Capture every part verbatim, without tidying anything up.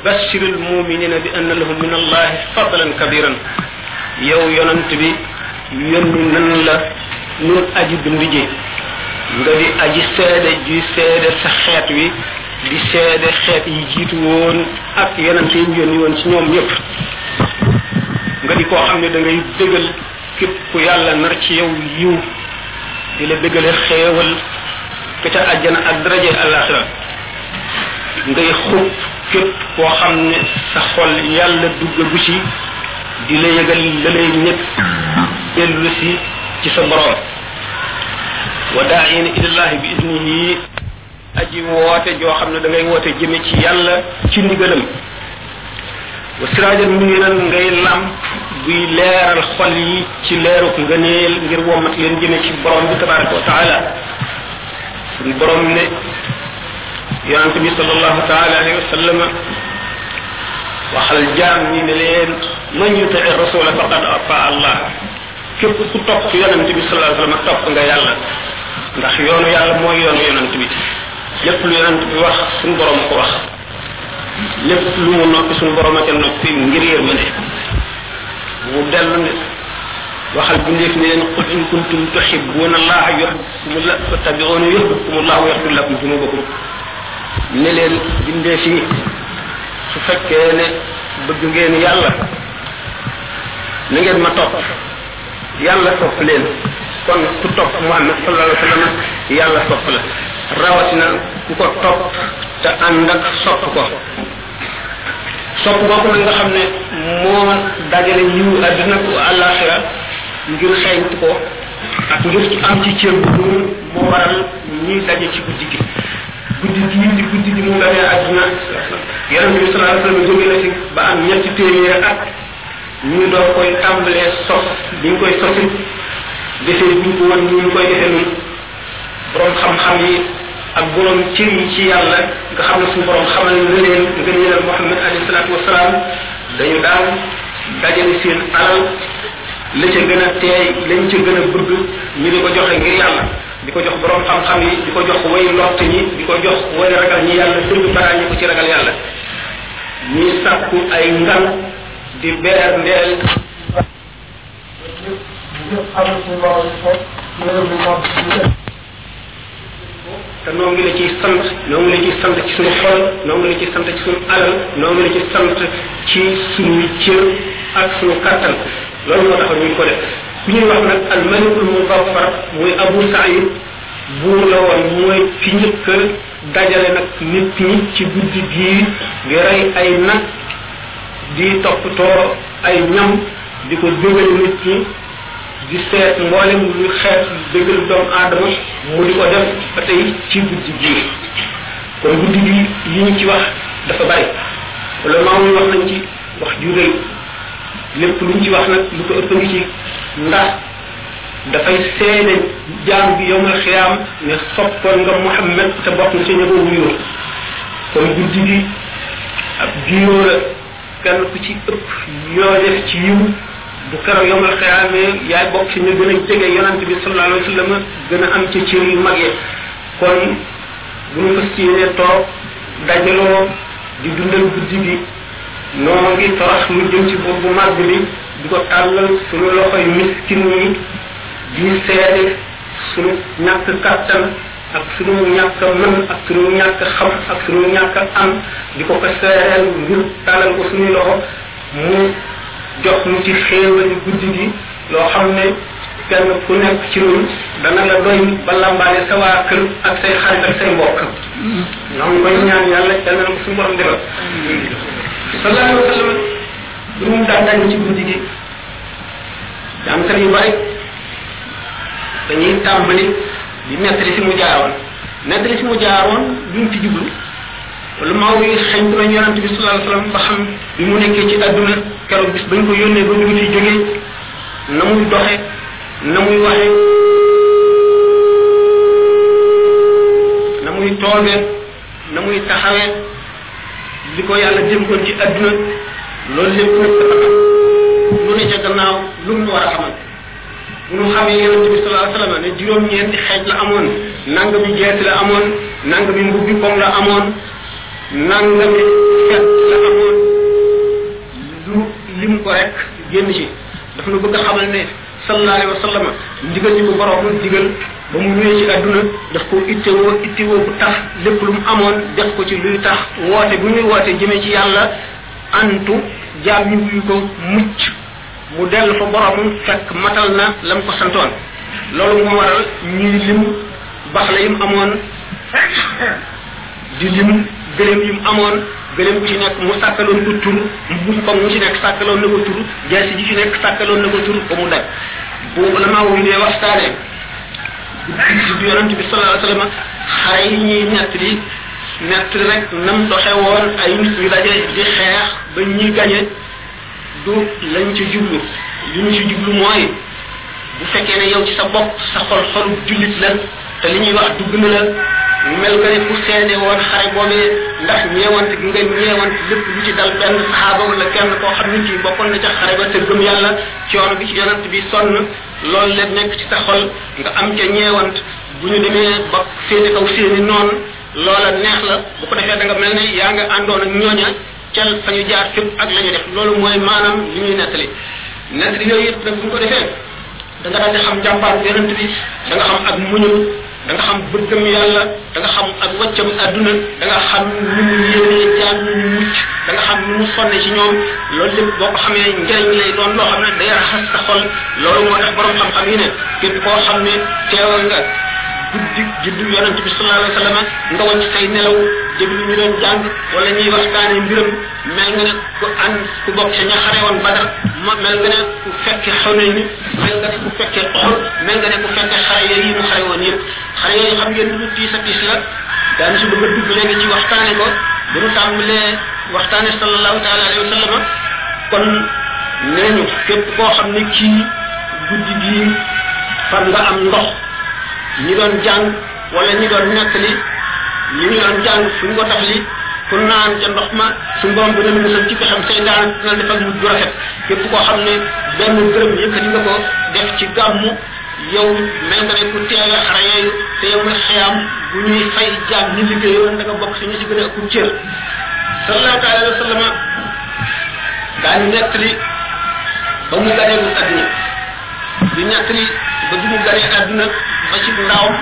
bashiril muminina bi anna lahum min allahi fadlan kabiran yow yonent bi yónni nan la nun aji bind ji nga di aji seede ji seede sa xeet wi di seede xeet yi jiitu woon ak yonent yi yónni woon ci ñoom ñëpp nga di koo xam ne da ngay dëggal képp ku yàlla nar ci yow yiw di la dëggale xeewal ka ca àjjana ak daraje àllaaxira ngay xub képp koo xam ne sa xol yàlla duggagu ci di la yëgal la lay ñëpp dellu si ci sa borom wa daa'iina ilallahi bi idnihi aji woote joo xam ne da ngay woote jëme ci yàlla ci ndigalam wa siraajan muniiran ngay làmp buy leeral xol yi ci leeruk ngëneel ngir womat leen jëme ci borom bi tabaraka wa taala suñu borom ne yonent bi sallallahu taala alayhi wa sallam waxal jaam ñi ne leen man yutii rasula faqad ata allah képp ku topp yonent bi sallallahu alayhi wa sallam topp nga yàlla ndax yoonu yàlla mooy yoonu yonent bi lépp lu yonent bi wax suñu borom ko wax lépp lu mu noppi suñu borom a ca noppi ngir yërmande mu dellu ne waxal bindeef ne leen qul in kuntum tuhibbuna allaha yuhibbukumullah fattabi'uni yuhibbukumullah wa yaghfir lakum dhunubakum ne leen bindeef yi su fekkee ne bëgg ngeen yàlla na ngeen ma topp yàlla topp leen kon ku topp Muhammad sallallahu alayhi wa sallam yàlla topp la rawatina ku ko topp te ànd ak sopp ko sopp boobu nag nga xam ne moo dajale yiw àddina ko àllaaxira ngir xeeñtu ko ak ngir ci am ci cër bu moo waral ñuy daje ci guddi gi guddi gi di guddi gi mu ganee àddina yonent bi sallallahu alayhi wa sallam jóge na ci ba am ñetti téeméer at ñu doon koy tàmbalee sos bi ñu koy sosi defee bi ñu ko woon ñu koy defee nun borom xam-xam yi ak borom cër yi ci yàlla nga xam ne suñu borom xamal na leen nga ñëwal Muhammad alayhi salaatu wasalaam dañu daan dajale seen alal la ca gën a teey lañ ca gën a bëgg ñu di ko joxe ngir yàlla di ko jox borom xam-xam yi di ko jox way lott ñi di ko jox way ragal ñi yàlla dëgg baraa ñi ko ci ragal yàlla ñuy sàkku ay ngan di beer ndeel te noo ngi la ciy sant noo ngi la ciy sant ci suñu xol noo ngi la ciy sant ci suñu alal noo ngi la ciy sant ci suñu cër ak suñu kattan loolu moo tax ñu ko def ku ñuy wax nag al malikul muzaffar muy Abu Saïd buur la woon mooy fi njëkk a dajale nag nit ñi ci guddi gii di rey ay nag di toppatoo ay ñam di ko dégale nit ñi di seet mboolem lu xeet déggal doomu aadama mu di ko def ba tey ci guddi gii kon guddi gi li ñu ci wax dafa bari wala maamu ñu wax nañ ci wax ju rëy lépp lu ñu ci wax nag lu ko ëpp ngi ci ndax dafay seede jaam bi yowmal xiyaam ne soppoon nga Muhammad te bokk na ci ña ko wuyoo kon guddi gi ab jiiroo la kenn ku ci ëpp yoo def ci yiw bu keroog yowmal xiyaamee yaay bokk ci ñu gën a jege yonante bi sallallahu alayhi wa sallam gën a am ca cër yu mag yi kon bu ñu fas yéenee toog dajaloo di dundal guddi gi noo ngi torox lu jëm ci buur bu mag bi di ko tàllal suñu loxoy miskin yi di seede suñu ñàkk kattan ak suñu ñàkk mën ak suñu ñàkk xam ak suñu ñàkk am di ko ko seereel ngir tàllal ko suñuy loxo mu jox ñu ci xéewali guddi gi loo xam ne kenn ku nekk ci ñun dana la doy ba lambaale sa waa kër ak say xarit ak say mbokk ñoo ngi koy ñaan yàlla yal na ko suñu borom defal sallallahu alayhi wa sallam lu mu daan dañ ci guddi gi jàngkat yu bari dañuy tàmbali di nettali fi mu jaaroon nettali fi mu jaaroon duñ ci jublu wala maaw yi xeñ nañ yonante bi sallallahu alayhi wa sallam ba xam bi mu nekkee ci àdduna keroog bis bañ ko yónnee ba ñu fi jógee na muy doxe na muy waxe na muy tooge na muy taxawee li ko yàlla dénkoon ci àdduna loolu lépp nag dafa am lu ne ca gannaaw lu mu war a xamal bu ñu xamee yonente bi sallallahu alayhi wa sallam ne juróom-ñeenti xeej la amoon nangami jeesi la amoon nangami mbubbi koŋ la amoon nangami fet la amoon ko rek génn ci dafa nu bëgg a xamal ne sallallahu alayhi wa sallam ndigal ñi ko borom digal ba mu ñëwee ci àdduna daf ko ittewoo ittewoo bu tax lépp lu mu amoon def ko ci luy tax woote bu ñuy woote jëmee ci yàlla antu jaam ñu wuyu ko mucc mu dellu fa boromam fekk matal na lam ko santoon loolu moo waral ñuy lim bax la yim amoon di lim gëléem yim amoon gëléem bu ci nekk mu sàkkaloon ko tur buñ ko mu ci nekk sàkkaloon na ko tur jaasi ji ci nekk sàkkaloon na ko tur ba mu daj bu la maa wuy dee waxtaane du yonent bi sallallahu alayhi wasallam xare yi ñuy nett li nett rek nam doxe woon ay nit ñu daje di xeex ba ñuy gañe du lañ ci jublu li ñu ci jublu mooy bu fekkee ne yow ci sa bopp sa xol xolu jullit la te li ñuy wax dugg na la mel nga ne ku seede woon xare boobee ndax ñeewante gi nga ñeewante lépp lu ci dal benn saxaaba wala kenn koo xam ni kii bokkoon na ca xare ba te gëm yàlla coono bi ci yonent bi sonn loolu la nekk ci sa xol nga am ca ñeewant bu ñu demee ba féete kaw seeni noonu loola neex la bu ko defee da nga mel ne yaa nga àndoon ak ñooña cel fa ñu jaar fépp ak la ñu def loolu mooy maanaam li ñuy nettali nettali yooyu yëpp nag bu ñu ko defee da nga daal di xam jàmbaar yonent bi da nga xam ak muñum da nga xam bëggam yàlla da nga xam ak wàccam àdduna da nga xam ni mu yéenee jaam ñu mucc da nga xam ni mu sonne ci ñoom loolu lépp boo ko xamee njëriñ lay doon loo xam ne day raxas sa xol loolu moo tax borom xam-xam yi ne képp koo xam ne teewal nga guddi juddu yonent bi sallallahu alayhi wa sallam nga wàcc say nelaw déglu ñu doon jàng wala ñuy waxtaane mbiram mel nga ne ku ànd ku bokk sa ña xare woon Badar ma mel nga ne ku fekke Xunayn ni mel nga ne ku fekke Uhud mel nga ne ku fekke xare yooyu yi mu xare woon yëpp xare yooyu xam ngeen lu tiis a tiis la daanu si bëgg a dugg léegi ci waxtaane ko bu ñu tàmbalee waxtaane sallallahu taala alayhi wa sallam kon nee ñu képp koo xam ne kii guddi gii far nga am ndox ñi doon jàng wala ñi doon nettali li ñu doon jàng suñ ko taf li ku naan ca ndox ma suñ borom dina la musal ci pexam say daan dina defal mu rafet képp koo xam ne benn gërëm yëkkati nga ko def ci gàmmu yow mel nga ne ku teewe xare yooyu te yow nga xiyam bu ñuy fay jaam ñi liggéeyoon da nga bokk si ñu si gën a ëpp cër sallallahu alayhi wa sallam daañu nettali ba mu ganeewul adduna di nettali ba du mu ganee adduna ba ci ndawam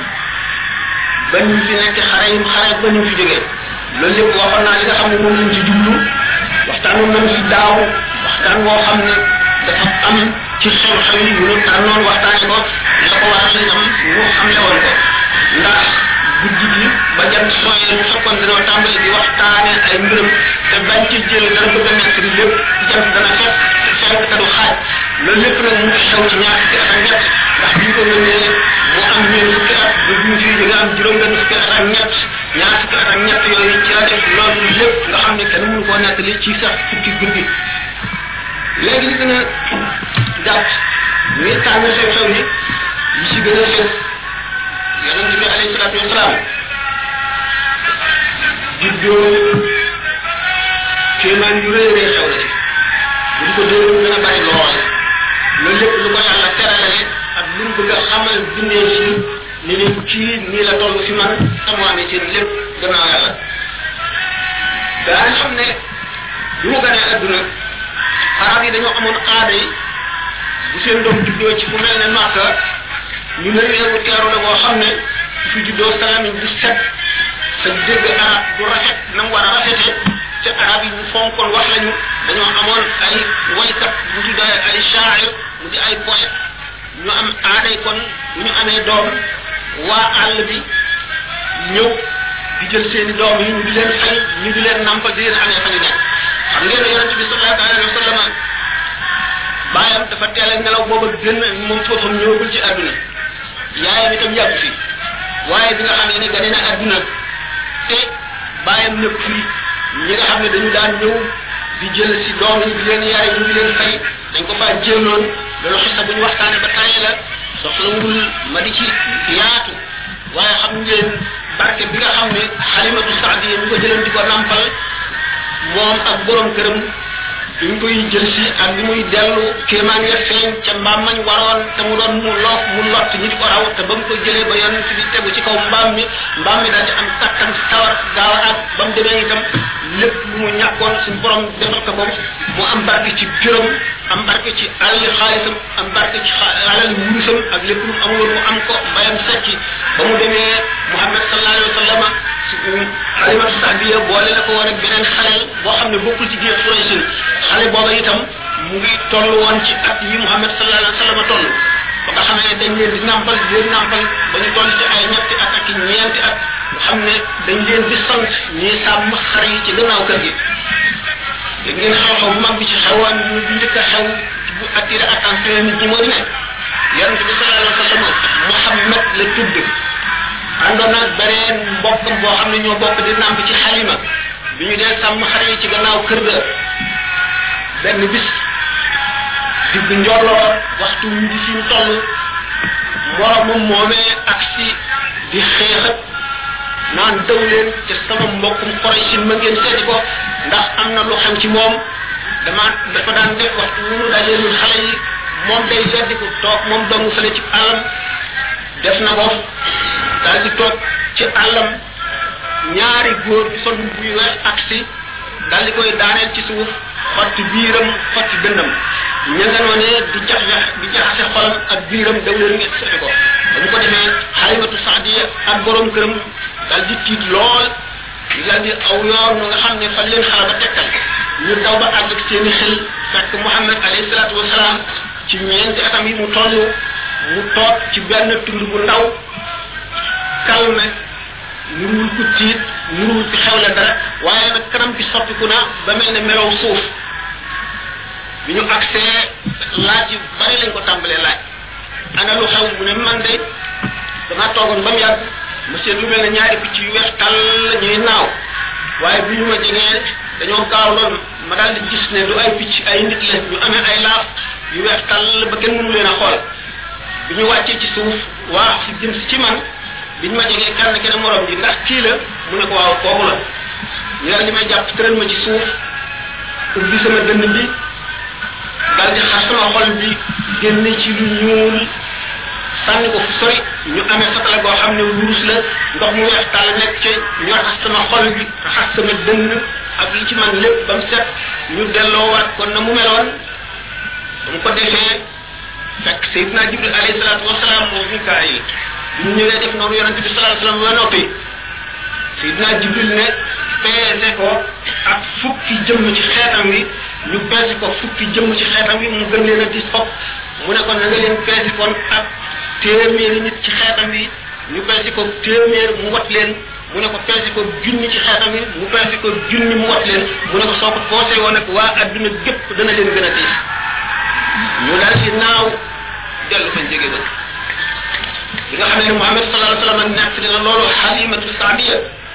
ba ñu fi nekk xare yi xare ba ñu fi jógee loolu lépp waxoon naa li nga xam ne moom lañ ci jublu waxtaan nañ fi daaw waxtaan woo xam ne dafa am ci xew-xew yi ñu tànnoon waxtaane ko la ko waral lañ am mu xamle woon ko ndax guddi gi ba jant sooyee ñu fekkoon dañoo tàmbali di waxtaane ay mbiram te bañ ci jël dana bëgg a nekk ni lépp jant dana fekk fekk te du xaaj loolu lépp nag mu xew ci ñaar fukki at ak ñett ndax bi ñu ko mënee mu am ñeen fukki at ba bi ñu fii di nga am juróom benn fukki at ak ñett ñaar fukki at ak ñett yooyu ci la def loolu lépp nga xam ne kenn mënu koo nettali ci sax fukki guddi léegi li gën a gàtt ñuy tànn xew-xew yi yi ci gën a xew yonent bi alayhi salaatu wasalaam juddoo kéemaan yu rëy rëy xew la ci buñ ko déglu dana bari lool loolu lépp lu ko yàlla teralale ak lu mu bëgg a xamal bindee ci ni leen kii nii la toll fi man tamu amee seen lépp gannaaw yàlla daan xam ne bi mu ganee adduna arab yi dañoo amoon aada yi bu seen doom juddoo ci fu mel ne Màkka ñu ne réewu teeru la boo xam ne fi juddoo salamiñ bu set sa dégg arab bu rafet na mu war a rafetee te arab yi ñu fonkoon wax lañu dañoo amoon ay waykat bu tuddee ay shaa'ir mu di ay poète ñu am aaday kon bu ñu amee doom waa àll bi ñëw di jël seeni doom yi ñu di leen fay ñu di leen nampal di leen amee fa ñu nekk xam ngeen ne yonent bi sallallahu alayhi wa sallam baayam dafa teel a nelaw booba gën moom foofam ñëwagul ci àdduna yaayam itam yàgg fi waaye bi nga xam ne gane na àdduna te baayam nekk fii ñi nga xam ne dañu daan ñëw di jël si doom yi di leen yaay ñu di leen fay dañ ko faa jéemoon loolu xisa bu ñu waxtaane ba tàyyi la soxlawul ma di ci yaatu waaye xam ngeen barke bi nga xam ne Xalimatu Saadiya ñu ko jëloon di ko nampal moom ak borom këram bi mu koy jël si ak bi muy dellu kéemaan ya feeñ ca mbaam mañ waroon te mu doon mu loof mu lott ñi di ko raw te ba mu ko jëlee ba yonent bi tegu ci kaw mbaam mi mbaam mi daal di am kattan sawar gaaw a ak ba mu demee itam lépp lu mu ñàkkoon suñu borom defal ko ko mu am barke ci juróom am barke ci alali xaalisam am barke ci alali wurusam ak lépp lu mu amuloon mu am ko mbayam secci ba mu demee Muhammad sallallahu alayhi wa sallam Halimatu Sa'diya boole la ko woon ak beneen xaleel boo xam ne bokkul ci biir Quraysh xale booba itam mu ngi toll woon ci at yi Muhammad sallallahu alayhi wa sallam toll ba nga xam ne dañ leen di nàmpal di leen nàmpal ba ñu toll ci ay ñetti at ak ñeenti at nga xam ne dañ leen di sant ñii sàmm xar yi ci gannaaw kër gi dégg ngeen xew-xew bu mag bi ci xewoon ñu bu njëkk a xew bu attiré attention nit ñi moo di ne yonent bi sallallahu alayhi wa sallam Muhammad la tudd àndoon ak beneen mbokkam boo xam ne ñoo bokk di nàmp ci Halima bi ñu dee sàmm xar yi ci gannaaw kër ga benn bis digg njolloor waxtu wi di fi ñu toll moromam moomee ak si di xeexat naan daw leen te sama mbokkum Quraysh ma ngeen seeti ko ndax am na lu xam ci moom dama dafa daan def waxtu wu ñu dajeelul xale yi moom day weddi ko toog moom dong fële ci àllam def na ko daal di toog ci àllam ñaari góor di sol bu yu weex ak si daal di koy daaneel ci suuf xotti biiram xotti dëndam ña nga noonee di jax di jaxase xolam ak biiram daw leen ngeen seeti ko ba mu ko defee Halimatu Sa'diya ak borom këram daal di tiit lool ñu daal di aw yoon nga xam ne fan leen xala ba tekkal ñu daw ba àgg ak seeni xel fekk Muhammad alayhi salaatu wasalaam ci ñeenti atam yi mu toll mu toog ci benn tund bu ndaw calme nuruwul ku tiit nuruwul ci xewle dara waaye nag kanam bi soppiku na ba mel ne melow suuf bi ñu agsee laaj yu bari lañ ko tàmbalee laaj ana lu xew mu ne man de dama toogoon ba mu yàgg monsieur lu mel ne ñaari picc yu weex tàll ñuy naaw waaye bi ñu ma jegee dañoo gaaw lool ma daal di gis ne du ay picc ay nit la ñu amee ay laaf yu weex tàll ba kenn mënu leen a xool bi ñu wàccee ci suuf waa si jëm si ci man biñ ma jegee kenn kenn morom ji ndax kii la mu ne ko waaw kooku la ñu daal di may jàpp tëral ma ci suuf ubbi sama dënn bi daal di xar sama xol bi génne ci lu ñuul sànni ko fu sori ñu amee satala goo xam ne wurus la ndox mu weex tàll nekk ci ñu raxas sama xol bi raxas sama dënn ak li ci man lépp ba mu set ñu delloowaat kon na mu meloon ba mu ko defee fekk Seydina Jibril alayhi salaatu wasalaam moom Mikaayil ñu ñëwee def noonu yonente bi sallallahu alayhi wasallam ba noppi Seydina Jibril ne peese ko ak fukki jëmm ci xeetam wi ñu peese ko fukki jëmm ci xeetam wi mu gën leen a dis fop mu ne kon na nga leen peese kon ak téeméeri nit ci xeetam wi ñu peese ko téeméer mu wat leen mu ne ko peese ko junni ci xeetam wi mu peese ko junni mu wat leen mu ne ko soo ko poosé woon ak waa adduna gépp dana leen gën a tiis ñu daal ci naaw dellu fañ jóge ba bi nga xam ne Muhammad sallallahu alayhi wasallam nekk dina loolu Halimatu Sa'diya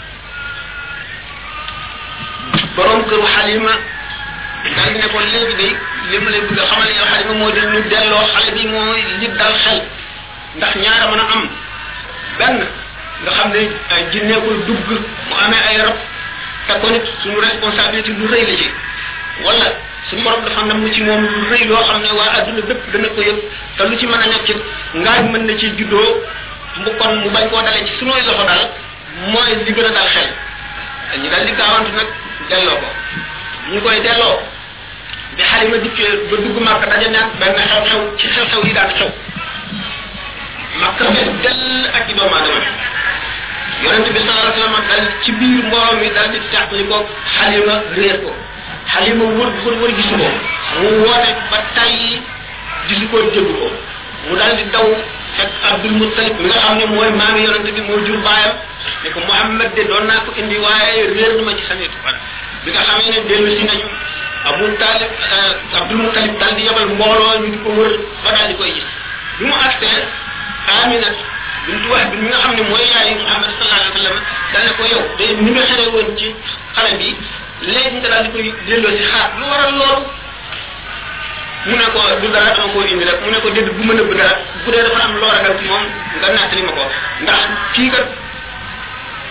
borom këru Halima daal ne ko léegi de li ma lay bëgg a xamal yow Halima moo di ñu delloo xale bi mooy li dal xel ndax ñaara mën a am benn nga xam ne ay jinne ko dugg mu amee ay rab te ko nit suñu responsabilité lu rëy la ci wala suñu borom dafa nam ci moom lu rëy loo xam ne waa adduna bépp dana ko yëg te lu ci mën a nekk it ngaaj mën na ci juddoo mu kon mu bañ koo dalee ci suñuy loxo daal mooy li gën a dal xel ñu daal di gaawantu nag delloo ko ñu koy delloo bi Halima dikkee ba dugg Makka daje nag benn xew-xew ci xew-xew yi daan xew Makka fees dell ak i doomu aadama yonente bi sallallahu alayhi wasallam dal ci biir mbooloo mi daal di teqli ko Halima réer ko Halima wër wër wër gisu ko mu woote ba tay gisu ko dégg ko mu daal di daw fekk Abdul Muttalib mi nga xam ne mooy maami yonente bi moo jur baayam ne ko Muhammad de doon naa ko indi waaye réer na ma ci sanitu fan bi nga xamee ne dellu si nañu Abu Talib Abdul Muttalib daal di yebal mbooloo ñu di ko wër ba daal di koy gis bi mu agsee Amina bintu Wahb bi mi nga xam ne mooy yaayu Muhammad sallallahu alayhi wasallam daal ne ko yow de ni nga xere woon ci xale bi léegi nga daal di koy delloo si xaar lu waral loolu mu ne ko du dara dama koo indi rek mu ne ko dédd bu ma nëbb dara bu dee dafa am loo ragal ci moom nga nattali ma ko ndax kii kat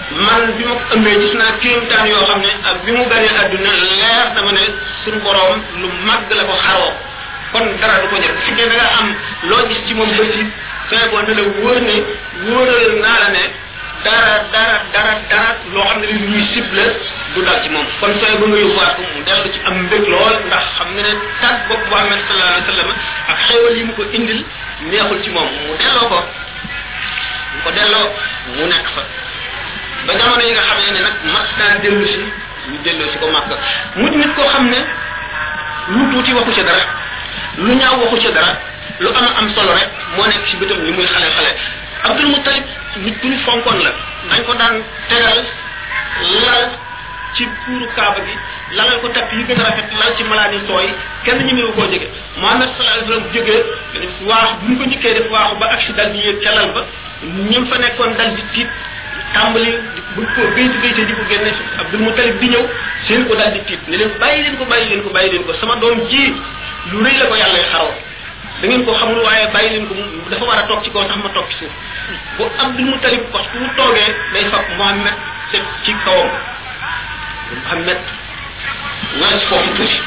man bi ma ko ëmbee gis naa kéemtaan yoo xam ne ak bi mu ganee àdduna leer dama ne suñu borom lu màgg la ko xaroo kon dara du ko jël fi ne da nga am loo gis ci moom ba ci sooy boo ne la wóor ne wóoral naa la ne dara dara dara dara loo xam ne li ñuy cible du dal ci moom kon sooy ba nga yóbbuwaat ko mu dellu ci am mbég lool ndax xam nga ne tàgg bopp Muhammad sallallahu alayhi wa sallam ak xéewal yi mu ko indil neexul ci moom mu delloo ko mu ko delloo mu nekk fa ba jamono yi nga xam ne nag mas naa dellu si ñu delloo si ko màkk mu nit koo xam ne lu tuuti waxu ca dara lu ñaaw waxu ca dara lu am am solo rek moo nekk ci bëtam li muy xale xale Abdul Muttalib nit ku ñu fonkoon la dañ ko daan tegal lal ci puuru kaaba gi lalal ko tapp yi gën a rafet lal ci malaan yi tooy kenn ñu ñëw koo jege Muhammad sallallahu alayhi wasallam jógee waax bu ñu ko njëkkee def waaxu ba accident bi yéeg ca lal ba ñëm fa nekkoon dal di tiit tàmbali bu ko béyti béyti di ko génne Abdul Muttalib di ñëw seen ko dal di tiit ne leen bàyyi leen ko bàyyi leen ko bàyyi leen ko sama doom ji lu rëy la ko yàlla xaroo da ngeen ko xamul waaye bàyyi leen ko dafa war a toog ci kaw sax ma toog ci suuf bu Abdul Muttalib waxtu bu toogee day fab Muhammad teg ci kawam Muhammad nga ci foofu tuuti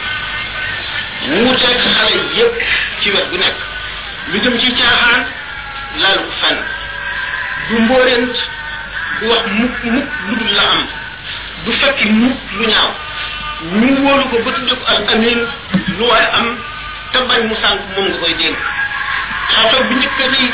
mu teg xale yépp ci wet gu nekk lu jëm ci caaxaan laal fenn du mbóorent du wax mukk mukk lu dul la am du fekki mukk lu ñaaw ñu wóolu ko ba tudde ko al amin lu waaye am te bañ mu sànk moom nga koy dénk xew-xew bi njëkk nii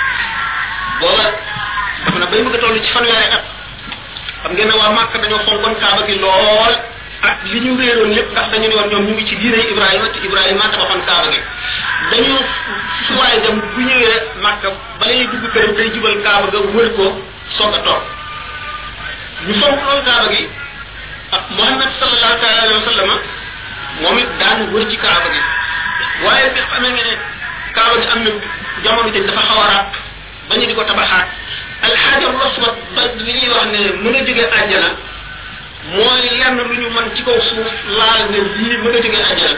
booba dafa na bay bëgg a toll ci fanweeri at xam ngeen ne waa Màkka dañoo fonkoon kaaba gi lool ak li ñu réeroon lépp ndax dañu ne woon ñoom ñu ngi ci diine Ibrahima te Ibrahima tabaxoon kaaba gi dañu su waaye dem bu ñëwee Màkka bala ñuy dugg këram day jubal kaaba ga wër ko soog a toog ñu fonk loolu kaaba gi ak Muhammad sallallahu alayhi wa sallam moom it daan wër ci kaaba gi waaye bi xamee nga ne kaaba gi am na jamono ji dafa xaw a ràpp ba ñu di ko tabaxaat alxajar aswad ba li ñuy wax ne mën a jógee àjjana mooy lenn lu ñu mën ci kaw suuf laal ne lii mën a jógee àjjana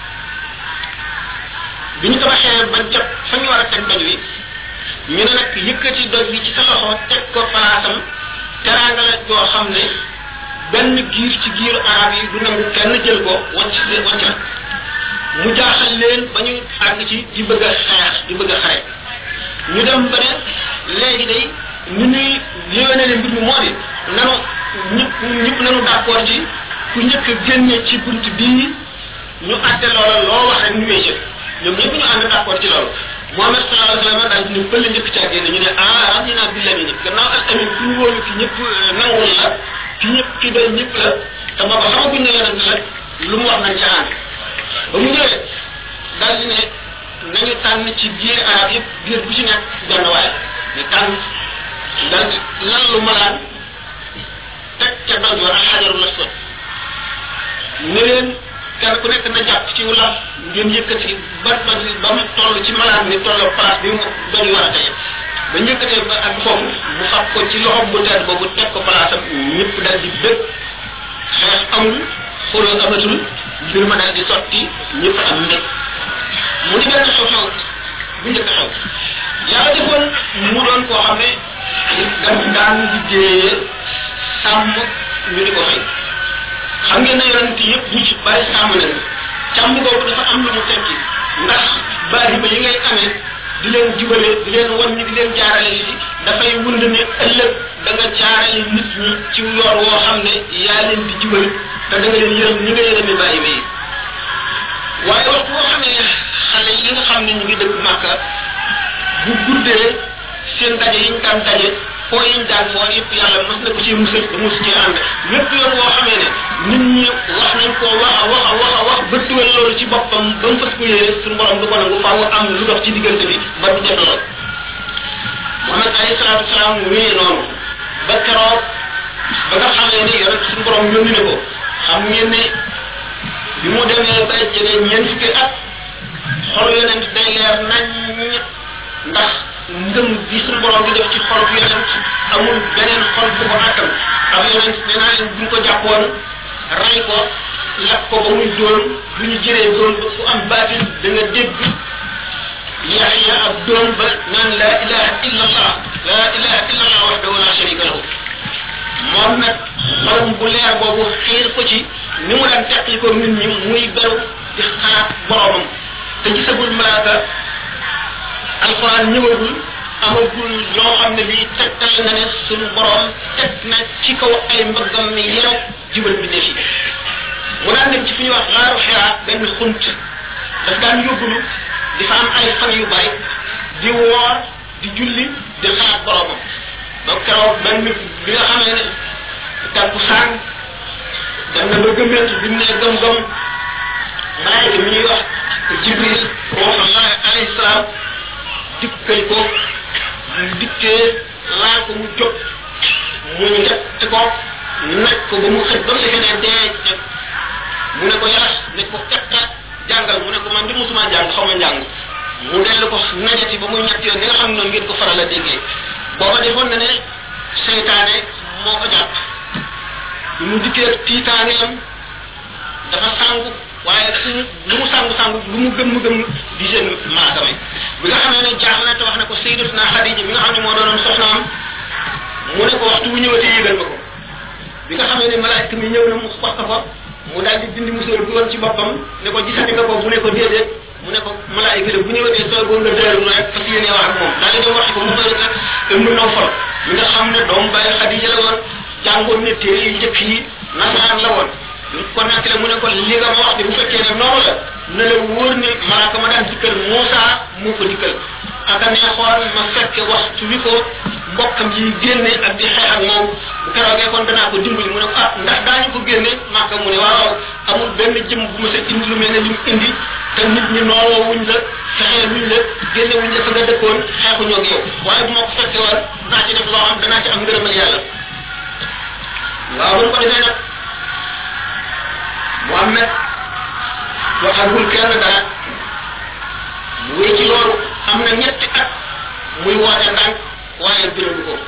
bi ñu tabaxee ba jot fa ñu war a teg doj wi ñu ne nag yëkkati doj bi ci sa loxo teg ko palaasam teraanga la joo xam ne benn giir ci giiru arab yi du nangu kenn jël ko wàcc wàcc la mu jaaxal leen ba ñu àgg ci di bëgg a xeex di bëgg a xare ñu dem ba ne léegi day ñu ñuy yéwénale mbir mi moo di nanu ñëpp ñëpp nanu d'accord ci ku njëkk a génne ci bunt bii ñu àtte loola loo wax rek ñu wéy jël ñoom ñëpp ñu ànd d'accord ci loolu Muhammad sallallahu alayhi wa sallam daal di ne bële njëkk caa génne ñu ne ah radina billahi ni gannaaw al amin ku ñu wóolu ki ñëpp nangul la ki ñëpp ki doy ñëpp la te booba xamaguñ ne yonent la lu mu wax nañ ca ànd ba mu ñëwee daal di ne nañu tànn ci biir arab yëpp biir bu ci nekk benn waay ñu tànn daal di lan lu malaan teg ca doj wa ak xajarul aswad ne leen kenn ku nekk na jàpp ci wala ngeen yëkkati ba ba ba mu toll ci malaan ni toll place bi mu doon war a tey ba njëkkatee ba ak foofu mu fab ko ci loxom bu tedd boobu teg ko place am ñëpp daal di bëgg xeex amul xuloo amatul mbir ma daal di sotti ñëpp am mbég mu di benn xew-xew bu njëkk xew yàlla defoon mu doon koo xam ne daf daan liggéeyee sàmm ñu di ko xëy xam ngeen ne yonent yëpp ñu ci bari sàmm nañ càmm boobu dafa am lu mu tekki ndax bari ba yi ngay amee di leen jubale di leen wan ñi di leen jaarale li dafay wund ne ëllëg da nga jaarale nit ñi ci yoon woo xam ne yaa leen di jubal te da nga leen yërëm ñi nga yërëmi bàyyi ba yi waaye waxtu boo xam ne xale yi nga xam ne ñu ngi dëkk Màkka bu guddee seen daje yi ñu daan daje foo yi ñu daan foo yëpp yàlla mas na ko ci musal ba mus ci ànd lépp yoon woo xamee ne nit ñi wax nañ ko wax a wax a wax a wax ba tuwal loolu ci boppam ba mu fas ko yéene suñu borom du ko nangu faaw am lu dox ci diggante bi ba du def lool Muhammad alayhi salaatu wasalaam wéyee noonu ba keroog ba nga xamee ni yonent suñu borom yónni ne ko xam ngeen ne bi mu demee ba jege ñeent fukki at xol yonent day leer nañ ndax ngëm bi suñu borom di def ci xol bi yonent amul beneen xol bu ko àttan ak yonent nee naa leen bu ñu ko jàppoon ray ko lakk ko ba muy doon bu ñu jëree doon ba ku am baatin da nga dégg yaxya ak doon ba naan la ilaha illa allah la ilaha illa allah wahdahu la sharika lahu moom nag xolam bu leer boobu xiir ko ci ni mu daan teqli ko nit ñi muy beru di xalaat boromam te gisagul malaaka alquran ñëwagul amagul loo xam ne bii tegtal na ne suñu borom teg na ci kaw ay mbëggam mi yeew jubal bi defi mu daan dem ci fi ñuy wax xaaru xiraa benn xunt daf daan yóbbulu di fa am ay fan yu bari di woor di julli di xalaat boromam donc keroog benn bi nga xam ne tàkku saan dem na ba gëmmentu bi mu ne gëm-gëm malaayika mi ñuy wax jibril ruuxullah alayhi salaam dikkal ko mu dikkee laal ko mu jóg mu njett ko naj ko ba mu xëj ba mu defee ne dee mu ne ko yàlla ne ko tekkat jàngal mu ne ko man di musuma jàng xaw ma njàng mu dellu ko najati ba muy ñett yoon ni nga xam ne noonu ngeen ko faral a déggee booba defoon na ne seytaane moo ko jàpp bi mu dikkee tiitaaneem dafa sàngu waaye suñu lu mu sàngu sàngu lu mu gëm mu gëm di seen maasame bi nga xamee ne jaax na te wax na ko sayyidatuna Xadija bi nga xam ne moo doonoon soxnaam mu ne ko waxtu bu ñëwatee yëgal ma ko bi nga xamee ne malaayika mi ñëw na mu wax ko mu daal di dindi musóor bi woon ci boppam ne ko gisati nga ko mu ne ko déedéet mu ne ko malaayika de bu ñëwatee soo boo nga dëru rek fas yéene wax ak moom daal di dem wax ko mu bëri nag te mën naw fol mi nga xam ne doomu bàyyi Xadija la woon jàngoon ne téere yi njëkk yi nasaraan la woon ko nekk la mu ne ko li nga ma wax de bu fekkee ne noonu la na la wóor ne malaaka ma daan dikkal Muusa moo ko dikkal aka neexoon ma fekke waxtu wi ko mbokkam yi génne ak di xeex ak moom bu keroogee kon danaa ko dimbali mu ne ko ah ndax daañu ko génne maaka mu ne waaw amul benn jëm bu ma sa indi lu mel ne li mu indi te nit ñi nooloo wuñ la fexee wuñ la génne wuñ la fa nga dëkkoon xeexuñoo ak yow waaye bu ma ko fekke woon naa ci def loo xam danaa ci am ngërëmal yàlla waaw bu ko defee nag Muhammad waxagul kenn dara mu wéy ci loolu am na ñetti at muy woote ndànk waaye biral ko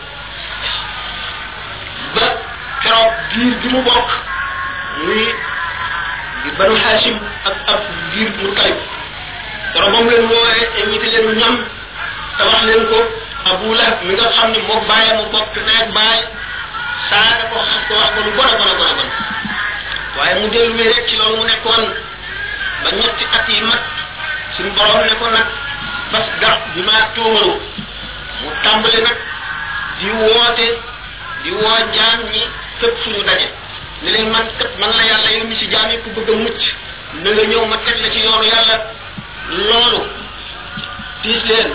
ba keroog giir bi mu bokk muy di banu Hashim ak ab giir mu Talib keroog moom leen woowee invité leen ñam te wax leen ko Abu Lahab mi nga xam ne moo bàyyi mu bokk neeg bàyyi saaga ko xas ko wax ko lu bon a bon a bon a bon waaye mu dellu rek ci loolu mu nekkoon ba ñetti at yi mat suñu borom ne ko nag bas garab bi maa tuumaru mu tàmbali nag di woote di woo jaam ñi fépp fu ñu daje ne leen man kat man la yàlla yow mi si jaam yi ku bëgg a mucc na nga ñëw ma teg la ci yoonu yàlla loolu diis leen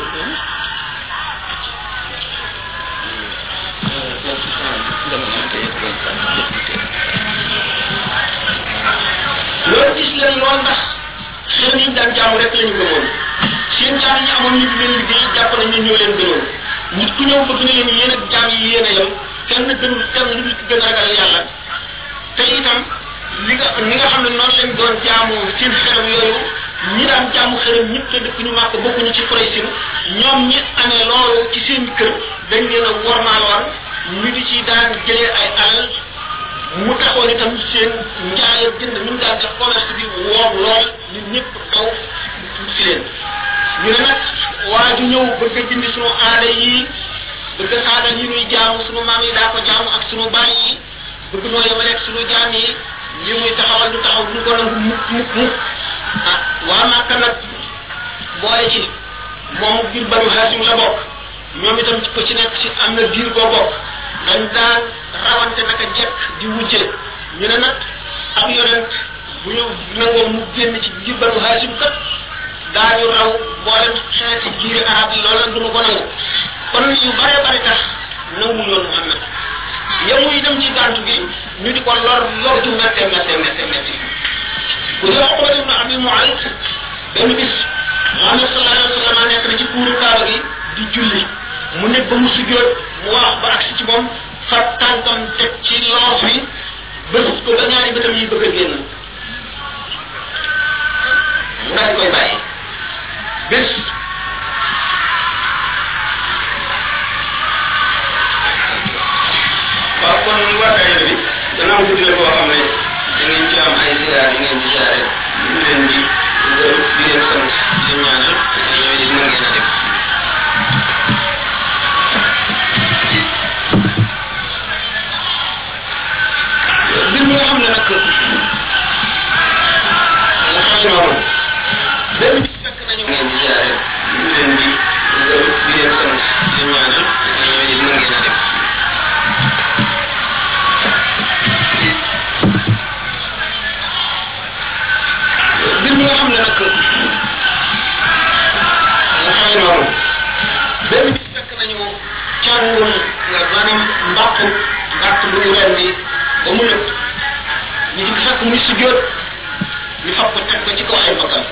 loolu gis leen lool ndax xel yi ñu daan jaamu rek la ñu gëmoon seen jaam yi amoon ñu leen liggéey jàpp nañ ñu ñoo leen gënoon nit ku ñëw bëgg na leen yéen ak jaam yi yéen a yem kenn gënul kenn lu gën a ragal yàlla te itam li nga ñi nga xam ne noonu lañ doon jaamu seen xelam yooyu ñi daan jaamu xelam ñëpp te dëkk ñu màkk bokkuñu ci Quraysh ñoom ñi amee loolu ci seen kër dañ leen a wormaaloon ñu di ci daan jëlee ay alal mu taxoon itam seen njaay ak jënd ñu daan def commerce bi woor lool nit ñëpp daw si leen ñu ne nag waa ju ñëw bëgg a dindi sunu aada yi bëgg a saagal yi ñuy jaamu sunu maam yi daa ko jaamu ak sunu baay yi bëgg noo yemaleeg sunu jaam yi li muy taxawal du taxaw du ko nangu mukk mukk mukk ah waa Màkka nag boole ci moom biir Banu Haasim la bokk ñoom itam ci ko ci nekk ci am na biir boo bokk dañ daan rawante naka jekk di wujje ñu ne nag ab yonent bu ñu nangoo mu génn ci biir Banu Haasim kat daañu raw mboolem xeeti giiri arab yi loolu nag du ko nangu kon yu bare bare tax nangu yoon Muhammad yemu itam ci gàntu gi ñu di ko lor lor ju mette mette mette mette bu dee Uqba ibn Abi Mu'ayt benn bis Muhammad sallallahu alayhi wa sallam nekk na ci kuuru Kaaba gi di julli mu nekk ba mu sujjoot mu wax ba agsi ci moom fa tànkam teg ci loof yi bës ko ba ñaari bëtam yi bëgg a génn mu daal di koy bàyyi bés waaw kon waa daayira bi gannaaw guddi la boo xam ne da ngeen ci am ay ziar yi ngeen di ziare ñu leen di gërëm di leen sant di leen ñaanal ñooy di mën ngeen a def càngul nga maanaam mbàqu gàtt bu ñu rendi ba mu nëpp ñu di fekk muy sujjóot ñu fab ko teg ko ci kaw ay bakkam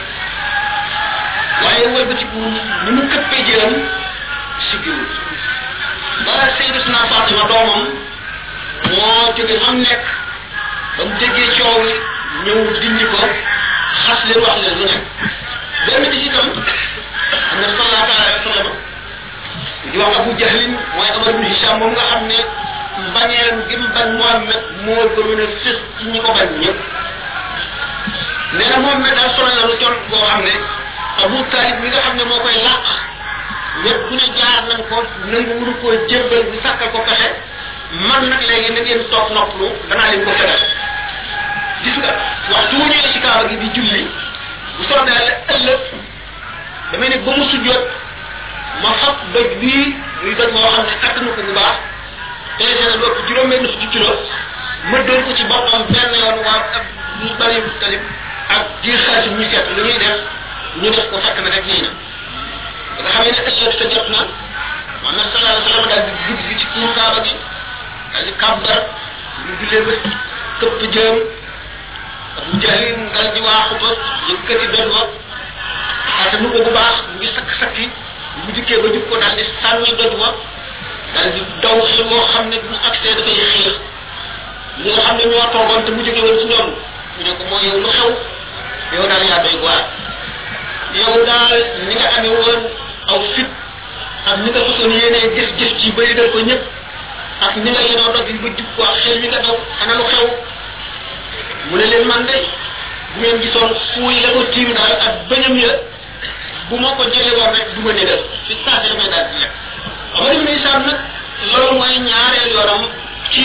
waaye wëlbatiku ni mu këppee jëlam siggiwul ba Sayyidatuna Fatima doomam moo jóge am nekk ba mu déggee coow li ñëw dindi ko xas leen wax leen lu nekk benn bis itam am na sallallahu alayhi wa sallam di wax Abu Jahlin mooy Amar ibn Hisham moom nga xam ne mbañeelam gi mu bañ Muhammad moo gënoon a fës ci ñi ko bañ ñëpp nee na Muhammad daal sonal na lu jot boo xam ne Abu Talib mi nga xam ne moo koy làq ñëpp bu ne jaar nañ ko nangu wuru koo jébbal bu sàkkal ko pexe man nag léegi na ngeen toog noppalu danaa leen ko fegal gis nga waxtu wu ñëwee ci kaaba gi di julli bu soobee yàlla ëllëg damay ne ba mu sujjoot ma fab doj bii muy doj moo xam ne attanu ko bu baax pesé na lépp juróom-benn fukki kilo ma dóor ko ci boppam benn yoon waa ak ñu bari talib ak diir xaalis ñu seet lu ñuy def ñu def ko fekk na rek nii na ba nga xamee ne ëllëg sa jot na Muhammad sallallahu alayhi wa sallam daal di dugg si ci kuur kaaba gi daal di kàbbar ñu jullee ba këpp jëm Abu Jahl dal di waaxu ba yëkkati benn ba attanu ko bu baax mu ngi sakk-sakki bu dikkee ba jub ko daal di sànni doj wa daal di daw xel moo xam ne bu accès dafay xiir ñi nga xam ne ñoo toogoon te mu jóge woon ci ñoom ñu ne ko moo yow lu xew yow daal yaa doy waar yow daal ni nga amee woon aw fit ak ni nga façon yéenee jëf-jëf ci ba yëgal ko ñëpp ak ni nga yenoo dog yi ba jub ko ak xel mi nga daw ana lu xew mu ne leen man de bu ngeen gisoon fuuy la ko tiim daal ak bëñam ya bu ma ko jëlee woon rek du ma négal fi saa si damay daal di lekk Amar ibn Hisham nag loolu mooy ñaareel yoram ci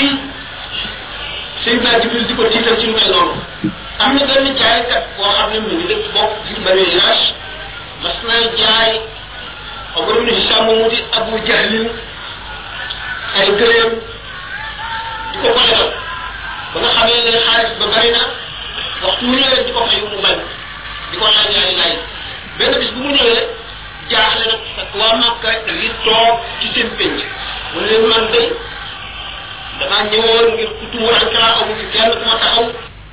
Seydina Jibril di ko tiital ci lu mel noonu am na benn jaaykat boo xam ne mu ngi dëkk bokk ci Bani Hirash mas na jaay Amar ibn Hisham moomu di Abu Jahlin ay gëleem di ko ko lebal ba nga xamee ne xaalis ba bari na waxtu mu ñëwee di ko fay mu bañ di ko laaj laaj laaj benn bis bu mu ñëwee jaaxle nag ak waa Makka li toog ci seen penc mu ne leen man de damaa ñëwoon ngir ku tumuraan kala amu fi kenn ku ma taxaw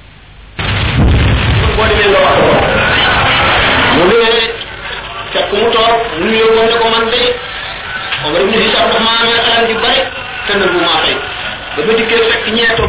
boo demee nga wax mu ñëwee fekk mu toog mu nuyoo woon ne ko man de Omar ibn Hisham dafa maa amee alal ju bari te nag bu maa fay ba ma dikkee fekk ñeetoo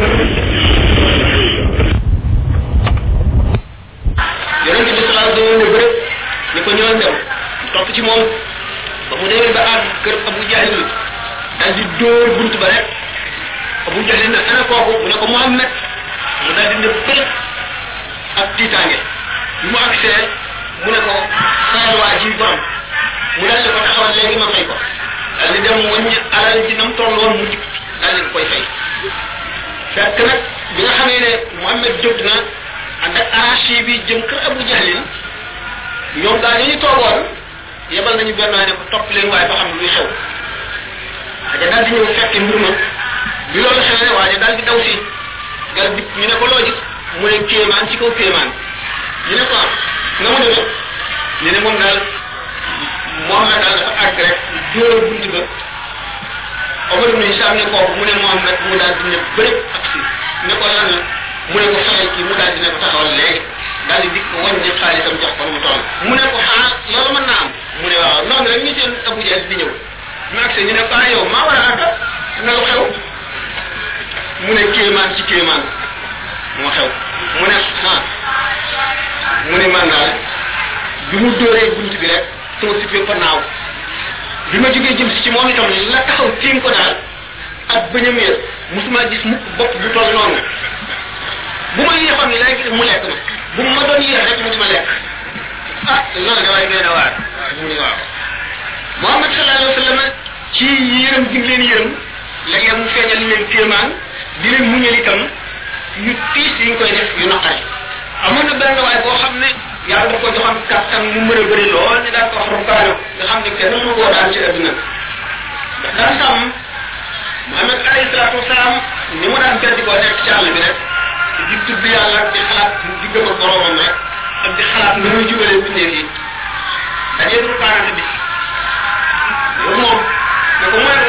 yonent bi sallallahu alayhi wa sallam ne bëri ni ko ñëwal dem topp ci moom ba mu demee ba àgg kër Abu Jahl daal di dóor bunt ba rek Abu Jahl ne ana kooku mu ne ko Muhammad mu daal di ne bëri ak tiitaange bi mu agsee mu ne ko xayal waa ji borom mu daal di ko taxawal léegi ma fay ko daal di dem wàññi alal ji nam toll woon mu jik daal di koy fay fekk nag bi nga xamee ne Muhammad jóg na ànd ak arachi bi jëm kër Abu Jahlin ñoom daal ñu toogoon yebal nañu benn waay ne ko topp leen waaye ba xam luy xew aja daal di ñëw fekk mbir ma bi loolu xewee waaye daal di daw si gal bi ñu ne ko loo gis mu ne kéemaan ci kaw kéemaan ñu ne ko nga mu demee ñu ne moom daal Muhammad daal dafa àgg rek dóor bunt ba Omar ibn Hisham ne kooku mu ne Muhammad mu daal di ne bërëb ak si ne ko lan la mu ne ko fayal kii mu daal di ne ko taxawal léegi daal di dikk wàññi xaalisam jox ko mu toll mu ne ko ah loolu mën naa am mu ne waaw noonu rek ñu seen Abu Jahl di ñëw mu agsi ñu ne ko ah yow maa war a àgg na lu xew mu ne kéemaan ci kéemaan moo xew mu ne ah mu ne man daal bi mu dóoree bunt bi rek sama si fa naaw bi ma jógee jëm si ci moom itam la taxaw tiim ko daal ak bëñam ya musuma gis mukk bopp bu toll noonu bu ma yéexoon léegi mu lekk ma bu ma doon yéex rek mu di ma lekk ah loolu de waaye doy na waar mu ne waaw Muhammad sallallahu alayhi wa sallam ci yërëm gi leen yërëm léeg-léeg mu feeñal leen kéemaan di leen muñal itam yu tiis yi ñu koy def yu naqari amoon na benn waay boo xam ne yàlla da ko joxoon kattan mu mën a bëri lool ni daan ko wax rukaano nga xam ne kenn mënu koo daan ci adduna ndax daan sàmm Muhammad alayhi salaatu wasalaam ni mu daan beddi koo nekk ci àll bi rek di tudd yàlla di xalaat di gëm ak boromam rek ak di xalaat na muy jubalee bindee yi dajee du rukaanante bis yow moom ne ko mooy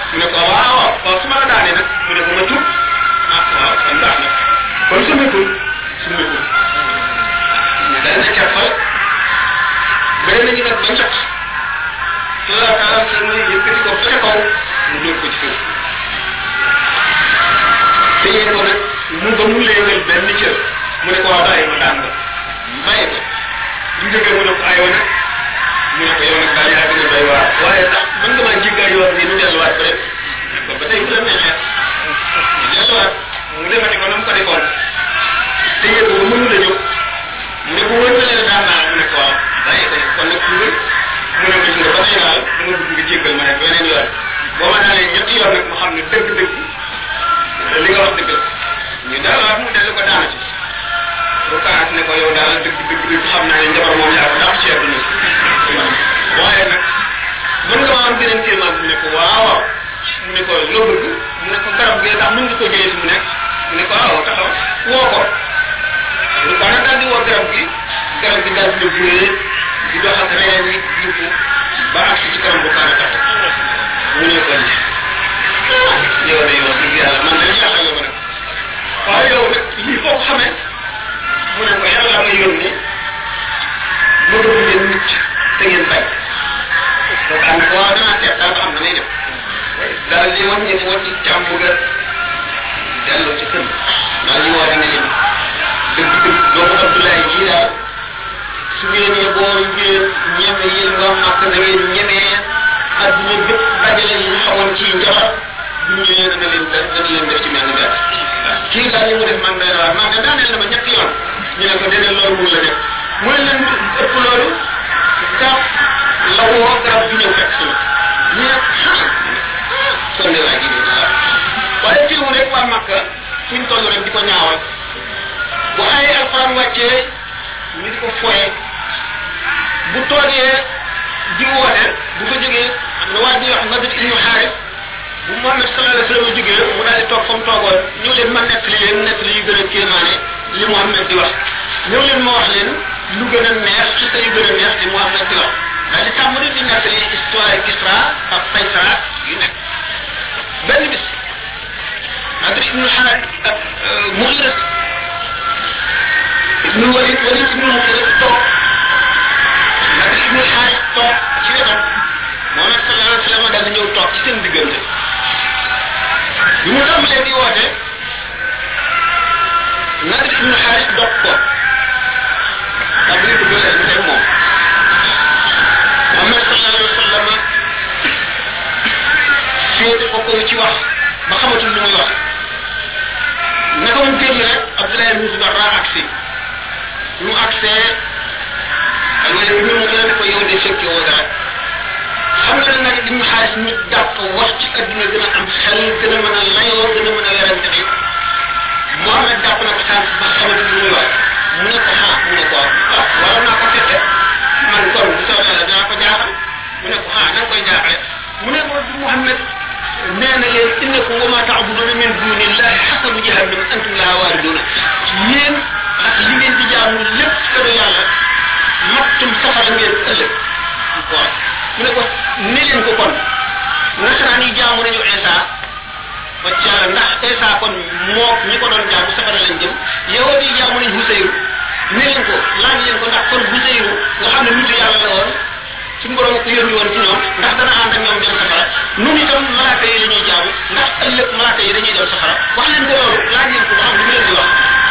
mu ne ko waaw waaw su ma la daanee nag mu ne ko ma tuub ah waaw kon baax na kon sumikul sumikul ñu dal na càppal bëri nañu nag ba njëkk la taala sa muy yëkkati ko fa kaw mu dóor ko ci suuf téye ko nag mu ba mu léegal benn cër mu ne ko waaw bàyyi ma daan ba bàyyi ko ñu jógee mu ne ko ayoo nag mu ne ko yow nag daal yaa gën a doy waar waaye sax mën nga maa jéggaay yoon bi nu delluwaat ba rek ko ba tey bu la neexee ñu delluwaat mu demati ko na mu ko defoon téye ko ba mënu la jóg mu ne ko wër na leen daan naa mu ne ko waaw bàyyi ko nag kon nag mu mu ne ko gis nga ba tey daal dama bëgg nga jéggal ma rek beneen yoon boo ma daalee ñetti yoon nag mu xam ne dëgg-dëgg li nga wax dëgg la ñu delluwaat mu dellu ko daana ci bu kaat ne ko yow daal dëgg dëgg dëgg xam naa ne njabar moom yaa ko dàq ci àdduna waaye nag mën nga ma am beneen kéemaan mu ne ko waaw waaw mu ne ko loo bëgg mu ne ko garab gi ndax mën nga ko jëlee fi mu nekk mu ne ko waaw taxaw woo ko lu ko nag daal di woo garab gi garab gi daal di buyee di dox ak reen yi yëpp ba ak ci kanam bu kaana tax mu ne ko ni yow de yow dëgg yàlla man dañ jaaxal nga ma nag waaye yow nag lii foo ko xamee mu ne ko yàlla ma yónni ma bëgg ngeen mucc te ngeen bañ donc am ko waaw danaa seet daal ba xam na may def daal di wàññi mu wàññi càmm ga delloo ci kër daal di woo dina leen dëgg dëgg doomu Abdoulaye jii daal su ngeen ne boo ngeen ñeme yéen nga màkk na ngeen ñemee adduna bépp dajale yi ñu xawoon ci njabar bu ñu ñëwee dana leen dana leen def ci mel ni benn kii daal li mu def man day waar man de daaneel na ma ñetti yoon ñu ne ko déedéet loolu mun la def mu ne leen ëpp loolu garab la woo garab bi ñëw fekk si ma ñu ne kon de waa ji de waaye fii mu rek waa Makka fuñ toll rek di ko ñaawal bu ay alxuraan wàccee ñu di ko foye bu toogee di woote bu ko jógee am na waa ji wax Nadir ibnu Xaaris bu Muhammad sallallahu alayhi wa sallam jógee mu daal di toog fa mu toogoon ñëw leen ma nekk li leen nekk li yu gën a kéemaane li Muhammad di wax ñëw leen ma wax leen lu gën a neex ci sa yu gën a neex li Muhammad di wax daal di tàmbali di nekk li histoire Kisra ak Qaysara yu nekk benn bis Nadir ibnu Xaaris ak Mughira ibnu Walid Walid ibnu Mughira toog Nadir ibnu Xaaris toog ci wetam Muhammad sallallahu alayhi wa sallam daal di ñëw toog ci seen diggante bi mu tàmbalee di woote Nadir ibnu Xaaris dog ko daal di bëgg leen teg moom Muhammad sallallahu alayhi wa sallam féete ko ko ci wax ba xamatul lu muy wax naka mu génn rek Abdoulaye ibnu Zubarra agsi ñu agsee ak nga ne ñu mu gën a ko yow de fekke woo dara xam nga nag ibnu Xaaris ñu jàpp wax ci adduna gën a am xel gën a mën a layoo gën a mën a werante bi Muhammad jàpp na ko sànq ba xamatul lu muy wax mu ne ko xaa mu ne ko ah waroon naa ko fekke man kon bu soobee yàlla dinaa ko jaaxal mu ne ko xaa na nga koy jaaxale mu ne ko Muhammad nee na leen innakum wa ma taabuduna min dunillahi xasabu jahannam antum laha waariduna yéen ak li ngeen di jaamu lépp këru yàlla mattum safara ngeen ëllëg waaw mu ne ko ne leen ko kon nasaraan yi jaamu nañu Isa ba ci yàlla ndax Isa kon moo ñi ko doon jaamu safara lañ jëm yow di jaamu nañ Huseyru ne leen ko laaj leen ko ndax kon Huseyru nga xam ne nitu yàlla la woon suñu borom ko yónni woon ci ñoom ndax dana ànd ak ñoom dem safara nun itam malaaka yi la ñuy jaamu ndax ëllëg malaaka yi dañuy dem safara wax leen ko loolu laaj leen ko ba xam lu mu leen di wax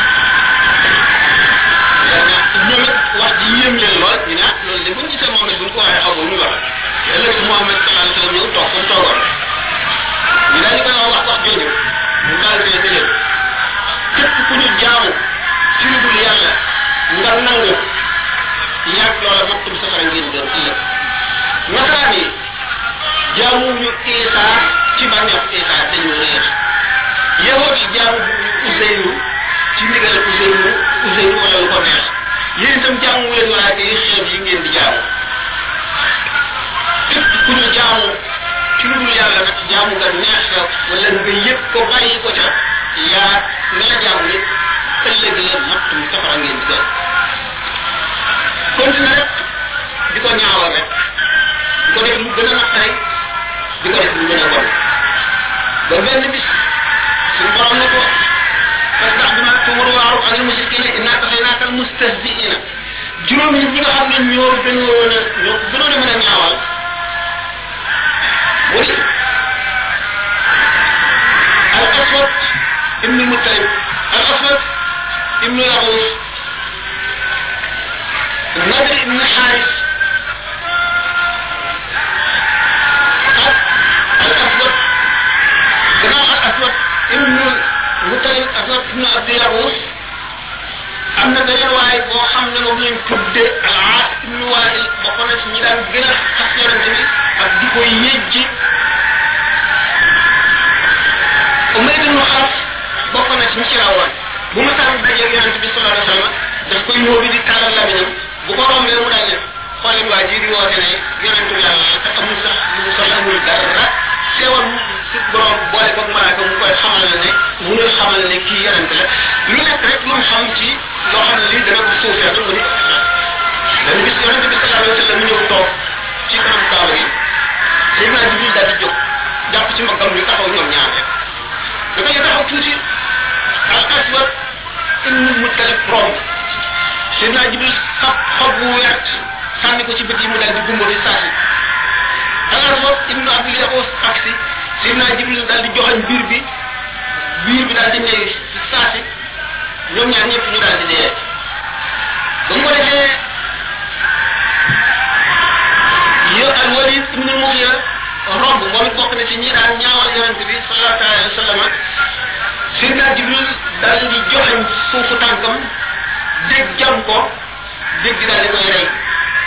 ñoom it wax ji yéem leen lool ñu ne ah loolu de buñ gisee moom buñ ko waxee xaw ma lu muy wax ëllëg Muhammad sallallahu alayhi wa sallam ñëw toog comme toogoon ñu daal di koy wax wax jooju mu daal di leen leen képp ku ñu jaamu ci lu dul yàlla nga nangu yàgg loola mattum safara ngeen doon ëllëg nasaraan yi jaamuñu Isa ci bànneex Isa dañu réer yahood yi jaamu Useyru ci ndigal Useyru Useyru wala lu ko neex yéen itam jaamu leen malaaka yi xeet yi ngeen di jaamu képp ku ñu jaamu ci lu dul yàlla nag jaamu nga neex la wala nga yëg ko bàyyi ko ca yaa nga la jaamu nit ëllëg la mattum safara ngeen di doon continue rek di ko ñaawal rek di ko def lu gën a naqare di ko def lu gën a bon ba benn bis suñu borom ne ko fasdax bi ma tuumar waaru anil mushrikina innaa kafaynaakal mustahzi'ina juróom ñi ñi nga xam ne ñoo gënoon a ñoo gënoon a mën a ñaawal mu ni al aswad ibnu mutalib al aswad ibnu yaxuus nadir ibnu xaaris ak al aswad gannaaw al aswad ibnu mutalib aswad ibnu abdi yaxuus am na beneen waay boo xam ne moom lañ tudde al aas ibnu wail bokk na ci ñi daan gën a xas yonente bi ak di ko yëjji Umayr ibnu Xalaf bokk na ci ñi ci rawoon bu ma saan dajeeg yonente bi sallallahu alayhi wa sallam daf koy ñëw bi di tàllal lamiñam bu ko rombee mu daal ne xooleen waa ji di woote ne yonente bi yàlla te amul sax lu mu sol amul dara teewal si borom boole boog malaaka mu koy xamal la ne mu ngi xamal ne kii yonente la lu nekk rek lu mu xam ci loo xam ne lii dana ko suufee mu ni benn bis yonente bi sallallahu alayhi wa sallam mu ñëw toog ci kanam kaaba gi Seydina Jibril daal di jóg jàpp ci mbaggam ñu taxaw ñoom ñaar rek dafa ñu taxaw tuuti al aswad ibnu mutalib romb Seydina Jibril xab xob bu wert sànni ko ci bët yi mu daal di gumba fi saasi al aswad ibnu abdul yaxuus aksi Seydina Jibril daal di joxañ biir bi biir bi daal di néew ci saasi ñoom ñaar ñëpp ñu daal di dee ba mu ko defee yow al walid ibnu mughira romb moom it bokk na ci ñi daan ñaawal yonente bi sallallahu alayhi wa sallam Seydina Jibril daal di joxañ suufu tànkam dégg jam ko dégg daal di koy rey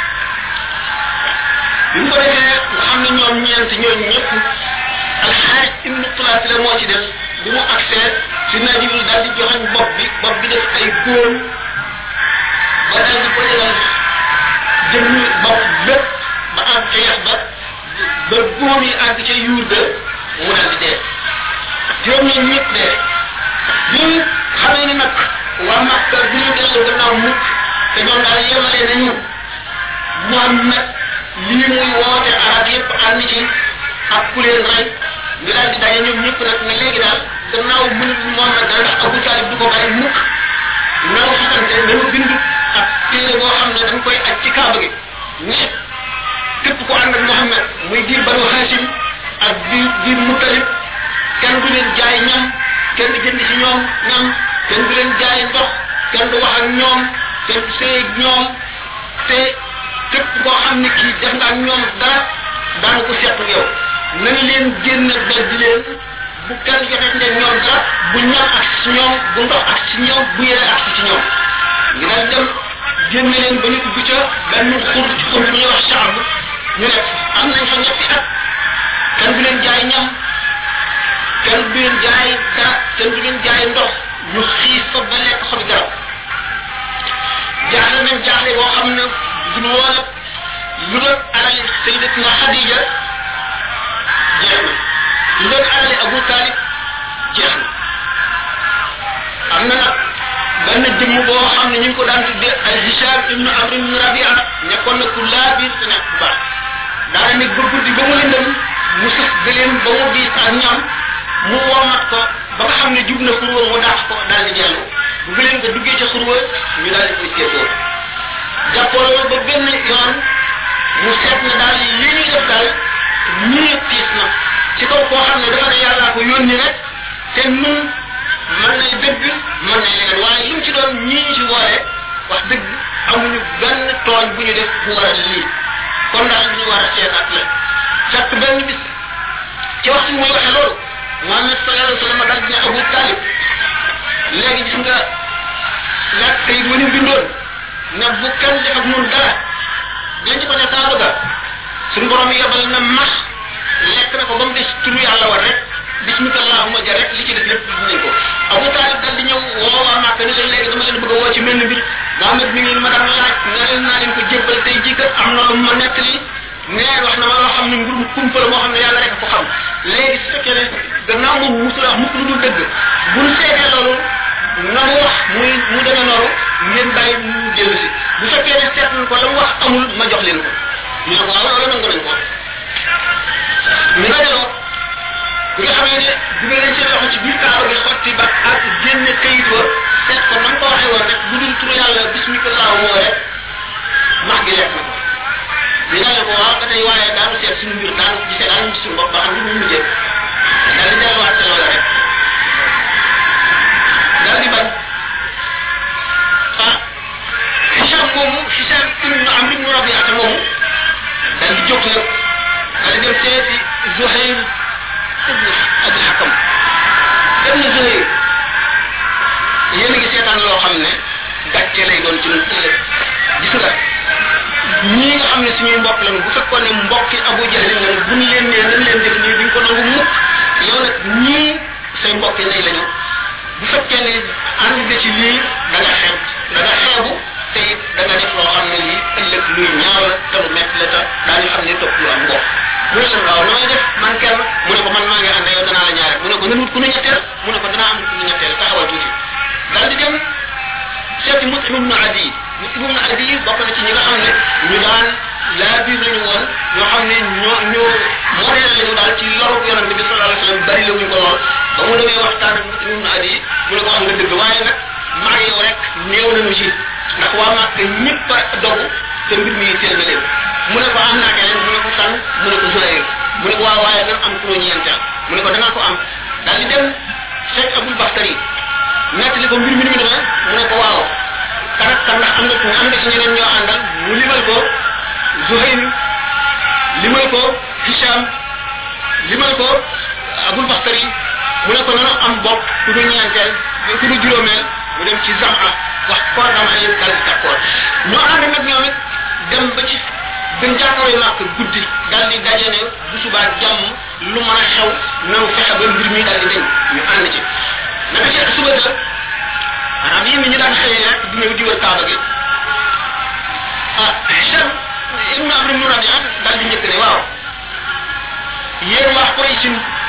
bi mu ko defee nga xam ne ñoom ñeent ñooñu ñëpp alxaaris ibnu tulaati la moo ci def bi mu agsee Seydina Jibril daal di joxañ bopp bi bopp bi def ay góom ba daal di ko jëlal jëmmi bopp bépp ba àgg ca yax ba ba góom yi àgg ca yuur ga mu daal di dee juróom ñi ñëpp dee bi xamee ni nag waa Makka bi ñu dellu gannaaw mukk te ñoom daal yemale nañu Muhammad lii muy woote arab yëpp ànd ci ak ku leen rey ñu daal di daje ñoom ñëpp nag ne léegi daal gannaaw mënut Muhammad daal ndax Abu Talib du ko bàyyi mukk nanu xamante nañu bind ak téere boo xam ne dañ koy aj ci kaaba gi ñëpp képp ko ànd ak Muhammad muy diir Banu Hashim ak diir diir Mutalib kenn du leen jaay ñam kenn du jënd ci ñoom ñam kenn du leen jaay ndox kenn du wax ak ñoom kenn du sëy ak ñoom te képp koo xam ne kii def nga ak ñoom dara daanu ko seet ak yow nañu leen génn beddi leen bu kenn joxe ne ñoom dara bu ñam ak ci ñoom bu ndox ak ci ñoom bu yére ak ci ñoom ñu daal dem génn leen ba ñu dugg ca benn xur ci xur bu ñuy wax Saab ñu nekk am nañ fa ñetti at kenn du leen jaay ñam kenn du leen jaay dara kenn du leen jaay ndox ñu xiif fa ba lekk xobi garab jaaxle nañ jaaxle boo xam ne du lu woon lu doon alali Sayyidatuna Xadija jeex na lu doon alali Abu Talib jeex na am na nag benn jëmm boo xam ne ñu ngi ko daan tuddee al Hisham ibnu Amr ibnu Rabia nekkoon na ku laa biir te nekk bu baax daana nekk ba guddi ba mu lëndëm mu sëf gëleem ba mu diis ak ñam mu womat ko ba nga xam ne jub na xurwa mu daax ko daal di dellu bu gëleem nga duggee ca xurwa ñu daal di koy seetoo jàppoo ba benn yoon mu seet ne daal li ñuy def daal ñii tiis na ci kaw koo xam ne dafa ne yàllaa ko yónni rek te nun mën nay dëgg mën nay leneen waaye lu mu ci doon ñii ñu ci woore wax dëgg amuñu benn tooñ bu ñu def bu war a lii kon daal li ñu war a seetaat la fekk benn bis ci waxtu muy waxe loolu Muhammad sallallahu alayhi wa sallam daal dina Abu Talib léegi gis nga laaj kayit wa ñu bindoon ne bu kenn def ak ñun dara denc ko ne kaaba ga suñu borom yebal na max lekk na ko ba mu des turu yàlla war rek bismika allahumma ja rek li ci def lépp dinañ ko Abu Talib dal di ñëw woo waa Màkka ni leen léegi dama leen bëgg a woo ci mel ni mbir Muhammad mi ngi ma daan laaj nga leen naa leen ko jébbal tey jii kat am na lu ma nekk li nee wax na ma loo xam ne mbirum kumpa la moo xam ne yàlla rek a ko xam léegi su fekkee ne gannaaw moom musul wax mukk lu dul dëgg buñ seetee loolu na mu wax muy mu demee noonu ngeen bàyyi mu dellu si bu fekkee ne seet nañ ko la mu wax amul ma jox leen ko ñu ne ko waaw loolu nangu nañ ko ñu dajaloo bi nga xamee ne dugal nañ seen loxo ci biir kaaba gi xotti ba ak génne kayit wa seet ko nam ko waxee woon rek bu dul turu yàlla bismillah moo rek max gi lekk na ko ñu daal ko waaw ba tey waaye daanu seet suñu mbir daanu gisee daanu gis suñu bopp ba xam lu ñu mujjee daal di delluwaat sa loola rek daal di bañ ah Hicham moomu Hicham ibnu Amr ibnu Rabiata moomu daal di jóg nag daal di dem seeti Zuhayr ibnu Abi Hakam dem na Zuhayr yéen a ngi seetaan loo xam ne gàcce lay doon ci ñun ëllëg gis nga ñii nga xam ne suñuy mbokk lañu bu fekkoon ne mbokki Abu Jahl lañu bu ñu leen nee nañ leen def nii duñ ko nangu mukk yow nag ñii say mbokki nay lañu bu fekkee ne ànd nga ci lii da nga xeeb da nga xeebu te it da nga def loo xam ne lii ëllëg luy ñaaw la te lu metti la te daañu xam ne topp lu am mbokk mu ne leen waaw nooy def man kenn mu ne ko man maa ngi ànd yow danaa la ñaare mu ne ko nan wut ku nu ñetteel mu ne ko danaa am ku nu ñetteel taxawal tuuti daal di dem seeti Mut'im ibnu Adi Mut'im ibnu Adi bokk na ci ñi nga xam ne ñu daan laa biir lañu woon ñoo xam ne ñoo ñoo modèle lañu daal ci loru yonente bi sallallahu alayhi wasallam bari la wuñ ko lool ba mu demee waxtaan ak Mut'im ibnu Adi mu ne ko am nga dëgg waaye nag maa yow rek néew nañu ci ndax waa Màkka ñëpp a dogu te mbir mi teel na leen mu ne ko am naa keneen mu ne ko kan mu ne ko Zuhayr mu ne ko waaw waaye nan am ku ñu ñeenteel mu ne ko danaa ko am daal di dem fekk Abul Bakhtari nettali ko mbir mi ni mu demee mu ne ko waaw kan ak kan ndax am nga am nga ci ñeneen ñoo àndal mu limal ko Zuhayr limal ko Hicham limal ko Abul Bakhtari mu ne ko nanu am bopp ku du ñeenteel ku du juróomeel mu dem ci Zama wax ko dama ay dal di d'accord ñoo ànd nag ñoom it dem ba ci gën jàkkaaroo màkk guddi daal di daje ne bu subaa jàmm lu mën a xew nanu fexe ba mbir mi daal di dañ ñu ànd ci naka ci suba sa maanaam yéen ñi ñu daan xëyee rek di ñëw di wër kaaba gi ah Hicham ibnu Amr ibnu Rabia daal di njëkk ne waaw yéen waa Quraysh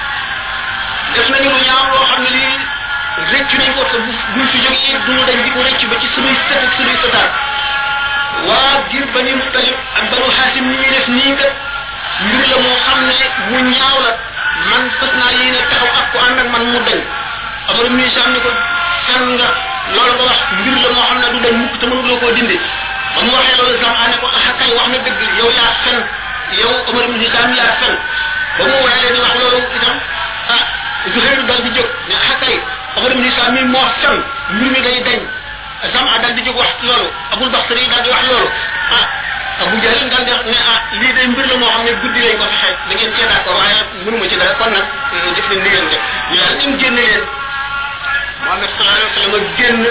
def nañu lu ñaaw loo xam ne lii rëccu nañ ko te bu buñ fi jógee duñu dañ di ko rëcc ba ci sunuy sët ak sunuy sëtaat waa ngir Bani Muttalib ak Banu Haasim ni ñuy def nii kat mbir la moo xam ne mu ñaaw la man fas naa yéene taxaw ak ko ànd ak man mu dañ Amar ibn Hisham ni ko fen nga loolu nga wax mbir la moo xam ne du dañ mukk te mënuloo koo dindi ba mu waxee loolu Zama ne ko ah kay wax na dëgg yow yaa fen yow Amar ibn Hisham yaa fen ba mu waxee di wax loolu itam ah Zuhayr dal di jóg ne ah kay Amar ibn Hisham mi moo fen mbir mi day dañ Zama dal di jóg wax loolu Abul Bakhtari dal di wax loolu ah Abu Jahl dal di wax ne ah lii day mbir la moo xam ne guddi lañ ko fexe da ngeen cee d'accord waaye mënuma ci dara kon nag def leen li ngeen def ñu daal dem génne leen Muhammad sallallahu alayhi wa sallam génn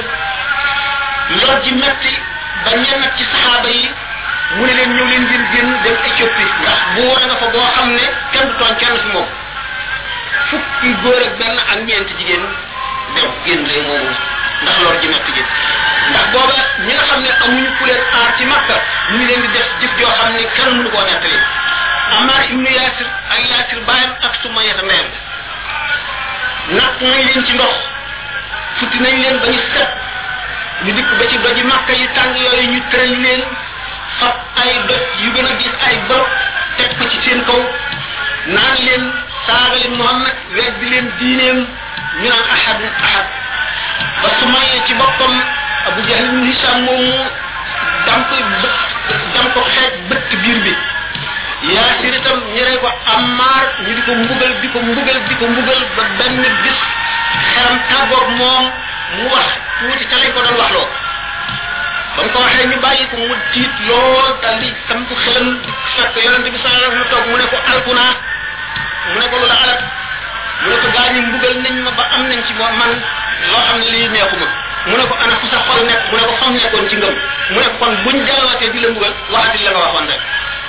lor ji metti ba ñenn ci saxaaba yi mu ne leen ñëw leen ngeen génn dem Éthiopie ndax bu war nga fa boo xam ne kenn du tooñ kenn fi moom fukki góor ak benn ak ñeenti jigéen dem génn leen moomu ndax lor ji metti ji ndax booba ñi nga xam ne amuñu ku leen aar ci Makka ñu ngi leen di def jëf joo xam ne kenn mënu koo nettali Ammar ibnu Yasir ak Yasir baayam ak Sumayya ndeyam natt nañ leen ci ndox futti nañ leen ba ñu set ñu dikk ba ci doji Makka yi tàng yooyu ñu tëral leen fab ay doj yu gën a gis ay bopp teg ko ci seen kaw naan leen saaga leen Muhammad weddi leen diineem ñu naan ahad ahad ba Sumayya ci boppam Abu Jahl ibn Hisham moomu dam ko dam ko xeej bëtt biir bi Yaasir itam ñere ko Ammar ñu di ko mbugal di ko mbugal di ko mbugal ba benn bis xeram tàggoog moom mu wax tuuti ca lañ ko doon wax loo ba mu ko waxee ñu bàyyi ko mu tiit lool dal di sam ko xelam fekk yonente bi sallallahu alayhi wa sallam toog mu ne ko alkuna mu ne ko lu la alal mu ne ko gaa ñi mbugal nañ ma ba am nañ ci moom man loo xam ne lii neexuma mu ne ko ana fu sa xol nekk mu ne ko fam nekkoon ci ngëm mu ne ko kon buñ delluwaatee di la mbugal waxati la nga waxoon rek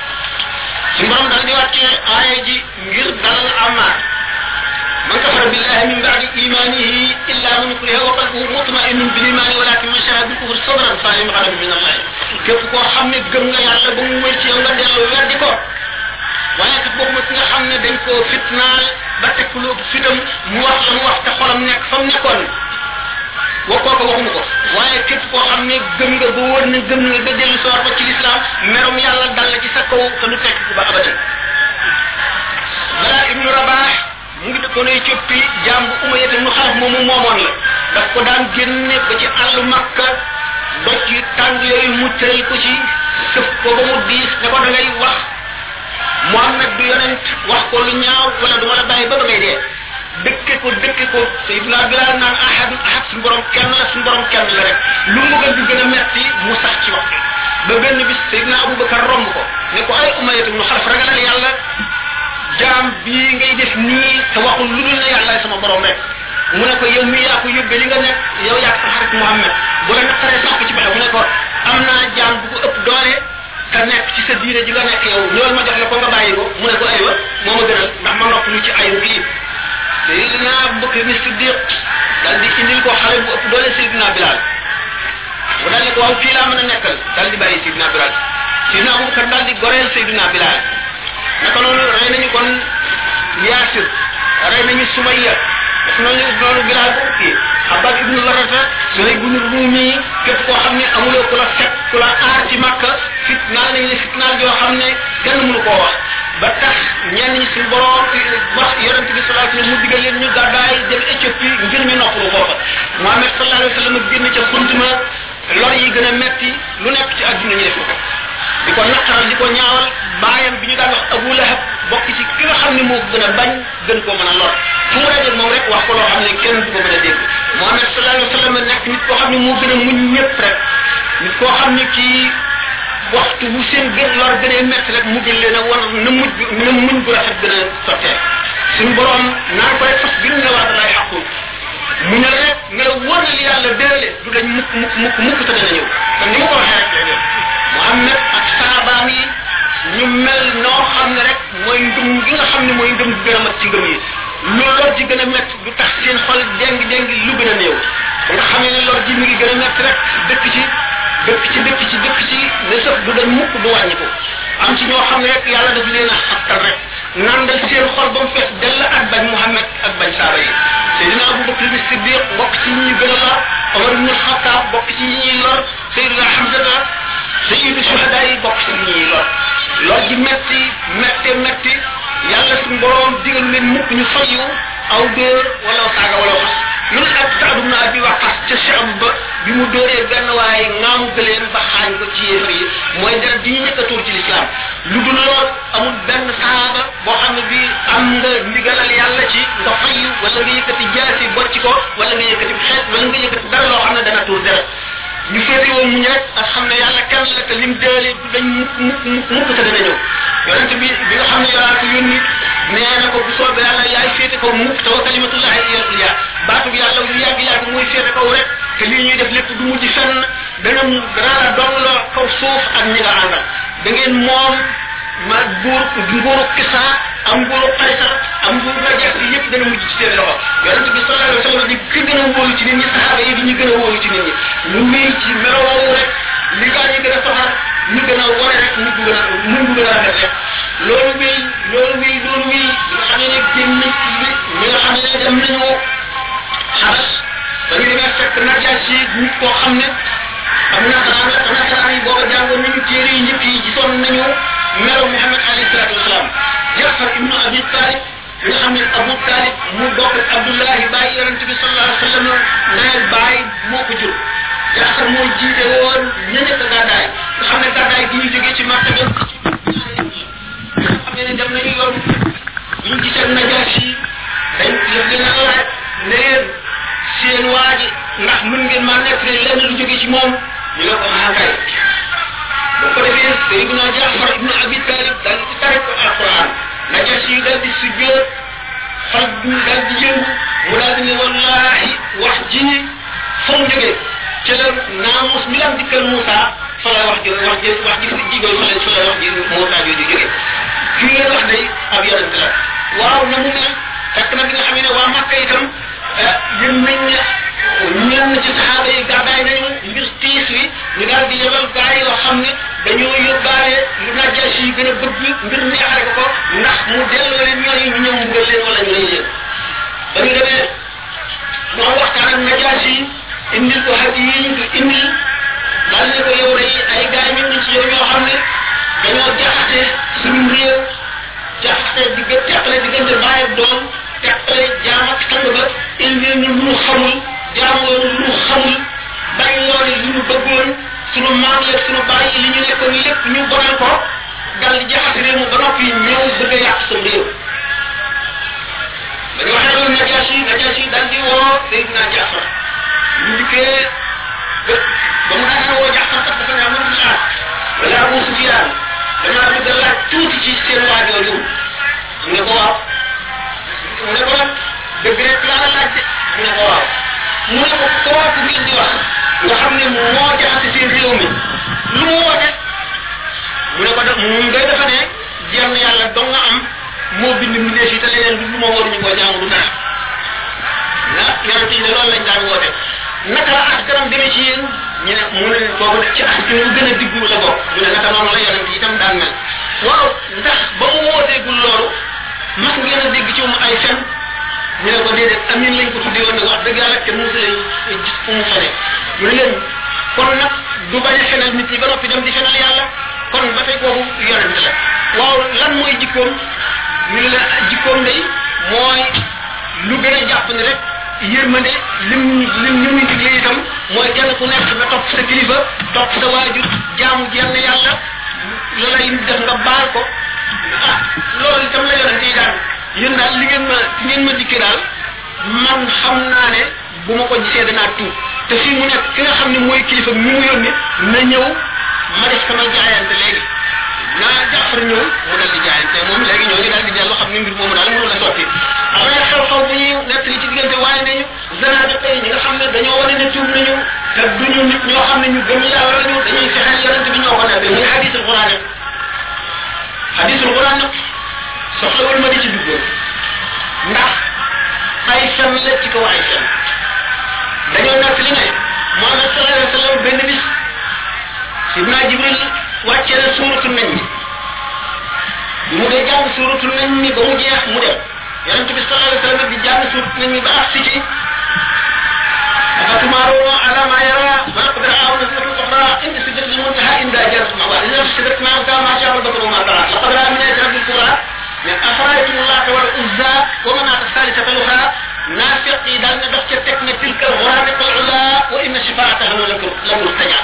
ci borom dal di wàccee aaya ji ngir dalal Ammar man kafara billahi min ba'di imanihi illa man ukriha wa qalbuhu mutma'innun bil imani walakin man shahida bil kufri sadran fa lim ghadab min Allah képp koo xam ne gëm nga yàlla ba mu wër ci yow nga dellu weddi ko waaye kat bokkuma ki nga xam ne dañ koo fitnaal ba teg lu fitam mu wax la mu wax te xolam nekk fa mu nekkoon wax kooku waxuma ko waaye képp koo xam ne gëm nga ba wóor na gëm nga ba dellu soor ba ci lislaam merom yàlla dal la ci sa kaw te lu fekk ba abadan Bara ibnu Rabah mu ngi dëkkoon nekkoon Éthiopie jaam bu Umayya ibn Xalaf moomu moomoon la daf ko daan génne ba ci àllu Makka doj yu tàng yooyu mu tëral ko ci sëf ko ba mu diis ne ko da ngay wax Muhammad du yonent wax ko lu ñaaw wala du ma la bàyyi ba ba ngay dee dëkke ko dëkke ko Seydina Bilal naan ahad ahad suñu borom kenn la suñu borom kenn la rek lu mu gën di gën a metti mu sax ci wax ba benn bis Seydina Abubakar romb ko ne ko ay Umayya ibn Xalaf ragalal yàlla jaam bii ngay def nii te waxul lu dul ne yàlla sama borom rek mu ne ko yow mii yaa ko yóbbee li nga nekk yow yaa ko sa xarit Muhammad bu la naqaree sax ko ci pexe mu ne ko am naa jaam bu ko ëpp doole te nekk ci sa diine ji nga nekk yow ñëwal ma jox la ko nga bàyyi ko mu ne ko aywa moo ma gënal ndax ma nopp lu ci ayu bii Seydina Abubakar ni Siddiq dal di indil ko xale bu ëpp doole Seydina Bilal mu dal ne ko waaw fii laa mën a nekkal dal di bàyyi Seydina Bilal Seydina Abubakar dal di goreel Seydina Bilal naka noonu rey nañu kon Yaasir rey nañu Sumayya def nañu noonu Bilal bu kii Abbas ibnu Larata Suhayb ibnu Rumi képp koo xam ne amuloo ku la fekk ku la aar ci Makka fitnaal nañu ne fitnaal yoo xam ne kenn mënu koo wax ba tax ñenn ñi suñu borom wax yonent bi sallallahu alayhi wa sallam mu digal leen ñu gàddaay dem Éthiopie ngir ñu noppalu foofa Muhammad sallallahu alayhi wa sallam génn ca xuntuma lor yi gën a metti lu nekk ci àdduna ñu def ko di ko naqaral di ko ñaawal baayam bi ñu daan wax Abu Lahab bokk ci ki nga xam ne moo ko gën a bañ gën koo mën a lor fu mu dajeeg moom rek wax ko loo xam ne kenn du ko mën a dégg Muhammad sallallahu alayhi wa sallam nekk nit koo xam ne moo gën a muñ ñëpp rek nit koo xam ne kii waxtu bu seen gën lor gënee métti rek mu gën leen a war na mujj na muñ bu rafet gën a sottee suñu borom naan ko rek fas bi nga waat lay xaqul mu ne rek nga la wóor na li yàlla déele du dañ mukk mukk mukk mukk te dana ñëw kon ni ma ko waxee rek Muhammad ak saabaam yi ñu mel noo xam ne rek mooy ndum gi nga xam ne mooy ndum gi gën a mat ci ngëm yi lu lor ji gën a métti du tax seen xol déng déng lu gën a néew ba nga xamee ne lor ji mi ngi gën a métti rek dëkk ci dëkk ci dëkk ci dëkk ci ne sax du dañ mukk du wàññi ko am ci ñoo xam ne rek yàlla daf leen a xattal rek nandal seen xol ba mu fees dell ak bañ Muhammad ak bañ saaba yi Seydina Abubakar bi Siddiq bokk ci ñi gën a lor Omar ibn Khattab bokk ci ñi ñuy lor Seydina Hamzata sayyidu shuhada yi bokk ci ñi ñuy lor lor ji metti metti metti yàlla suñu borom digal leen mukk ñu fayu aw dóor wala saaga wala xas lu ne ak Saad ibn Abi Waqqas ca Cheikh ba bi mu dóoree benn waaye ngaamu gëleen ba xaañ ko ci yéefar yi mooy dara di ñu njëkk a tuur ci lislaam lu dul lool amul benn saaba boo xam ne bii am nga ndigalal yàlla ci nga fayu wala nga yëkkati jaasi bocc ko wala nga yëkkati xeet wala nga yëkkati dara loo xam ne dana tuur dara ñu féete woon muñ rek ak xam ne yàlla kenn la te lim déele du dañ mukk mukk mukk mukk te dana ñëw yonent bi bi nga xam ne yàlla ko yónni nee na ko bu soobee yàlla yaay féete kaw mukk te wa kalimatullahi hiya al-ulya baatu bi yàlla lu yàgg yàgg mooy féete kaw rek te lii ñuy def lépp du mujj fenn dana dana la dongloo kaw suuf ak ñi nga àndal da ngeen moom ma buur nguuru Kisa am nguuru Qaysar am nguuru Najaas yi yëpp dana mujj ci seen loxo yonent bi sallallahu alayhi wa sallam di ki gën a wóolu ci nit ñi saxaaba yi di ñu gën a wóolu ci nit ñi lu muy ci melowoowu rek li gaa ñi gën a soxal ñu gën a wane rek ñu gën a mun bu gën a rafet rek loolu wi loolu wi loolu wi nga xam ne génn bi ñi nga xam ne dem nañu xaras ba ñu demee fekk Najaas yi nit koo xam ne am nasaraan la te nasaraan yi booba jàngoon nañu téere yi njëkk yi gisoon nañu melo Muhammad alayhi salaatu wasalaam Jaafar ibnu Abi Talib nga xam ne Abu Talib mu bokk ak Abdullahi bàyyi yonente bi sallallahu alayhi wa sallam ndeyal bàyyi moo ko jur Jaafar moo jiite woon ña nekk gàddaay nga xam ne gàddaay gi ñu jógee ci Makka ba nga xam ne dem nañu yoon ñu gisee Najaas yi dañ def leen a laaj ne leen seen waa ji ndax mën ngeen maa nekk lenn lu jógee ci moom ñu ne ko ah kay boo ko defee Seydina Jaafar ibnu Abi Talib daal di tari ko alquran Najaas yi daal di sujjoot xol bi daal di yëngu mu daal di ne wallahi wax ji fa mu jógee ca la naamus mi lam dikkal Moussa fa la wax ji wax ji wax ji si jigéen fa la fa la wax ji Moussa jooju jógee kii ngeen wax day ab yonent la waaw na mu mel fekk na bi nga xam ne waa Makka itam yëm nañ ne ñenn ci saxaaba yi gàddaay nañu ngir tiis wi ñu daal di yebal gaa yoo xam ne dañoo yóbbaale lu Najaas yi gën a bëgg ngir neexale ko ko ndax mu delloo leen ñooñu ñu ñëw mbugal leen wala ñu rey leen ba ñu demee moo waxtaan ak Najaas yi indil ko hadi yi ñu ko indil daal ne ko yow day ay gaa ñu ngi ci yow ñoo xam ne dañoo jaxate suñu réew jaxate digg teqale diggante baay ak doom teqale leen lu ñu xamul jaamoon lu ñu xamul bàyyi woon li ñu bëggoon sunu maam yeeg sunu bàyyi li ñu nekkoon lépp ñu bonal ko dal di jaxase réew mu ba noppi ñëw bëgg a yàq sam réew ba ñu waxee loolu Najaasi Najaasi dal di woo Seydina Jaafar ñu dikkee ba mu daan woo Jaafar kat dafa ne am na xaar wala Abu Sufyaan damaa bëgg a laaj tuuti ci seen waajooju mu ne ko waaw mu ne ko nag dëgg rek laa la laaj de mu ne ko waaw mu ne ko kooku ngeen di wax nga xam ne moo jaxase seen réew mi lu mu woote mu ne ko def moom day dafa ne jenn yàlla dong nga am moo bind mbindeef yi te leneen du moo waruñu koo jaamu du dara ah yonente yi de loolu lañ daan woote naka la askanam demee ci yéen ñu ne mu ne boobu ci askan yu gën a diggu la bokk mu ne naka noonu la yonente yi itam daan mel waaw ndax ba mu wooteegul loolu mas ngeen a dégg ci moom ay fen ñu ne ko déedéet amin lañ ko tuddee woon nag wax dëgg yàlla te mosu lay gis fu mu fene mu ne leen kon nag du bañ a fenal nit ñi ba noppi dem di fenal yàlla kon ba tey kooku yonent la waaw lan mooy jikkoom ñu ne la jikkoom day mooy lu gën a jàpp ne rek yërmande lim lim ñu muy digle itam mooy kenn ku nekk nga topp sa kilifa topp sa waajur jaamu jenn yàlla loola yi def nga baal ko ah loolu itam la yonent yi daan yéen daal li ngeen ma ci ngeen ma dikkee daal man xam naa ne bu ma ko gisee danaa tuub te fii mu nekk ki nga xam ne mooy kilifa mi mu yónni na ñëw ma def sama jaayante léegi naa Jaafar ñëw mu dal di jaayante moom léegi ñoo ngi daal di dellu xam ne mbir moomu daal mënu la sotti après xew-xew bu ñuy nekk li ci diggante waaye nañu zanaabi tey ñi nga xam ne dañoo wane ne tuub nañu te duñu nit ñoo xam ne ñu gëm yàlla lañu dañuy fexeel yonent bi ñoo ko nekk muy hadisul quran hadisul quran nag soxlawul ma di ci duggoon ndax ay fen la ci kaw ay fen dañoo nekk li ne Muhammad sallallahu alayhi wa sallam benn bis Sidna Jibril wàcce na suuratu nañ mi bi mu dee jàng suuratu nañ mi ba mu jeex mu dem yonente bi sallallahu alayhi wa sallam di jàng suuratu nañ mi ba agsi ci أفتمارون على ما يرى ولقد رآه نزلة أخرى عند سدرة المنتهى عند جنة المأوى إذا سدرة ما أنتهى ما شاء البصر وما طغى لقد رأى من آيات ربه الكبرى أفرأيتم اللات والعزى ومناة الثالثة الأخرى نافقي دال ندخ تكن تلك الغرابة العلا وإن شفاعتها لمستجاب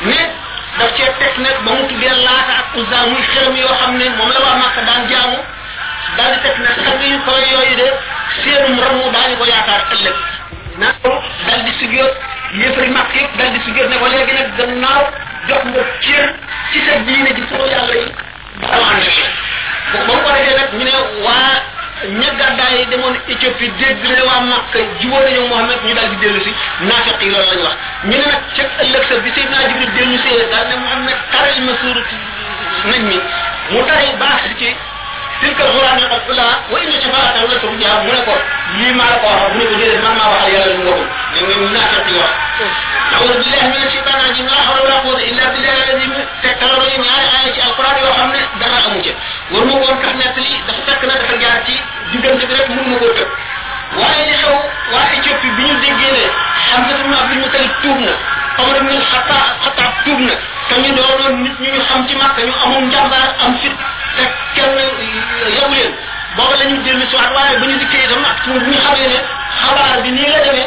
daf cee teg nag ba mu tuddee laata ak uzza muy xelam yoo xam ne moom la waa Màkka daan jaamu daal di teg nag sang yu koy yooyu de seenum ramu daañu ko yaakaar ëllëg naa ko dal di sujjóot yéefari Màkk yëpp dal di sujjóot ne ko léegi nag gannaaw jox nga cër ci sa diine ji soo yàlla yi dawaan ba mu ko defee nag ñu ne waa ña gàddaay yi demoon Éthiopie dégg ne waa Màkka jubóo nañu Muhammad ñu daal di dellu si naafiq yi loolu lañ wax ñu ne nag ca ëllëg sa bi Seydina Jibril dellu see daal ne Muhammad taral ma suuratu nañ mi mu tari baax ci tilka alquran al ula wa inna shafaata la turja mu ne ko lii maa la ko wax mu ne ko déedéet man maa waxal yàlla lu mu waxul ne ñu naafiq yi wax a'udhu billahi minash shaitanir rajim la hawla wala quwwata illa billahi alazim te talaro yi ñaari aaya ci alquran yoo xam ne dara amu ci war ma woon tax nekk li dafa fekk na dafa jaar ci diggante bi rek mun ma koo tëb waaye li xew waa Éthiopie bi ñu déggee ne Hamza ibn Abdul Muttalib tuub na Omar ibn Khattab Khattab tuub na te ñu doonoon nit ñu ñu xam ci Makka ñu amoon njàmbaar am fit te kenn yabu leen booba la ñu dellu si waat waaye ba ñu dikkee itam ak bu ñu xamee ne xabaar bi nii la demee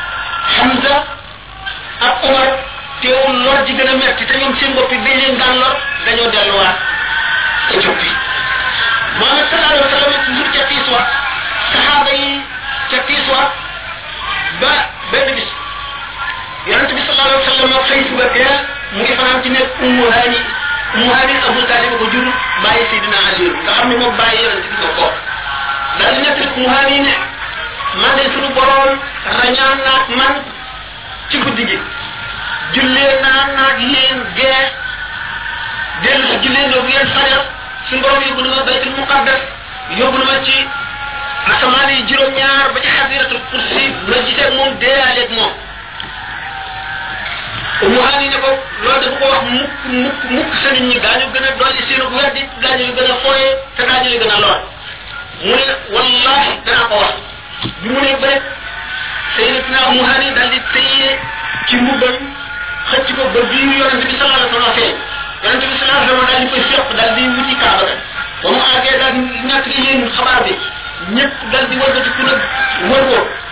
Hamza ak Omar teewul lor ji gën a metti te ñoom seen bopp yi dañ leen daan lor dañoo delluwaat Éthiopie Muhammad sallallahu alayhi wa sallam toujours ca Tiiswa saxaaba yi ca Tiiswa ba benn bis yonent bi sallallahu alayhi wa sallam xëy suba teel mu ngi fanaan ci nekk Ummu Haani Ummu Haani Abu Talib ko jur bàyyi Seydina Ali nga xam ne moom bàyyi yonent bi ko daal di nekk Ummu Haani ne man de suñu borom rañaan naag man ci guddi gi jullee naa naag yéen gee dellu si jullee ndoo bu yéen fajar suñu borom yóbbu na ma baytul muqaddas yóbbu na ma ci asamaan yi juróom-ñaar ba ci xasiratul kursi ma gisee moom deeyaaleeg moom Ummu Haani ne ko loolu dafa ko wax mukk mukk mukk sa nit ñi daañu gën a dolli seenu weddi daañu gën a fooye te daañu li gën a lor mu ne wallahi danaa ko wax bi mu ne ba rek Sayyidatina Ummu Haani daal di téye ci mbubbam xëcc ko ba biir yonent bi sallallahu alayhi wa sallam feeñ yonent bi sallallahu alayhi wa sallam daal di koy féq daal di wuti kaaba ga ba mu àggee daal di ñàkk li yéen xabaar bi ñëpp daal di wëlbati ku nag wër ko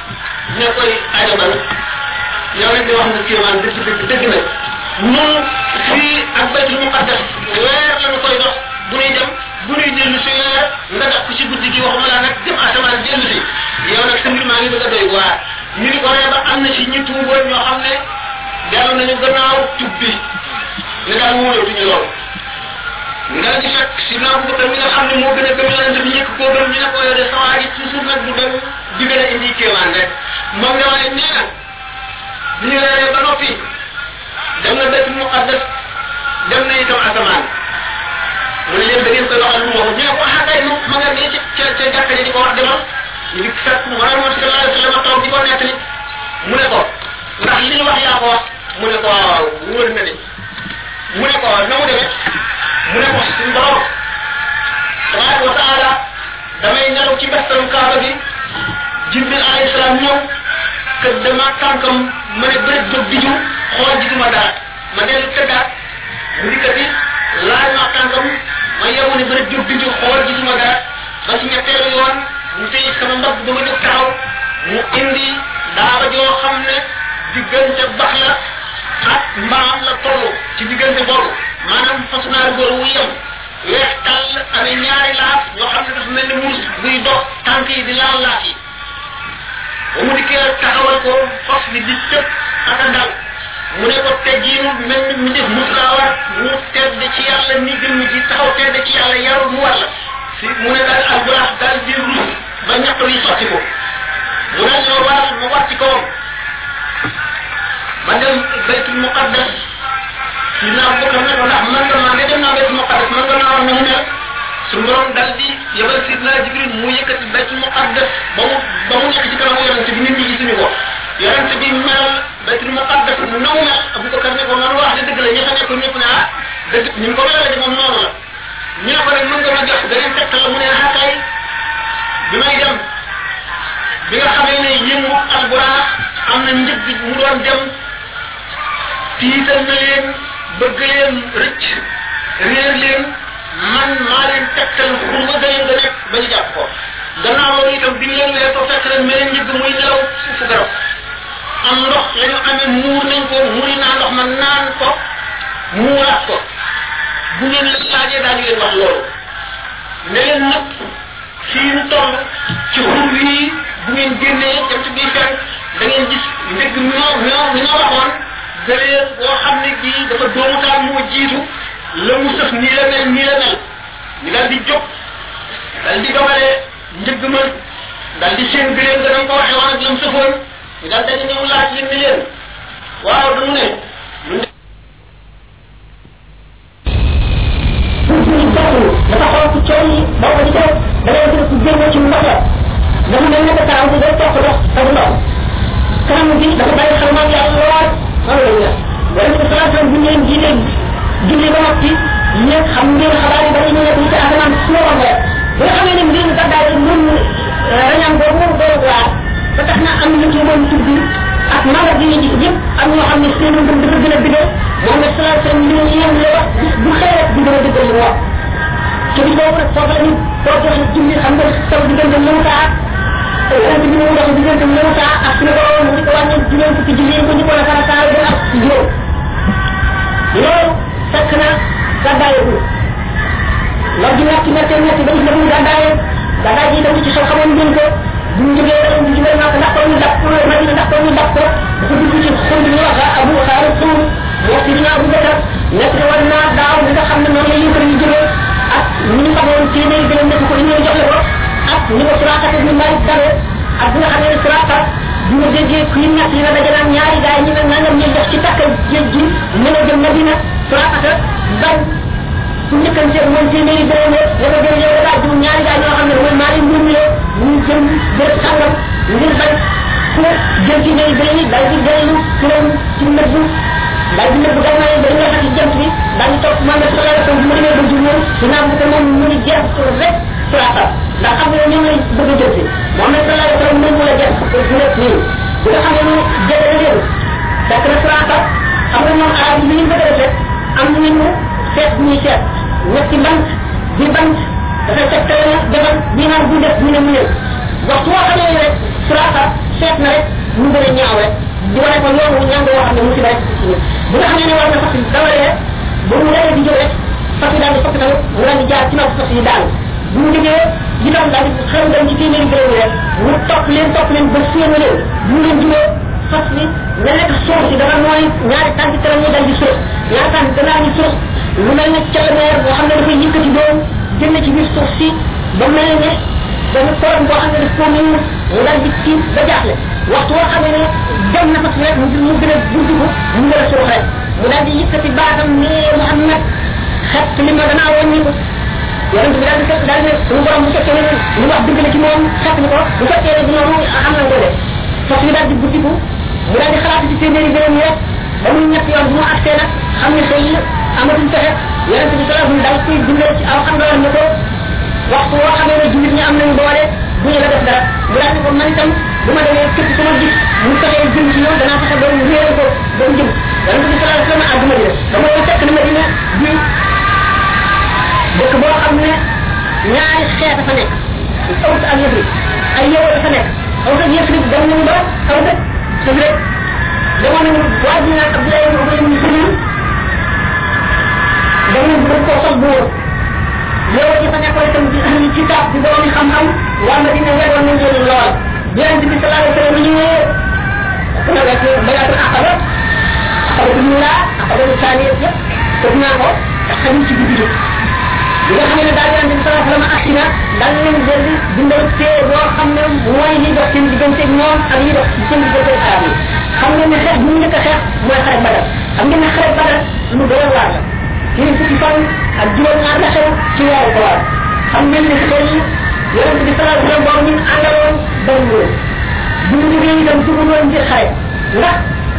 ne koy ajabal yow nag di wax nga kéemaan dëgg dëgg dëgg nag ñun fii ak baytul muqaddas weer lañu koy dox bu ñuy dem bu ñuy dellu si weer nga def ko ci guddi gi waxuma laa nag dem asamaan dellu si yow nag sa mbir maa ngi bëgg a doy waar ñu ni ko ree ba am na ci ñi tuuboon ñoo xam ne dellu nañu gannaaw tub bi ne daal wóolatuñu lool nga di fekk si naa bu mi nga xam ne moo gën a gëm yonente bi ñëkk koo gëm ñu ne ko yow de sawaa ji toujours nag bu dem di gën a indi kéemaan rek moom nga waaye nee na bi ñu reeree ba noppi dem na baytul muqaddas dem na itam asamaan mu ne leen da ngeen koy waxal lu mu waxu ñu ne ko xakay mu ma nga ne ca ca jàkka ji di ko wax demal ñu di fekk Muhammad sallallahu alayhi wa sallam toog di ko nettali mu ne ko ndax li ñu wax yaa ko wax mu ne ko waaw wóor na de mu ne ko na mu demee mu ne ko suñu borom tabaraka wa taala damay nelaw ci bestarum kaaba bi jibril alayhi salaam ñëw que dama tànkam ma ne bëri jóg di ju xool gisuma dara ma dellu tëddaat mu dikkati laaj ma tànkam ma yewu ne bëri jóg di ju xool gisuma dara ba ci ñetteelu yoon mu tëj sama mbagg ba ma jóg taxaw mu indi daaba joo xam ne diggante bax la ak mbaam la toll ci diggante boobu maanaam fas naa góor wu yem weex tàll amee ñaari laaf yoo xam ne dafa mel ni muus buy dox tànk yi di laal laaf yi ba mu dikkee taxawal ko fas bi di tëb ak a dal mu ne ko teggiinu mel ni mu def mus laa war mu tedd ci yàlla ni gën ji taxaw tedd ci yàlla yarul mu war la si mu ne daal alburax daal di rus ba ñaq yi sotti ko mu daal ñoo waral ma war ci kawam ma dem baytul muqaddas si naa ko xam ne ko ndax man nga maa nga dem naa baytul muqaddas man nga naa war na mu mel suñu borom dal di yebal sidna jibril mu yëkkati baytul muqaddas ba mu ba mu nekk ci kanamu yonente bi nit ñi gisuñu ko yonente bi mel baytul muqaddas na mu mel abubakar ne ko noonu wax de dëgg la ña fa nekk ñëpp ne ah dëgg ñu ngi ko melale de moom noonu la ñu ne ko nag mën nga ma jox beneen tegtal la mu ne ah kay bi may dem bi nga xamee ne yëngu alburaax am na njëg bi mu doon dem tiital na leen bëgg leen rëcc réer leen man maa leen tegtal pour ma gën nga nekk ba ñu jàpp ko gannaaw loolu itam bi ñu leen weer ko fekk leen meneen njëg muy nelaw suufu garab am ndox la ñu amee muur nañ ko muri naa ndox ma naan ko muuraat ko bu ngeen la laajee daañu leen wax loolu ne leen nag fii ñu toll ci xur wii bu ngeen génnee jant bi fenk da ngeen gis ndëgg ñoo ñoo ñoo waxoon gëleer boo xam ne bii dafa doomu taal moo jiitu la mu sëf nii la mel nii la mel ñu daal di jóg daal di dogale njëgg ma daal di seen gëleer nga danga ko waxee woon ak la mu sëfoon ñu daal dañu ñëw laaj leen ni leen waaw dañu ne dafa xool ci coow yi boo ko di def da ngay gis ku génne ci ndox la dafa mel ne taxaw bi day topp ndox ak ndox kanam bi dafa bàyyi xel moom yàlla lool loolu la wala ko salaatu bu ñu leen jiite julli ba noppi ñeeg xam ngeen xabaar yi bari ñu nekk ci asamaan su ma waxee bi nga xamee ne mbir mi gàddaay moom rañam boobu doon waar ba tax na am na ci moom tudd ak magal yi ñu gis yëpp am ñoo xam ne seen ngëm dafa gën a bidee moom ne salaatu li ñu yéen la wax bu xëy rek di gën a dëggal li mu wax ci bi boobu nag foofu la ñu boo joxe julli xam nga taw diggante ñëw saa yonente bi mu dox diggante ñëw saa ak suñu borom mu di ko wàññi juróom fukki julli ko ñu ko la fara saa ba ak juróom loolu fekk na gàddaayeegul loolu di metti metti metti ba gis na bu gàddaaye gàddaay ji dem ci xew xamoon ngeen ko bu ñu jógee rek ñu jógee naa ko ndax ko ñu dab madina ndax ko ñu dab ko dafa dugg ci xol bi ñu wax abu xaar suur moo ci dina abu bakar nekk war naa daaw li nga xam ne noonu la yëkkër ñu jógee ak ñu ñu xamoon téeméer gëlëm nekk ko ñu jox la ko ak ñu ko surakat ñu mari dare ak bi nga xam ne surakat bu ñu déggee ku ñu ñett yi na dajanaan ñaari gaay ñu ne nangam ñu def ci takkal géej gi mën a jëm madina surakat bañ su njëkkante moom téeméeri gëlëm la ko jël yow daal du ñaari gaay ñoo xam ne mooy mari mbir mi ñu jëm béréb sàngam ngir bañ ku jël ci ñooy gëlëm yi daal di gëlëmu turam ci nëbb daal di nëbb gànnaay ba nga xam ci jant bi daal di topp Muhammad sallallahu alayhi wa sallam bu mu demee ba jur moom dinaa bu ko moom mu ngi jeex rek surakat ndax xam nga ni ngay bëgg a jël si Muhammad sallallahu alayhi wa sallam moom mu la jeex bu nekk nii bi nga xam ne ni jël na leen fekk na surakat xam nga ñoom arab yi ñu bëgg a def am nañu seet ñuy seet ñetti bant bi bant dafay tegtale na defal bi naan bu def ñu ne mu ñëw waxtu woo xamee rek surakat seet na rek wane ko yoon wu ñàng woo xam ne musiba rek ci nit bu nga xamee ne war na fas dawalee bu mu leen di jóg rek fas yi daal di fokk tamit mu daal di jaar ci nopp fas yi daal bu mu jógee itam daal di xel dem ci téeméeri gërëm yi rek mu topp leen topp leen ba séenu leen bu mu leen jubee fas bi nga nekk suuf si dafa mooy ñaari tànk kanam ñi dal di suuf ñaari tànk gannaaw ñi suuf lu mel ne calameer boo xam ne dafay yëkkati doom génn ci biir suuf si ba mel ne benn tool boo xam ne daf koo mën mu dal di tiit ba jaaxle waxtu woo xam ne dem na fas rek mu mu gën a buntu ko mu gën a suuf rek mu dal di yëkkati baatam ne Muhammad xet li ma danaa wàññi ko yonent bi daal di fekk daal ne suñu borom bu fekkee ne li wax dëgg la ci moom xet ni ko bu fekkee ne dina mu am na ko de fas bi daal di buntiku mu daal di xalaat ci téeméeri gërëm yi rek ba muy ñett yoon bu mu agsee nag xam ne xëy amatul pexe yonent bi sallallahu daal koy dundal ci aw xam nga ne ko waxtu woo xamee ne jullit ñi am nañu doole bu ñu la def dara mu daal di ko man itam bu ma demee képp ku ma gis mu fexee jëm ci ñoom danaa fexe ba mu réere ko ba mu jëm yonent bi sallallahu alayhi wa sallam àdduna bi ba mooy fekk na Madina bi dëkk boo xam ne ñaari xeet a fa nekk Aws ak Yasrib ay yow dafa nekk Aws ak Yasrib dem nañu ba aw dëkk dëgg rek demoon nañu waa ji naan Abdoulaye ibn Ubay ibn Salul dem nañu bëgg koo sox bu wóor yow ci fa nekkoon itam di ahli kitaab di borom xam-xam waa Madina weeroon nañ leen lool yonent bi sallallahu alayhi wa sallam ñëwee dana rek bayatul aqaba aqaba ñu la aqaba ñu saani yëpp tëdd naa ko ak xamul ci guddi bi nga xam ne daal yonent bi sallallahu alayhi wa sallam agsi na daal leen jël bindal tee boo xam ne mooy li dox seen diggante ñoom ak li dox seen diggante arab yi xam ngeen ne xeex bu ñu njëkk a xeex mooy xare Badar xam ngeen ne xare Badar lu doy waar la ci fukki fan ak juróom ñaar la xew ci weeru koor xam ngeen ne xeex yi yonent bi sallallahu alayhi wa sallam boobu ñu àndaloon doon lool bu ñu jógee itam dugg loon ngir xare ndax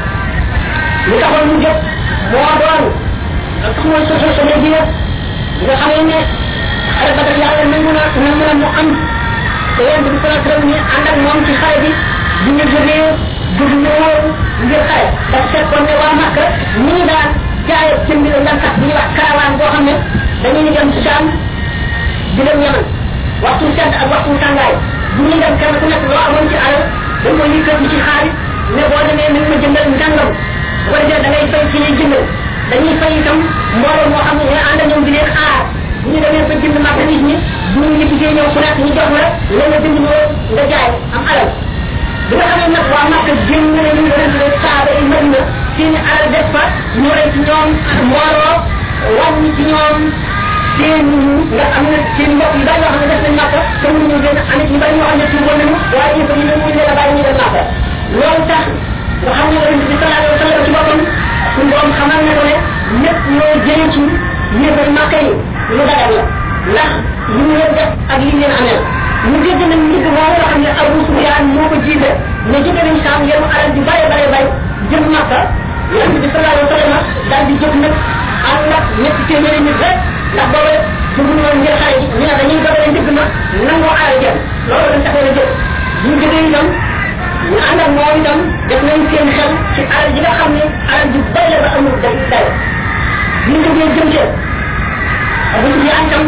li taxoon mu jóg moo doon tax mooy soxla soxla ji nga xamee ne xare Badar yàlla nangu na nangu na mu am te yonent bi sallallahu alayhi wa sallam ñu ànd ak moom ci xare bi bu ñu jógee dugg ñëwoon ngir xare parce que kon ne waa Makka ñi daan jaayee jënd la daan tax bu ñuy wax caravane boo xam ne dañuy dem Saam di dem Yaman waxtu sedd ak waxtu tàngaay bu ñuy dem kenn ku nekk loo amoon ci alal dañ koy yëkkati ci xaalis ne boo demee nañ ma jëndal ngàngam bu ko defee da ngay fay ci ñuy jëndal dañuy fay itam mbooloo moo xam ne ñooy ànd ak ñoom di leen aar bu ñu demee ba jënd marchandise ñi bu ñu liggéey ñëw ku nekk ñu jox la la nga jënd ñoo nga jaay am alal bi nga xam ne nag waa Makka génn na ñu leen di saaba yi Madina seen alal def fa ñu rey ci ñoom mbooloo wàññi ci ñoom seen nga am na seen mbokk yu bari yoo xam ne def nañ Makka te mënuñu gën a amit ñu bari ñoo xam ne tuuboon nañu waaye ñu ko ñu ñu leen a bàyyi ñu dem Makka loolu tax nga xam ne yonent bi sallallahu alayhi wa sallam ci boppam suñu borom xamal na ko ne lépp loo jëlee ci yëfal Makka yi lu dagal la ndax li ñu leen def ak li ñu leen amee ñu dégg nañ nit moo nga xam ne Abu Sufyaan moo ko jiite ne jóge nañ Saam yenu alal ju bare bare bare jëm Makka yonent bi sallallahu alayhi wa sallam daal di jóg nag ànd ak ñetti téeméeri nit rek ndax booba dugg woon ngir xare ji ñu ne dañuy dogale njëgg ma nangoo alal jëm loolu dañ taxoon a jóg ñu jógee itam ñu ànd ak moom itam def nañ seen xel ci alal ji nga xam ne alal ju bay la ba amul day day ñu jógee jëm ca Abu Sufyaan itam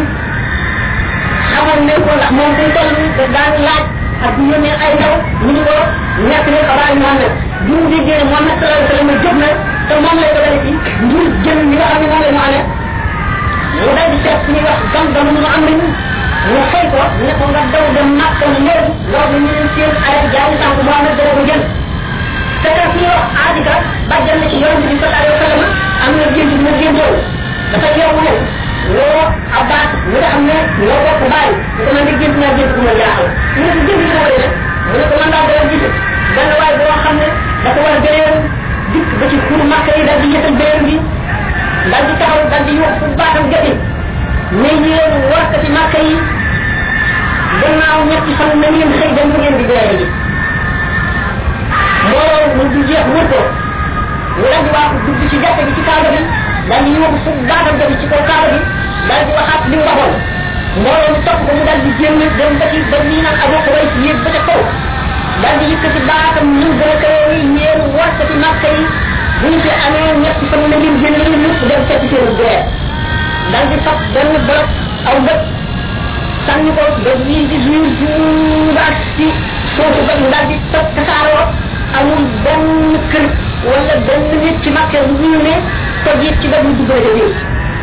xamal ne ko ndax moom day toll da daan laaj ak bu yónnee ay ndaw ñu ni ko nekk ne xabaar Muhammad bi mu déggee ne Muhammad sallallahu alayhi wa sallam jóg na te moom lay dogale ci ngir jëm li nga xam ne moom la ñu amee mu daal di seet ñuy wax gam gam mu am nañu mu fay ko ne ko nga daw dem Makka mu ñëw loolu ñu leen seen ay jaay sànq Muhammad dana ko jël te ka fi wax aadika bàjjal na ci yonent bi sallallahu alayhi wa sallam am na gént bi ma géntoon dafa yow ne loo Abbas mi nga xam ne ñoo bokk bàyyi mu ko man de gént naa gént bu ma jaaxal mu ne ko gént bi ma def mu ne ko man daa doon gis benn waay boo xam ne dafa war a gëreeru dikk ba ci xur Makka yi daal di yëtal béréb bi daal di taxaw daal di wax fu baatam gati ne yéen warkati Makka yi gannaaw ñetti fan na ngeen xëy dem bu ngeen di gëree ji mbooloo mu du jeex wër ko mu daal di wax dugg ci jàkka bi ci kaaba bi daal di yóbbu fu baatam gati ci kaw kaaba bi daal di waxaat li mu waxoon mbooloo mi topp ko mu daal di génn dem ba ci ba nii naan Abu Xubays yéeg ba ca kaw daal di yëkkati baatam ñu gën a kawe yi yéen warkati Makka yi bu ñu fi amee ñetti fan na ngeen génn leen lépp dem fekk seen guerre daal di fab benn bloc aw bët sànni ko ba wii di jour jour ba ak ci suufu ba daal di toj tasaaroo amul benn kër bu ñu ne ko jiit ci dëgg dugg na ca biir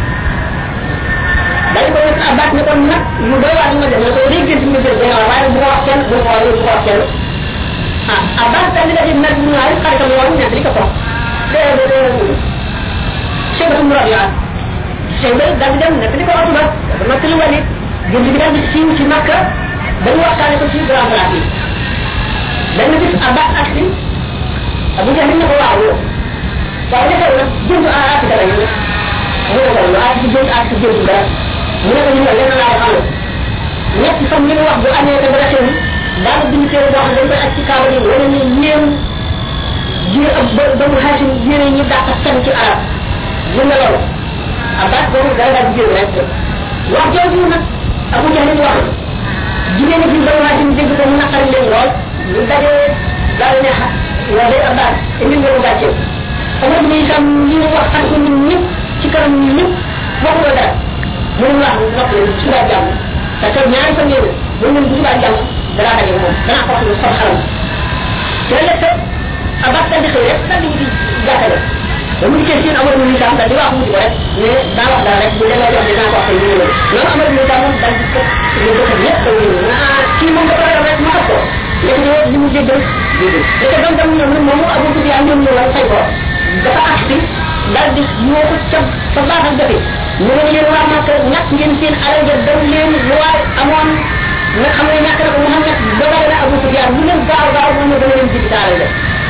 dañ ko nekk abat ne kon nag lu doy waar ma def ko day gënt mu jël dina waaye bu ko wax kenn bu ko wax bu ko wax kenn ah abat daal di def nag ñu ay xaritam yoon nekk li ko ko de de de cheikh bu rabia cheikh bay daal di dem nekk li ko wax ba dama tëli walit gënt bi daal di siiw ci makka dañu waxtaane ko ci grand place yi dañ gis abat ak si abu jahil ne ko waaw waaw defal nag jënd a ak dara ñu mu ne ko lu ak ci jënd ak ci jënd dara mu ne ko ñu lenn laa xam ñetti fan li mu wax bu amee te dara xew daal bind téere boo xam dañ koy ak ci kaaba yi wala ñu ñeem jir ak ba ba mu xaasim jire ñi dàq fen ci arab mu ne loolu abbas boobu dara daal di jël rek wax jooju nag abu jahil wax jigéen ñi ba mu xaasim dégg ko mu naqari leen lool ñu dajee daal ne wa day abbas indi nga mu gàcce amul ni itam li mu wax xam ko ñun ñëpp ci kanam ñun ñëpp waxu la dara mënu wax nopp leen suba jàmm parce que ñaari fan yéen bu ñu bu suba jàmm danaa daje moom danaa ko wax lu sol xalam ci la lekk abbas daal di xëy rek daal di wuti jàkkale ba mu dikkee seen amul ni itam daal di wax wuti ko rek mais daa wax dara rek bu demee jox dinaa ko wax ñu ñëw loolu amul ni itam moom daal di ko ñu ko xam ñëpp daw ñu ah kii moom dafa ragal rek ma xam ko léegi ñoo li mu jéggal li ko doon dem ñoom moom abu tubi am ñoom ñëw fay ko dafa agsi daal di ñoo ko ca fa baax ak jafe ñu ne yéen waa Màkka ñàkk ngeen seen alal ja daw leen lu waay amoon nga xam ne ñàkk na ko Muhammad dogale na Abu Sufyaan lu leen gaaw gaaw moom ne dana leen jigi sa alal ja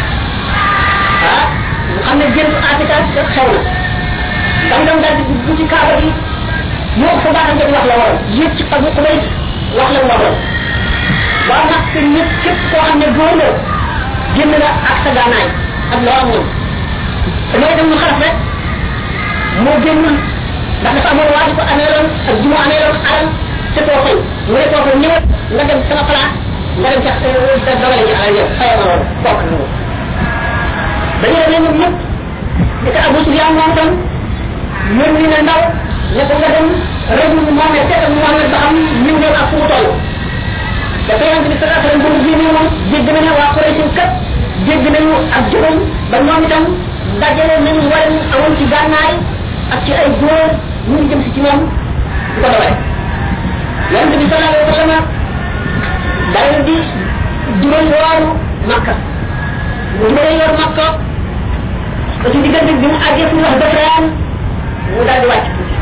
ah mu xam ne jënd Afrika xew na dam dam daal di dugg ci kaaba gi ñoo ko fa baax ak jafe wax la waroon yéeg ci xabu xubay wax la waroon waa Màkka ñëpp képp koo xam ne góor la génn nga ak sa gànnaay ak loo am ñoom damay dem ñu xaraf rek moo génnul ndax dafa amoon waa ji ko ameeloon ak ji mu ameeloon alal te koo fay mu ne koo ko ñëwal nga dem sama place nga dem sax dogale ci alal yow fayoo ma loolu bokk na loolu dañu ne ñoom ñëpp di ko Abu Sufyaan moom tam yónni na ndaw ne ko nga dem rajul Muhammad seetal Muhammad ba xam liw doon ak fu mu toll dafa yonent bi sallallahu alayhi wa sallam bu mu génnee moom dégg na ne waa Quraysh kat dégg nañu ak juróom ba ñoom itam dajale nañu war amoon ci gànnaay ak ci ay góor ñu ngi jëm si ci moom di ko dawale yonent bi sallallahu alayhi wa sallam daal di juróom waaru Makka mu juróom yor Makka ba ci diggante bi mu àggee fu ñu wax Dafraan mu daal di wàcc tuuti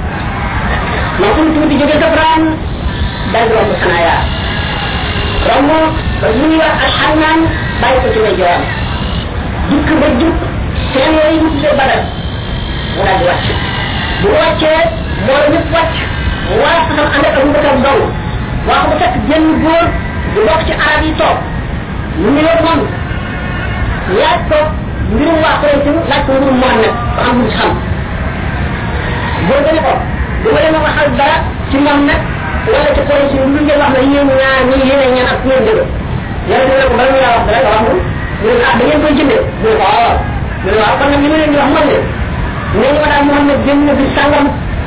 ma fu mu tuuti jógee Dafraan daal di romb Sanaaya romb ba ñu ñuy wax alxannaan bàyyi ko ci lay joram dikk ba dikk seen yooyu ñu tuddee badal mu daal di wàcc bu wàccee moo ñëpp wàcc mu war a saxam ànd ak Abu Bakar dong waa ko fekk jenn góor du bokk ci arab yi toog mu ngi yoon moom laaj ko mbirum waa Quraysh laaj ko mbirum Muhammad ba xam lu ci xam góor ga ne ko du ma leen waxal dara ci moom nag wala ci Quraysh lu ngeen wax na yéen ñaar ñi yéen ñaan ak ñeen dëgg yàlla dina ko bala ñu laa wax dara nga wax mu ñu ne ah da ngeen koy jëndee mu ne ko waaw mu ne waaw kon nag li ma leen di wax man de nee ñu ma daal Muhammad génn na bi sàngam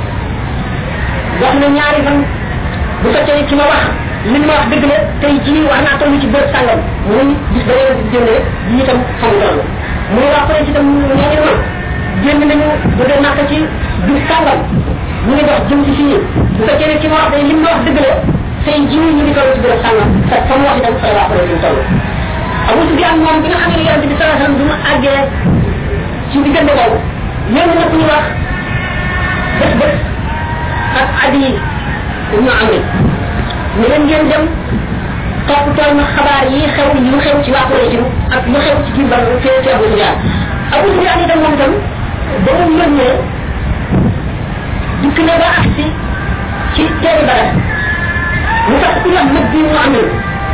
wax na ñaari fan bu fekkee ci ma wax li ma wax dëgg la tey jii wax naa toll ci bërëb sàngam muy gis ba leen di jëndee yi itam xamu toll mu ne waa Quraysh itam nee ñu ma génn nañu jógee Màkka ci bi sàngam ñu ngi dox jëm ci fii bu fekkee ne ci ma wax day lim ma wax dëgg la tey jii ñu ngi toll ci bërëb sàngam te fa mu wax itam fa la waa Quraysh toll Abu Sufyaan moom bi nga xam ne yonent bi sallallahu alayhi wasallam bi mu àggee ci diggante boobu yéen na ku ñu wax bés bés ak Adi ibnu Amr ñu leen ngeen dem topp tool ma xabaar yi xew yu xew ci waa Quraysh ak lu xew ci biir Badr ci ci Abu Sufyaan Abu Sufyaan itam moom itam ba mu yónnee dikk na ba agsi ci teeri Badar mu tax ku wax mag bi mu amee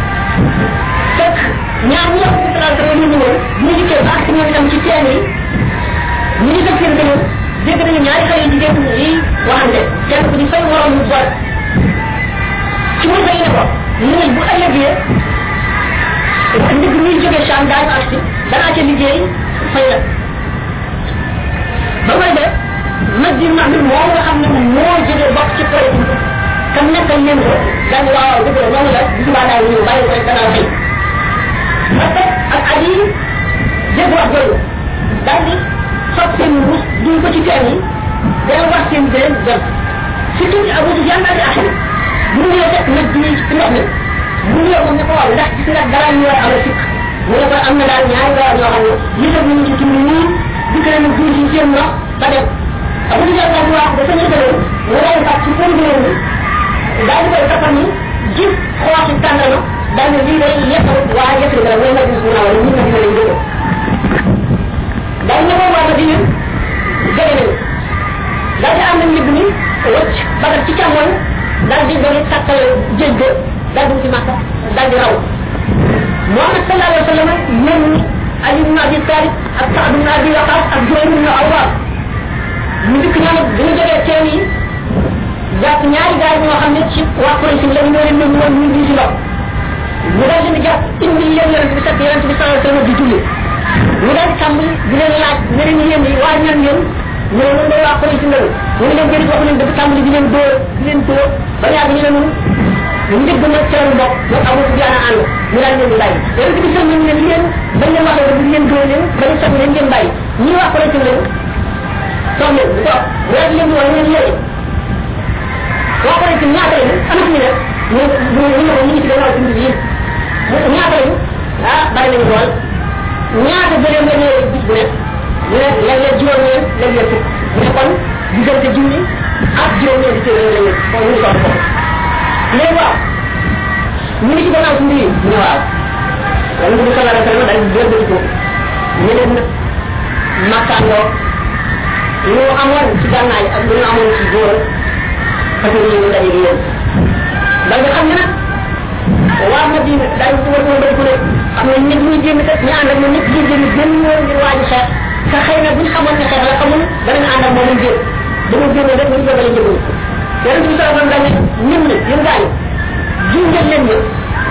fekk ñaar ñi wax ci sallallahu alayhi wa sallam ñu ñu dikkee ba agsi ñoom itam ci teen yi ñu ngi def seen gënoon dégg nañu ñaari xale yu jigéen yi waxante kenn ku di fay morom mu bor ci mu fay ne ko ñu ne bu ëllëgee ndig ñuy jógee Cham daañu agsi danaa ca liggéey fay la ba may def mag bi mag bi moom nga xam ne moo jógee bokk ci projet kam nekkal leen ko daal di waaw dëgg la noonu la bu subaa daal ñëw bàyyi ko rek danaa fay ma teg ak at yi dégg wax jooju daal di fab mu ne ko am na daal ñaari weer yoo xam ne yësal nañu ci tund nii dikk nañu duur ci seen ndox ba dem abu di jàpp wax dafa ñu gënoon mu daal di fàtt ci seen gënoon bi daal di koy toppal ni gis xooxi tàngana daal ne lii day yekkal waa yëpp la mooy ma gis mu naa wala ñu ma dina lañ jóge daal ne ko waa di ñun jóge nañu daal di am na njëg ni wëcc bagat ci càmmoñ daal di doon sàkkal jéeg ga daal di ci màkka daal di raw Muhammad sallallahu alayhi wa sallam ñoom Ali ibn Abi Talib ak Saad ibn Abi Waqas ak Jubayr ibn Awwam ñu dikk ñoom bi ñu jógee teen yi jàpp ñaari gaay ñoo xam ne ci waa Quraysh la ñu leen ñu woon ñu di ci lox ñu daal leen di jàpp indi leen yonent bi fekk yonent bi sallallahu alayhi wa sallam di julli ñu daal tàmbali di leen laaj ne leen yéen yi waa ñan yéen ñu ne ñun waa Quraysh la ñu ne leen jëri wax leen dafa tàmbali di leen dóor di leen dóor ba yàgg ñu ne ñun njëgg na ci lañu bokk ñoom Abu Sufyaan ànd ñu daal leen di bàyyi yonent bi sax ñu ne leen bañ leen waxee ba leen dóor leen ba ñu sax leen ngeen bàyyi ñi waa Quraysh la toog leen bu toog bu daal leen di wax leen yéen waa Quraysh ñaata lañu am ñu ne ñu ñu ñu ko ñu ngi ci gannaaw ci mbir yi ñaata lañu ah bari nañu lool ñaata gëleem la ñëwee bis bu nekk ñu ne léeg-léeg juróom ñeen léeg-léeg fukk mu ne kon diggante junni ak juróom ñeen di téere lañu kon ñu toog foofu léegi waaw ñu ngi ci gannaaw ci mbir yi mu ne waaw wala bu sallallahu alayhi wa sallam daal di jël ko ñu leen nag makkaandoo lu amoon ci gànnaay ak lu ñu amoon ci góor parce que ñu daje di yéen da nga xam ne nag waa Madina daal ko war ko ko ne am na nit ñuy génn kat ñu ànd ak ñoom ñëpp di génn génn ñoo ngir waaji xeex te xëy na buñ xamoon ne xeex la xamul danañ ànd ak moom ñu génn dañu génn rek ñu jógale njëgul yonent bi sallallahu alayhi wa sallam dañ ne ñun ne yéen gaañ junjal leen ñu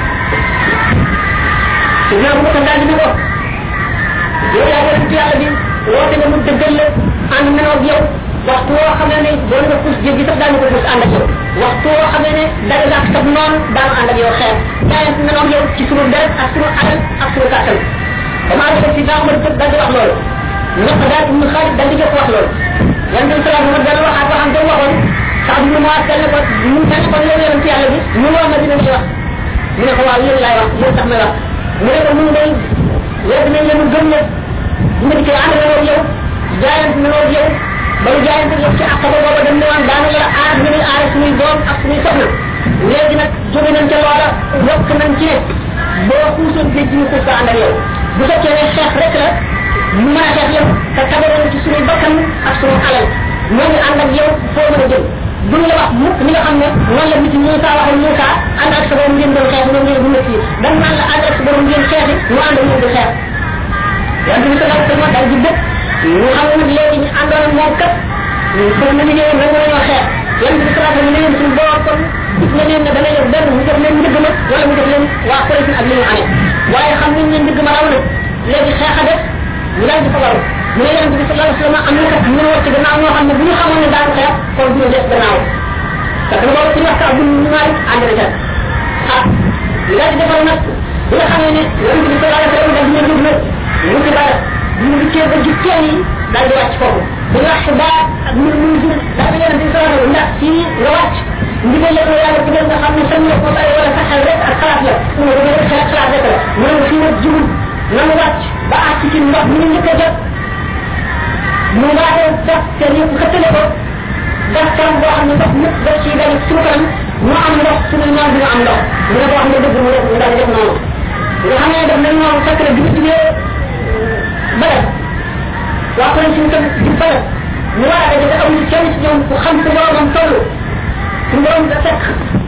te ñoo bu ko daal di ko yow yaa yonent yàlla bi woote nga mu dëggal la ànd nañoo ak yow waxtu woo xam ne doon nga puus jéggi sax daañu ko puus ànd ak yow waxtu woo xam ne dara nga ak sab noonu daanu ànd ak yow xeex jaayante nañoo ak yow ci sunu deret ak sunu alal ak sunu kàttan damaa def si daa ma dëgg daal di wax loolu ñëpp daal ibnu Xaalid daal di jëkk wax loolu yonent bi sallallahu alayhi wa sallam dana waxaat waxam te waxoon sax bi mu waat kenn ko mu kenn ko yow yonent yàlla bi ñu woo ma dina ñuy wax mu ne ko waaw yéen laay wax yéen tax may wax mu ne ko mun day yow dinañ leen gëm ne bu ma dikkee ànd nañoo ak yow jaayante nañoo ak yow ba ñu jaayante yow ci àq ba booba dem ne woon daanu la aar ñu ni aar suñuy doom ak suñuy soxna léegi nag jóge nañ ca loola yokk nañ ci ne boo xuusoon géej gi ñu xuus ko ànd ak yow bu fekkee ne xeex rek la ñu mën a xeex yow te tabaroon ci suñuy bakkan ak suñu alal ñoo ngi ànd ak yow foo mën a jëm duñ la wax mukk li nga xam ne noonu la nit Moussa waxal Moussa ànd ak sa borom ngeen doon xeex ñoom ngeen dund fii dañ naan la ànd ak sa borom ngeen xeexi ñu ànd ak ñoom di xeex yàlla bi sallallahu alayhi wa sallam daal di dëkk ñu xam ne nag léegi ñu àndoon ak moom kat pour ñu liggéeyoon rek nañoo xeex yàlla bi sallallahu alayhi wa sallam ne leen suñu borom kon gis na leen ne dana yor benn mu def leen njëgg ma wala mu def leen waa Quraysh ak li ñu amee waaye xam nañ ne njëgg ma raw na léegi xeex a def ñu daal di ko waru mu ne yàlla bi sallallahu alayhi wa sallam am na kat ñu war ci gannaaw ñoo xam ne bu ñu xamoon ne daan xeex kon duñu def gannaaw parce que boobu ci wax ka bu ñu maari ànd na ca ah ñu daal di defal nag bi nga xamee ne yàlla bi sallallahu alayhi wa sallam daal di leen jóg nag ñu ci bada ñu ngi cee ba ci teen yi daal di wàcc foofu bu nga xibaar ak ñu ñu jur daal di yàlla bi sallallahu alayhi wa sallam ndax fii nga wàcc ndigal la ko yàlla digal nga xam ne sañ la ko bàyyi wala sa xel rek ak xalaat la mu ne dama xel xalaat rek la mu ne fii nag jubul nanu wàcc ba àcc ci ndox ñu njëkk a jot mu waatee def te ñu xëttale ko def kanam boo xam ne ndox ñëpp def ci dañ suñu kanam ñu am ndox suñu noon dina am ndox mu ne boo xam ne dëgg mu def mu daal def noonu nga xam ne def nañ noonu fekk na bi ñu jugee bële waa ko suñu tam di bële ñu war a daje te amul kenn ci ñoom ku xam su boromam toll su borom da fekk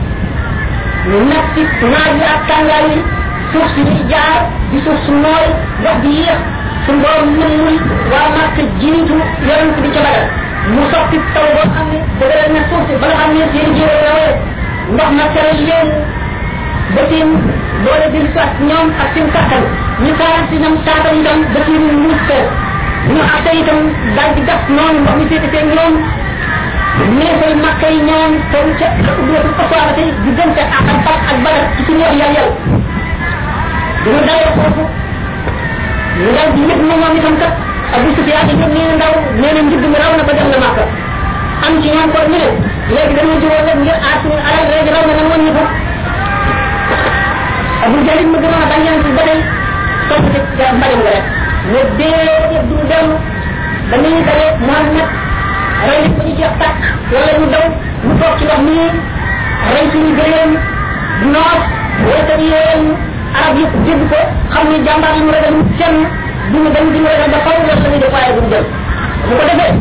ñu nekk ci naaj yi ak tàngaay yi suuf si ñuy jaar di suuf su nooy ndox di yéex suñu borom mënul waa màkk jiitu yonent bi ca badal mu soppi taw boo xam ne dëgëral na suuf si ba nga xam ne seen jiwee rawee ndox ma teral leen ba seen doole di soit ñoom ak seen kàttan ñu kaaral si ñoom taatal itam ba seen muus kër ñu ak itam daal di gas noonu ndox mi féete seen ñoom neefal makka yi ñoom toll ca ubbeetu asoirate diggante ak ak fat ak badal ci suñu wax yàlla yàlla duñu dalee foofu ñu daal di yëg na moom itam kat Abu Sufyaan yi nee na ndaw nee na njëgg mi raw na ba dem na Makka am ci ñoom kon ñu ne léegi dañoo jógoo rek ngir aar suñu alal léegi raw na nan woon ñu ko Abu Jalil ma gënoon a bañ yonent bi ba tey topp mbalim nga rek ne déedéet du dem ba ni ñu dalee Muhammad rey nañ ko ñu jeex tàkk wala ñu daw ñu toog ci ndox nii rey suñu gëléem noos wala yéen arab yëpp dégg ko xam ni jàmbaar yi mu ragal kenn duñu dañ di ragal ba faw la ñuy def waaye duñu jël bu ko defee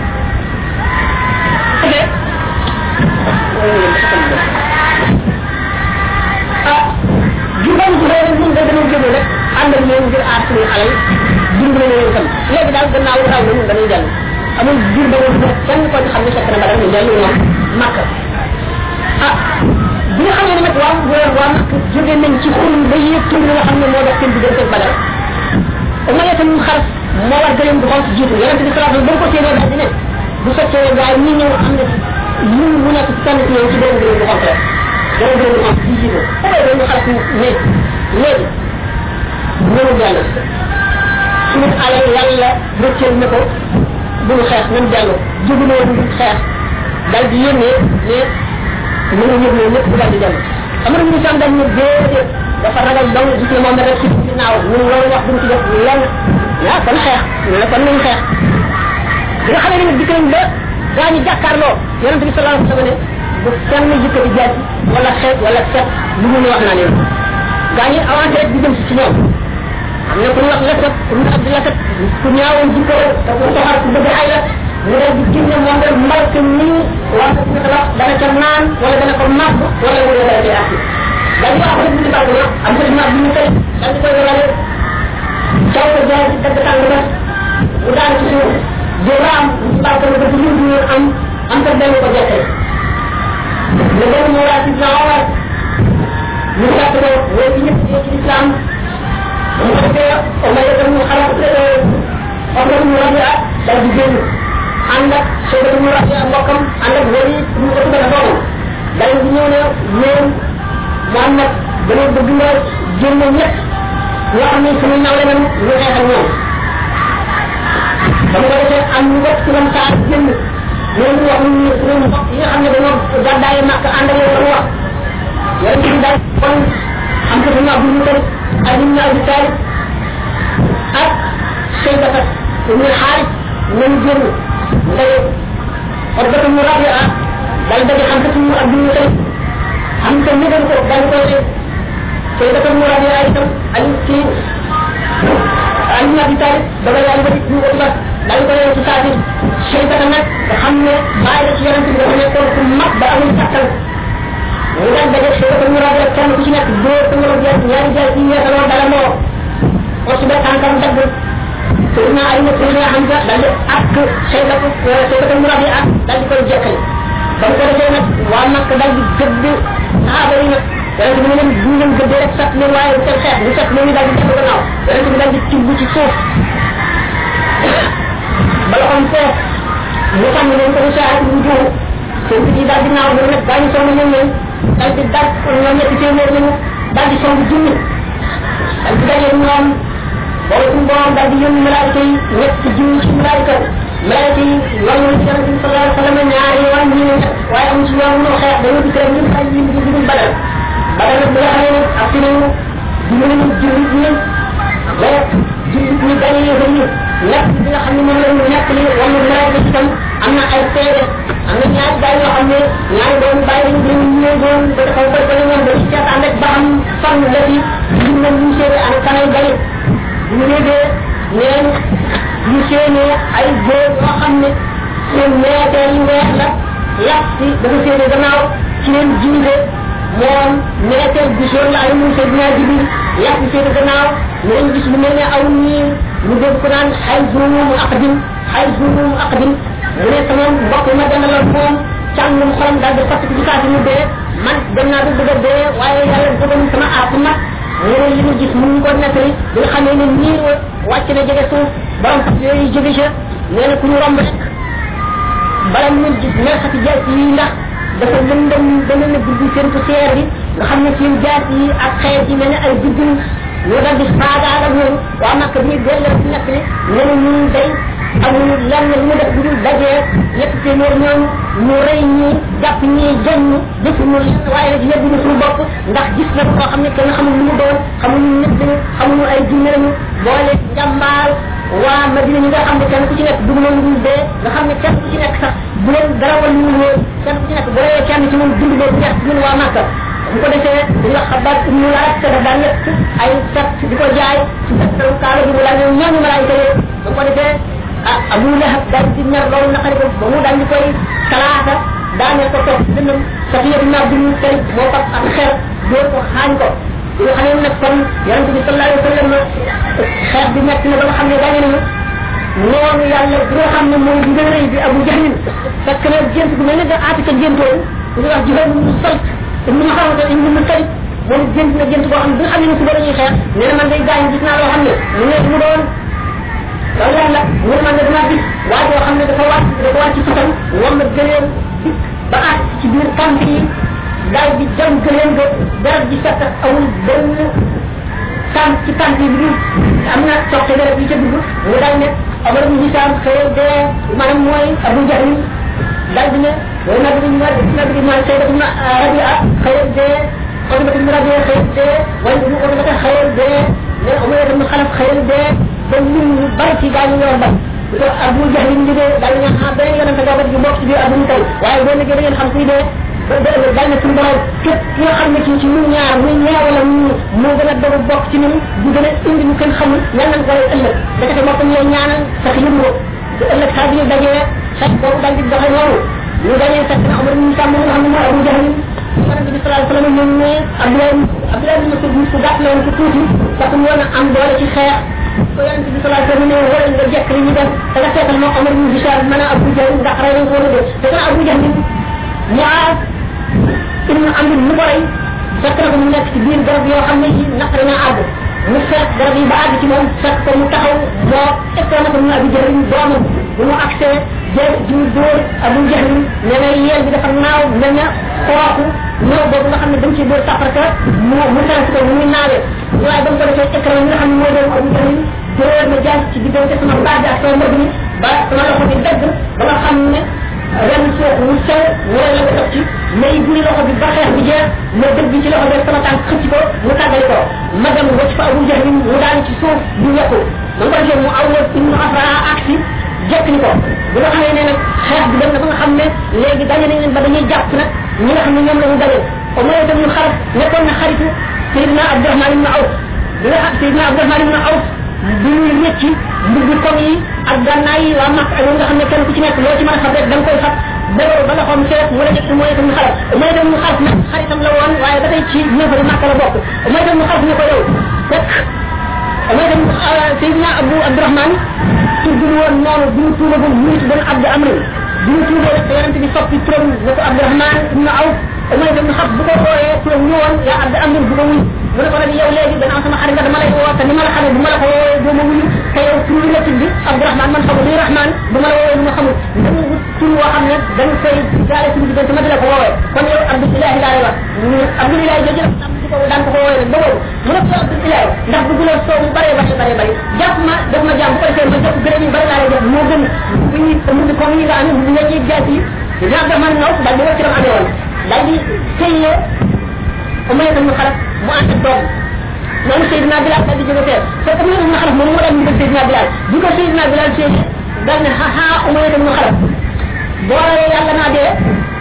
ah jubal ji rek ñun da dañu jël rek ànd ak yéen ngir aar suñu xale dimbali leen tam léegi daal gannaaw raw na ñun dañuy jël amul jur ba woon kenn ko xam ne fekk na ba dañu jël ñoom makka ah bi nga xamee ne nag waa waa waa makka jóge nañ ci xul ba yéeg tur nga xam ne moo def seen diggante ak badal ma yeta ñu xar moo war gëleem bu xonk jiitu yonente bi sallallahu alayhi wasallam ba ko séenee daal di ne bu fekkee gaay ñi ñëw am na ñu mu nekk ci kenn ci ñoom ci benn gëleem bu xonk rek benn gëleem bu xonk ci jiitu xamee dañu xar ne léegi ñëw yàlla suñu alal yàlla rëcceel na ko bu ñu xeex nañ dellu jóguloo ñu xeex dal di yónnee ne ñu ngi yëg ne ñëpp dal di dem amara ñu sam dañ ne déedéet dafa ragal dong gis ne moom rek ci ginnaaw ñun loolu wax duñ ci def lenn yaa kon xeex ñu ne kon nañ xeex bi nga xamee ne dikk nañ ba gaa ñu jàkkaarloo yonente bi sallallahu alayhi wasallam ne bu kenn jëkkati jaaj wala xeet wala set lu mu ne wax naa leen gaa ñi avancé rek di jëm si ci ñoom am na ku ñu wax lasat ku ñu abdi lasat ku ñaawoon jikko te ku soxar ku bëgg ay la mu dal di génne moom rek mbalk nii wax na ko wax dana ca naan wala dana ko màgg wala mu dana ci àtti dal di wax rek di bàgg na am ko dina bi ñu koy dal di koy wala caw ko jaay ci dagg tàng ba mu daan ci suuf di raam ci bàgg na ba ci ñu ñu am am ko benn ko jekkee le benn mu waa ci na war ñu jàpp ko woo ci ñëpp ci islam mu ko defee oma yëgal mu xalaat om rek mu rabia dal di génn ànd ak sooda mu rabia mbokkam ànd ak wari ñu ko tuddee boobu dal di ñëw ne ñoom Muhammad dama bëgg nga génn ñett ñoo xam ne suñu nawle nañu ñu xeex ak ñoom ba mu ko defee am ñu bokk ci lam saa génn ñoom wax ñu suñu mbokk yi nga xam ne dañoo gàddaaye màkk ànd ak yow la mu wax yonent bi daal kon am ko suñu abdul mutalib ak ñu abi talib ak shaybata ibn harith ñu génn ndaye orbatu mu rabia dal daje xam ko suñu abdul mutalib am ko ñëgal ko dal ko ne shaybata mu rabia itam ak ci ak ñu abi talib daga yàlla ba ñu ko ba dal ko ne ci saati shaybata nag nga xam ne bàyyi la ci yonent bi dafa nekkoon ku mag ba amul kattan ñu dal daje shaybata mu rabia kenn ku ci nekk dóor ko ngoro jeex ñaari jeex yi yeesaloo dala moo aussi ba tànkam dagg Seydina Ali ne Seydina Hamza dal di ak shaybata shaybata mu rabia ak dal di koy jekkali ba mu ko defee nag waa Makka dal di gëdd saxaaba yi nag yonent bi ne leen bu ngeen gëddee rek sat leen waaye seen xeex bu sat leen dal di dellu gannaaw yonent bi dal di tibb ci suuf ba loxoom foof mu xam ne leen ko saat bu juum seen bi dal di naaw mu nag daañu song ñoom leen dal di dal ñoom ñetti téeméer lañu dal di song junni dal di daje ñoom boobu suñu borom dal di yónni malaayika yi ñetti junni ci malaayika malaayika yi wàllu ci yonent bi sallallahu alayhi wa sallam ñaari yoon ñi ne waaye amu ci yoon mënoo xeex dañoo di kër ñu ay yi di dugul badal badal nag bi nga xamee ne ak si nañu diñu nañu jullit ñi ba jullit ñi gañe yéefar ñi nekk bi nga xam ne moom lañu nekk li wala malaayika ci tam am na ay seede am na ñaari gaay yoo xam ne ñaari doon bàyyi lañu dañu ñëw doon ba taxaw ko ba ñoom dañu seet ànd ak ba xam fan la fi ñu nañ ñu seede ana kanay gañe ñu yéegee neen ñu séenee ay góor yoo xam ne seen meeteer yu weex la yàq si dafa séene gannaaw ci leen jiite moom meeteer bi jaune la ay mun see dinaa jibil yàq si séene gannaaw ñu gis lu mel ne aw nii ñu dégg ko naan xay zuumu aqdim xay zuumu aqdim mu ne sama mbokk ma dendaloon moom càngum xolam daal di fàtt ci saa si mu dee man dem naa ba bëgg a dee waaye yàlla dogal sama app nag mu ne li mu gis mu ngi ko nettali bi nga xamee ne niir wa wàcc na jege suuf borom fas yooyu jóge ca nee na ku ñu romb rek bala mu gis neexati jaas yi ndax dafa lëndëm dana na guddi seen ko seer bi nga xam ne seen jaas yi ak xeet yi mel ne ay guddi ñu dal di faagaal ak ñoom waa Makka bi delloo ci nekk ne nee na ñun day amuñu lenn lu mu def bu dul dajee ñett téeméer ñoom ñu rey ñi jàpp ñi jañ ñi defuñu lenn waaye nag yëgguñu suñu bopp ndax gis na koo xam ne kenn xamul lu mu doon xamuñu nit lañu xamuñu ay jinne lañu boole jàmbaar waa Madina ñi nga xam ne kenn ku ci nekk dugg na lu dee nga xam ne kenn ku ci nekk sax bu leen dara wal ñu woon kenn ku ci nekk bu reyee kenn ci ñun dund boobu ñett ñun waa Màkka bu ko defee dañu wax xabaar ibnu laaj te daf daan nekk ay set di ko jaay ci fekkalu kaala bi mu la ñoom ñooñu malaayika yi bu ko defee ah Abu Lahab daal di mer loolu naqari ko ba mu daal di koy talaata daaneel ko toog dënnam Safiya bin Abdul Muttalib moo fab ak xeer dóor ko xaañ ko yoo xam ne nag kon yonente bi sallallahu alayhi wa sallam xeex bi nekk na ba nga xam ne gaañe nañu noonu yàlla bi nga xam ne mooy bi gën a rëy bi Abu Jahlin fekk na gént bu mel ne da Atika géntoon ñu wax Juhayl ibn Salt ibn Muhammad ibn Muttalib moom gént na gént boo xam ne bi nga xam ne suba dañuy xeex nee na man day gaañ gis naa loo xam ne mu ne mu doon loolu yàlla mu ne man de dama gis waa joo xam ne dafa wàcc dafa wàcc ci sutam wam na gëleem ba àgg ci biir kamp yi daal di jam gëleem ga dara ji set awul benn tànk ci tànk yi bi am na soxte dara yi ca dugg mu daal ne Omar ibn Hisam xëy dee maanaam mooy Abu Jahl daal di ne way nag ñu war na bi mooy Sayyidat ibn Rabia xëy dee Utba ibn Rabia xëy dee way ñu ko dafa xëy dee ne Umar ibn Khalaf xëy dee ba ñu bari ci gaañu ñoo ba ko Abu Jahl ñu dee daal ñu xam benn yonent nga bëgg bokk ci biir Abu Talib waaye boo liggéey da ngeen xam kuy dee daal na suñu borom képp ki nga xam ne ci ci ñun ñaar muy ñaar wala ñu moo gën a dogu bokk ci ñun bu gën a indi ñu kenn xamul yal nañ ko lay ëllëg dakate moo ko ñooy ñaanal sax yëngu ko te ëllëg saa bi ñu dajee sax boobu daal di doxe noonu ñu dajee fekk na Omar ñu sàmm nga xam ne mooy Abu Jahl yonente bi sallallahu alayhi wa sallam ñoom ne Abdoulaye Abdoulaye bin Mas'ud su gàtt la woon ko tuuti parce que mu woon a am doole ci xeex ko yonente bi sallallahu alayhi wa sallam ne wala nga jekk li ñu def da nga seetal moo Omar ñu Hisham mën a Abu Jahl ndax rey nañ ko wala dé te kana Abu Jahl Muaaz ibn Amr mu ko rey fekk na ko mu nekk ci biir garab yoo xam ne yi naqari na àgg mu fekk garab yi ba àgg ci moom fekk ko mu taxaw moo fekkoon na ko mu Abu Jahl doomam bu mu accès jéem jiw dóor Abu Jahl ne na yeel bi dafa naaw mel na xooxu ñëw boobu nga xam ne dañ ciy dóor safarka mu mu trans ko mu muy naawee waaye ba mu ko defee écran yi nga xam ne mooy doon Abu Jahl dóor na jaas ci diggante sama baat bi ak sama mbëgg mi ba sama loxo bi dagg ba nga xam ne ren suuf mu sew wala la ko def ci may buri loxo bi ba xeex bi jeex ma dëgg ci loxo bi sama tànk xëcc ko mu tàggali ko ma dem wacc fa Abu Jahl mu daan ci suuf du yokku ma ko defee mu awwal ibnu Afra aksi jekk ni ko bu nga xamee ne nag xeex bi dem na ba nga xam ne léegi daje nañ leen ba dañuy jàpp nag ñi nga xam ne ñoom la ñu daje au moins itam ñu xarab nekkoon na xaritu Seydina Abdourahmane ibn Awf bi nga xam Seydina Abdourahmane ibn Awf bi ñuy wécc mbubbi kom yi ak gànnaay yi waa Makka ak nga xam ne kenn ku ci nekk loo ci mën a fab rek da nga koy fab béroo ba loxoom seet mu la jëkk mooy itam ñu xarab mooy itam ñu xarab nag xaritam la woon waaye ba tey ci ñëfari Makka la bokk mooy itam ñu xarab ñu ko yow fekk mooy itam Seydina Abu Abdourahmane tuddul woon noonu bi ñu tuubagul mu ngi tuddoon Abdu Amr bi ñu tuubee rek yonente bi soppi turam ne ko Abdourahmane ibn Awf mooy itam ñu xam bu ko wooyee turam ñëwoon yaa Abdu Amr bu ko wuy mu ne ko nag yow léegi dana am sama xarit nga dama lay woo te ni ma la xamee bu ma la ko woowee doo ma wuyu te yow tur la tudd Abdourahmane man xamul luy Rahman bu ma la woowee lu ma xamul dama wut tur woo xam ne dañ koy jaare suñu diggante ma di la ko woowee kon yow Abdoulahi laa lay wax Abdoulahi jooju nag am di ko daan ko ko woowee nag ba boobu mu ne ko yow Abdoulahi ndax bëgg la soow mu bare bare bare bare jàpp ma def ma jàmm bu ko defee ma jàpp gërëm yi bari laa lay def moo gën bu ñuy mu di comme ñi nga amee bu nga ciy jaas yi dina Abdourahmane naw daal di wacc ram amee woon daal di sëyee umay tam xalat mu ànd ak doom noonu Seydina Bilal daal di jóge fee fekk umay tam xalat moom moo daan ñu Seydina Bilal bi ko Seydina Bilal séenee daal ne ha umay tam xalat boo rayee yàlla naa dee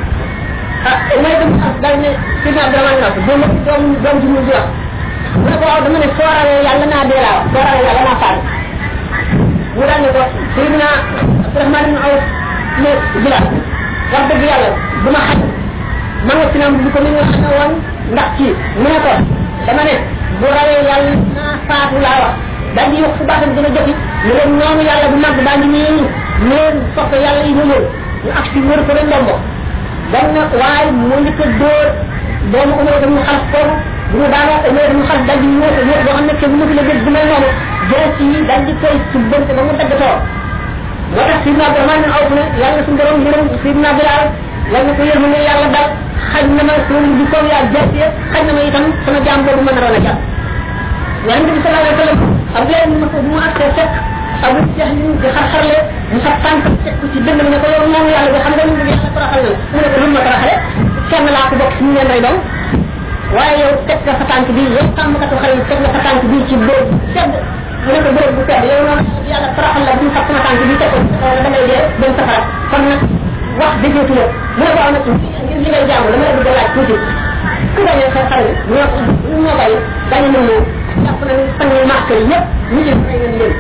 ah umay tam xalat daal ne Seydina Abdourahmane naa ko doom doom doom ji mu di wax mu ne ko waaw dama ne soo rayee yàlla naa dee laa soo rayee yàlla naa faatu mu daal ne ko Seydina Abdourahmane ibn Awf ne Bilal wax dëgg yàlla du ma xaj man nga sinam bu ko ni nga xamee woon ndax ci mu ne ko dama ne bu rawee yàlla naa faatu laa wax daal di yokk fu baatam gën a joti ñu leen noonu yàlla bu mag baa ngi nii ñu leen soppe yàlla yi ñu ñëw ñu ak si wër ko leen ndombo dan na waaye mu njëkk a dóor doomu umar dañu xas foofu bu ñu daanoo umar dañu xas daal di ñëw ñëw boo xam ne kenn mënu la gis bu mel noonu jël ci daal di koy subbante ba mu daggatoo moo tax Sidna Abdourahmane Awf ne yàlla suñu borom yërëm Sidna Bilal yàlla ko yërëm ne yàlla daal xaj na ma sama di ko yaa jàpp xaj na ma itam sama jaam boobu mën a roon a jàpp yonente bi sallallahu alayhi wa sallam Abdoulaye ibn Mas'ud mu accès fekk Abu Jahl di xar-xarle mu sa tànk teg ko ci dënd ne ko yow moom yàlla bi xam nga ñu yàlla toroxal na mu ne ko lu ma toroxale kenn laa ko bokk ci ñu leen rey doom waaye yow teg nga sa tànk bi yow tàmmkatu xale yi teg nga sa tànk bi ci bóor sedd mu ne ko bërëb bu tedd yow noonu yàlla taraxal la bu ñu xam sama tànk bi teg ko da ngay dee dem safara kon nag wax dëggeetu la mu ne ko am na ci ngir li ngay jaamu dama la bëgg a laaj tuuti ku gañe sa xale ñoo ñoo bay gañe nañ ñëw jàpp nañ fan ñu màkk yi ñëpp ñu ci fay nañ leen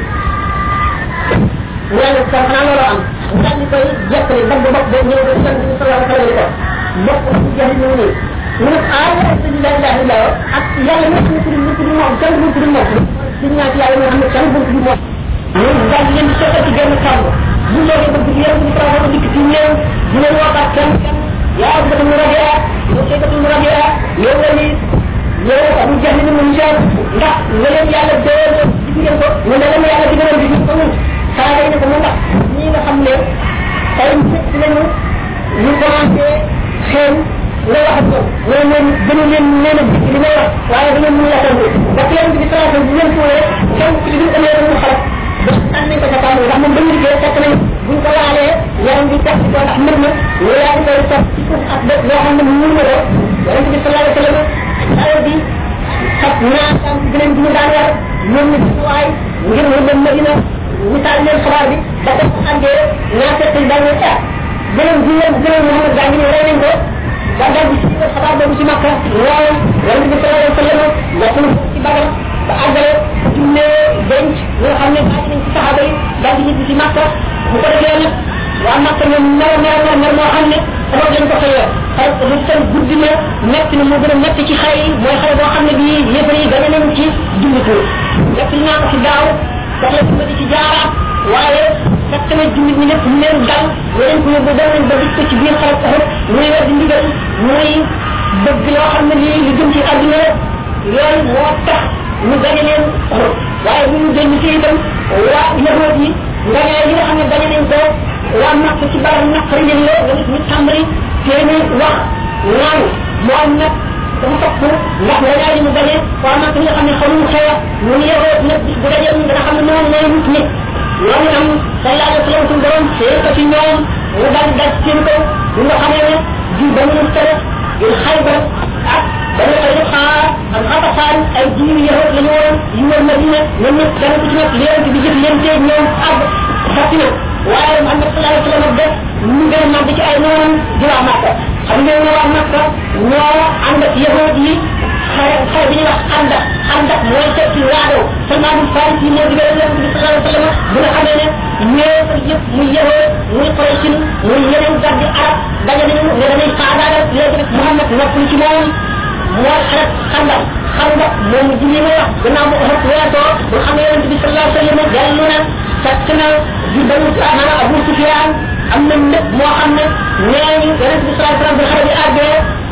mu ne ko xanaa loolu am daal di koy jekkali dagg bopp ba ñëw ba ci yonent bi sallallahu alayhi wa sallam ko bopp bu jeex ñu nii mu ne ah la ilaha illa ak yàlla ñëpp ñu tudd ñu tudd moom kenn bu tudd moom ci ñaat yàlla ñoo xam ne kenn bu tudd moom ñu daal di leen di soxal ci genn kàmb bu ñëwee ba guddi yéen ñu trafa ko dikk ci ñëw di leen waxaat kenn kenn yaa ko mu rabia yow kay ko mu rabia yow la ni yow abu jahli ni mu ñaan ndax nga leen yàlla dool ci ngeen ko ñu ne leen yàlla digaloon bi ko mun saa day ne ko mu ndax ñi nga xam ne ay ci lañu ñu commencé xeen nga wax ko mais moom gënu leen leen a dikk li may wax waaye da ngeen mun la tontu ndax yéen bi trafa bi leen tuure kenn ci li amee mu xalat ba tan nañ ko ca kàmb ndax moom dañu liggéey fekk nañ buñ ko laalee yaram bi tax ko ndax mbir ma ñu yaa ngi koy topp ci suuf ak bët loo xam ne mun na ko yonent bi sallallahu alayhi wa sallam saa bi xat naa tànk gëneen bi ñu daan war ñoom ñu gis waay ngir mu dem Madina ñu taal leen xabaar bi ba ko àndee naa fekk daal ñu tax gëneen bi leen gëneen Muhammad gaa ngi ñëw rey nañ ko ba daal di ci xabaar boobu ci Makka waaw yonent bi sallallahu alayhi wa sallam waxul ci Badar ba àggale jullee denc ñoo xam ne bàyyi nañ ci saxaaba yi daal di ñibbi ci Makka bu ko defee nag waa Makka ñoom mer mer mer mer moo xam ne sama lañ ko fayee xay lu seen guddi na metti na moo gën a metti ci xay yi mooy xay boo xam ne bii yëfar yi gane nañ ci jullit nekk li naa ko ci daaw sax la dimbali ci jaaraat waaye fekk na jullit ñi ñëpp ñu leen dal yeneen ko yóbbu dem nañ ba gis ko ci biir xarat taxut muy war di ndigal muy bëgg loo xam ne lii li jëm ci àdduna loolu moo tax ñu gañe leen waaye bu ñu génn ci itam waa yahood yi ngañe yi nga xam ne gañe nañ ko waa natt ci barab naqari leen la nga gis ñu tàmbali seeni wax naan moo am nag dafa topp ndax ngañaay yi mu gañe waa natt ñi nga xam ne xamuñu xeex ñu ngi yahood nag bis bu dajee dana xam ne noonu mooy nit ñi loolu itam sallallahu alayhi wa sallam suñu borom see ko ci ñoom mu daal di daj seen kaw ñu nga xamee ne di ba mu tere yu xaybar ak dañu koy def xaar ak xataxaan ay jiw yahood la ñu woon yu wër Madina ñoom ñëpp dana ko ci nekk leen di jëf leen tee ñoom àgg fatti na waaye Muhammad sallallahu alayhi wa sallam def ñu gën a màgg ci ay noonam di waa Makka xam ngeen ne waa Makka ñoo ànd ak yahood yi xare xare bi ñuy wax àndak àndak mooy tekki waadoo Salmaanul Faarisi yi moo digal Yonent bi sallallahu alayhi wa sallam bu nga xamee ne ñëpp yëpp muy yahood muy Quraysh muy yeneen gardi arab daje nañu ne dañuy faagaagal léegi nag Muhammad noppul ci moom mooy xaret xandam xandam moom julli ma wax gannaaw bu xaret weesoo bu xam ne Yonent bi sallallahu alayhi wa sallam dellu na fekk na di banu maanaam Abu Sufyaan am na lépp moo xam ne nee ñu Yonent bi sallallahu alayhi wa sallam bu xare bi àggee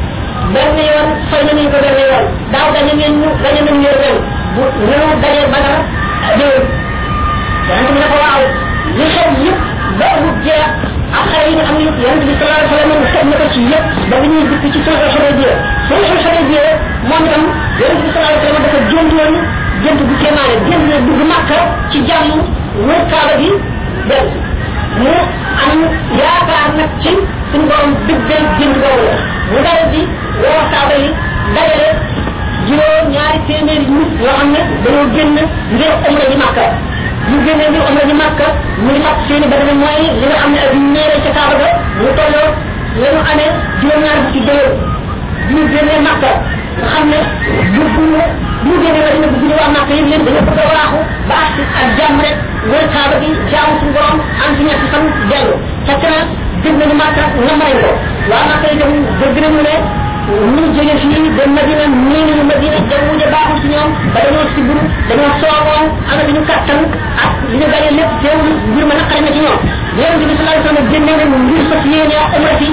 benn yoon fay nañu ko benn yoon daaw dañu ngeen ñu dañu nañu leen ren bu ñëw dajee Badar déwén Yonent bi ne ko waaw li xew yëpp ba amul jeex ak xare yi nga xam ne Yonent bi sallallahu alayhi wa sallam xeeb na ko ci yëpp ba bi ñuy dikk ci sulhul Hudaybiya sulhul Hudaybiya moom itam Yonent bi sallallahu alayhi wa sallam dafa jënd woon jënd bu kéemaane jënd na dugg Makka ci jàmm wër Kaaba gi dem mu am yaakaar nag ci suñu borom dëggal jënd boobu la mu dal di woo Kaaba yi dajale juróom ñaari téeméeri nit yoo xam ne dañoo génn ngir umra ji Makka ñu génnee ngir umra ji Makka ñu ngi fàtt seeni ba dana mooy li nga xam ne ak ñeere ca Kaaba ga mu tolloo la ñu amee juróom ñaari bu ci déwén bi ñu génnee Makka nga xam ne bu bu bu génnee la dina bu waa Makka yëpp leen dañoo bëgg a waaxu ba ak ak jàmm rek wër Kaaba gi jaamu suñu borom am ci ñetti fan dellu fekk na dégg nañu Makka nga may ko waa Makka itam dégg nañu ne ñu jóge fii dem Madina nii nañu Madina jaww ji baaxul ci ñoom ba dañoo siburu dañoo soogoon am nañu kattan ak li ñu gañe lépp teewul mbir ma naqari na ci ñoom Yonent bi sallallahu alayhi wa sallam génnee nañu ngir fas yéene umra si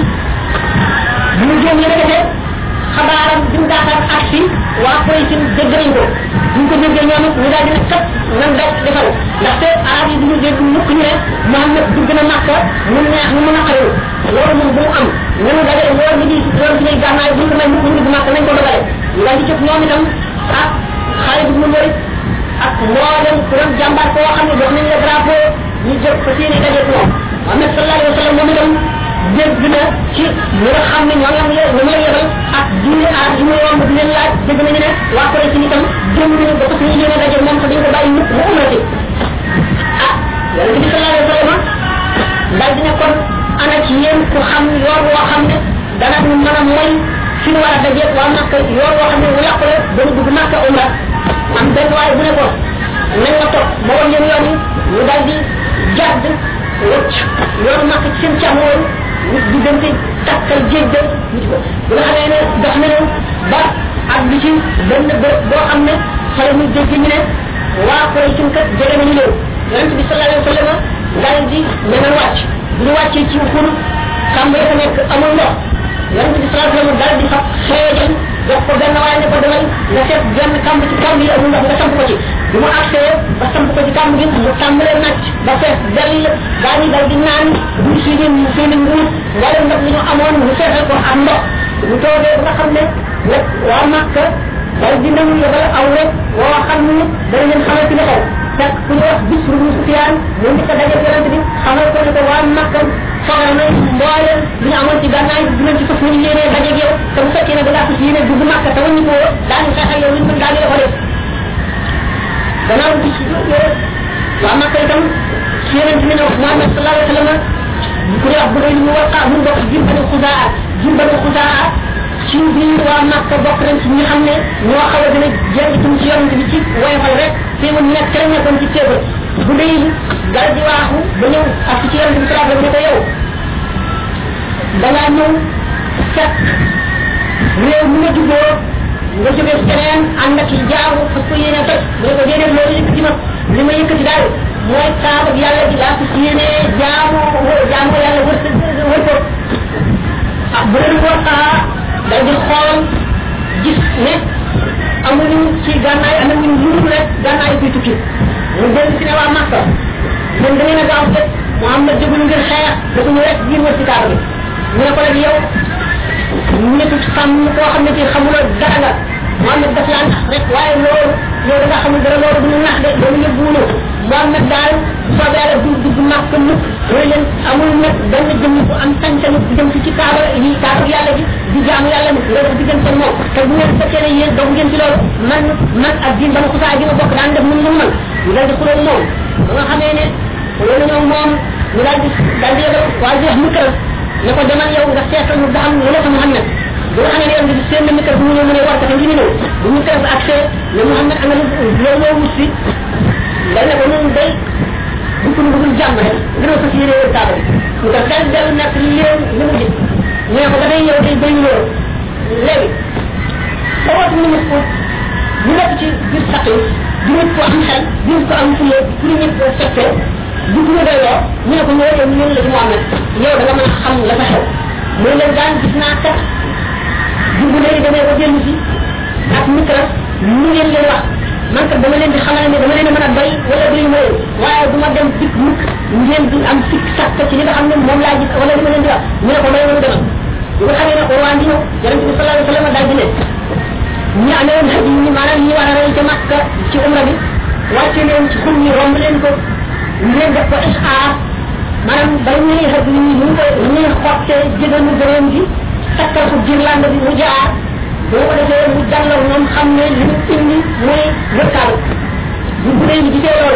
bu ñu génnee rek de xabaaram bi mu daataan ak si waa Quraysh dégg nañ ko bu ñu ko déggee ñoom it ñu daal di ne kat nan daj defal ndaxte arab yi duñu dégg mukk ñu ne Muhammad dugg na Makka mu neex mu mën a xaru loolu moom bu mu am nanu dajale loolu ñu di loolu ci lay gànnaay bu ñu ko may mukk ñu dugg Makka nañ ko dogale ñu daal di jóg ñoom itam ak Xaalid ibn Walid ak mboolem ku doon jàmbaar koo xam ne jox nañ la drapeau ñu jóg fa seeni daje ko Muhammad sallallahu alayhi wa sallam moom itam dégg na ci ñi nga xam ne ñoo ngi ñu may yebal ak diine aar yi mu yomb di leen laaj dégg nañu ne waa Quraysh itam jëm nañu ba ko suñu yéene daje moom te dañ ko bàyyi ñëpp mu umrati Makka yoon woo xam ne mu yàqu la dana dugg Makka umra am benn waaye bu ne ko nañ ma topp ma woon leen yoon yi ñu daal di jàdd wëcc yoonu Makka ci seen càmmooñ ñu diggante takkal jéeg de nit ko bu nga xamee ne dox nañu ba ak bi ci benn bërëb boo xam ne xale ñu dégg ñu ne waa koy suñ kat jege nañu leen yonent bi sallallahu alayhi wa sallam daal di ñemal wàcc bu ñu wàccee ci xuru kàmb ya fa nekk amul ndox yonent bi sallallahu alayhi wa sallam daal di fab xeejal jox ko benn waaye ne ko demal nga seet benn kàmb ci kàmb yi amul ndox nga samp ko ci bi mu accès ba samp ko ci kàmb gi mu tàmbalee nàcc ba fees dell daa ñu dal di naan bu suñu suñu nguur wala ndox li ñu amoon mu feesal ko am ndox bu toogee ba nga xam ne nag waa Makka dal di nangu yebal aw rek woo xam ne dana leen xamal ci li xew fekk ku ñu wax bis bu Sufyaan mu ngi ko daje yonent bi xamal ko ne ko waa Makka soxla na mboolem li ñu amoon ci gànnaay dinañ ci fas ñu yéenee dajeeg yow te bu fekkee ne da ngaa fas yéene dugg Makka te waññi ko daañu xeex ak yow luñ mën daañu la ko def gannaaw bis waa Makka itam ci yonent bi ne Muhammad sallallahu alayhi wa sallam ku ñu wax bu doy lu mu war mu bokk jimbanu xusaa jimbanu xusaa ci biir waa Makka bokk nañ ci ñi xam ne ñoo xaw a gën a jënd itam ci yonent bi ci woyofal rek teewul nekk ca la nekkoon ci teewal bu dee dal di waaxu ba ñëw ak ci yonent bi sallallahu alayhi wa sallam ne ko yow da ngaa ñëw fekk réew mi nga juddoo nga jógee feneen ànd ak jaamu fas ko yéene toj mu ne ko déedéet loolu yëkkati ma li ma yëkkati daal mooy kaaba ak yàlla gi laa fas yéene jaamu jaamu yàlla wër wër ko ah bu leen ko ah dal di xool gis ne amuñu ci gànnaay amuñu lu dul rek gànnaay kuy tukki mu dellu si ne waa Makka ñun da ngeen a gaaw rek Muhammad jógul ngir xeex dafa ñu rek ngir wër si kaaba bi mu ne ko rek yow nekk xam koo xam ne ci xamuloo dara nga Muhammad daf laa nax rek waaye loolu yow da nga xamul dara loolu du ñu nax de loolu yëpp wuñu Muhammad daal soobee yàlla du dugg Makka mukk mooy leen amul nag benn jëmm bu am sañ-sañu di dem ci ci kaaba yi kaaba yàlla bi di jaamu yàlla ni nga def diggante moom te bu ngeen fekkee ne yéen doog ngeen ci loolu man man ak diin bana xusaa gi ma bokk daan def mun lu man ñu dal di xuloo moom ba nga xamee ne loolu ñoom moom ñu daal di daal di yebal waa ji wax mukkar ne ko demal yow nga seetal ñu ba xam lu la fa Muhammad bu nga xamee ne yow ngi seen mukkar bu ñu ñëw mu ne war ko te ngi ñëw bu ñu kër accès ne Muhammad am na loolu loo wut si dal ne ko ñun day bu ko dugul jàmm rek dina ko ci yére kaaba bi ñu ko dal del nekk li leen li mu gis ñu ne ko ba day yow day bañ loolu léegi sawat ñu mu ko ñu nekk ci biir sàq yi di nit ko am xel di nit ko am fulle pour nit ko fekkee bu ñu doy loo ñu ne ko ñoo yow ñun la ci Muhammad yow da nga mën a xam la fa xew muy leen daan gis naa kat dugg léegi damay ko dellu si ak micro ñu ngeen leen wax man kat dama leen di xamal ne dama leen mën a bay wala duñu ma leen waaye du ma dem dikk mukk ngeen di am sikk sàkk ci li nga xam ne moom laa gis wala li ma leen di wax ñu ne ko may nañu demal bu nga xamee ne Urwaan di ñëw yonent bi sallallahu alayhi wa sallam daal di ne ñi amee woon hadi ñi maanaam ñi war a rey ca Makka ci umra bi wàcce leen ci xum ñi romb leen ko ñu leen def ko ishaar maanaam bay ñuy hadi ñi ñu koy ñuy xotte jëgalu gëréem gi takkal ko girlande bi mu jaar boo ko defee mu jàllaw moom xam ne li mu indi mooy wërkaal bu bu dee ñu gisee loolu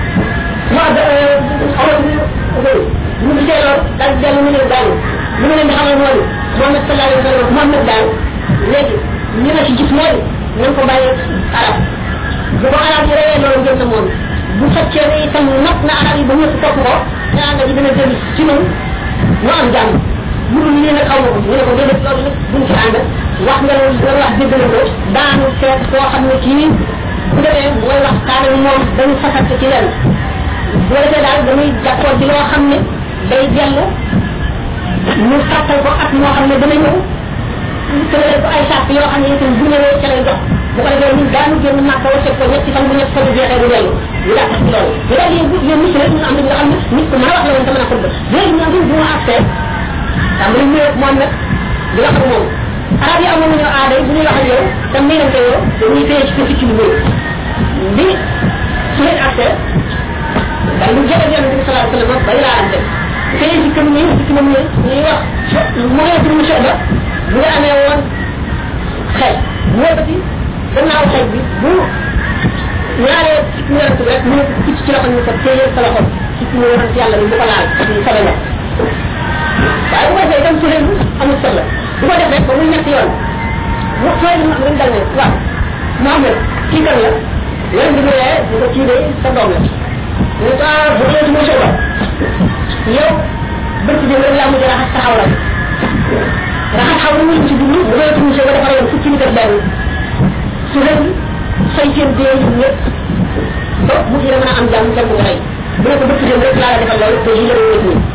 wax xamal bi ñu gisee loolu daal di dellu mu ne daal li ma leen di xamal mooy Muhammad sallallahu alayhi wa sallam Muhammad daal léegi ñu la ci gis mooy nañ ko bàyyi arab bu ko arab yi reyee loolu gën na moom bu fekkee ne itam not na arab yi ba ñëpp topp ko ñaan nga ji dina dellu ci ñun ñu am jàmm bu dul lii nag xaw ma ko ñu ne ko déedéet loolu nag buñ ci ànd wax nga loolu nga wax dégg na ko daanu seet koo xam ne kii bu demee mooy wax kaana moom dañu fasante ci leen bu defee daal dañuy jàppoon ci loo xam ne day dellu ñu sàttal ko ak moo xam ne dana ñëw tëralee ko ay sàpp yoo xam ne itam bu ñëwee ca lay dox bu ko defee ñun daanu génn màkk wa seet ko ñetti fan bu ñett fan jeexee du dellu ñu dàq ci loolu bu daal yéen yéen nit rek ñu am nga xam ne nit ko mën a wax la woon te mën a xutba léegi ñoom bu ma accès xam nga ñu moom nag di wax ak moom arab yi amoon nañu aada bu ñuy wax ak yow te miinante yow dañuy téye ci ko ci lu bëri bi su leen accès daal lu jëlee yonent bi sallallahu alayhi wa sallam bay laa ante téye ci kam ñi ci kam ñi ñuy wax mooy pour mu soxla bu nga amee woon xel wóobati gannaaw xel bi bu ñaaree ci yonent bi rek mu ne ci ci loxo ñu ko téye sa loxo ci ci yonent yàlla bi bu ko laal ci sobe la waaye bu ko defee itam su leen amul soxla bu ko def rek ba muy ñetti yoon wax fay ñu am dal ne waaw Mohamed kii kan la yéen di ne di ko kii de sa doom la ne ko ah bu dee mu soba yow bëgg di rek laa mujj raxas taxaw la raxas xaw na mu ci dund bu dee mu soba dafa yoon fukki nit ak benn su leen say seen dee yi ñëpp ba mu ci mën a am jàmm jàmm nga rey bu ne ko bëgg dem rek laa la defal loolu te yi la wéet nii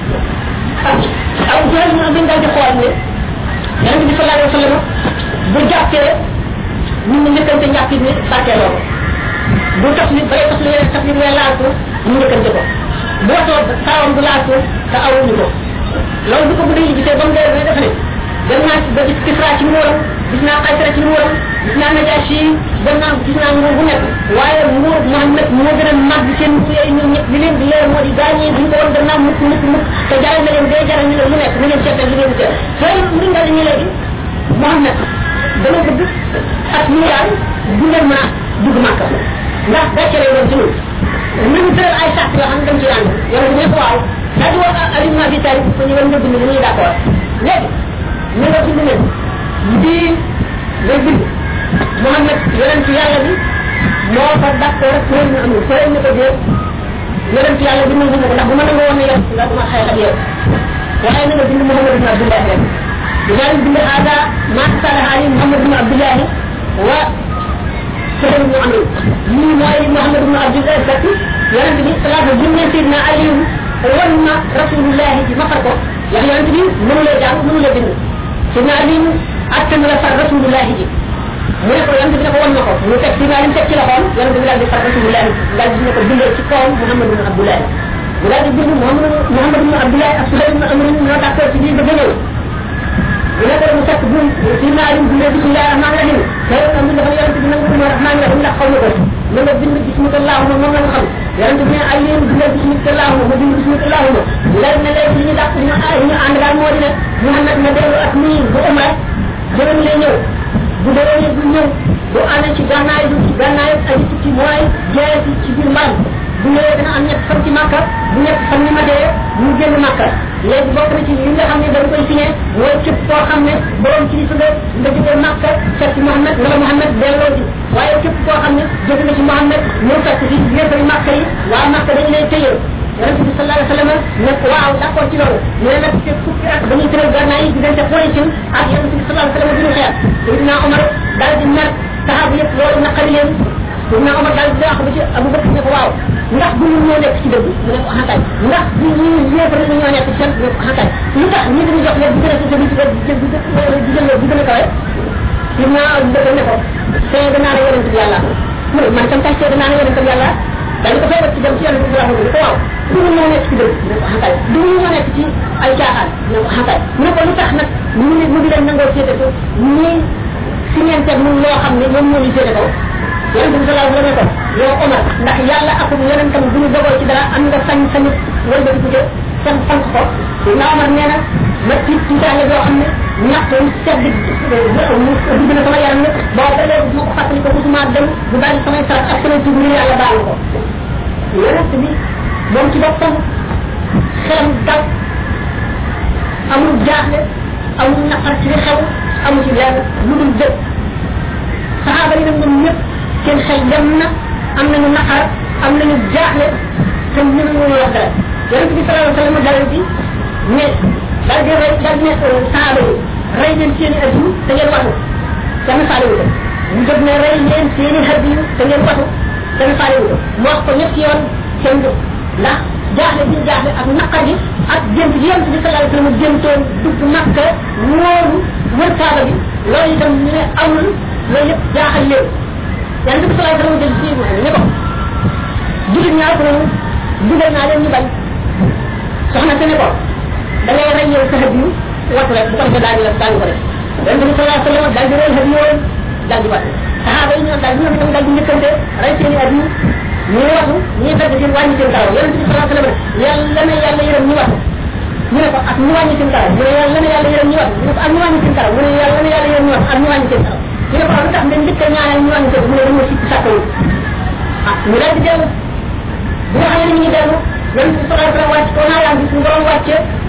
aw jël ñu am dañ di xool ne yonente bi sallallahu alayhi wa sallam bu jàppee nit ñi njëkkante njàpp ni barkeeloo ko bu tax nit bay tax lu yeneen tax nit ngay laal ko ñu njëkkante ko bu watoo saawam du laal ko te awuñu ko loolu bu ko bu dee gisee ba mu dee dafa ne dem naa ba gis kisra ci nguuram gis naa xaysara ci nguuram gis naa najaasi dem naa gis naa nguur bu nekk waaye nguur Muhammad moo gën a màgg seen yooyu ñoom ñëpp li leen di leer moo di gaañee duñ ko woon dem naa mukk mukk mukk te jaral na leen day jaral ñu leen lu nekk na leen seetal li ngeen seet loolu mu nga ñu léegi Muhammad dama bëgg ak ñu yaay bu leen mën a dugg màkk ndax gàcce lay doon ci ñun ñu tëral ay sàrt yoo xam ne dañ ci ànd yow ne ko waaw daal di wax Ali ibn Abi Talib ko ñu nga bind ñu d'accord léegi ñu nga bind leen di lay bind Muhammad yonent yàlla bi moo ko d'accord ak ñu amul ko ñu ko dee yonent yàlla bi nangu ko ndax bu ma nangoo woon yow nga duma xeex ak yow waaye na nga bind Muhammad ibn Abdullah rek dinaa bind hada ma salaha ali Muhammad ibn Abdullah wa سهل بن عمرو من موالي محمد بن عبد الله الزكي يرد به صلاة الجنة سيدنا علي ولما رسول الله في مفرقه يعني يرد به منو لا جاء منو لا بنو سيدنا علي أكتم رسول رسول الله جي mu ne ko yam dina ko won nako mu tek ci ngalim tek ci la xol yam dina di far rasulullah dal dina ko bindé ci kawam muhammad ibn abdullah mu dal di bind muhammad muhammad ibn abdullah ak sulayman ibn amr ñoo d'accord ci bi ba gënal mu ne ko mu tek bu ci ngalim bu bismillah rahman rahim tay am dafa yaram ci nangu mo rahman rahim ndax xawna ko mu nga bind bismillah mom la nga xam yaram ci alim bind bismillah mo bind bismillah mo dal na lay ci ñu dak ñu ay ñu and dal mo dina muhammad na delu ak ni bu umar jëram lay ñew bu dee bu ñëw bu amee ci gànnaay du ci gànnaay ak ci mooy jeex ci biir mbaam bu ñëwee dina am ñett fan ci màkka bu ñett fan ni ma dee mu génn màkka léegi bokk na ci li nga xam ne dañ koy signé mooy képp koo xam ne borom ci su nga nga jógee màkka fekk Muhammad nga la Muhammad delloo ci waaye képp koo xam ne jóge nga ci Muhammad ñëw fekk ci yéefari màkka yi waa màkka dañu lay tëyee yonente bi sallallahu alayhi wa sallam ne waaw d'accord ci loolu ñu ne nag te fukki at dañuy tëral gànnaay yi diggante Quraysh ak yonente bi sallallahu alayhi wa sallam bi ñu xeex Seydina Omar daal di mer saxaaba yëpp loolu naqari leen Seydina Omar daal di wax ba ci Abu Bakr ne ko waaw ndax bu ñu ñoo nekk ci dëgg mu ne ko xantaay ndax bu ñu yéefar ñu ñoo nekk ci seen mu ne ko xantaay lu tax ñi dañu jox leen di gën a ci di di jël di gën a kawe Seydina Abu Bakr ne ko seede naa la yonente bi yàlla mu ne man tam tay seede naa la yonente bi yàlla dañ ko feebar ci dem ci yonente bi sallallahu alayhi wa sallam ko waaw du ñu ñoo nekk ci dëgg mu ne ko xantaay du ñu ñoo nekk ci ay caaxaan mu ne ko xantaay mu ne ko lu tax nag ñu ne mu ngi leen nangoo féete ko ñii si ngeen teg mun loo xam ne ñoom ñoo ñu féete kaw yonente bi sallallahu alayhi wa sallam ko yow Omar ndax yàlla ak yonentam bu ñu dogoo ci dara am nga sañ sañu wala ba di san sant ko na Omar nee na ma tiit ci daale boo xam ne ñàkk sedd dugg na sama yaram ne boo ba léegi ma ko fàttali ko musuma dem bu daal di samay sarat ak samay tuub ni yàlla baal ko yonente bi moom ci boppam xelam dal amul jaaxle amul naqar ci li xew amul ci lenn lu dul dëgg saxaaba yi nag ñoom ñëpp seen xel dem na am nañu naqar am nañu jaaxle te ñu ñu wax dara yonente bi sallallahu alayhi wa sallam dal di ne dal di rey dal di ne saxaaba yi rey leen seen i addu te ngeen watu kenn faalewu ko ñu jóg ne rey leen seen i addu te ngeen watu kenn faalewu ko mu wax ko ñetti yoon seen dëgg ndax jaaxle bi jaaxle ak naqar gi ak gént gi yonente bi sallallahu alayhi wa sallam géntoon dugg Makka wóoru wër kaaba bi loolu itam ñu ne amul loolu yëpp jaaxal leen yonente bi sallallahu alayhi wa sallam jël ci ne ko jullit ñaar ko noonu dugal naa leen ñu bañ soxna te ne ko da ngay rey yow sa xëb yu wattu rek bu ko defee daal di la daal di ko def yonente bi sallallahu alayhi wa sallam daal di rey xëb yoon daal di wattu saxaaba yi ñoom daal di ñoom daal di njëkkante rey seen i at yi ñuy wattu ñuy fekk seen wàññi seen karaw yonente bi sallallahu alayhi wa sallam yàlla na yàlla yërëm ñu wattu ñu ne ko ak ñu wàññi seen karaw mu ne yàlla na yàlla yërëm ñu wattu ñu ne ko ak ñu wàññi seen karaw mu ne yàlla na yàlla yërëm ñu wattu ak ñu wàññi seen karaw ñu ne ko lu tax nga njëkk a ñaanal ñu wàññi seen mu ne dañoo sikk sàkkawu ah ñu daal di dellu bu nga xam ne ñu ngi dellu yonente bi sallallahu alayhi wa sallam wàcc ko naa yaa gis ñu borom wàcce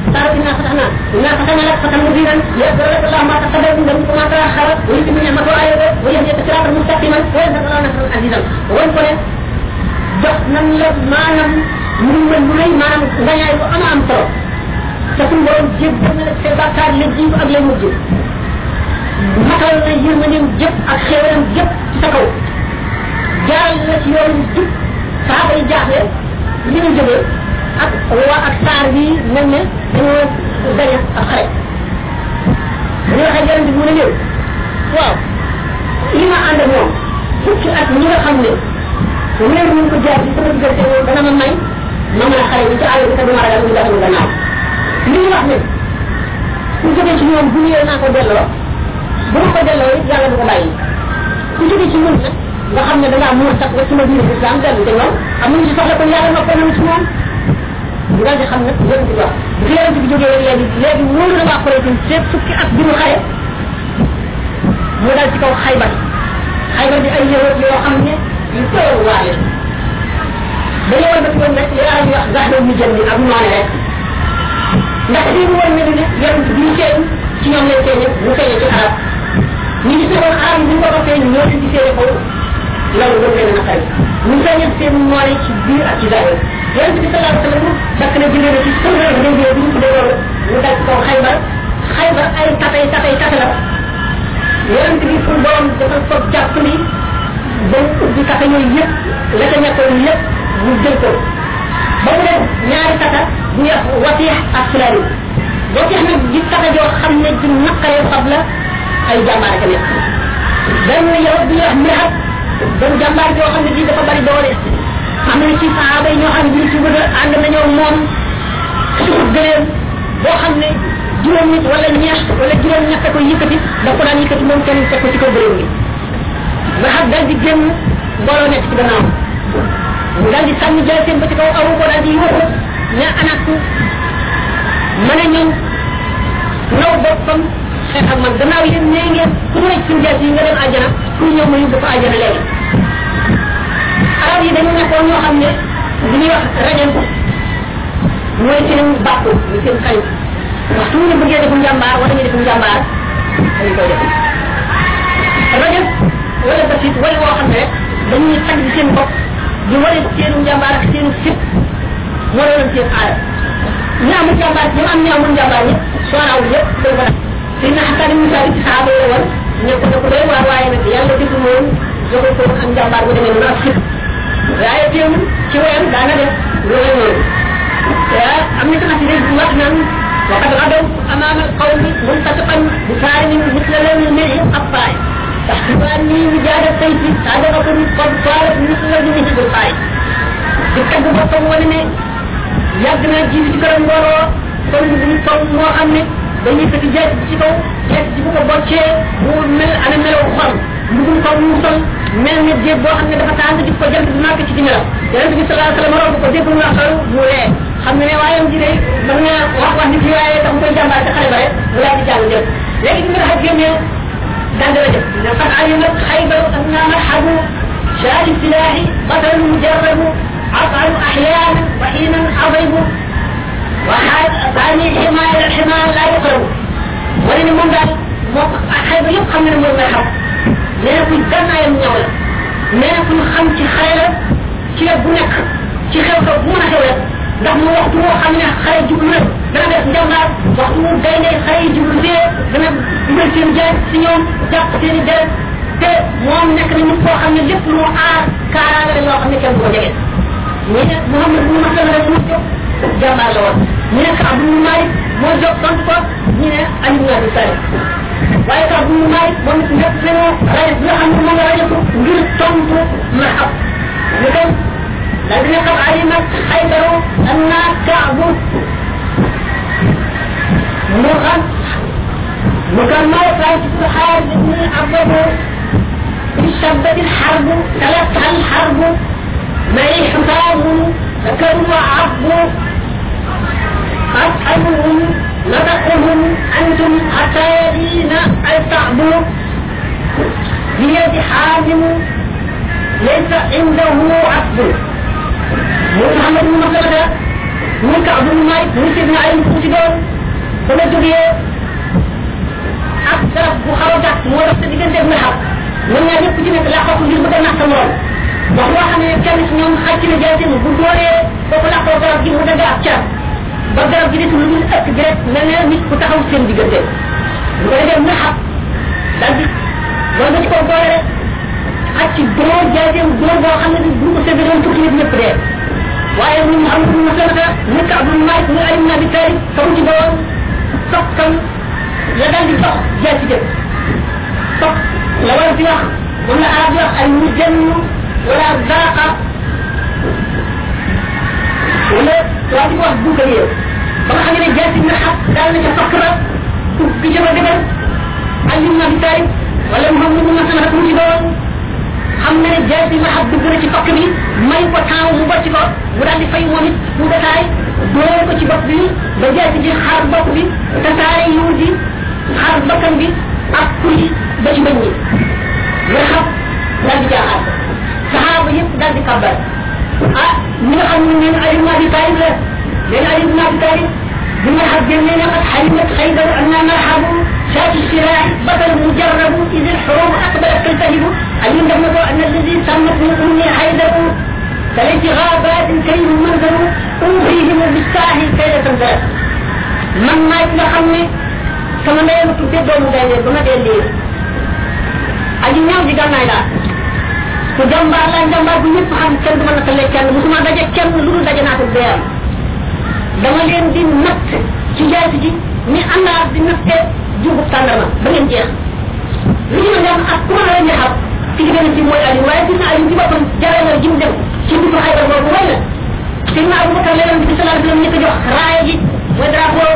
صارت الناس فتحنا إنا فتحنا لك فتحا مبينا ليغفر لك الله ما تقدم من ذنبك وما تأخر ويتم نعمته عليك ويهديك صراطا مستقيما وينصرك الله نصرا عزيزا وانقل jox nan la maanaam ñu mën lu lay maanaam ngañaay bu ama am solo te suñu borom jéggal na la say bàkkaar la jiitu ak la mujj matal na yërmandeem jëpp ak xéewalam jëpp ci sa kaw jaaral la ci yoon jub saaba yi jaaxle li ñu jógee ak waa ak saar bi mel ne dañoo gañe ak xare ñu waxee yaram bi mu ne leen waaw li ma ànd ak moom fukki at ñi nga xam ne wéer ñu ko jaar ci sama diggante moom dana ma may ma mën a xare bi ci àll bi te du ma ragal ñu dafa ñu gannaaw li ñu wax ne ku jógee ci ñoom bu ñëwee naa ko delloo bu ma ko delloo it yàlla du ko bàyyi ku jógee ci ñun nag nga xam ne da ngaa mën sax ba sama diine islam dellu te ñoom amuñu ci soxla kon yàlla noppee nañu ci moom ñu daal di xam nag yéen ci wax bu fi yéen ci jógee léegi léegi wóolu na waa Quraysh seet fukki at bi mu xare mu dal ci kaw Xaybar Xaybar di ay yëwët yoo xam ne yu tëral waale dañu war ba ci woon rek li arab yi wax gaxna ñu jënd ak noone rek ndax lii mu woon ne ne yonent bi ñu feeñ ci ñoom lay feeñe mu feeñe ci arab ñu gis ne woon arab yi bu ñu ko ko feeñ ñoo leen gisee ko loolu gën leen a xarit ñu feeñe seen noone ci biir ak ci zahir yonent bi sallallahu alayhi wa sallam fekk na jëlee na ci sëmra bi dañ bi ñu tuddee loolu mu dal ci kaw Xaybar Xaybar ay tatay tatay tata la yonent bi pour borom dafa ko jàpp ni dañ ubbi kata yooyu yëpp la ca nekkoon lépp mu jël ko ba mu def ñaari kata bu ñuy wax watiix ak sulari watiix nag di kata joo xam ne di naqaree fab la ay jàmbaar ca nekk benn yow bi ñuy wax mirhat benn jàmbaar joo xam ne bii dafa bari doole am na ci sahaaba yi ñoo xam ne bii ci bëgg ànd nañoo moom suuf gëleem boo xam ne juróom nit wala ñeent wala juróom ñett ko yëkkati da ko daan yëkkati moom kenn teg ko ci kaw gëleem gi nga xam dal di génn mbooloo nekk ci gannaaw mu dal di sànni jël seen ba ci kaw awu ko dal di yuuxu ne anak mën a ñëw naw boppam xeex ak man gannaaw yéen nee ngeen ku ñu rek suñu jaas yi nga dem àjjana ku ñëw ma yóbbu ko àjjana léegi arab yi dañu nekkoon ñoo xam ne li ñuy wax rajan mooy seen bàkku ñu seen xañ waxtu ñu bëggee defu njàmbaar wala ñu defu njàmbaar dañu koy def rajan wala basit wala woo xam ne rek dañuy tagg seen bopp di wane seenu njàmbaar ak seenu fit moo doon seen aada ñi amul njàmbaar ñi am ñi amul njàmbaar ñi sooraaw yëpp dañ ko def suñ na xataa dañu saa ci saaba yi woon ñu ko ko doy waar waaye nag yàlla def moom joxul ko ak njàmbaar bu demee noonu ak fit waaye teewul ci wayam daana def loolu noonu am na sama ci rek bu wax naan وقد غدوا امام القوم منتصفا بسالم مثل لون الملح الطائف تحسب اني وجاد السيف صادقة قد صارت مثل وجهه بالقائد دكتب بطم ولمي يغنى جيب سكرم بورو كل من طم مو خامني dañuy fekk jaay ci kaw jaay ci bu ko boccee mu mel ana melaw xol mbugum ko mu sol mel ne jéeg boo xam ne dafa tàng di ko jant bi màkk ci ci melam yonente bi sallallahu alayhi wa sallam ko dégg mu xaru mu lee xam ne waayam ji day mën nga wax wax nit yi waaye tax mu koy jàmbaar ci xale ba rek mu laa di jàng jëf léegi bi nga xam génnee daan dara jëf ne fan alimat xaybaru anna marhabu shaari silaahi batalu mujarrabu afalu ahyaanan wa xiinan adaybu وثاني حماية الحماية لا يقرب ولن من ذلك حيث يبقى من المرحب لأنه في الدمع يمنعولا لأنه في الخمس خيرا كي بنك كي خيرا بنا خيرا ndax mu waxtu woo xam ne xale jublu na dana def njàmbaar waxtu mu gaynde xale yi jublu fee dana dugal seen jaay si ñoom jàpp seen i deret te moom nekk na nit koo xam ne lépp lu aar kaaraanga la yoo xam ne kenn du ko jege ñu ne Mouhamad bu ma sama rek mu jóg jàmbaar la woon ñu ne Kaab bu Malik moo jóg tontu ko ñu ne Ali ibn Abi Talib waaye Kaab bu Malik moom it nekk nañu rajo bi nga xam ne moom la rajo ngir tontu Mahab ñu dem daal dina xam Ali nag Xaybaru anna Kaabu mu xam mu kan ma fay ci xaar ibn Abdu اشتدت الحرب تلفها الحرب معي حطام ذكروا وعبوا أسألهم نطقهم أنتم حتى يدين الصعب بيد حازم ليس عنده عقل محمد بن مسلمة muy ka abdul malik muy sidna ali ku ci doon ba nga jógee ak garab bu xaw a gàtt moo def sa diggante ak naxam ñoom ñaar ñëpp ci nekk laqatu ngir bëgg a nax sa morom wax loo xam ne kenn ci ñoom xàcc na jaay seen bu dooree foofu laqoo garab gi mu dagg ak car ba garab gi des lu dul ëkk gi rek mel ne nit ku taxaw seen diggante bu ko defee naxam daal di loolu ba ci kaw doole rek xàcc door jaay seen door boo xam ne bu ko séddee doon tukki nit ñëpp dee waaye mu am lu ma sanata nekk abdul malik muy alim na bi tari kamu ci doon sokkam la daal di dox jaay ci jëf sok la war di wax moom la arab wax al mujann wala zaqa wala waa di wax bu ko yéew ba nga xam ne jaay ci na xat daal na ca sokk ba ubbi jëma dëgër alim na bi tari wala muhammad mu sanata kamu ci doon xam na ne jaay ci ma xat dugg na ci sokk bi may ko temps mu bocc ko mu daal di fay moom it mu dataay door ko ci bopp bi ba jaay ci ji xaar bopp bi tasaare yuur ji xaar bakkan bi ak kuli ba ci bañ ñi nga xam daal di jaaxaat saxaaba yëpp daal di kàbbar ah ñi nga xam ne neen ali ibn abi talib la neen ali ibn abi talib bi nga xam génne ne qad xalimat xaydar anna marhabu شاة الشراع بطل مجرب إذ الحروب أقبلت تلتهب علم دمه أن الذي سمت من أمي حيدر فليت غابات كريم منظر أوحيهم بالساحل كيد تنزل من ما يتلقمني كما لا يمكن تدوم دائما بما دين aji ñaaw ji gànnaay laa ku jàmbaar laa jàmbaar bu ñëpp xam kenn du mën a tale kenn musuma daje kenn lu dul daje naa ko deyam dama leen di natt ci jaasi ji ni àndaar di natte jubub tàndarma ba ngeen jeex li ñu dem ak ku ma la ñu xam ci gën ci mooy ali waaye dina ali ci boppam jaral ji mu dem ci bisu xaybar boobu way na sidna abubakar leneen bi sallallahu alayhi wasallam ñu ko jox raaya ji mooy drapeau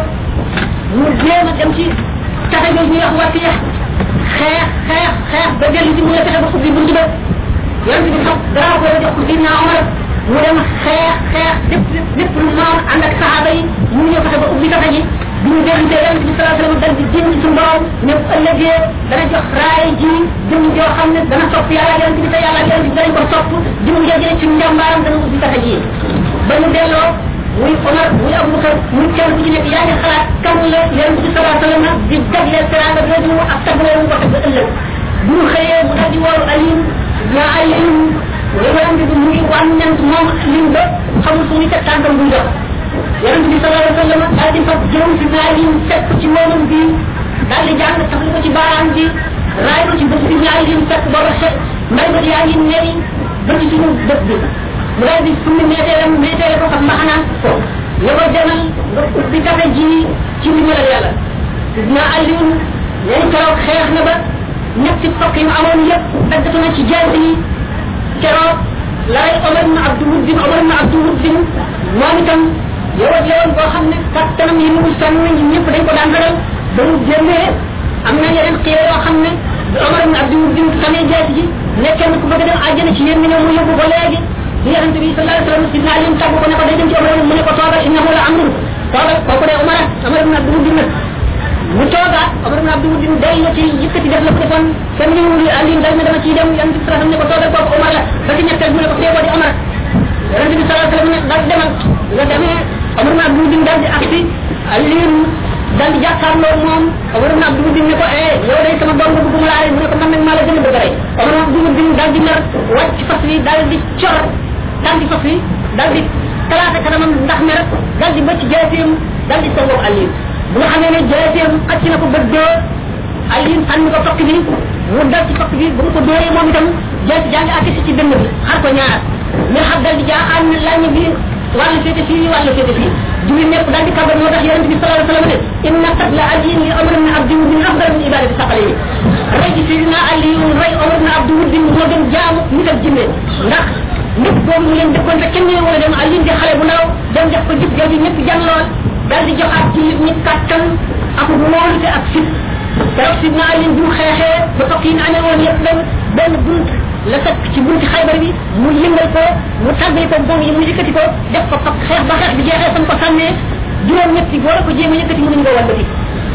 mu jéem a dem ci taxe jooju ñuy wax wàcc yax xeex xeex xeex ba dellu ci mu la fexe ba ubbi buntu ba yonent bi xam drapeau jox ko sidna omar mu dem xeex xeex lépp lépp lu noon ànd ak saxaaba yi mu ñëw fexe ba ubbi taxe ji bi ñu dellusee yonent bi sallallahu alayhi wasallam dal di jéem ci borom ne bu ëllëgee dana jox raay ji jëm joo xam ne dana topp yàlla yonent bi te yàlla yonent bi danañ ko topp jëm joo jëlee ci njàmbaaram dana ubbi taxe ji ba ñu delloo muy omar muy abubakar muy kenn ku ci nekk yaa ngi xalaat kan la yonent bi sallallahu alayhi wasallam di jagleel teranga jooju ak taglee mu ko teg ba ëllëg bu ñu xëyee mu dal di wooru alim ñaa alim yonent bi mu ngi wàññant moom lim ba xamul fu muy teg tànkam buy dox yonent bi sallallahu alayhi wasallam daal di fab jëm ci naa lim fekk ci moomam bi daal di jàng tax ko ci baaraam bi raay ko ci bët bi ñaari lim fekk booba xet mbay ba yaa ngi neri ba ci suñu bët bi mu daal di summi meeteelam meeteele ko xam mbaxanaan ko ne ko demal nga ubbi taxe ji ci ndimbalal yàlla sidna aliun leen keroog xeex na ba ñetti tokk yi mu amoon yëpp daggatu na ci jaasi yi keroog lay omar ibn abdou muddin omar ibn abdou muddin moom itam yow ak yowoon boo xam ne kattanam yi mu sànn ñi ñëpp dañ ko daan ragal ba mu génnee am na yeneen xeer yoo xam ne omar ibn abdou muddin sànnee jaasi ji ne kenn ku bëgg a dem àjjana ci yéen mi ne mu yóbbu ko léegi yonent bi sallallahu alayhi wasallam sidna ali tàggu ko ne ko day dem ci omar mu ne ko toogal innahu la amrun toogal kooku de omar omar ibn abdou muddin nag mu toogaat omar ibn abdou muddin day la ci yëkkati def la ko defoon kenn ñu wul ali dal ne dama ciy dem yonent bi sallallahu alayhi wasallam ne ko toogal kooku omar la ba ci ñetteel mu ne ko feeboo di omar yonent bi sallallahu alayhi wasallam ne dal demal nga demee omar ibn abdou muddin dal di agsi ali dal di jàkkaarloo moom omar ibn abdou muddin ne ko eh yow day sama doom nga bëgg mu laale mu ne ko man nag maa la gën a bëgg rey omar ibn abdou muddin dal di mer wàcc fas wi dal di cor dal di fas wi dal di talaata kanamam ndax mer dal di bëcc jaaseem dal di songoog aliin bu nga xamee ne jaaseem xacc na ko ba dóor aliin sànni ko tokk bi mu dal ci tokk bi bu mu ko dóoree moom itam jaasi jaa ngi akkisi ci dënn bi xar ko ñaar ñu xam dal di jaaxaan ne lañ bi wàllu féete fii wàllu féete fii julli ñëpp dal di kabar moo tax yonent bi sallallahu alayhi wasallam ne inna qatla aliin li omar ibn abdi wuddin afdal min ibadati saqale yi rey ci sidina aliin rey omar ibn abdi wuddin moo gën jaamu nit ak jinne ndax nit boobu mu leen dëkkoon te kenn wala dem aliin di xale bu ndaw dem def ko jëf jooju ñëpp jàng lool dal di joxaat ci nit ñi kàttan ak wóolute ak fit keroog sidina aliin bi mu xeexee ba tokk yi amee woon yëpp dem benn bunt la fekk ci bunti xaybar bi mu yëngal ko mu tàggali ko bong yi mu yëkkati ko def ko fak xeex ba xeex bi jeexee fan ko sànnee juróom ñetti boo la ko jéem a yëkkati mënuñ ko wàllati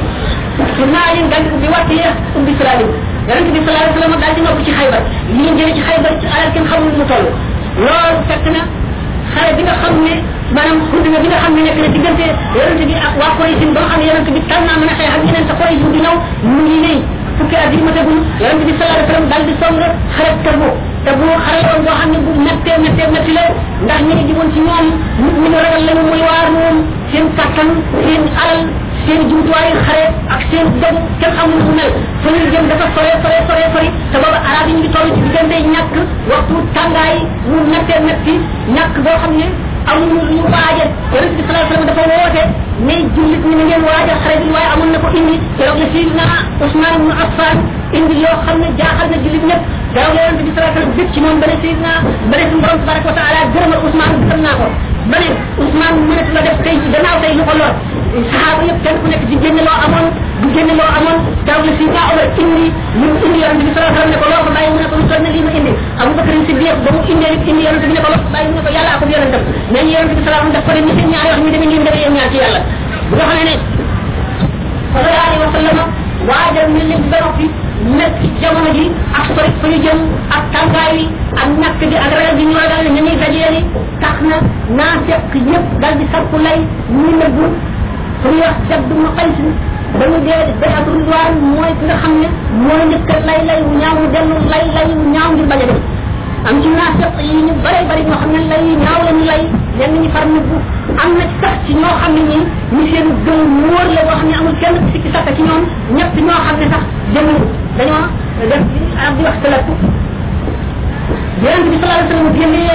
sidina aliin dal di ubbi wàtt yi ubbi salaalim yonent bi sallallahu alayhi wasallam dal di nopp ci xaybar li ñu jëlee ci xaybar ci alal kenn xamul mu toll loolu fekk na xare bi nga xam ne maanaam maanaam guddi nga bi nga xam ne nekk na diggante yonente bi ak waa Quraysh ba nga xam ne yonente bi tal naa mën a xeex ak ñeneen sa Quraysh di ñëw mu ngi wéy fukki at yi matagul yonente bi sallallahu alayhi wa sallam daal di song xaret Tabuk te bu xare woon boo xam ne bu méttee méttee métti la ndax ñi ngi jiwoon ci ñoom nit ñi ñu ragal lañu muy waar moom seen kattan seen alal seen jumtuwaayu xare ak seen dog kenn xamul mu mel fa ñu jëm dafa sore sore sore sori te booba arab yi ngi toll ci diggante ñàkk waxtu tàngaay mu méttee métti ñàkk boo xam ne amuñu lu ñu waajal yonente bi sallallahu alayhi wa sallam dafa woote ne jullit ñi na ngeen waajal xare bi waaye amoon na ko indi keroog la sidna Ousmane ibn Affan indi yoo xam ne jaaxal na jullit ñëpp keroog la yonente bi sallallahu alayhi wa sallam bëgg ci moom ba ne sidna ba ne suñu borom tabaraka wa taala gërëmal Ousmane gërëm naa ko ba ne Ousmane mënatu la def tey gannaaw tey lu ko lor saxaaba yëpp kenn ku nekk di génne loo amoon di génne loo amoon keroog la sidna Omar indi ñu indi yonente bi sallallahu alayhi wa sallam ne ko loo ko bàyyi mu ne ko lu toll ne lii ma indi Abubakar Siddiq ba mu indee indi yonente bi ne ko loo ko bàyyi mu ne ko yàlla ak yonentam mais yonente bi sallallahu alayhi wa sallam daf ko ne ni seen ñaari wax ñu demee ngeen demee yéen ñaar ci yàlla bu nga xam ne sallallahu alayhi wa sallam waajal ñu leen ba noppi nekk ci jamono ji ak sori fa ñu jëm ak tàngaay wi ak ñàkk bi ak ragal bi ñu ragal ne ñuy dajee tax na naa fekk yëpp dal di sakku lay ñu nëbbu fu ñuy wax Abdu mu Qays ba ñu dee day ab ridwaan mooy ki nga xam ne mooy njëkk lay lay wu ñaaw mu dellu lay lay wu ñaaw ngir bañ a dem am ci naafeq yi ñu bare bari ñoo xam ne lay ñaaw la ñu lay ñenn ñi far nëbbu am na sax ci ñoo xam ne ñi ñu seen gëm wóor la boo xam ne amul kenn sikki sakka ci ñoom ñett ñoo xam ne sax demuñu dañoo def arab di wax talatu yonent bi sallallahu alayhi wa sallam génnee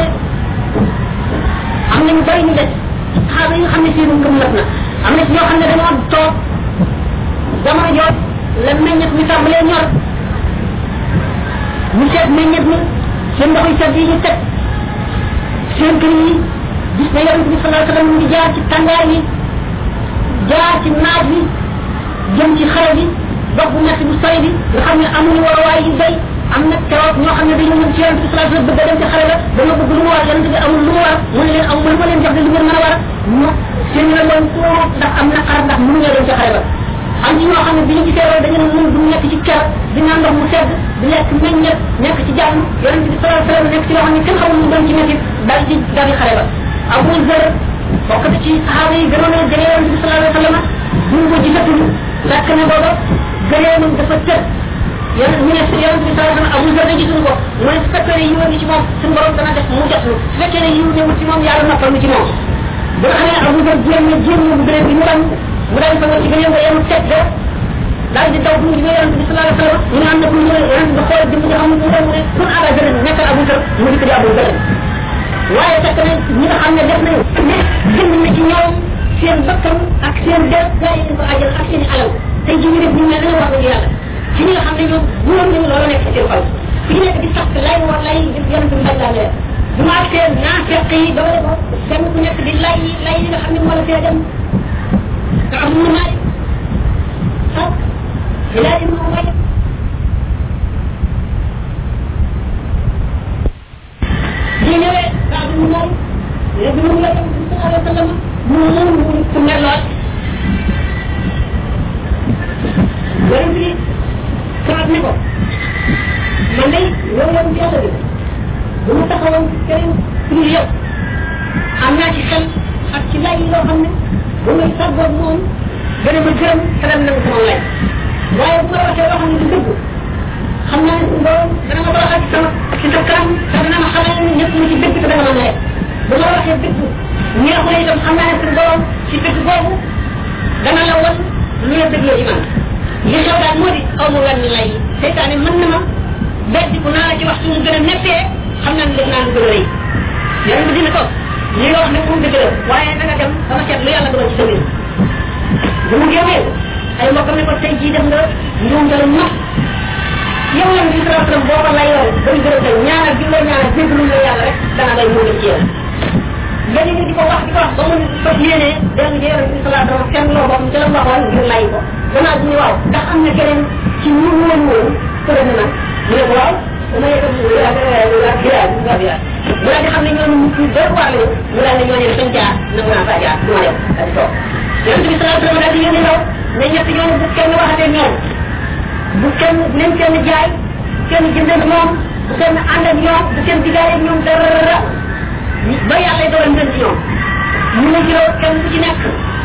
am nañu bari ñu des saxaaba yi nga xam ne seen ngëm mat na am na ci ñoo xam ne dañoo toog jamono joot la meññet mi tàmbalee ñor ñu seet meññet mi seen ndox yi sedd yi ñu teg seen kër yi gis na yonent bi sallallahu alayhi wa sallam mu ngi jaar ci tàngaay bi jaar ci naaj bi jëm ci xare bi dox bu metti bu sori bi nga xam ne amuñu waruwaay yu doy am na keroog ñoo xam ne dañu ñëw ci yonent bi sallallahu alayhi wa sallam bëgg a dem ci xare la dañoo bëgg lu mu war yonent bi amul lu mu war mu ne leen am mënu ma leen jox de lu ngeen mën a war ñu seen la leen tuut ndax am na xar ndax mënu ñoo dem ci xare ba am ci ñoo xam ne bi ñu gisee loolu dañu ne mun du nekk ci ker di naan ndox mu sedd di lekk meññet nekk ci jàmm yonent bi sallallahu alayhi wa sallam nekk ci loo xam ne kenn xamul mu doon ci métti dal ci dal ci xare ba Abu Zar bokk na ci saxaaba yi gënoon a jege yonent bi sallallahu alayhi wa sallam bu ñu ko gisatul fekk ne booba gëreemam dafa tëdd yonent ñu ne yonent bi sallallahu alayhi wa sallam Abu Zar da gisuñu ko mu ne su fekkee ne yiwoon ni ci moom suñu borom dana def mu jot su fekkee ne yiw newul ci moom yàlla noppal mu ci moom ba nga xam ne Abu Zar jéem na jéem na bu gëreem bi mu daan mu daan fa ci gëreem nga yemu teg ga daal di daw bu ñu yonent bi sallallahu alayhi wa sallam ñu ne am na ku ñu yonent bi xool jëm nga xam ne mu dem mu ne kun Aba Zar nekkal Abu Zar mu dikk di Abu Zar waaye fekk na ñi nga xam ne def nañu ne jënd na ci ñoom seen bakkan ak seen der gaa yi ko ajal ak seen i alal tey ji ñu def ñu ne dañoo wax dëgg yàlla ci ñi nga xam ne ñoom ñoom nañu loolu nekk ci seen xol fi ñu nekk di sax lay war lay yonent bi bañ laa leer bu ma ak seen naa fekk yi ba wala ko kenn ku nekk di lay lay yi nga xam ne moo la fee dem te am na maay ak ilaa ibnu Umayya ñu ñëwee kaa bi mu moom léegi mu la dem sallallahu alayhi wa sallam mu moom mu ku mer lool yonent bi kaat ne ko man day yow yow ci yàlla bi bu ma taxawoon keneen pour yow am naa ci xel ak ci lay yi loo xam ne bu may sàggoog moom gën a ma gërëm xelam na sama lay waaye bu ma waxee loo xam ne du dëgg xam naa ne borom dana ma baaxal ci sama ci sa kanam te dana ma xamal ne ñëpp ñu ci dëgg te dana ma neex bu ma waxee dëgg neexul itam xam naa ne suñu borom ci dëgg boobu dana la wan lu la dëgg la ci man li xew daal moo di aw ma wenn lay seytaane mën na ma beddi ku naa la ci wax suñu gën a nettee xam naa ne def naa lu gën a rëy yàlla dina ko li nga wax ne moom dëgg la waaye da nga dem dama seet lu yàlla dogal ci sa mbir bu mu génnee ay mbokkam ne ko tey jii def nga njuumtalu mag yow lan bi sallallahu alayhi wasallam boo ko layoon bañ gën a tey ñaanal bi la ñaanal jéggalu la yàlla rek dana lay mu dem ci yow léegi ñu di ko wax di ko wax ba mu fas yéenee dem ci yonent bi sallallahu alayhi wasallam kenn loo boppam ci la waxoon ngir lay ko gannaaw bi ñu waaw ndax am na keneen ci ñu woon woon tëra na nag mu ne ko waaw dama yëkkam mu daal di xam ne ñooñu ñu doy waar lañu mu daal ne ñooñu dañ jaar nangu naa faa jaar du ma dem daal di toog yonent bi sallallahu alayhi wasallam daal di yónni ndaw ne ñett ñooñu bu kenn waxatee ñoom bu kenn nañ kenn jaay kenn jëndee moom bu kenn ànd ak ñoom bu kenn digaale ñoom dara ba yàlla dogal ngeen ci ñoom ñu ne juróom kenn ku ci nekk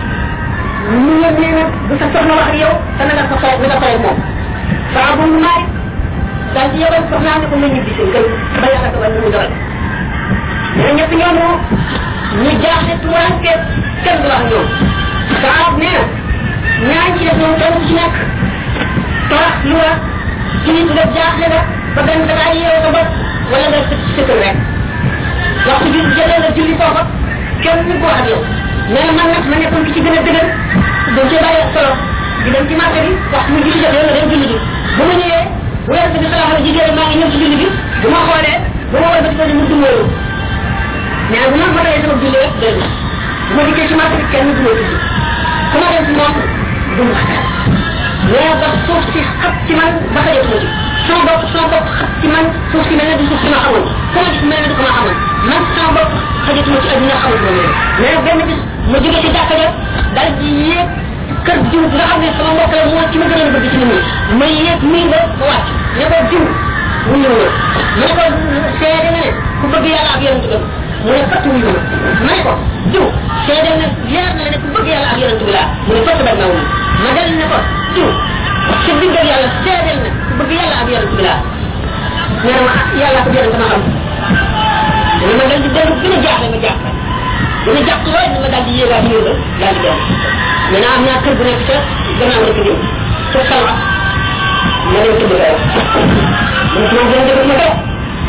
ñu yëg ne nag bu sa soxna wax ak yow te na nga ko fay na nga fay moom saa bu mu naay daal di yebal soxnaa ne ko nga ñibbi seen kër ba yàlla dogal lu mu dogal mais ñett ñoomu ñu jaaxle tuwaanke kenn du wax ñoom saa nee na ñaan ci def ñoom kenn ku ci nekk torax lu la tiit nga jaaxle nga ba benn da ngaa yeew sa bopp wala nga sa sa kër rek waxtu bi jëlee nga julli foofa kenn ñu ko wax ak yow nee na man nag ma nekkoon ki ci gën a dëgër dañ cee bàyyi solo di dem ci marché bi waxtu mu julli jotee nga dem julli ji bu ma ñëwee bu weer bi xalaat la jigéen maa ngi ñëw ci julli bi bu ma xoolee bu ma wal ba ci ko mu dumóoyu mais bu ma fa tayee sama julli rek doy na bu ma dikkee ci marché bi kenn du ma julli ku ma dem ci moom du ma xatal mais ba suuf si xat ci man ba xajatuma ci sama bopp sama bopp xat ci man suuf si mel ne du suuf si ma xamoon ku ma gis mel ne du ko ma xamoon man sama bopp xajatuma ci adduna xamul ma leen mais benn bis ma jóge ci jàkka ja dal di yéeg kër jiw nga xam ne sama mbokk la moo ci ma gën a bëgg ci nit ñi ma yéeg muy ba ma wàcc ne ko jiw mu ñëw na ma ne ko seede nga ne ku bëgg yàlla ak yonent bi mu ne fatt wuyu ma ma ne ko jiw seede nga leer na la ne ku bëgg yàlla ak yonent bi laa mu ne fatt ba na wuyu ma dal ne ko jiw ci diggal yàlla seedeel na ku bëgg yàlla ak yonent bi laa nee na ma yàlla ko yonent ma xam dana ma dal di dellu gën a jaaxle ma jaaxle dana jàpp lool ma daal di yéegaat ñëw ba daal di dem maintenant am naa kër bu nekk ca gannaaw rek jëm ca salwa ma dem tëdd fa man ci moom gën a dëgg ma toog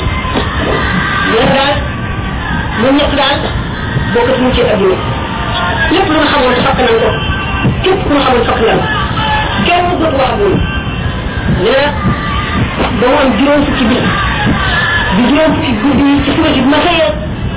mais daal ñun ñett daal bokkatuñu ci adduna lépp lu nga xamoon fakk nañ ko képp ku nga xamoon fakk nañ kenn dootu wax ak ñun nee na ba mu am juróom fukki bis di juróom fukki guddi ci suba si bu ma xëyee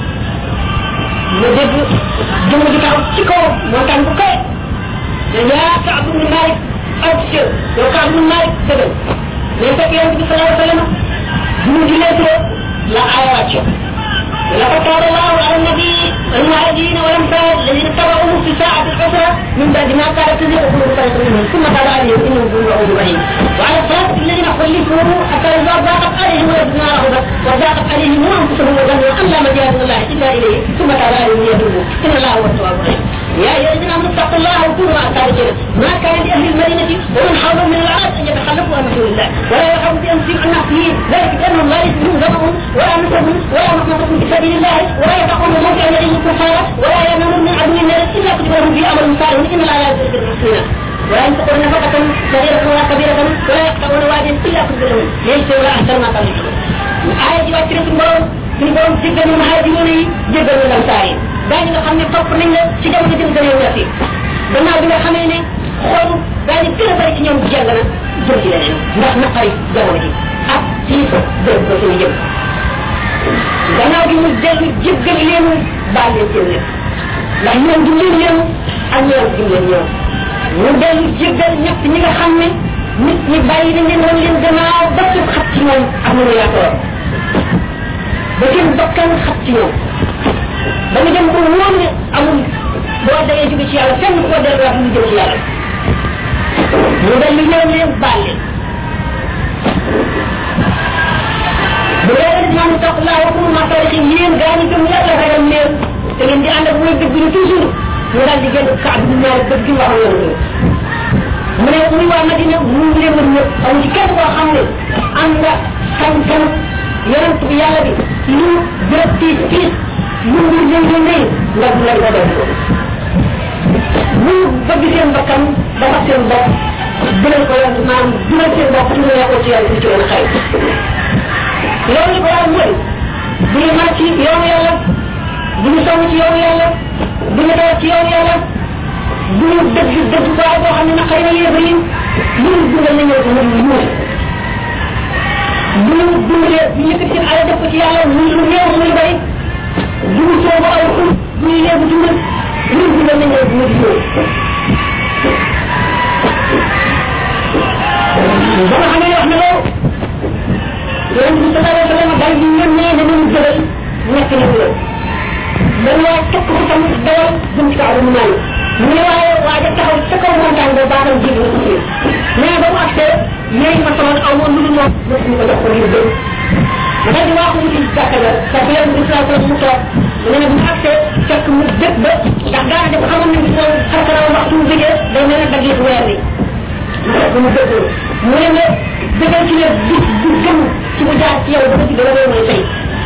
ma dégg jëmm di taxaw ci kaw montagne bu kawe ne yaa Kaab ibn Malik abshir yow Kaab ibn Malik dëggal mais fekk yonent bi sallallahu alayhi wa sallam bu mu jullee turoo la aaya wàcce لقد تاب الله على النبي والمهاجرين والانصار الذين اتبعوه في ساعة العسرة من بعد ما كانت تزيغ قلوب فريق منهم ثم تاب عليهم انه هو الغفور الرحيم وعلى الثلاثة الذين خلفوا حتى اذا ضاقت عليهم الارض ما رحبت وضاقت عليهم انفسهم وظنوا ان لا مجال من الله الا اليه ثم تاب عليهم ليتوبوا ان الله هو التواب الرحيم يا ايها الذين امنوا اتقوا الله وكونوا مع الصادقين ما كان لاهل المدينة ومن حولهم من العرب ان يتخلفوا عن رسول الله ولا يرحبوا بانفسهم عن نفسهم ذلك بانهم لا يسلمون دمهم ولا نسبهم ولا مخلصة في سبيل الله ولا يتقون موضع يديه الكفار ولا يمنون من عدو الناس الا كتب لهم في امر صالح ان الله لا يزيد المحسنين ولا ينفقون نفقة صغيرة ولا كبيرة ولا يقطعون واديا الا كتب لهم ليس ولا احسن ما قال الآية دي واتري في البرون في البرون جدا من المهاجرين جدا من الانصار داني nga xamne top nañ la ci jamono jëm gënew la fi gannaaw bi nga xamé ne xol dañu gën a bari ci ñoom jàng na jëm ci leneen ndax naqari jamono ji ak ci dëgg ko ci jëm gannaaw gi mu dellu jéggal leen baal leen seen lépp ndax ñoom du leen yéen ak ñoom du leen ñoom mu dellu jéggal ñett ñi nga xam ne nit ñi bàyyi nañ leen woon leen gannaaw ba ci xat ci ñoom am na yaatoor ba seen bakkan xat ci ñoom ba nga dem ko wóor ne amul boo dayee jóge ci yàlla fenn koo delluwaat mu jëm ci yàlla mu dellu ñëw leen baal leen bu dee rek man tax laa waxul ma taarix yéen gaa ñi gëm yàlla ragal leen te ngeen di ànd ak muy dëgg ñu toujours mu daal di génn kaab bi ñaar dëgg gi waxal yoon mu ne muy waa Madina mu ngi leen wër ñëpp amu ci kenn koo xam ne am nga kan-kan yonent bi yàlla bi lu bërëb tiis tiis lu mu leen leen lay nga du la ko def mu bëgg seen bakkan dafa seen bopp dinañ ko yàlla maanaam dinañ seen bopp ci lu ko ci yàlla ci leen xay loolu ko waral mooy bu ñu mën ci yoonu yàlla bu ñu sonn ci yoonu yàlla bu ñu dawat ci yoonu yàlla bu ñu dëgg dëgg baay boo xam ne naqari na yéefa yi lu ñu dundal na ñëw ko mu muur bu ñu dundalee bu ñu yëkkati seen alal def ko ci yàlla muy lu néew muy bari bu ñu soobu aw xul bu ñu léegu dundal lu ñu dundal na ñëw ko mu di ñëw ba nga xam ne wax na loolu yonent bi sallallahu alayhi wa sallam daal di yónnee ne nañu jëgal nekk na bu dañ waa tokk ko tam dawal jëm ci kaw mu naan mu ne waaye waaja taxaw ca kaw montagne ba baaxam jiitu na ci mais ba mu accès yéen ma sama aw woon lu dul moom mosuñu ko jox ko ngir dëgg ma daal di waaxu wuti jàkka ja parce que yonent bi sallallahu alayhi wa sallam mu toog mu ne bu mu accès fekk mu dëkk ba ndax daana def xamoon nañ ko xarkaraw waxtu mu bëggee day mel ne daggeetu weer wi bu mu dëggoo mu ne nga dëggal ci ne bis bu gën ci mu jaar ci yow ba ci dara lay mooy tey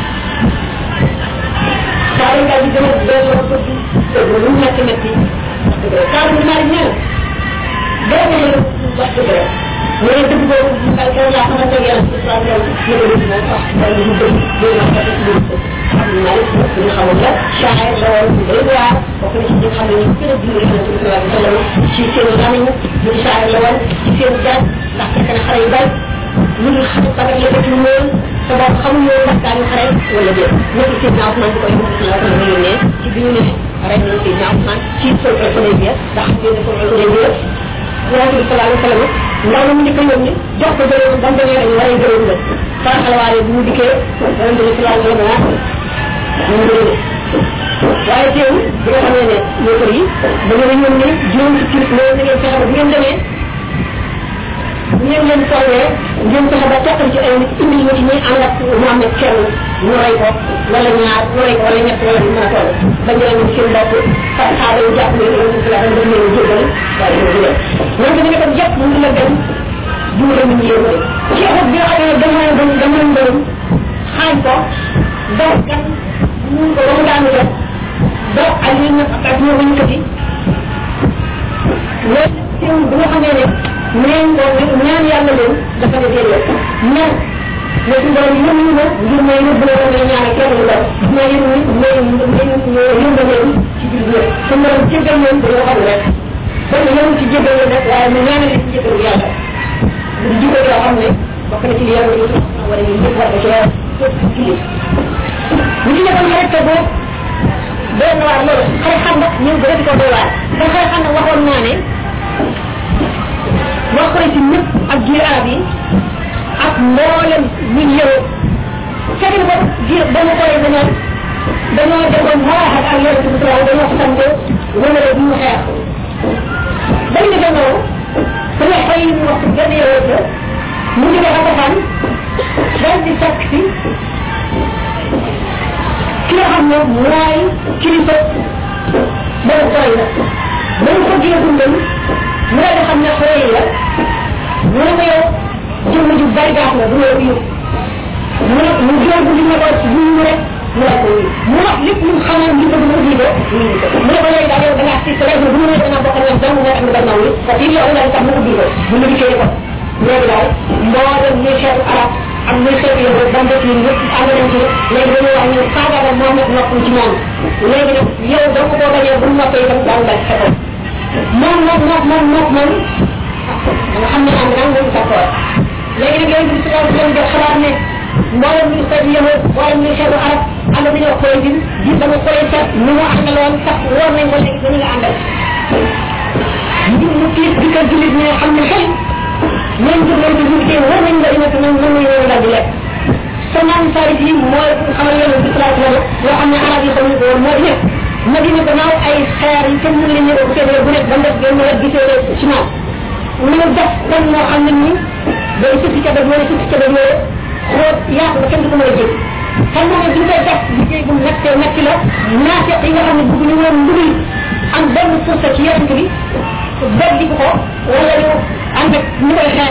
saa yi daal di gën a delloo ko ci dëgg lu mu metti metti saa bu maa di ñaan dara nga mën a wax dëgg rek mu ne dëgg boobu mu kay kaw laa xamante ak yàlla ci saa yow ne ko dëgg moom wax day lu dëgg loolu ma ko ci dëgg xam naa it ñu xamoon la shaayir la woon bu doy waar bokk na ci ñi xam ne ñu gën a dund yonente bi sallallahu alayhi wa sallam ci seen lamiñ ñu di shaayir la woon ci seen jaaj ndax fekk na xale yu bari ñu ngi xam bagat la dëkk woon te boobu xamuñu woon ndax daañu xare wala déet nekk seen naaw man bu koy sallallahu alayhi wa sallam yónnee ci bi ñu ne rey nañu seen naaw man ci sol Hudaybiya ndax ngeen ne sol Hudaybiya yonente bi sallallahu alayhi wa sallam ndaw na mu njëkk a yónni jox ko gërëm ba mu demee rek war a gërëm la faraxalwaale bu mu dikkee yonente bi sallallahu alayhi wa sallam ñu ngi waaye teewul bi nga xamee ne yéefar yi da ngeen a ñoom ne juróom fukki loolu na ngeen fexe ba bu ngeen demee bu ngeen leen tollee ngeen fexe ba teqal ci ay nit indi ñu ci ñuy ànd ak Muhammad kenn ñu rey ko wala ñaar ñu rey ko wala ñett wala ñu mën a toll ba ñu leen seen bopp par xaaba yu jàpp leen yonente bi sallallahu alayhi wa sallam leen jéggal waaye ñu jëlee ñoom dañu ne ko yëpp mu ngi la dem duura ñu yéen ci xot bi nga xam ne dama dama dama ngërëm xaañ ko daw kan ñu ko ba mu daanu def ba ay ñu na ak ñu ñu ko ci mais teewul bu nga xamee ne neen ko ñaan yàlla leen dafa ne déedéet ñaan mais suñu borom yëm ñu ma ngir may yóbbu la nga ñaan ak kenn lu def ma yëm ni may may yëmba leen ci biir ñëpp suñu borom jéggal leen dañoo xam rek ba ñu yëm ci jéggal leen rek waaye mu ñaanal ci jéggal yàlla di jikko yoo xam ne bokk na ci li yàlla ñu wala ñu ñëpp war ko ci ci li ñu ci nekkoon xarit te boobu doy na waar loolu xare xam nag ñu gën a di ko doy waar da xare xam nag waxoon naa ne wax ko ci ñëpp ak jiir arab yi ak mboolem ñun yëro fekk ko jiir ba mu koy dañoo dañoo defoon maraxat ak yonent bi sallallahu dañoo xamante wala bu ñu xeex dañ ne dañoo dañoo xëy ñu wax benn yëro mu ngi dafa defaan daal di fekk si ki nga xam ne mooy kilifa boobu koy la ba mu ko jëlee dundal mu daal di xam ne xooy la mu ne ko yow jëmm ju bari gaaf la du la ko yëg mu ne mu jël bu li ne ko ci ñu rek mu la ko yëg mu wax lépp lu xamoon li ko dina ko mu ne ko léegi daal yow da ngaa sis rek bu mu ne dana bokk ak dama nga am gannaaw li parce que yow la tax mu ubbi ko bu mu dikkee ko léegi daal mboolem ñuy xeetu arab am ñuy xeetu yow ba mbokk yi ñëpp ànd nañ ci léegi dañuy wax ñu faagaaba moom nag noppul ci moom léegi nag yow da ko boo bañee bu noppee itam daal daal sa kaw moom moom moom moom moom moom nga xam ne am naa moom d'accord léegi nag yooyu bi si daal leen def xalaat ne mboolem ñu xeetu yow mboolem ñu xeetu arab ànd dañoo koy din di dama koy sax ni mu àndaloon sax woor nañ ko léegi dañu la àndal ñu mu tiis di ko jullit ñi xam ne xëy ñoom jur nañ ko jur war nañ la dina ko mën nañ ñoo daal di lekk sa naan farit yi mooy xamal yàlla bi sallallahu alayhi wa sallam yoo xam ne arab yi xamuñ ko woon moo di ne Madina gannaaw ay xeer yi kenn mënu leen ñëw bu fekkee bu nekk ba def benn wet gisee ciment ñu def kon moo xam ne ni day sukki ca def wala sukki ca def yooyu xool yaatu ba kenn du ko mën a jëg xam nga ne duñ koy def liggéey bu mettee metti la naafeq yi nga xam ne bëgg ñu woon ndugul am benn fursa ci yonent bi beddi ko wala ñu ànd ak ñu koy xeex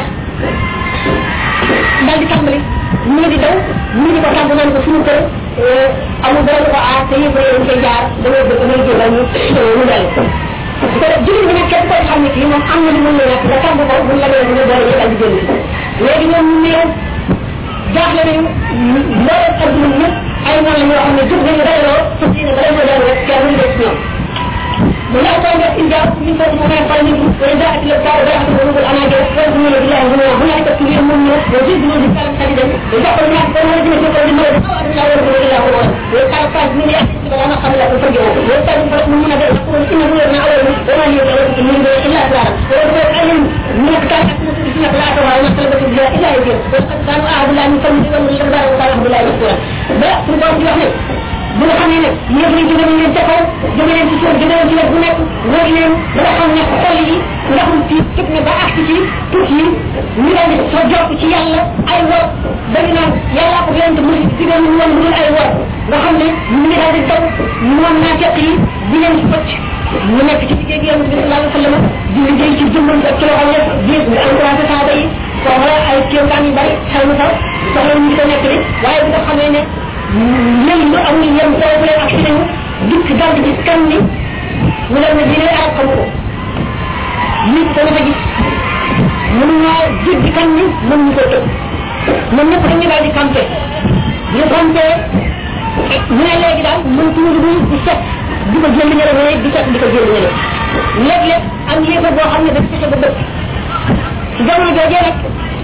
daal di tàmbali ñu di daw ñu di ko tàmb naan ko suñu kër amul dara lu ko aar te yëpp dañ koy jaar dañoo bëgg may jël ñu ñu dal su ko def jullit bi nag képp koy xam ne kii moom am na lu mën la nekk nga tàmb ko buñ la ñu boole ñu daal di jël léegi ñoom ñu néew jaaxle nañu mbooleem adduna ñëpp ay noonu la ñoo xam ne jóg nañu dajaloo fas yéene ba dañoo dal rek kenn ñu des ñoom mu la ko def in jaaw min fati mo fay ni ko jaati le taw ba ko ko ana de ko ñu la billahi bu bu la ko ci ñu ñu do ci ñu di kala kadi dem do ko ñu ko ñu di ko di mo do ko la wor ko la ko do kala fa ni ya ci ba na xam la ko fagi do ta ñu ko ñu na de ko ci ñu na ala ni do na ñu ko ñu do illa ta do ko ay ñu ko ta ko ci na la ko wa na ko ci ya ila yi do ko ta no ahadu la ñu ko ñu ko ñu ko ba ko alhamdulillah ba su ko di wax ne bu nga xamee ne yéen ñu gën a leen ca kaw jóge leen ci suuf jóge leen ci wet bu nekk wër leen ba nga xam ne xol yi ndaxum ci tëb na ba agsi ci tuut yi ñu daal di soo jokk ci yàlla ay wor dañu naan yàllaa ko yonent mu ci gën ñu woon dul ay wor nga xam ne ñu ngi daal di daw moom naa fekk yi di leen fëcc ñu nekk ci liggéey gi yonent bi sallallahu alayhi wa sallam di liggéey ci jëmmam ak ci loxo yëpp di di encouragé saaba yi foofu la ay kéemtaan yu bari xew na fa soxla ñu ko nekk li waaye bi nga xamee ne léegi lu amul yem foofu leen ak si nañu dikk dal di gis kan ni mu leen ne diine arab xamu ko nit dana fa gis mënu ñoo jéggi kan ni mën ñu ko tëb ñoom ñëpp dañu daal di campé ñu campé ñu ne léegi daal mën tuuti bu di set di ko jël ñële mais di set di ko jël ñële léeg-léeg am yéefa boo xam ne dañ fexe ba dëkk ci jamono joojee rek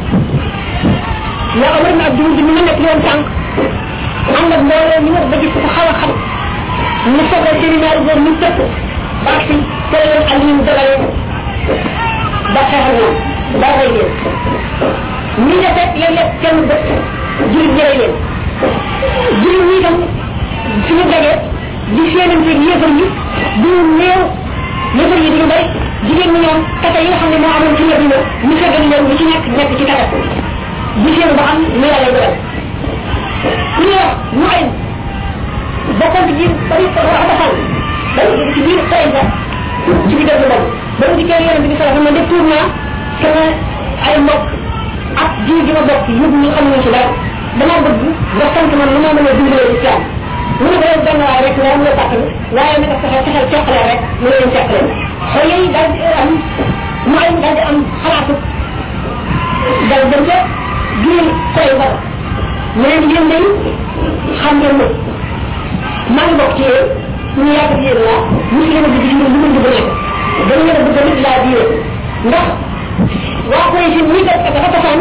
la Omar ibn Abdul bi mu nekk yoon tànk ànd ak mbooloo ñu wax ba gis ko xaw a xam ñu soxla seen ñaari góor ñu tëpp baax si teel leen ak ñu dogale ba xeexal ñoom ba rey leen ñi nga fekk léeg-léeg kenn bët jurit ñi rey leen jurit ñi itam suñu dajee di seenante yéefar yi du néew yéefar yi duñu bari jigéen ñi ñoom tata yi nga xam ne moo amoon ci Madina ñu fegal leen ñu ci nekk nekk ci tata di seen ba xam ne yàlla dogal ku ñu wax mu ay bokkoon ci biir bari wax defal ba ci biir tay ba ci biir dëgg boobu ba mu dikkee yonent bi sallallahu alayhi wa sallam de tour naa sama ay mbokk ak ji gi ma bokk yëpp ñu xamuñu ci dara dama bëgg nga sant man lu ma mën a dundalee islam mu ne ko yow benn waay rek nga am la tàkk waaye naka fexe fexeel teqale rek mu leen teqale xol yi daal di am mu ay daal di am xalaatu dal dem ca biir tay ba mu leen yéen day xam ngeen ma maa ngi bokk ci yéen ñu yàgg ci yéen laa ñu ci leen a bëgg ci lu mu dugg nekk dañu leen a bëgg nit laa diine ndax waa koy si ñi def dafa tasaan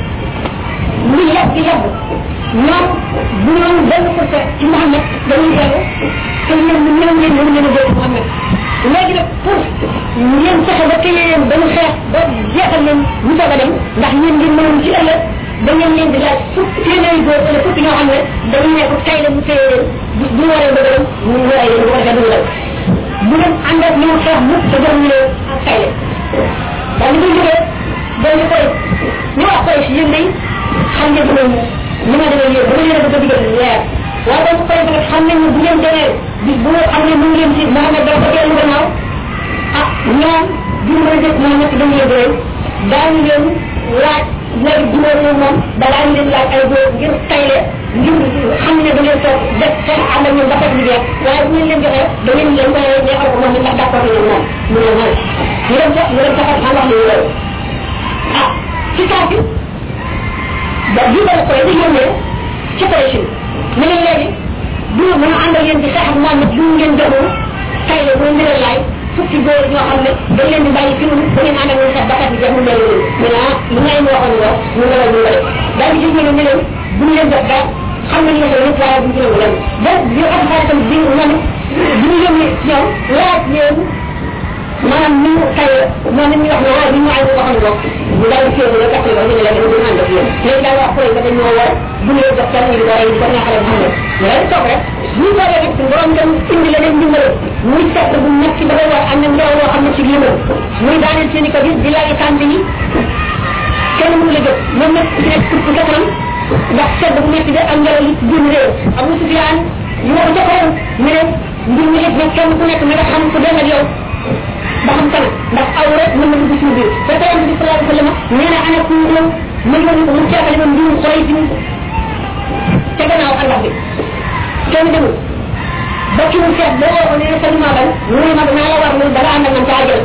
muy yàgg yàgg ñoom bu ñoom benn fursa ci Mouhamed dañuy dellu te ñoom ñu ñëw ngeen mënu leen a dégg Mouhamed léegi nag pour ngeen fexe ba téye leen ba ñu xeex ba jeexal leen ñu soog a dem ndax ñeen ngeen mënoon ci ëllëg da ngeen leen di laaj fukk téeméeri góor wala fukk ñoo xam ne dañuy nekk tay la mu téye leen bu bu waree ba dem mu waray leen bu ko defee duñu dem bu leen ànd ak ñoom xeex mukk te jox ñu leen ak tay leen daal di koy jógee dañ ñu koy ñu wax koy si yéen day xam ngeen ko ni ma demee yéen ba ma leen a bëgg a digal leer waaye dañ koy nag xam nañ ne bu ngeen demee bis bu xam ne mu ngi leen ci Mouhamed dafa dellu gannaaw ah ñoom duñu mën a def Mouhamed dañ leen doy daañu leen laaj léegi juróom ñoom moom balaa ñu leen laaj ay góor ngir tayle ngir xam ne da ngeen toog def seen ànd ak ñoom ba fekk liggéey waaye bu ngeen leen joxee da ngeen leen koy neexal ko moom ndax d'accord nañu moom mu ne man ñu dem sax ñu dem saxal xam wax li loolu ah ci saa si ba bi ba koy di yónnee ci Quraysh ne leen léegi du mën a ànd ak yéen di xeex ak Muhammad lu ngeen joxul tayle bu ngeen leen laaj fukki góor ñoo xam ne dañ leen di bàyyi fi mu da ngeen ànd ak ñoom sax bakkat bi jeex mu mel ni mu ne ah lu ngay waxoon loo ñu ne la ñu def daal di gis ne ne leen bu ñu leen def dara xam nañ ne lépp waaye bu ñu ci nangu lan donc ñu am xaritam bi man bu ñu yónnee ñoom laaj leen maanaam ni mu tay moom it ñu wax ne waaye bi ñu ay waxoon loo ñu daal di féewu la kàttan ba ñu ne leen ñu ànd ak yéen léegi daal wax koy ba dañ ñoo war bu ñu leen jox kenn ñu di ko rey di ko neexale xam ne ñu leen toog rek bu ñu toogee rek suñu borom dem indi la leen dimbale muy fekk bu nekk ci dafay war am na ngelaw loo xam ne ci limal muy daaneel seen i ko gis di laaj tànn yi kenn mënu la jóg moom nag ci nekk pour pour kanam ndax sedd bu nekk bi ak ngelaw li génn réew Abu Sufyaan ñu wax jëkkëram ñu ne mbir mi it nag kenn ku nekk na nga xam ku dem ak yow ba xam kana ndax aw rek mën na dugg suñu biir te tey bi sallallahu alayhi wa sallam nee na ana ku ñëw mën nga ñu ko mu ceexale ma mbirum xoy ci ca gannaaw àllax bi kenn demul ba ki mu seet boo woo ko nee na sa limaa ban mu ne ma danaa la war lu dara ànd ak man ca àjjal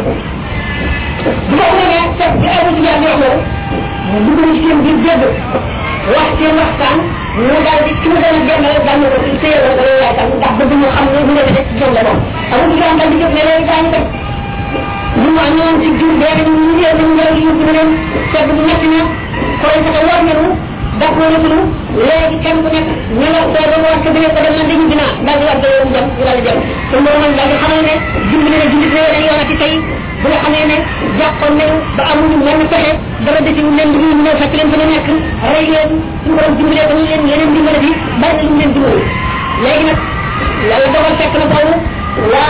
bu ko ne seet bi Abu Sufyaan wax loolu mu dugg na ci seen biir dégg wax seen waxtaan mu daal di ki mu doon benn rek daal na ko ci téye la dara yaay tam ndax bëgg ñu xam ne mu nekk ci ñoom la moom Abu Sufyaan daal di jóg ne léegi daañu dem ñu mu amoon ci jur bee ñu ñu ñëw ñu ñëw ñu ñu leen sedd bu metti na koy sa war nañu daf ko ñu léegi kenn ku nekk ñu la ko do wax ko dina ko dem man dañu dina daal di wax do ñu dem ñu daal di dem te mo man daal di xamal ne dimbali na jullit réew dañu yoonati tey bu nga xamee ne jàppoon nañu ba amuñu mën fexe dara desi ñu leen ñu ñëw fekk leen fa nekk rey leen ñu borom dimbalee ko ñu leen yeneen dimbale bi bari na lu leen dimbali léegi nag yàlla dogal fekk na boobu waa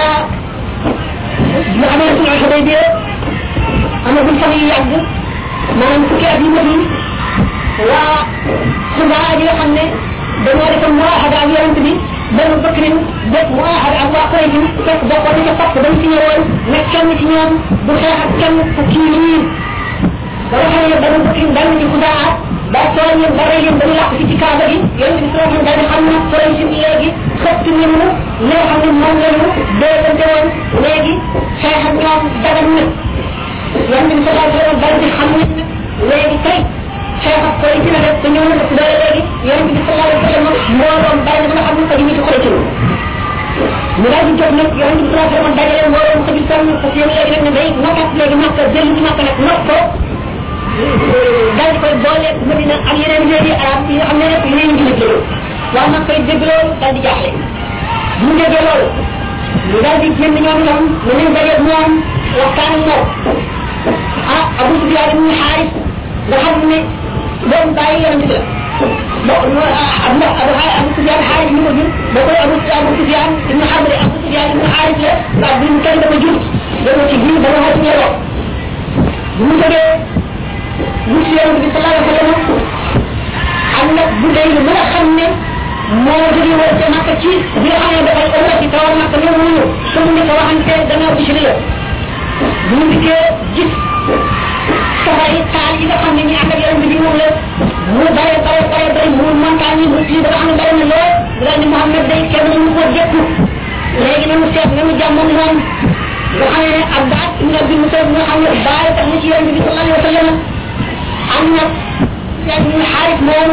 xadimati waa xubaa yi nga xam ne dañoo defoon muahada ak yonent bi benn bëkkrin def muahada ak waa koy bi fekk bokkoon na ca fokk dañ ci ñëwoon ne kenn ci ñoom du xeex ak kenn ku kii lii ba nga xam ne benn bëkkrin dal na ci xudaa ba tooñ leen ba rey leen ba ñu làq fi ci kaaba gi yonent bi sallallahu alayhi wa sallam daal di xam ne koy si léegi xëpp nañu li nga xam ne moom lañu déggante woon léegi xeex ak ñoom dagan na yonent bi sallallahu alayhi wa sallam daal di xam ne léegi tey xeex ak koy dina def te ñëw na def doole léegi yonent bi sallallahu alayhi wa sallam mbooloom bari na nga xam ne ko ñu ci koy ci mu daal di jóg nag yonent bi sallallahu alayhi wa sallam dajale mbooloom ko ci sonn parce que léegi nag ne day nokkat léegi nokk jël ci nokk nag nokk ko daal di koy boole Madina ak yeneen réew yi arab yi nga xam ne rek yeneen ngi liggéey waaw nag koy dégg loolu daal di jaaxle bu mu déggee loolu ñu daal di génn ñoom itam ñu leen dajeeg moom waxtaan ak moom ah Abu Sufyaan ibn Haaris nga xam ne doom bàyyi yonent bi la bon ab ndax Abu Abu Sufyaan Haaris mi ko jur ba koy Abu Abu Sufyaan ibn Harb Abu Sufyaan ibn Haaris la ndax bi mu kenn dafa jur dama ci biir ba nga xam ne lool bu mu jógee mu ci yonent bi sallallahu alayhi wa sallam am nag bu dee lu mën a xam ne moo jóge woon ca Makka ci bi nga xam ne dafay ëllëg ci tawal Makka ñëw wuñu su mu nekk waxante gannaaw bi ci la bu mu dikkee gis safara yi taal yi nga xam ne ñi ànd ak yonent bi moom la mu bare bare bare bare mu montagne yi mu fii dafa xam ne bare na lool daal ni Muhammad day kenn mënu ko jekku léegi nañu seet nañu jàmmoon moom nga xam ne Abbas ibn Abi Mutalib nga xam ne baay tax na ci yonent bi sallallahu alayhi wa sallam am na Sufyaan ibn Haaris moomu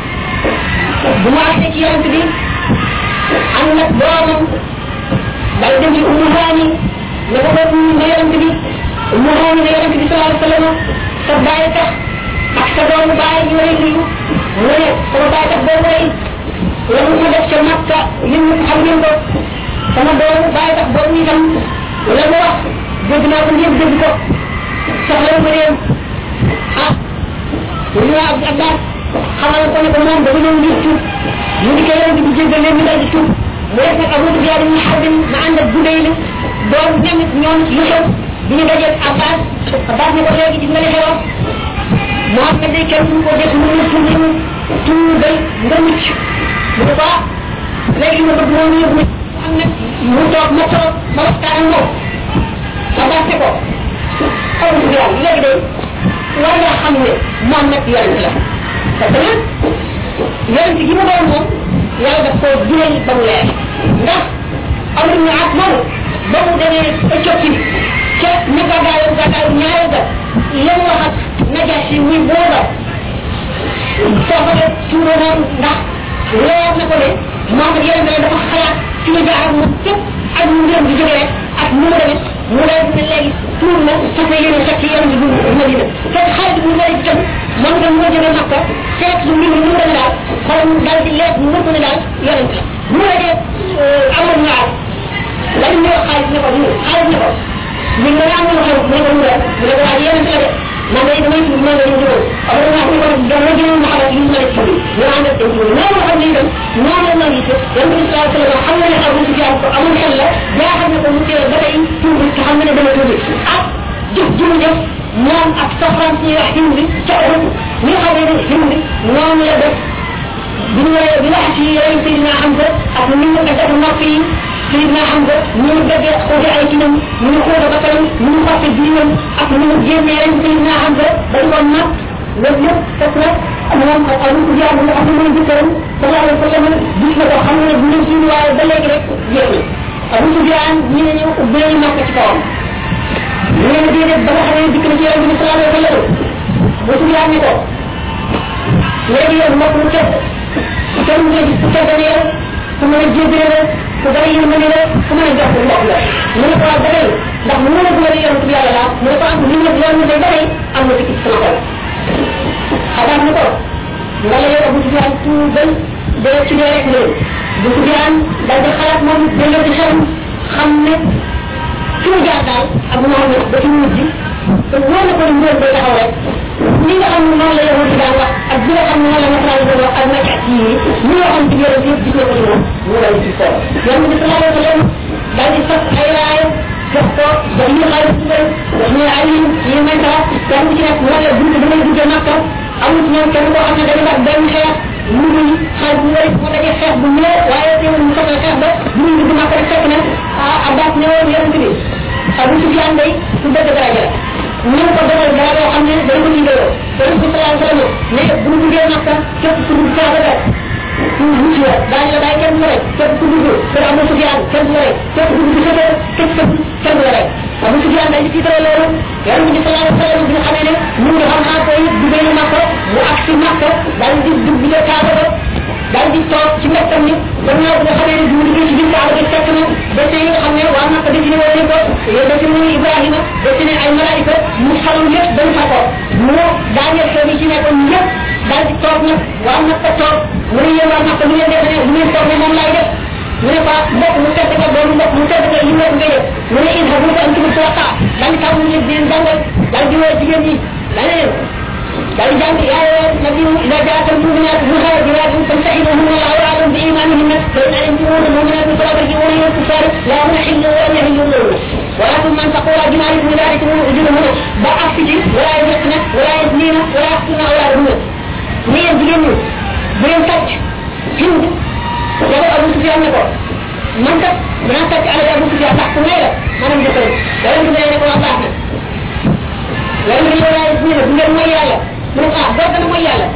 bu mu àggee ci yonent bi am na doomam dal dem ci Ummu Haani ne ko boobu na yonent bi Ummu Haani ne yonent bi sallallahu alayhi wa sallam sa baay tax ak sa doomu baay ñu lay nuyu mu ne sama baay tax boobu lay la mu ko def ca Makka yéen ñëpp xam ngeen ko sama doomu baay tax boobu itam la mu wax dégg naa ko ñëpp dégg ko soxla ko réew ah ñu waa ab Abbas xamal ko ne ko moom dafa ñëw ngir tuub mu di koy yonent bi jéggal leen ñu daal di tuub mu def nag Abu Sufyaan ibn Harb ma ànd ak Budayl doon ñamit ñoom lu xew bi ñu dajee Abbas Abbas ne ko léegi gis nga li xewoon Muhammad day kenn duñ ko def mu ne tuub ñu tuubal nga mucc mu ne ko léegi ma bëgg moom yóbbu am nag mu toog ma toog ma waxtaan ak moom Abbas ne ko Abu Sufyaan léegi day war nga xam ne Muhammad yonent la parce que nag yonent gi mu doon moom yàlla daf koo jural ba mu leer ndax am nañu at moom ba mu demee Éthiopie ca ñu gàddaayu gàddaayu ñaari ga la mu wax ak Najaasi muy booba foofa la tuuro moom ndax leer na ko ne Muhammad yonent la dafa xalaat fi mu jaar ak moom képp ak mu ngeen di jógee ak mu mu demee mu lay ne léegi tuur na fas yéene fekk yonent bi Madina fekk xaalis bu lay jëm moom itam moo jógee Makka seet lu mbir mi mu demee daal xolam daal di leer mu mën ne daal yonent la bu la dee amoon ñaar la ñu wax xaalis ne ko ñu xaalis ne ko ñu nga am lu xew mu ne ko mu def mu ne ko waaye yonent la de man day damay tudd man la ñu jógoon am na wax ni ko dama jëloon ma xalat yu ma la ci ñu ànd ak dem ci noonu xam ne itam noonu la gis yonent bi sallallahu alayhi wa sallam xam na ne Abu Sufyaan ko amul xel la jaaxal na ko mu teel ba tey tuub te xam na ne dama tuubi ak jëf ji mu def moom ak soxnaam ci wax Hind ca Uhud ñi nga xam ne Hind noonu la def bi ñu waree bi wax ci yooyu Seydina Hamza ak ni mu def nopp yi Seydina Hamza ni mu déggee xoote ay cinam ni mu xoote ba kanam ni mu xotte biiram ak ni mu génnee ren Seydina Hamza ba ñu ko natt loolu yëpp fekk na moom ak Abu Sufyaan nga xam ne mooy jëkkëram sallallahu alayhi wa sallam gis na ko xam ne bu ñu suñu waaye ba léegi rek jeex na Abu Sufyaan ñi ne ñu ubbee ñu màkk ci kawam ñu ne déedéet ba nga xam ne dikk na ci yonent bi sallallahu alayhi wa sallam Abu Sufyaan ni ko léegi yow mbokk mu tedd kenn nga gis ku tedd ne yow ku mën a jébbale la ku bari yërmande la ku mën a jox ko mbokk la mu ne ko waaw ba tey ndax mu ne ko la yonent bi yàlla laa mu ne ko am li nga yoon day ba tey am na ci sama xol xabaar ni ko nga la yow Abu Sufyaan tuubal dee ci dee rek loolu Abu Sufyaan daal di xalaat moom delloo ci xelam xam ne fi mu jaar daal ak Muhammad ba ci mujj te wóor na ko ni mbir day taxaw rek li nga xam ne noonu la yow di daan wax ak bi nga xam ne noonu la nasaraan doon wax ak nag ak yii li nga xam ci yore yëpp gis na ko ci moom mu dal ci solo yonent bi sallallahu alayhi wa sallam daal di fas ay raaya jox ko jox ñu xaalis ci bëri jox ñu ay yi may tax kenn ci nekk moo la bunt da ngay duggee makka amul ci ñoom kenn koo xam ne dañu wax benn xeex lu muy xaaj bu wari moo dajee xeex bu ñëw waaye teewul mu soxla xeex ba bu ñu dugg makka rek fekk na abbas ñëwoon yonent bi abu sufyan day su bëgg daraja la ñu ko defal dara yoo xam ne dañ ko liggéeyoo yonent bi sallallahu alayhi wa sallam ne bu ñu duggee makka képp ku dugg kaaba ga mucc la daañu la bàyyi kenn du la rek képp ku dugg kër abu sufyan kenn du la rek képp ku dugg sa kër képp kenn du la rek abu sufyan dañ ci tëral loolu yonent bi sallallahu alayhi wa sallam bi nga xamee ne mu ngi xam naa koy duggee na makka mu ak si makka daal di dugg ca kaaba ga daal di toog ci mbettam ni gannaaw bi nga xamee ne du liggéey ci biir kaaba gi fekk na dessin yi nga xam ne waa makka dessiné woon nañ ko dessin muy ibrahima dessiné ay malaayika mu xalam lépp dañ fa ko mu daaneel xew yi ci nekkoon yëpp daal di toog nag waa makka toog mu ne yéen waa makka lu ngeen defe ne lu ngeen toog ne moom laay def mu ne quoi mbokk mu tedd ka doomu mbokk mu tedd ka li nekk ngay def mu ne in habu an tubu sulaqa daal di tàmm leen di leen jàngal daal di woo jigéen ñi daal leen daal di jàng yaa ayyuha nabiyu ida jaaka almuminat muhajiratin famtahinuhunna allahu a'lam bi imanihinna fa in alimtumuna almuminat fala tarji'uhunna ila al-kuffar la yahillu wa an yahillu lahunna ولكن من تقول جمال من ذلك من أجرهن بأفسد ولا يزقن ولا يزنين ولا يقتلن أولادهن مين جيني بين تاج هند يا أبو سفيان نكو من تاج من تاج على أبو سفيان تحت ميلا ما نمجي فرق ولا يمكن أن يكون أطاعنا ولا يمكن ولا يزنين بغير ميالا من آه بغير ميالا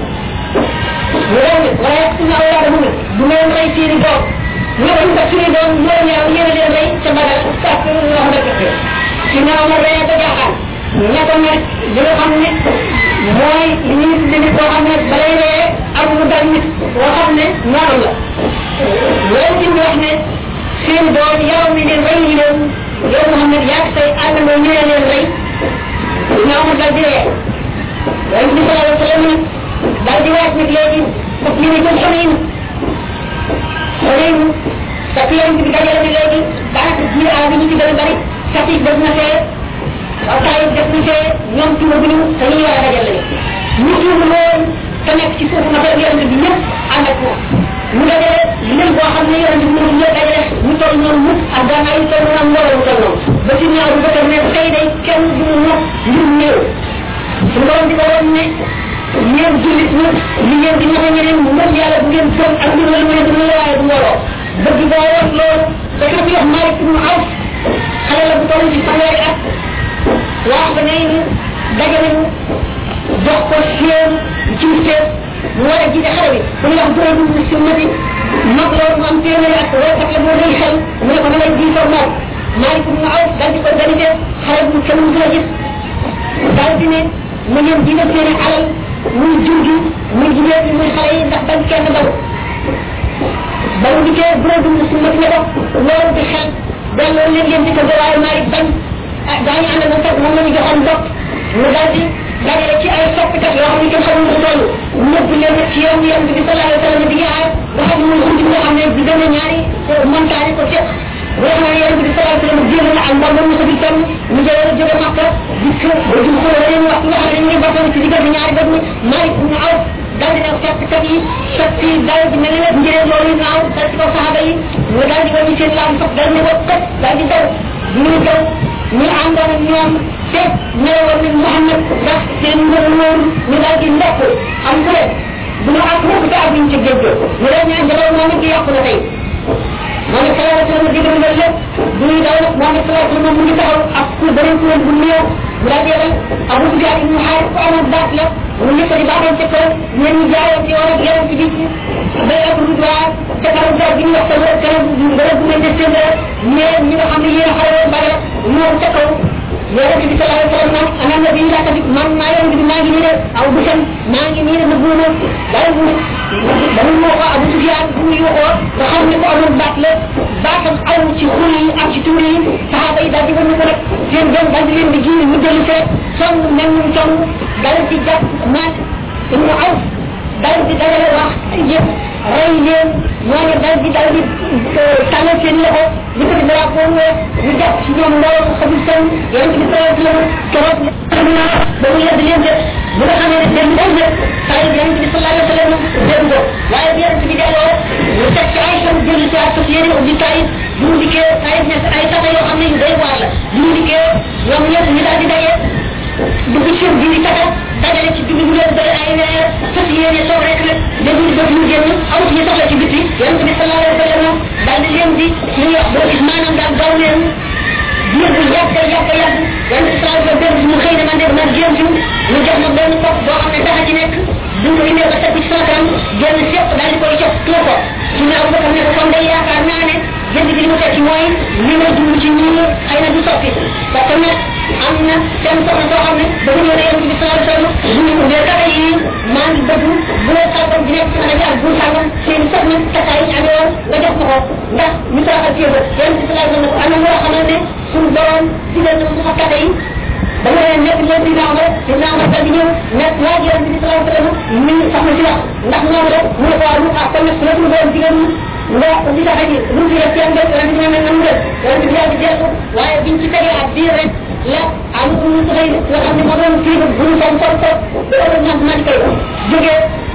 ولا يقتلن أولادهن بغير ريسيري دوم ñoo ñu ko suñu doon ñoo ñaaw ñene leen lay ca bagal ak wax dëgg ci naaw ma day ko jaaxal ña ko ne li nga xam ne mooy li ñuy tudde nit koo xam ne balay ree ak mu dal nit koo xam ne noonu la loolu ci wax ne seen doom yow mi leen rey ñu leen yow Muhammad yaa say àndandoo ñu leen leen rey ñaaw ma dal di ree loolu bi sallallahu alayhi wa sallam dal di waaj nag léegi parce que ñu ne jëm xamin xamin tapi yang kita dajale bi léegi daanaka ji a bi ñu ci gën a bari sati def na fee waxtaay def na fee ñoom tuuma bi ñu dañuy war a dajale ñu tuuma loolu te nekk ci suufu matériel bi ñëpp ànd ak moom mu dajale lim boo xam ne yonent bi mënu ñëw dajale ñu toll noonu mukk ak gànnaay yu toll noonu mbooloo mu toll noonu ba ci ñaaw bu bëgg ne tey day kenn du mu mokk ngir néew suñu borom di ko woon ne ñeen jullit ñi li ngeen di ñafe ñeneen mu mën yàlla bu ngeen gëm ak mbir la mu ne du mu waaye du mbooloo bëgg boo woon loolu da ka fi wax Malik ibn Awf xale la bu toll ci fanweeri at wax ba ne daje nañu jox ko seen ci seen mu war a jiite xale bi bu ñu wax juróom bu sunnati mag loolu mu am téeméeri at wala kat la moo rëy xel mu ne ko na ngay jiitoo moom Malik ibn Awf daal di organisé xale bu kenn mu gën a gis daal di ne na ngeen jiite seen alal muy jur gi muy jigéen bi muy xale yi ndax bañ kenn daw ba mu dikkee bureau dund su ma ne ko loolu di xel delloo leen leen di ko waaye Malik bañ ah daañu ànd na sax moom la ñu joxoon bopp mu daal di dajale ci ay soppikat yoo xam ne kenn xamul lu toll nëbb leen ci yoon yoon bi sallallahu alayhi wa sallam di yaay nga xam ne muy xunti nga xam ne di gën a ñaari montagne ko fekk bu nga xam ne yoon bi sallallahu alayhi wa sallam jéem na ak mbor ba mu sa bi tam ñu jëlee jóge Makka dikk ba jum ko leen wax nga xam ne ñu ngi bokkoon ci diggante ñaari bët ni Malik ibn Awf daal di def soppikat yi soppi daal di mel ne njëriñ loolu naaw dal ci kaw saxaaba yi mu daal di wàññi seen laam sax dal ne ko kat daal di daw ñu daw ñu àndoon ak ñoom te ñëwoon nañ Muhammad ndax seen ngër wóoru ñu daal di ndokk am ku leen bu ma ak mukk te ak ñu ci géej ñu leen ñaan jaloon moom it yàqu na tey moom it sallallahu alayhi wa sallam digal nga lépp bu ñuy daw nag moom it sallallahu alayhi wa sallam mu ngi taxaw ak ku beneen kuréel bu néew mu daal di yebal Abu Sufyaan ibn Xaaris ku amoon baat la mu nekk di baaxoon ca kaw ñeen ñu jaayoon ci woon ak yeneen ci biir bay ak rudwaa ca kanam gaal gi ñu wax sa kanam bërëb bu ngeen def seen dara ñeen ñi nga xam ne yéen a xale woon Badar ñoom ca kaw yonent bi sallallahu alayhi wa sallam ana nabi laa tamit man maa yonent bi maa ngi nii de aw bisam maa ngi nii de na buuma dara bu dañu moo ko Abu Sufyaan bu ñu waxoo nga xam ne ko amoon baat la baatam aw ci xul yi ak ci tuur yi saxaaba yi daal di wan ko rek seen doom daal di leen di ji ñu dellu fee song mel ñu song dal di jàpp maat ibnu Awf dal di dajale wax yëpp rey leen ñooñu dal di dal di tàllal seen loxo li ko di drapeau ñu jàpp ci ñoom mbooloo mu xamul seen yonent bi sallallahu alayhi wa sallam keroog ba mu yedd leen de bu nga xamee ne dem dem de saa yi yonent bi sallallahu alayhi wa sallam dégg ko waaye bi yonent bi delloo mu teg ci ay sam jël ci ak yéene ubbi saa yi bu mu dikkee saa yi ay tata yoo xam ne yu day waar la bu mu dikkee ñoom ñëpp ñu daal di daje dugg ci bi yàgg yàgg yan islam ba benn mu xëy na man de man jéem ci mu jox ma benn bopp boo xam ne dafa ci nekk duñ ko indee ba teg ci sama kanam génn sépp daal di koy jox tuur ko su ne Abu Bakar ne ko kon day yaakaar naa ne jënd bi li mu tekki mooy li ma dund ci ñii xëy na du soppi parce que nag am na seen soxna soo xam ne dafa ñëw ne yonent bi sallallahu alayhi wasallam bu ñu ubbee kata yi maa ngi bëgg bu la sàggam di nekk ci xale bi ak bu sàggam seen soxna takkaay yi amee woon nga jox ma ko ndax ñu saaxal ci yëngu yonent bi sallallahu alayhi wasallam am na loo xamal ne suñu borom digal na mu fa kata yi dama leen nekk leen di naaw rek di naaw rek di ñëw nekk laaj yonent bi sallallahu alayhi wasallam mi soxna si wax ndax moom rek mu ne ko waaw ah kon nag su la suñu borom digal nga di tax aji lu fi def seen bopp yonent bi ne nan def yonent bi daal di dellu waaye biñ ci tegee ak biir rek la am ñu xëy nga xam ne moo doon kii bu ñu son son son loolu ñam man koy jógee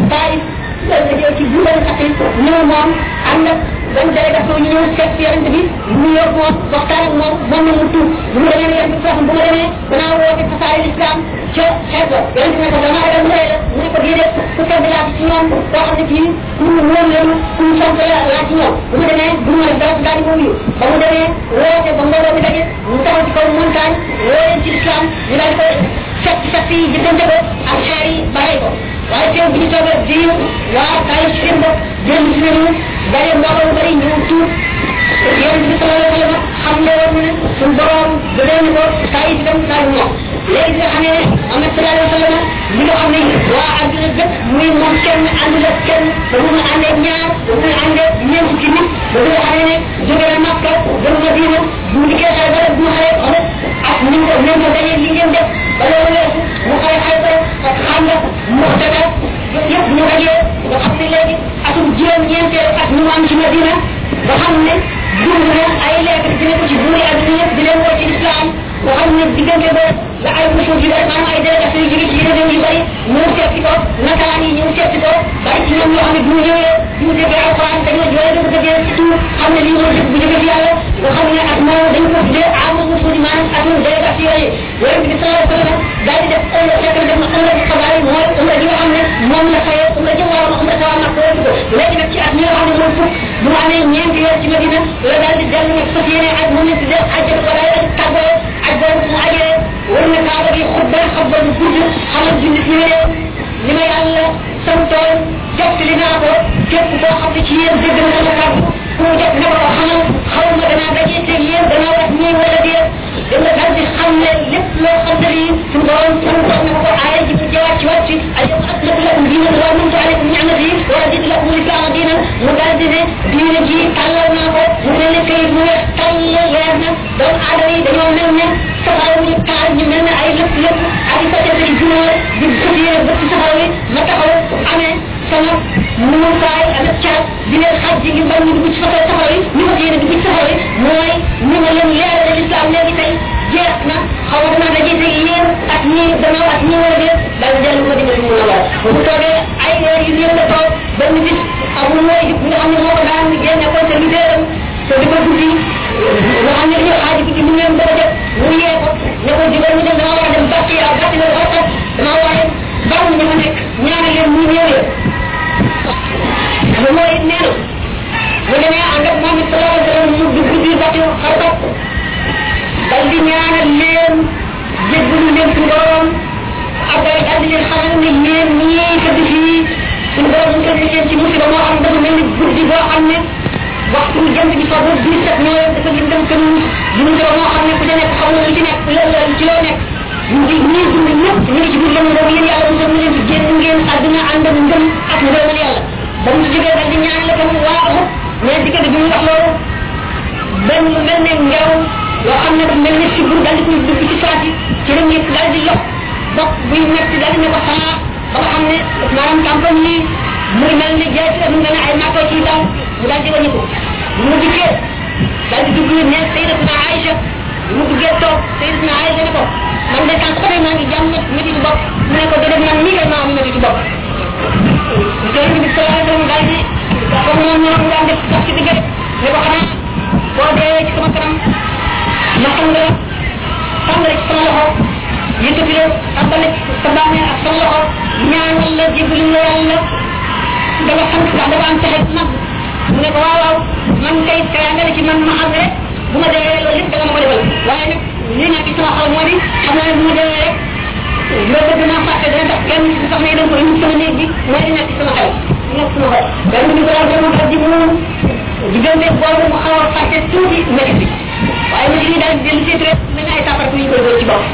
bàyyi ci buural xatil ñëw moom ànd ak benn délégation ñu ñëw seet yonent bi ñu yor moom waxtaan ak moom moom na mu tuub bu mu demee yonent bi foofu bu ma demee danaa woote tasaare l'islam ca xeet ba yonent bi ne ko dama ragal mu rey la mu ne ko déedéet ku tedd laa ci ñoom koo xam ne kii ku mu wóor leen ku mu sant la laa ci ñoom bu mu demee bu mu def dara daal di ko wuyu ba mu demee woote ba mbooloo mi daje mu taxaw ci kaw montagne woo leen ci l'islam ñu daal di koy fekk fekk yi jëndante ko ak xeer yi bàyyi ko waaye teew bi ñu toogee diir waa kaay ci seen bopp jël ci nañu daje mbooloo bari ñëw tuub yonent bi sallallahu alayhi wa sallam xam ne woon ne suñ borom da leen ko kaay ci dem kaay ñoom léegi nga xam ne Muhammad sallallahu alayhi wa sallam li nga xam ne waa àdduna bépp muy moom kenn àndul ak kenn ba mun a àndee ñaar ba mun a àndee ñeent ci nit ba nga xam ne jóge na Makka dem Madina bu mu dikkee xale ba rek bu mu xale xam ak ni ko ni ko dajee li ngeen def ba loolu weesu mu xale xale ba ak xam nga muxtada yëpp ñu dajee nga xam ne léegi atum juróom ñeenteel ak ñu am ci Madina nga xam ne dund na ay lettre dina ko ci buuri àdduna yëpp di leen woo ci islam nga xam ne diggante ba la ay musul yu bari maanaam ay délégation yu jóge ci yeneen yu bari ñëw seeti ko nasaraan yi ñëw seeti ko bari ci ñoom ñoo xam ne bu ñu ñëwee bu ñu déggee alquran dañoo jooy da ko déggee ci tout xam ne lii mooy dëgg bu jóge ci yàlla nga xam ne ak moom dañ ko tuddee amu musul maanaam ak ñu délégation yooyu yonent bi sallallahu alayhi wa sallam daal di def umra fekk na def na umra ci xabaar yi mooy umra ji nga xam ne moom la fayee umra jëm waroon na umra tawa mag ko léegi nag ci at mi nga xam ne mooy fukk bu mu amee ñeenti weer ci Madina la daal di dellu nag fas yéene ak moom la tuddee ajjat wala tàggoo ak boobu mu ajee war na kaaba gi xutba xutba bu gudd xamal jullit ñi leen li ma yàlla santoon jot li naa ko képp koo xam ne ci yéen dégg na sama kàddu ku mu jot na ko ko xamal xaw ma danaa dajee teg yéen danaa wax ñii wala déet da nga daal di xam ne lépp loo xam ne lii suñu borom suñu wax na ko aaya ji mu jawaat ci wàcc ay aslatu lakum diinakum wa atmamtu alaykum ni'mati wa raditu lakum al-islaama diinan mu daal di ne diine ji tàllal naa ko mu mel ne kayit mu weex tàll leer na doomu aadama yi dañoo mel ne safara ñu taal ñu mel ne ay lépp lépp ak i côté ay gunóor di fas yéene bëtt safara wi ma taxaw amee sama muukaay ak caat di leen xaj ji ngir bañ ñu dugg ci safara safara wi ñu fas yéene dugg ci safara wi mooy ñu ma leen leerale l'islam léegi tey jeex na xaw ma danaa dajee tey yéen ak ñii gannaaw ak ñii wala déet daal di dellu ko dimbali mu na war bu toogee ay weer yu néew la toog benn bis amul mooy bi nga xam ne moo ko daan génne conservateur am te di ko guddi nga xam ne dañoo xaaji guddi mu leen bëgg a jot mu yee ko ne ko jubal ñu dem dama war a dem bàtt yi ak bàtt la dafa tax dama war a bàtt ñu ma nekk ñaari leen mu ñëw leen lu mooy it nee na mu demee ànd ak moom it sallallahu alayhi wa sallam mu dugg biir bàtt xartat dal di ñaanal leen jéggalu leen suñu borom après dal di leen xamal ne yéen ñii tëdd fii suñu borom mu tëdd leen ci musiba moo xam dafa mel ni guddi boo xam ne waxtu jant bi fa boobu dix sept ñoo dafa lim dem kën di musiba moo xam ne ku ca nekk xam na lu ci nekk ci loo nekk ñu ngi ñii dund ñëpp ñu ngi ci biir lëmm boobu yéen yàlla musal mu leen ci génn ngeen àdduna ànd ak ngëm ak ngërëmal yàlla ba mu ci jógee dal di ñaanal tam waa Uhud mais diggante bi mu wax loolu benn mel ne ngelaw yoo xam ne dafa mel ne sibur daal di koy dugg ci saati ci la ñëpp daal di lox bopp buy metti daal di ne ko xanaa ba nga xam ne maanaam campagne yi muy mel ne jaay mu mel ne ay màkko ci daw mu daal di wàññi ko mu dikkee daal di dugg ne Sayyidatuna Aïcha mu duggee toog Sayyidatuna Aïcha ne ko man de tant que maa ngi jàmm métti ci bopp mu ne ko déedéet man nii kay maa am métti ci bopp Yonent bi sallallahu alayhi wa sallam daal di comme moom ñoo daan def sax ci diggante ne ko xanaa boo dee ci sama kanam ma xam nga tàmbale ci sama loxo yëkkati la tàmbale sa bàmmeel ak sama loxo ñaanal la jébbalu la yàlla da nga sant ndax dafa am pexe mag mu ne ko waaw waaw man kay kaya nga ci man ma xam rek bu ma dee loolu lépp da nga ma ko defal waaye nag lii naa ci bi xam naa ne bu mu demee rek loolu bëgg naa fàtte dana tax kenn ci sax ne dañ ko indi sama néeg bi mooy di nekk sama xel nekk sama xel benn bi ko daal sama xel di moom diggante boobu mu xaw a fàtte tuuti métti bi waaye métti bi daal dellu seet rek mel na ay safar yu ñu koy doon ci bopp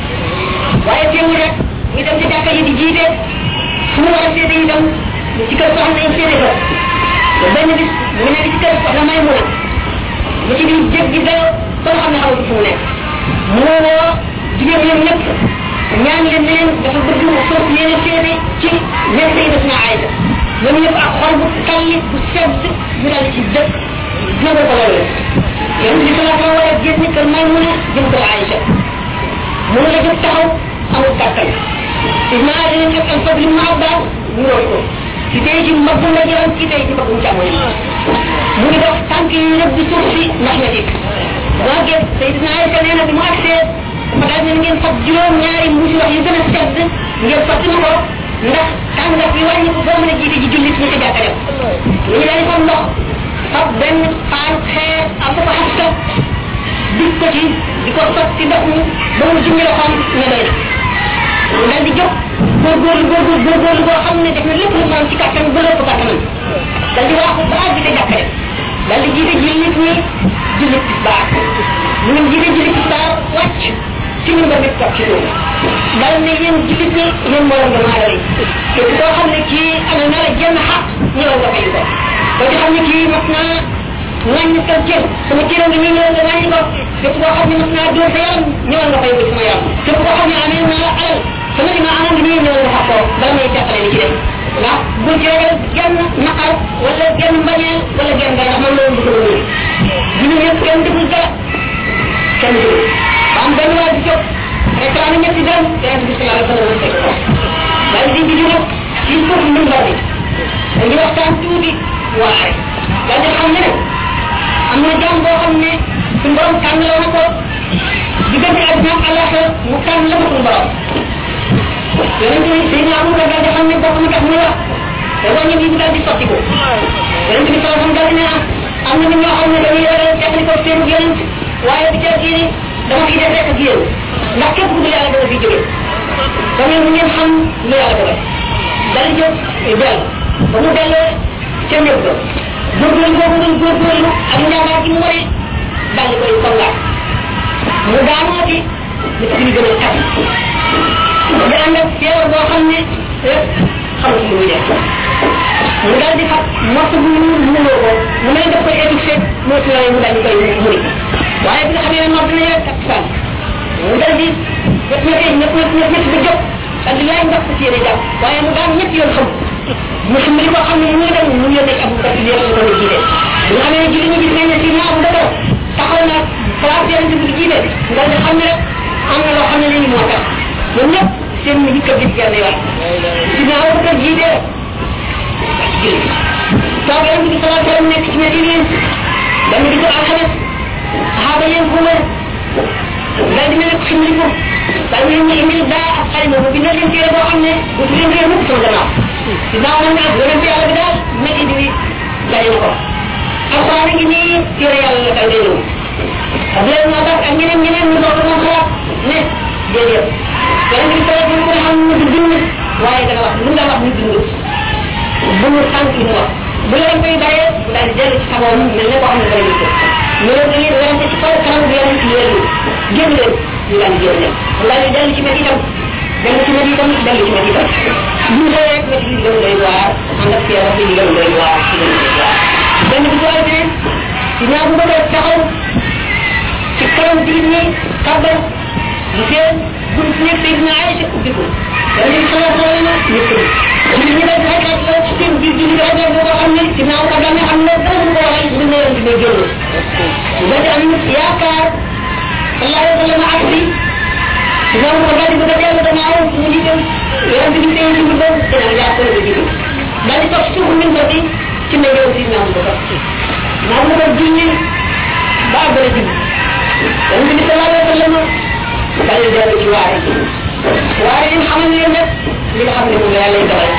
waaye teewul rek ñu dem ci jàkka yi di jiite fu mu war a seete itam ci kër soxna yi seete ko benn bis mu nekk ci kër soxna may mu mu ci biir jëg gi dayo ba nga xam ne xamatu fu mu nekk mu woo jigéen ñoom ñëpp ñaan leen ne leen dafa bëgg mu foof yéene seete ci nekk yi def naa ayda ñoom ñëpp ak xol bu talli bu sedd ñu daal ci dëkk nangu ko loolu yow li ko la ko war a génn kër may mu ne jëm kër Aïcha mu la jóg taxaw amul kàttan Ibn Adin ak al Fadl ibn Abbas ñu roy ko ci tey ci mbagg la jëram ci tey ci mbaggum càmmoñ mu ngi dox tànk yi rëbb di suuf si ndax na dik moo gis Seydina Aïcha nee na bi mu agsee ma daal ne ngeen fab juróom ñaari mbuusi wax yu gën a sedd ngeen sotti ma ko ndax tàngat bi wàññi ko boo mën a jiite ji jullit ñu ko jàkka def ñu daal di ko ndox fab benn paan xeer am ko xasta dig ko ci di ko sotti ndox mi ba mu jummi loxoom ne doy na daal di jóg góorgóorlu góorgóorlu góorgóorlu boo xam ne def na lépp lu mu am ci kàttan ba lépp kàttanam daal di waxu ba jiite jàkka def daal di jiite jullit ñi jullit tisbaar mu ngi jiite jullit tisbaar wàcc ci ñu bëgg toog ci suuf dal ne yéen jullit ñi yéen mbooloo dama adama yi te koo xam ne kii am na la jenn xaq ñëwal nga fay ko koo ci xam ne kii mas naa wàññi sa cër sama cër ngi nii ñëwal nga wàññi ko képp koo xam ne mas naa dóor sa yaram ñëwal nga fay ko sama yaram képp koo xam ne amee naa la alal sama li ma amoon ngi nii ñëwal nga xaq ko bala may teqale li ci def ndax bu ci ragal genn naqar wala genn mbañeel wala genn dara ndax man loolu bëgg la wéy ñu ñëpp kenn deful dara kenn deful am benn waa di jóg réclamé ñetti dërëm yonente bi sallallahu alayhi wa sallam fekk ko daal di di jóg ci foofu ndimbar bi dañuy waxtaan tuuti waaye daal di xam ne am na jàmm boo xam ne suñu borom tànn la na ko diggante àddina ak àllaxira mu tànn la ko suñu borom yonente bi Seydina Abubakar daal di xam ne bokk na tax muy wax te wàññi bi daal di sotti ko yonente bi sallallahu alayhi wa sallam daal di ne am na nit ñoo xam ne dañuy yore teqali ko seen yonent waaye bi ca kii dama fi def rek ak yéen ndax képp ku yàlla dama fi jóge ba ngeen ngeen xam lu yàlla dogal dal di jóg del ba mu dellee ca néeg ba góorgóorlu boobu doon góorgóorlu ak njàmbaar gi mu wane dal di koy kongaat mu daanoo ci li ci li gën a tab mu di ànd ak feebar boo xam ne rek xamul lu muy def mu daal di fab morso bu ñu mënoo ko mu mel daf koy étouffé moo ci mu daal di koy muri waaye bi nga xam ne noor dina yore ak fan mu dal di ñett ñett ñett ñett ñett ñett ba jóg daal di laaj ndax ci yéene jàpp waaye mu daan ñett yoon xam mu xam li ko xam ne mu ngi dem mu yónnee ci Abu Bakar di yéene ko jiite bi nga xam ne julli ñu gis nañ ne si na Abu Bakar taxaw na place yonente bi jiite nga di xam ne rek am na loo xam ne léegi moo tax ñoom ñëpp seen mi dikka gis genn yoon si na Abu Bakar jiite julli toog yonente bi salaa sallam nekk ci ñetti leen benn bi ko alxames saxaaba yéen bu ma daal di mel xam li ko daal di leen indil daa ak xalima mu bindal leen téere boo xam ne bu fi leen réer mukk sama gannaaw dinaa mën naa yonente yàlla bi daal nekk indi bi daje na ko alxuraan a ngi nii téere yàlla la tàngee ñëw ak leen moo tax ak ñeneen ñeneen ñu doon moom xalaat ne déedéet yonente bi sallallahu alayhi wa sallam xam ne du bind waaye dana wax lu nga wax ñu bind bu mu tànk mu wax bu leen koy bàyyee bu daal di dellu ci sagoom mel ne koo xam ne bari ñu ko ñu leen dañuy werante ci kaw kanam bi yonente yéen génn leen ñu daal di génn leen mu daal di dellu ci métti itam dellu ci métti itam dellu ci métti itam ñu xëy rek métti bi gën doy waar ànd ak feebar bi gën doy waar ci gën doy waar benn bi doole bi ci ñaa bu bëgg taxaw ci kanam jullit ñi kàbbal mu seen bunt nekk Seydina Aïcha ubbi ko yonente bi sallallahu alayhi wa sallam ñu ko jullit ñi daal xaykat la ci seen biir jullit xaykat boo ko xam ne ci naaw kàbbal ne xam ne dara du ko waxal bu ne yonente bi génn nga di am yaakaar sallallahu alayhi wa sallam ak si ñoom ko daal di bëgg a dellu gannaaw ñu jiital yonente bi seen ci bëgg dina yaa ko la jiital daal di toog suufu min ba bi ci ne yow si naaw ko naaw ko julli ba bëri julli yonente bi sallallahu alayhi wa sallam daal di dellu ci waare waare yi xamal leen nag li nga xam ne moom la yàlla dogal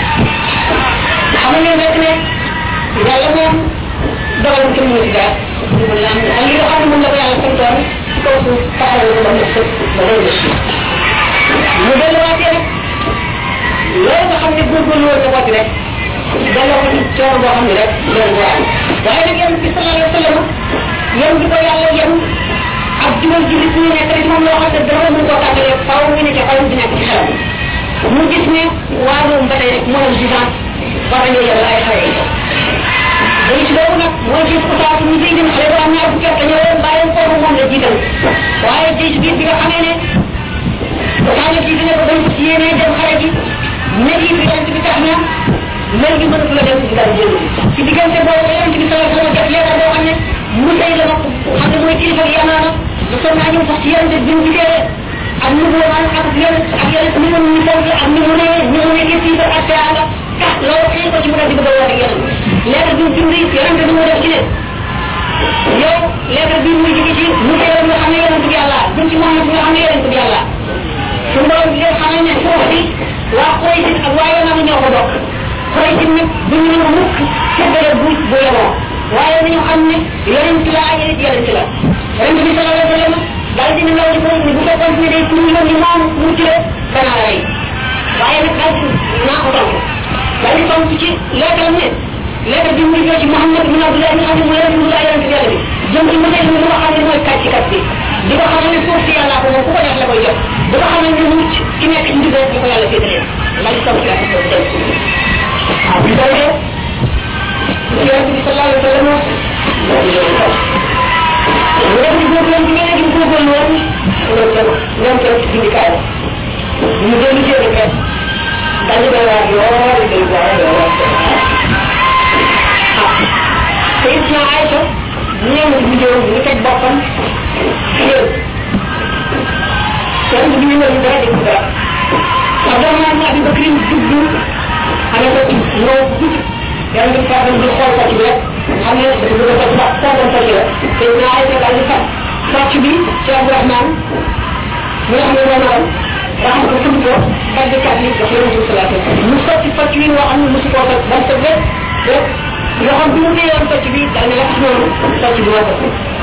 xamal leen rek ne yàlla moom dogal kenn mënu ci dara ak li nga xam ne moom la ko yàlla santoon ci kaw suuf taxawal ko ba mu sëpp ba day des mu delluwaatee rek loolu nga xam ne góorgóorlu woon na ko ci rek delloo ko ci coono boo xam ne rek loolu boo am waaye nag yéen bi sallallahu alayhi wa sallam yéen di ko yàlla yéen ak juróom ji nit ñi nekk rek moom loo xam ne dara mën koo tàggalee faaw ñu ne ca xalam di nekk ci xelam mu gis ne waa moom ba tey rek moo am distance war nañoo yàlla ay xale yi dañu ci boobu nag moo gis ko saa ñu fiy dem xale bu am ñaar fukki at ñëw leen bàyyi foofu moom la jiital waaye jëy biir bi nga xamee ne saa la jiital ne ko dañ ko ci yéenee dem xale ji mel yi bi yonent bi tax na mel gi mënatu la dem ci dara jël ci diggante boobu yonent bi sallallahu alayhi wa sallam def leeral boo xam ne mu tey la ko xam ne mooy kilifa gi yamaana lu son naa ñëw sax ci yonent bi mu gisee ak nu mu ak ak yonent ak yonent ni mu ñu fonk ak ni mu ne ni mu nekkee fii ba ak teanga tax loolu xëy ko ci mu dal di bëgg a woote yonent leeral bi mu bind yonent bi mu def ci ne yow leeral bi muy jóge ci mu tey nga xam ne yonent bi yàlla jëm ci Muhammad nga xam ne yonent bi yàlla suñu borom bi leen xamal ne foofu bi waa Quraysh ak waa Yaman ñoo ko bokk Quraysh nag bu ñu mën a mukk séddale bu bu yemoo waaye nañu xam ne yonent la ak yonent yonent la yonent bi sallallahu alayhi wa sallam daal dina law di ko ni bu fekkoon ne day tuur yoon ni moom mu ci la danaa la rey waaye nag daal naa ko tontu daal di tontu ci leetal ne leetal bi muy ci Muhammad bin Abdullah nga xam ne mu yonent la yonent yàlla bi jëm ci mu ne mu nga xam ne mooy kàcc kat bi di ko xamal ne suuf si yàlla ko moom ku ko neex la koy jox di ko xamal ne mucc ki nekk ci ndigal di ko yàlla féetalee daal di tontu ak ko dem ah bi day def yonent bi sallallahu alayhi wa sallam mu def ci góorgóorlu bi nga nekk ci góorgóorlu woon loolu tam ñoom tam ci bindikaay ñu dellu seen i xeet dañu doy waar lool day waar lool ah Seydina Aïcha ñëw na ci ñëw ñu teg boppam yéen yonent bi ñu ñëw ñu dara dégg dara Abdourahmane ibn Abi Bakr dugg xale ko ci ñëw dugg yàlla nga faa dem di xool sàcc bi rek xam ne dafa bëgg a faj sax foogoon sàcc la te naa ay daal di faj sàcc bi ci Abdourahmane mi nga xam ne moom am raxam ko tudd ko dal di kat li jox yonent bi sallallahu alayhi wa sallam mu sotti sàcc bi woo xam ne mosu koo faj ba mu tëb rek rek yoo xam bi mu téyewoon sàcc bi dal ne la tax noonu sàcc bi moo ko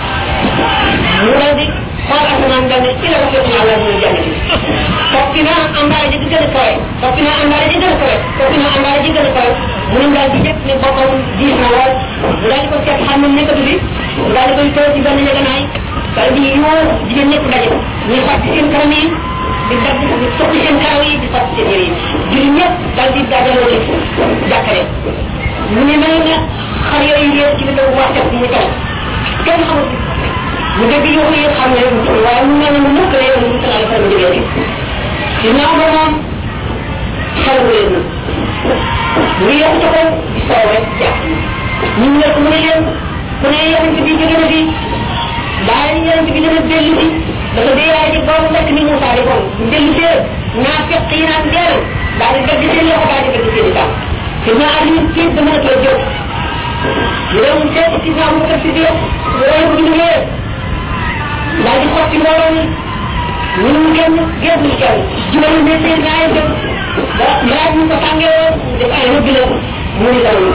mu dal di xool asamaan dal ne ci la ko fekk yàlla muy jàng ci foppi naa àndaale ji di gën a kawe foppi naa àndaale ji gën a kawe foppi naa àndaale ji gën a kawe mu ne daal di jëkk ne boppam diis na lool mu daal di ko seet xam ne nekkatu fi mu daal di koy toog ci benn njëganaay daal di yoo jigéen ñëpp daje ñuy fàtti seen kanam yi di dagg di sotti seen karaw yi di fàtti seen yére yi julli ñëpp daal di dajaloo ci jàkkare mu ne mel na xar yooyu yëpp ci biir wax teg mu taw kenn xamul mu dégg yoo yi xam ne waaye mu mel ne mu mukk la yow mu sallallahu alayhi wa sallam jógee ci naaw ba moom xel bu leen mu yokk ca kaw di soow rek jàpp ñu ne ko mu ne leen ku ne yonent bi jóge na fi bàyyi yonent bi dana dellu si dafa dee yaay ci boobu nekk ni Moussa di kon mu dellu see naa fekk yi naan deel daal di dagg seen loxo daal di dagg seen i tànk te naa ak ñu tiit ba mën a toog jóg ñu dem seet si naa mu def si biir loolu bu ñu ñëwee daal di xotti mbooloo mi ñu mu génn génn ñu kenn juróomi ne seen naa yi jóg ba laaj ñu ko tàngee woon def ay rëbbi la mu ni dara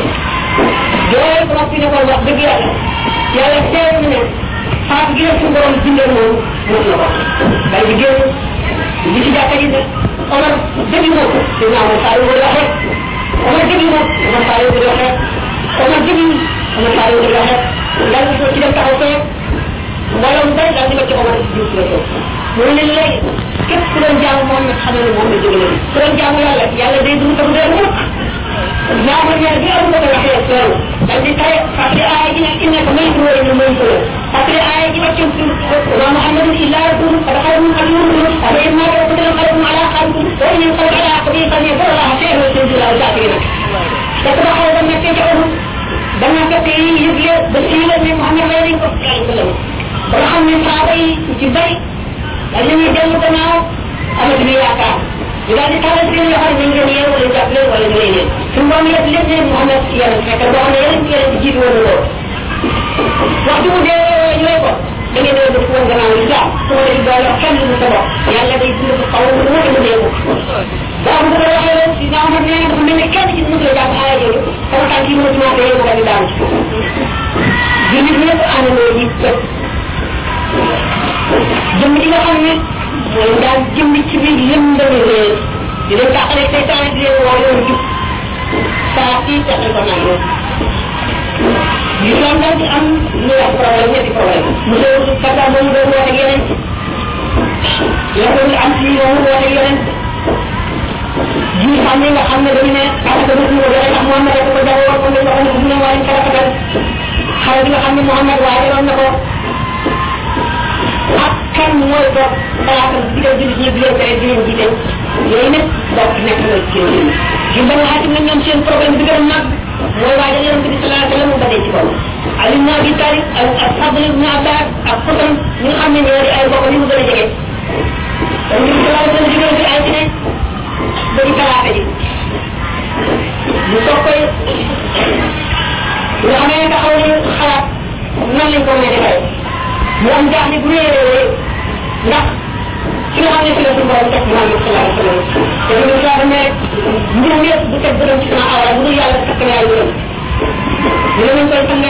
jooy ko noppi ne ko wax dëgg yàlla yàlla seet na ne faatu gi la suñu borom bindee moom mën na ko daal di génn li ci jàkka ji Omar dëgg moom te naa mo saa yu ko waxee Omar dëgg moom Omar saa yu ko waxee Omar dëgg Omar saa yu ko waxee daal di ko ci dem taxaw fee mbooloo mu bari daal di ko ci Omar jiw si la toog mu ne leen léegi képp ku doon jaamu moom nag xam ne moom la jóge na ku doon jaamu yàlla yàlla day dund tam dee mukk ñaama ñaar bi am ko ko waxee loolu daal di tare fàttali aaya ji nag innaka may ko wala may ko fàttali aaya ji wàccam ci wa muhammadun illa rasul qad xalat min qablihi rusul afa in mata wa qutila qalbun ala qalbikum wa in yanqalib ala aqbihi fa yaqul allah khayran wa sayyidu al shakirin dafa ba xaw ba nekkee ci amul ba nga fekk yi yëgle ba siiwal ne muhammad lay nañ ko sallallahu alayhi wa sallam ba nga xam ne saaba yi ci bari dañ ñuy dellu gannaaw amatuñu yaakaar ñu daal di tàllal seen loxo nañ leen yéen wala jàpp leen wala ñu lay leen suñu borom yëpp lépp leen Muhammad yéen fekk boo xam ne yéen yéen ci jiitu woon loolu waxtu mu dee ñu lay ko da ngeen doon def woon gannaaw islam su ma def doole kenn du sa bopp yàlla day dund ko xaw mu wute mu dee ko daa bu ko waxee leen si naa xam ne dafa mel ne kenn ci mu la jàpp aaya jooju sama tànk yi mënatu maa dee mu daal di daanu ci jullit ñëpp àndandoo yi jëm di nga xam ne mooy daal jëm ci biir lëndami réer di leen tàqale seytaan di leen woo yoon jub saa si teqal ko nag yoon l'islam daal di am lu wax problème ñetti problème mu doon kata moom doon woote yeneen yow am ci moom woote yeneen ji xam ne nga xam ne dañu ne asaka dëgg ko joxe ndax Muhammad ko jagoon ko dañ waxoon bu ne waaye karafatal xale bi nga xam ne Muhammad waajaroon na ko ak kan mooy toog xalaatam digal jullit ñi di leen tere di leen jiite yooyu nag bokk nekk na ci réew mi ci ba nga xaatim nag ñoom seen problème bi gën a mag mooy waajal yonente bi sallallahu alayhi wa sallam mu badee ci kaw Ali ibn Abi Talib ak ak Fadl ibn Abbas ak Xutam ñi nga xam ne ñoo di ay bokk ni mu gën a jege kon ñu sallallahu alayhi wa sallam jógee fi ay ci ne ba di talaata ji ñu toog koy nga xam ne taxaw ñu xalaat nan lañ ko mën a defee mu am jaaxle bu réeré ndax ki nga xam ne fi la suñu borom teg Muhammad sallallahu alayhi wa sallam te lu ñu saa ne mbirum yëpp bu teg bëram ci sama awra bu dul yàlla takk na yàlla bëram ñu ne nañ koy sanga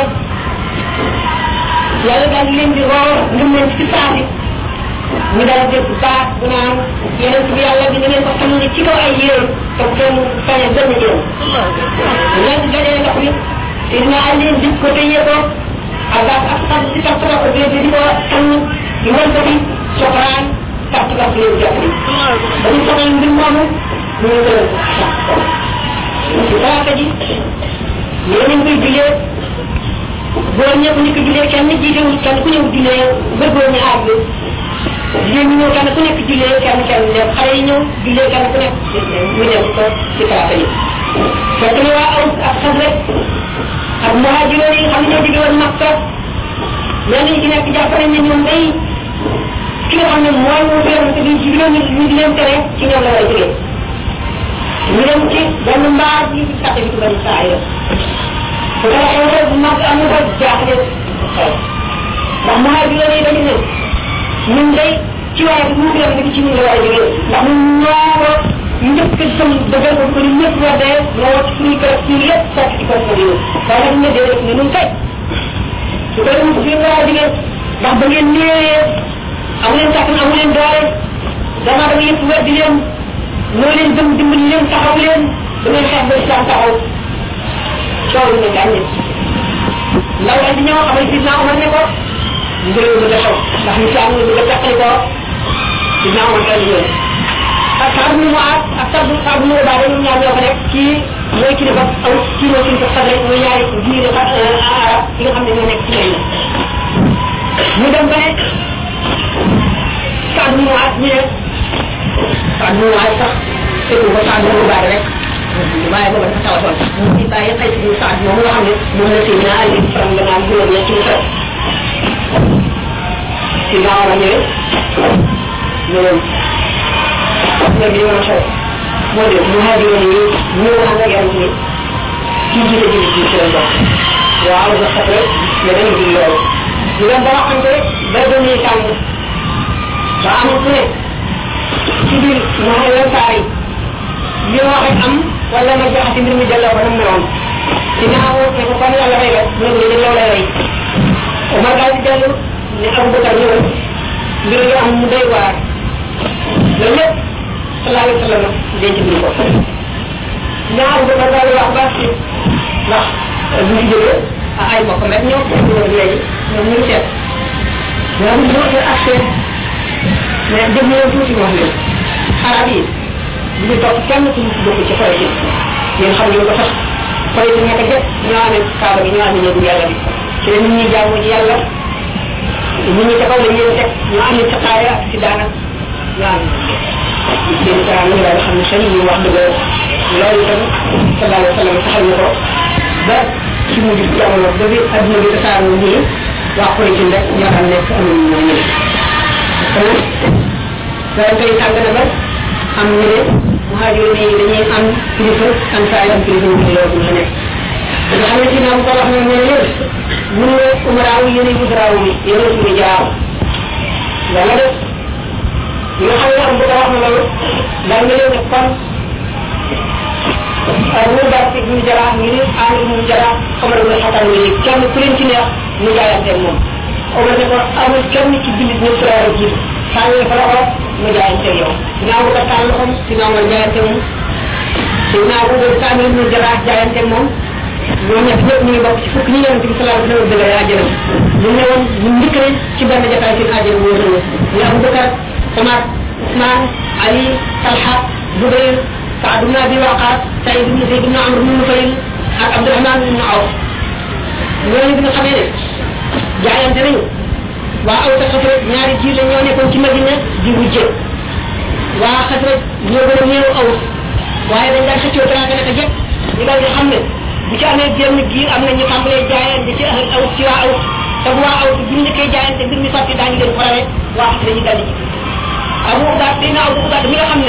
yàlla daal leen di roor ngëm leen ci saasi ñu daal dégg baax bu naan yeneen bi yàlla bi ngeen ko xam ne ci kaw ay yéen te kenn sañe benn jëm leen dajale ndox mi te dina àll leen dig ko tëyee ko ak ak xam ci tax ko ko di di ko xam di won ko bi soxraan tax ci tax leen jox ni dañu soxal mbir moomu ñu ngi gën ci talaata ji yeneen koy julee góor ñëpp ñu ko julee kenn jiitewul kenn ku ñëw julee ba góor ñu àgg jigéen ñi ñëw kenn ku nekk julee kenn kenn dem xale yi ñëw julee kenn ku nekk ñu dem ko ci talaata ji fekk na waa aw ak xam rek ak muhajiroon yi xam ne ñoo jóge woon Makka ñenn ñi ci nekk jàpp nañ ne ñoom day ki nga xam ne mooy mu feeru te duñ ci juróom ñu di leen tere ci ñoom la war a jógee ñu dem ci benn mbaar yi ci sàtte bi ci bari saa yo bu ko xew xew bu mag am na ko jaaxle ndax muhajiroon yi dañu ne ñun day ci waaye bu mu feeru te ci ñun la war a jógee ndax ñun ñoo ko ñëpp sam dëggal ko ko ni ñëpp wadee ñoo wacc suñu kër suñu lépp fekk ci ko ko yow waaye nag ne déedéet ne nun kay su ko dem suñu war a jógee ndax ba ngeen néewee amu leen kàttan amu leen doole dama dama yëpp weddi leen moo leen gëm dimbali leen taxaw leen da ngeen xeex ba islam taxaw coow lu ne gàññe ndaw la di ñëw xamal sidna Omar ne ko mbir mi bëgg a xew ndax ñu si am nga bëgg a teqali ko sidna Omar daal di ñëw ak Saad mu Muaad ak Saad Saad mu Ubaada ñoom ñaar ñoo ko nekk kii mooy kilifa aw kii mooy kilifa Saad rek mooy ñaari diine arab yi nga xam ne ñoo nekk ci lay ñu dem ba ne Saad mu Muaad ñu ne Saad mu Muaad sax fekku ko Saad mu Ubaada rek waaye booba dafa tawatoon mu ci bàyyi xëy si Saad moom nga xam ne moom la Seydina Ali faram la naan juróom ñetti mu xew si naaw la ñëwee ñëwoon léegi yow xew moo de muhajiroon yi ñëw ànd ak yàlla ni kii jiite jiite ci ci la bokk waaw nga xam rek ne dañu di loolu ñu dem ba waxante ba dañuy tàng ba am ku ne ci biir muhajiroon saa yi li ma wax am wala ma joxati mbir mi delloo ko nam meloon ci naaw ne ko kon yàlla rey la mu ne dañ loolu lay rey Omar daal di dellu ne Abu Bakar ñëwal mbir yi am mu doy waar loolu lépp sallallahu alayhi wa sallam denc bi ko ñaar bu ko daal wax baax ci ndax bu ñu jógee ay mbokk met ñoo ñoo léegi ñoom ñu seet ñoom ñu ñu accès mais dem ñu tuuti wax leen arab yi bu ñu topp kenn ku bokk ci xoy ci yéen xam ngeen ko sax xoy ci nekk jëpp ñoo amee kaaba gi ñoo amee ñëw yàlla bi ci la nit ñi jaamu ci yàlla nit ñi ca kaw la ñëw teg ñu am ci xaaya ak ci daana ñoo am seen dara ñu daal xam ne xel yi wax dëgg loolu itam sallallahu alayhi wa sallam taxal na ko ba ci mujj jamono ba bi adduna bi tasaaroo nii waa koy ci rek ñoo xam nekk amul ñoo ñëw kon loolu koy tàng na ba am ñu ne muhajiroon yi dañuy am kilifa ansaay am kilifa ñu loolu ñu nekk nga xam ne ci naam ko wax na ne leen mun ne umaraaw yéen yi udaraaw yi yéen suñu jaaw yàlla def ñi nga xam ne am bu ko wax na loolu daal nga leen ne kon mu daal ci ñu jaraa ñu ne aani mu jaraa xamal nga xataan ni kenn ku leen ci neex mu jaayante moom Omar ne ko amul kenn ci jullit ñu frère jiitu tàllal fa loxo mu jaayante yow ginnaaw bu ko tàll loxom ginnaaw nga jaayante moom ginnaaw bu ko tàmmil mu jaraat jaayante moom ñoo ñett ñëpp ñu ngi bokk ci fukk ñi yonent bi sallallahu alayhi wa sallam dëgg àjjana ñu ne woon ñu njëkk nañ ci benn jotaay seen àjjana bu wóor ñu Abu Bakar Omar Ousmane Ali Talha Zubayr Saad ibn Abi Waqas Saïd ibn Zayd ibn Amr ibn Nufayl ak Abdurahman ibn Awf ñooñu bi nga xamee ne jaayante nañu waa aw sa xasraj ñaari jiir la ñoo nekkoon ci Madina di wujje waa xasraj ñoo gën a néew aw waaye dañ daan xëccoo teraanga naka jekk ñu daal di xam ne bu ci amee génn giir am na ñu tàmbalee jaayante ci ahl aw ci waa aw te bu waa aw bu ñu nekkee jaayante mbir mi sotti daañu leen farale waa xasraj ñu daal di ci abu ubaad dina abu ubaad mi nga xam ne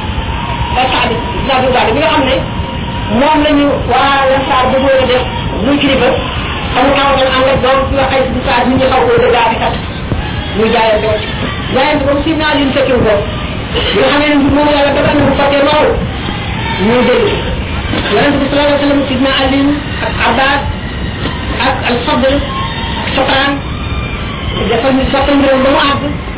saad dina abu ubaad mi nga xam ne moom lañu waa lansaar bu bëgg a def muy kilifa xamu tawatal ànd ak doom ci waxay bu saad ñu xaw koo dëggaati kat muy jaayante wacc jaayante boobu si naa leen fekkiw ko bi nga xamee ne mbir moomu yàlla dafa na bu sottee noonu ñuy dégg yonente bi sallallahu alayhi wa sallam sidna alin ak abbas ak al fadl ak sopran dafa ñu sottal mbiram ba mu àgg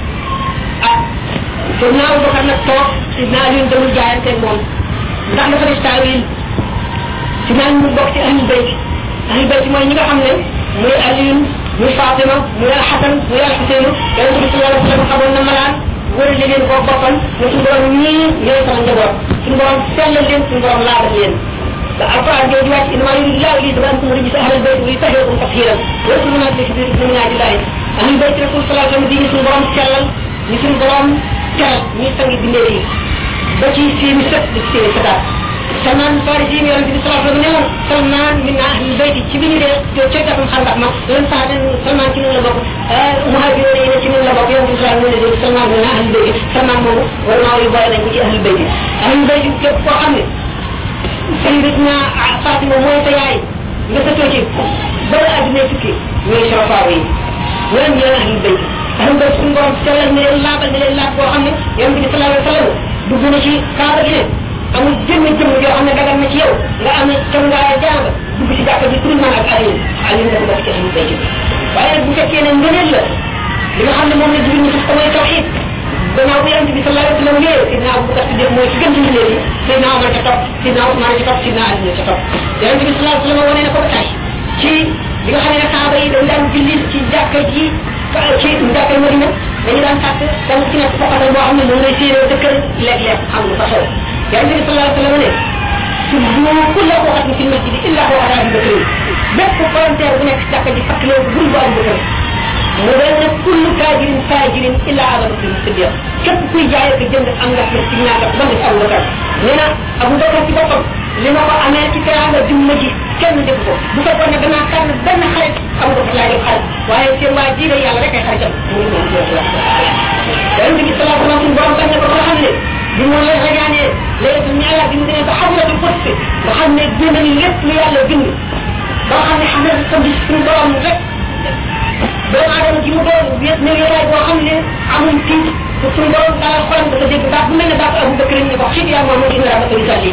ah sidna abubakar nag toog sidna alin damul jaayante moom ndax dafa def taawil sidna alin mu bokk ci ahlul bayt ahlul bayt mooy ñi nga xam ne muy alin muy fatima muy al hasan muy al husayn yonente bi sallallahu alayhi wa sallam xamoon na malaan wërale leen koo boppam ne suñu borom ñii ñooy sama njaboot suñu borom sellal leen suñu borom laabal leen da alquran jooju wàcc inama yuridu llahu li yudhhiba ankum rijsa ahlal bayt wa yutahhirakum tathiran yadkhuluna fi minaatillahi ahlul bayt rasul sallallahu alayhi wa sallam di ñu suñu borom sellal ñu suñu borom teral ñuy sangi bindee yi ba ci seeni sët di ci seeni sëtaat salman farisi mi yonente bi sallallahu alayhi wa sallam ne woon salman min ahlul bayt ci bi ñu dee ca gàttum xandax ma doon sax den salman ci noonu la bokk muhajiroon yi ne ci noonu la bokk yonente bi sallallahu alayhi wa sallam salman min ahlul bayt salman moomu war maa yu boole nañ ko ci ahlul bayt ahlul bayt képp koo xam ne sayyidatuna Fatima mooy sa yaay nga sa too ci ba la adduna tukki ñooy sarafaaw yi ñoom ñooy ahlul bayt ahlul bayt suñu borom sellal ne leen laabal ne leen laab boo xam ne yonente bi sallallahu alayhi wa sallam dugg na ci kaaba gi ne amul jëmm jëmm yoo xam ne dagal na ci yow nga am cangaaya jàng dugg ci jàkka bi pour man ak Aliou Aliou dafa bokk ci ahlul bayt waaye nag bu fekkee ne ngëneel la li nga xam ne moom la jigéen ñi sax ko mooy tawxiid gannaaw bu yonente bi sallallahu alayhi wa sallam ñëwee sidna Abubakar Siddiq mooy ci gën ci mbindeef yi sidna Omar ca topp sidna Ousmane ca topp sidna Ali ca topp yonente bi sallallahu alayhi wa sallam wane na ko ba tay ci li nga xam ne saaba yi dañ daan julli ci jàkka ji ci jàkka Madina dañu daan sàkk dang ci nekk foqatal boo xam ne moom lay séenoo dëkkal léeg-léeg xam lu fa xew yonente bi sallallahu alayhi wa sallam ne subbu kulla waxatin fi masjidi illa waxata Abu Bakr bépp volontaire bu nekk ci jàkka ji fakk leen bul bu Abu Bakr mu doon ne kullu taajirin taajirin illa Abu Bakr Siddiq képp kuy jaay ak jënd am nga ci ci ñaata ba def Abu Bakr nee na Abu Bakr ci boppam li ma ko amee ci teraanga jumma ji kenn def ko bu fekkoon ne danaa tànn benn xarit Abu Bakr laa def xarit waaye seen waa ji de yàlla rek ay xaritam mu ngi moom yonente bi sallallahu alayhi wa sallam suñu borom bañ na ko ba xam ne bi mu lay rañaanee léegi ñu yàlla bi mu demee ba xamulatul fotsi nga xam ne bind ni lépp lu yàlla bind ba xam ne xam ne sa bis suñu borom rek doomu aadama ji mu doon wéet ne yéraay boo xam ne amul tiit pour suñu borom dalal xolam dafa dégg baat bu mel ne baat Abu Bakr ñu ko xit yaa moom moo dina rabata risali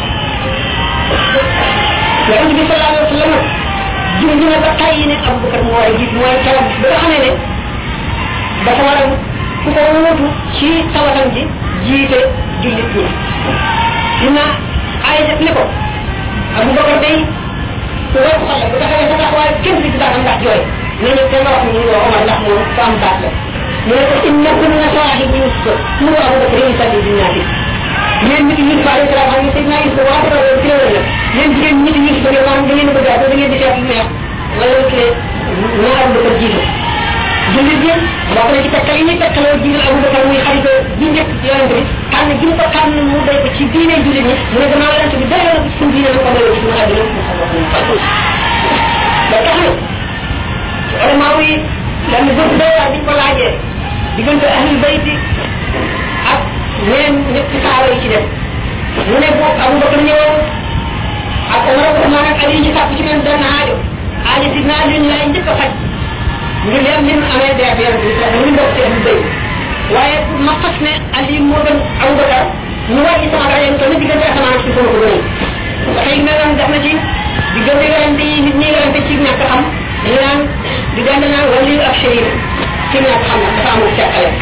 yonente bi sallallahu alayhi wa sallam junj na ba tàyyi ne Abu Bakr moo war a jiit mooy keroog ba nga xamee ne dafa war a ku ko wuutu ci tawatam ji jiite jullit ñi dina ay def ne ko Abu Bakr day ku war xol la bu taxawee sa taxawaay kenn fi daatam ndax jooy ne ñu te nga wax ñu woo Omar ndax moom ko am baat la mu ne ko inna kunna sawahib Yusuf mu Abu Bakr yi salli di ñaati yéen nit yi fa alayhi salaam xam ne Seydina Yusuf wax ko ci la la yéen jigéen nit yi fa ngeen da ngeen bëgg da ngeen di seet lu neex wala ci ñu Abu Bakr jiitu jullit yi bokk na ci takkal yi ñuy takkaloo jiital Abu Bakr muy xarit bi njëkk ci yonente bi tànn gi mu ko tànn mu doy ko ci diine jullit ñi mu ne gannaaw yonente bi doyoo na ko ci suñu diine na ko doyoo ci suñu àddina ba tax na ulama yi dañ bëgg doyaa biñ ko laajee diggante ahlul bayti ak ñeneen ñett saaba yi ci def mu ne boobu Abu Bakr ñëwoon ak Omar ak Ousmane ak Ali ñu sàpp ci même benn aajo aajo si naa leen laay njëkk a faj ñu leen lim amee dee ak yonente bi sax ñu bokk ci ahlul bayt waaye ma fas ne Ali moo gën Abu Bakr ñu wàcc sama rajo yi tamit diggante asamaan si sama ko gënal dafay mel noonu def na ci diggante werante yi nit ñi werante ci ñàkk xam ñu naan diggante naan wali ak shérif ci ñàkk xam nag dafa amul seqale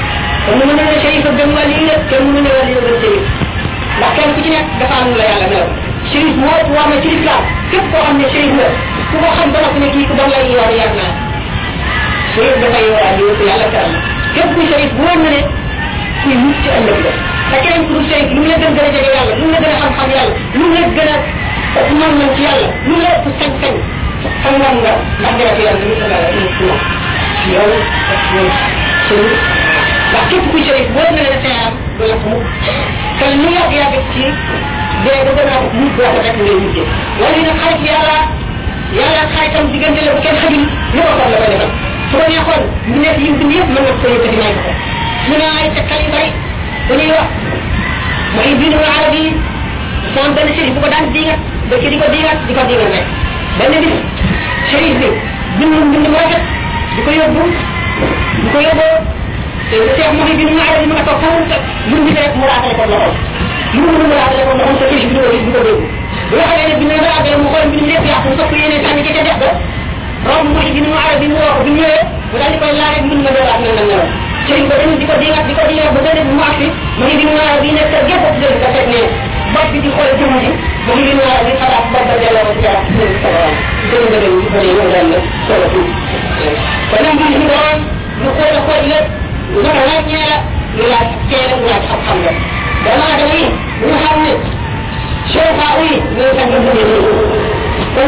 kon mu ne shérif gëm wali la kenn mu ne wali la gëm shérif ndax kenn ku ci nekk dafa am la yàlla mel shérif moo war na ci islam képp koo xam ne shérif la ku ko xam ba noppi ne kii ku bon lay yoon yar naa shérif dafay yoraat yow yàlla teral képp kuy shérif bu wóor na ne kuy mucc ci ëllëg la te keneen ku dul shérif lu mu la gën gën a jege yàlla lu mu la gën a xam-xam yàlla lu mu la gën a man man ci yàlla lu mu la ëpp sañ-sañ xam nga nga ndax dara ci yàlla lu sa dara ci moom yow shérif ndax képp kuy shérif wóor na ne sa am du la ko mukk te lu yàgg yàgg ci dee ba gën a mujj boo ko rek ngay mujjee wala nag xarit yàlla yàlla xaritam diggante la bu kenn xajul lu ko xam la ko defal su ko neexoon ñu nekk yi bind yëpp mën na ko yëkkati may ko mu ne ay tekkal yu bari bu ñuy wax mooy bindu arab yi moom benn shérif bu ko daan diingat ba ci di ko diingat di ko diingat rek benn bis shérif bi bind bind mu rafet di ko yóbbu di ko yóbboo te le cheikh mooy bindu arab yi mu nga toog foofu lu mu rek mu raatale ko loxo lu mu mu raatale ko loxo sa shérif bi di ko gis di ko dégg bu nga xamee ne bind na raatale mu xool bind lépp yàqu mu sopp yéene sànni ca ca def ba romb mooy bindu arab yi mu woo ko bi ñëwee mu daal di koy laaj bind ma dooraat na nam ñëwoon sëriñ ba dañu di ko diigat di ko diigat ba benn mu agsi mu ngi bindu arab yi nekk gépp ak dëgg ka teg ne bopp bi di xool jëmm ji mu ngi bindu arab yi xalaat bopp ba delloo ko ci yaram dëgg sa borom dëgg nga dëgg ko ne yow daal la solo fi kon nag ñu ñu doon ñu xool xool lépp naka laaj ñee la ñu laaj teel a laaj xam-xam la dama dama yi bu nga xam ne cheikha yi ñoo tax nga bëgg kon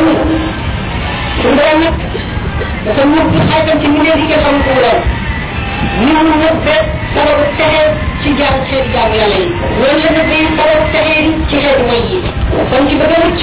su borom nag dafa ñëpp ci xaytam ci mbindeef yi kenn xamul ko doon ñu mu ñëpp de sababu texe ci jaam xeeti jaam yàlla yi loolu la nëbb yi sababu texe ci xeeti may yi kon ci bëgg a mucc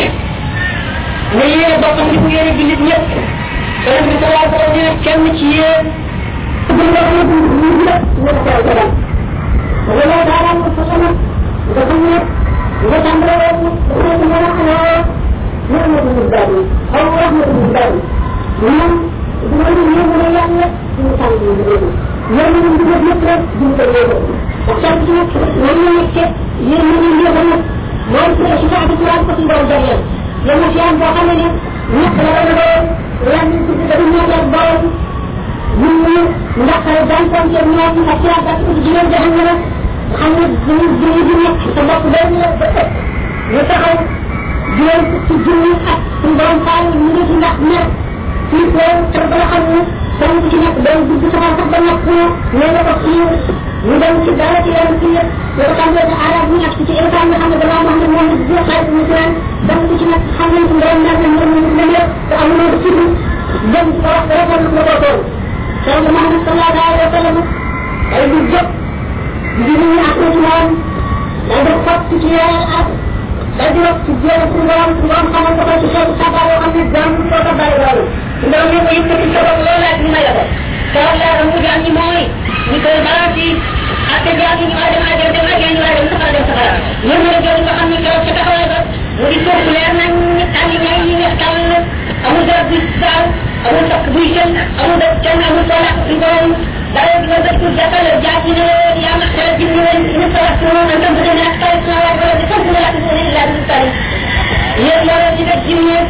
na yéene boppam di ko yéene jullit ñëpp beneen bi salaa ko ne kenn ci yéen bu nga xam ne ñu ñëpp ñëpp teew ko dal wala daara mu sa sama nga xam ne nga tàmbale woon dafa ci mën a xanaa rahmatu bari xaw rahmatu bari ñoom bu ma ñu ñëw ne yàlla suñu tànk yi di déglu ñoom ñu ngi def lépp rek duñ ko yéego ak sant ci nag ñoom ñu nekkee yéen ñu ngi yéego nag mooy ci ci saa ci ko ci ndaw jagleel yow na ci am boo xam ne ne ñett la dana doon lan ñu ci dañu ñëw ak borom ñun ñu ndax daan ko ci ñoo ci ak ci ak ci jigéen jaxam na xam ne ñu ñu di nekk sa bopp day ñu ba ëpp ñu taxaw jigéen ci junni ak suñu borom faal ñu ngi ci ndax mer ci ko te ba nga xam ne kenn ku ci nekk day dugg sama sax ba nekk ne la ko xiir ñu dem ci dara ci yenn ci yëpp yoo ko tàmbee ci arab ñu nekk ci état nga xam ne damaa wax ne moom la bu xarit ñu ci naan dem ku ci nekk xam nañ ci borom ndax ne moom ñu dem yëpp te am na ci dem ci wax rafet na ko tool Seydou Mohamed sallallahu alayhi wa sallam ay du jëpp di ñu ak ci moom day def fat ci yéen ak day di wax ci jéem ci borom ci borom xamal ko ci xeetu sabar yoo xam ne jàmm ko ko bari loolu ndaw ñu ko yëkkati sa bopp loolu ak ñu may la ko kawal laa mu jàng ñi mooy ñu koy balance yi ak te jàng ñu war a dem àjjana dem àjjana ñu war a dem safara dem safara ñoom ñoo jël nga xam ne keroog ca taxawaay ba mu di suuf leer nañ ñu tànn ñay yi nga tàll amul garab buy saaw amul takk buy sën amul def kenn amul soo lakk suñ borom dara di nga def pour jàppale jaar ci ne yaa ma xelal ci ñu ñu sa wax moom en tant que dana ak tay sama waay wala di sant la ak ne illa di tari yéen loolu ci def ci ñu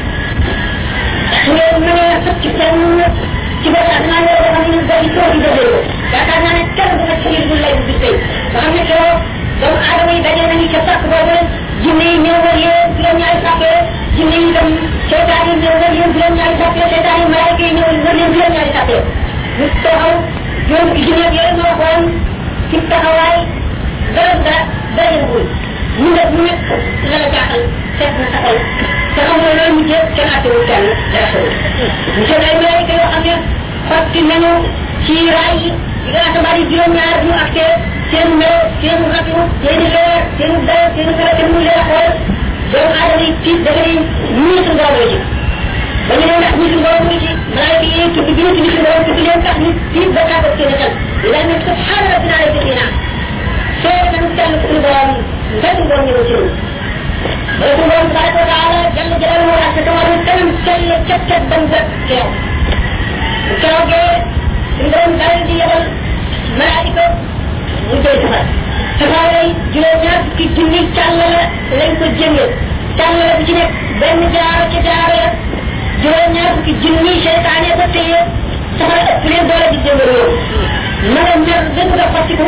su ngeen mënee fëkk ci seen ci ba tax naa yoo xam ne day soo di dëgër ko yaakaar naa ne kenn du nekk ci biir bu lay bi tey nga xam ne keroog doomu aadama yi daje nañu ca sàkk boobu jinne yi ñëw wër yéen juróom ñaari sàppee jinne yi dem seytaan yi ñëw wër yéen juróom ñaari sàppee seytaan yi malaaka yi ñëw wër leen juróom ñaari sàppee ñu taxaw juróom ci jinne yooyu moo xool ci taxawaay dara dara dara yëngul ñu def ñu nekk la la jaaxal seet na sa xol te xam nga loolu mujjee kenn attewul kenn dara xewul ñu seen ay malaaka yoo xam ne xotti nañu ci raay yi yi nga asamaan yi juróom ñaar ñu accès seen melo seen ratu seen leer seen dara seen dara kenn mu leen xool doomu aadama yi tiit dafa ne ñii suñu borom la ci ba ñu ne ndax ñii suñu borom la ci malaaka yi tudd bi ñu tudd suñu borom tudd leen tax ñu tiit ba tàggat seen xel ila ne subhana rabbina ala jëfina seet nañu kenn suñu borom benn borom ñëw ci ba suñu borom tabaraka wa taala jalla jalaluhu ak tawaru kanam sell cet cet ban ba keew keroogee suñu borom dal di yebal malaayika mu jël safar safara yi juróom ñaar fukki junni càllala lañ ko jëngee càllala bi ci nekk benn jaaro ca jaaro ya juróom ñaar fukki junni seytaane ko téye safara ëpp leen doole di jëngal yow ma nga mer dëgg nga xotti ko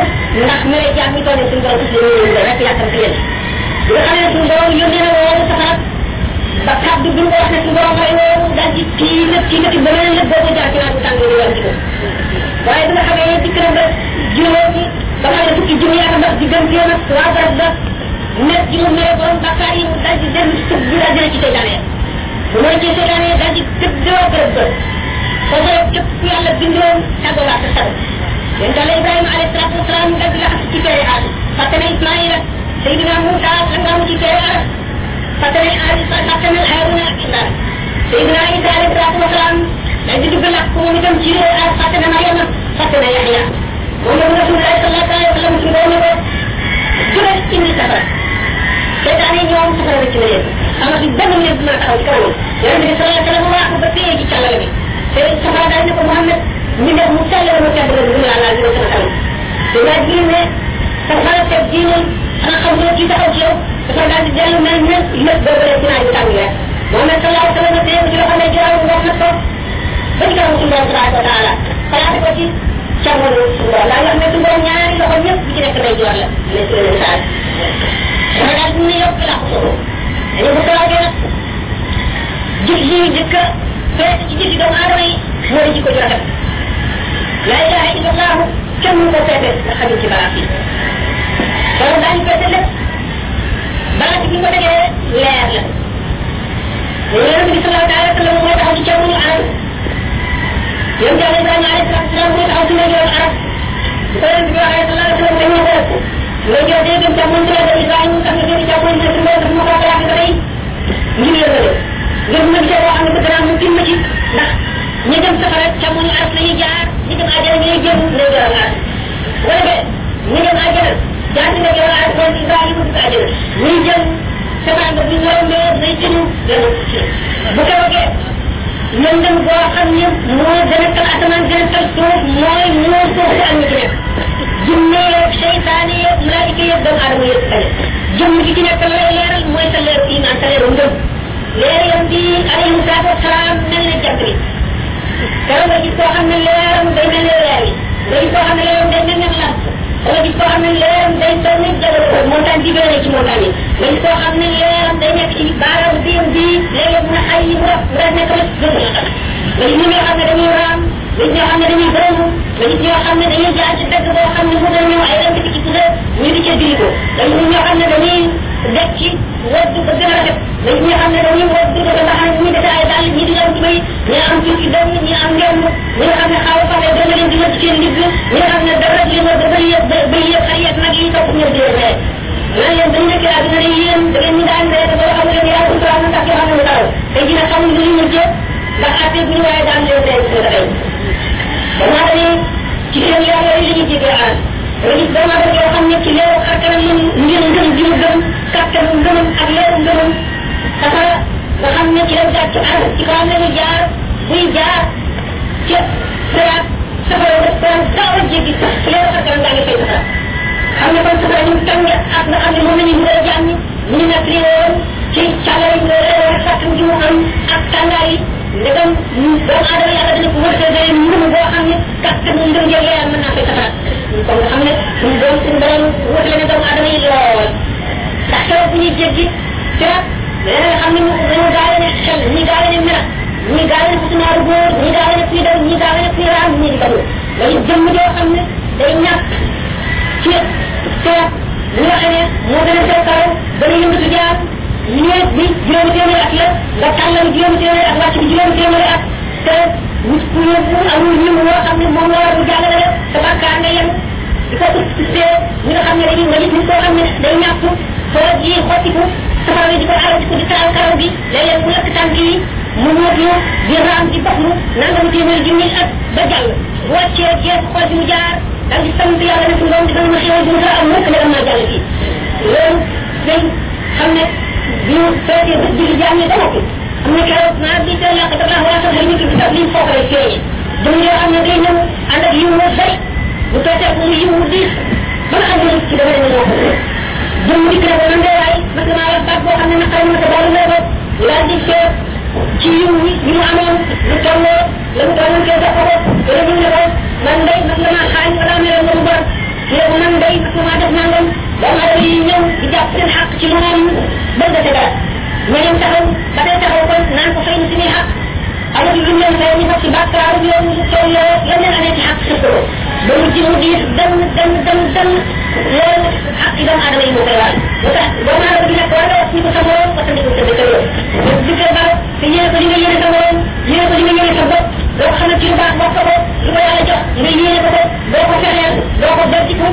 ne suñu borom ci ñu rek yaakaar ci yéen bi nga xam ne suñu borom yónnee na woowu safara ba kàddu bi nga wax ne suñu borom lay woowu daal di kii nag kii nag ba leneen lépp boobu jaar ci naaj bu tàng di war ci ko waaye bi nga xamee ne dikk na ba juróomi ba nga xam ne fukki junni ak ndox diggante nag waa barab ba nekk ji mu mere borom bakkaar yi mu daal di dem sëb bi daal dina ci seytaane bu mooy ci seytaane daal di tëddoo barab ba foofu rek képp ku yàlla bindoon tàggoowaat sa sago yéen daal Ibrahima alayhi salaatu wasalaam daal di laxas ci feere aadu fàtte na Ismaïla Seydina Moussa la nga mu ci feere aada fàtte na aadi fàtte na Haruna ak Imran Seydina Isa alayhi salaatu wasalaam daal di dugg làkk moom itam ci aad fàtte na Mariama fàtte na Yaxya moom la Rasulullah sallallahu alayhi wa sallam ci doon ne ko jural indi safara seytaane ñoom safara la ci la yéen amatu benn nit mën a taxaw ci kanamam yonent bi sallallahu alayhi wa sallam waaxu ba téye ci càllale bi te safara daal ne ko Muhammad ñu def mu sell la mu tedd la dugg laa laal dina sama kanam te laaj bi ne safara teg diinam xanaa xam nga kii taxaw ci yow dafa daal di dellu mel ne lépp boobu rek ci naaj bi tàng rek Muhammad sallallahu alayhi wa sallam téye ko ci loxo ne jëral wax na ko ba ci kanam suñu borom tabaraka wa taala xalaate ko ci càmmoñu suñu borom daal wax ne suñu borom ñaari loxo ñëpp bi ci nekk day joor la ne ci leen saal dafa daal di ne yokk laa ko solo dañu bu soobee nag jëf yi jëkk feet ci jëfi doomu aadama yi moo di jikko ju rafet la ilaha illa allahu kenn mu ko feete nga xajul ci baraat yi loolu daañu feete lépp baraat bi ko tegee leer la yonent bi sallallahu alayhi wa sallam moo taxaw ci càmmoñu arab yonent yàlla Ibrahima alayhi salatu wasalam moo taxaw ci ndeyjooru arab bu ko yonent bi waxee sallallahu alayhi wa sallam dañoo ko nga jox day gëm càmmoñ ci la Ibrahima tax nga jël càmmoñ ci la dafa ma ko xalaat ba tey ngir yëngale ngir ma gisee boo xam ne bëgg naa mu tim ma ci ndax ñi dem safara càmmoñu arab la ñuy jaar ñi dem àjjana ñuy jëm ndeyjooru arab wala de ñi dem àjjana jaar ci ndeyjooru arab kon Ibrahima dugg àjjana ñuy jëm safara ba bu ñu rombee day tinu dana bu ko bëggee lëndëm boo xam ne moo gën a tal asamaan gën a tal suuf mooy moo suuf si ak ñi ci nekk jinne yeeg seytaane yeeg malaayika yeeg doomu aadama yëpp tane jëmm gi ci nekk lay leeral mooy sa leeru iman sa leeru ngëm leeram bi alayhi salaatu wasalaam mel ne jant bi dara nga gis koo xam ne leeram day mel ne leer yi nga gis koo xam ne leeram day mel ne lamp nga gis koo xam ne leeram day toll ni jabal montagne bi gën a ci montagne yi nga gis koo xam ne leeram day nekk ci baaraam biam bi léeg-léeg mu ne xay yi mu raf mu raf nekk la gën la xam nga gis ñoo xam ne dañuy raam nga gis ñoo xam ne dañuy gërëm nga gis ñoo xam ne dañuy jaar ci dëgg boo xam ne mu gën ñëw ay rënd ci pusa ñu di ca diri ko nga gis ñoo xam ne dañuy def ci woddu ba gën a rafet nga gis ñoo xam ne dañuy woddu ba nga xam ne ñi def ay dàll ñi di am tubay ñi am ci ci dënn ñi am ngemb ñi nga xam ne xaaw fa ne dama leen di wëdd seen ndigg ñi nga xam ne dara di leen wëdd ba yëpp ba yëpp ay yëpp nag yi topp ñëw di leen ree nan leen dañu nekk àdduna ne yéen da ngeen ñu daan ree ba xam leen yàlla sutura na tax yoo xam ne mu taxaw tey ji nag xamul lu ñu mujjee ndax atte bu ñu waaye daan leen ree ci nga tey dama dañuy ci seen yoon yooyu la ñuy jégee aan nga gis doomu aadama yoo xam ne ci leeru xarkanam moom ngir ngëm gi mu gëm kàttanu ngëmam ak leeru ngëmam safara nga xam ne ci la jaar ci arab ci kawam la ñu jaar buy jaar ca siraat safara daf daan gaaw a jéggi sax ci leeru xarkanam daa ngi fay safara xam ne kon safara ñu tàng ak nga xam ne moom la ñuy mën a jàmm ñu nekk li woon ci càllari leeru xarkan gi mu am ak tàngaay yi ndegam doomu aadama yàlla dana ko wërsëgee ngëm boo xam ne kàttanu ngëm njëg leer mën naa fay safara kon nga xam ne suñu doom suñu borom wutale na doomu aadama yi lool ndax keroog bu ñuy jéggi siraat leneen nga xam ne dañoo gaawee ne xel ñii gaawee ne melax ñii gaawee ne fusunaaru góor ñii gaawee ne kuy daw ñii gaawee ne kuy raam ñii di balu dañu jëmm joo xam ne day ñàkk ci siraat ñi nga xam ne moo gën a sew kaw gën a yëngatu jaar ñeet bi juróomi téeméeri at la nga tàllal juróomi téeméeri at wàcc bi juróomi téeméeri at te nit ku yóbbu amul ñim woo xam ne moom la war a jàllale rek sa bàkkaar nga yem di ko usté ñi nga xam ne dañuy nga gis nit koo xam ne day ñàpp soo ji xottiku safara di ko aral di ko di taal karaw bi léeg-léeg mu lakk tànk yi mu wóotlu di raam di baxlu nangam téeméeri junni at ba jàll bu wàccee jeex xool bi mu jaar dal di sant yàlla ne suñu doom dina ma xéwal bi mu am mukk ne am naa jàll fii loolu day xam ne bi ñu fekkee bés bi di jaam ne dama ko am na keroog naa bi te yàq dafa waa sax ñu ci daf liñ foofu lay feeñee jëm yoo xam ne day ñëw ànd ak yiw wu bari bu fekkee mu yiw wu diis ba nga xam ne ci dama leen ñoo ko jëm dikk na ko man de waay mas damaa wax baat boo xam ne naqari ma ko baalu lay ko laa di seet ci yiw wi yi mu amoon lu tolloo la mu doonoon kee jox ko ko wala ñu ne ko man day mas damaa xaañ wala meloon na mu bon ñu ne ko man day mas damaa def nangam jàpp seen xaq ci moom bëgg sa dara ñeneen taxaw ba tey taxaw kon naan ko fay na suñuy xaq amul lu leen fay ñu fab ci bàkkaaru yoon tool yoo la leen amee ci xaq sa ko ba mu ji mu diis dem dem dem dem loolu xaq yi doomu aadama yi moo koy waral ba tax doomu aadama bi nag war nga wax ni ko sa morom parce que ko sa dëkkandoo di ko baax te yéene ko li nga yéene sa morom yéene ko li nga yéene sa bopp doo ko xamal ci lu baax wax ko ko lu ko yàlla jox nga yéene ko ko doo ko fexeel doo ko bertiku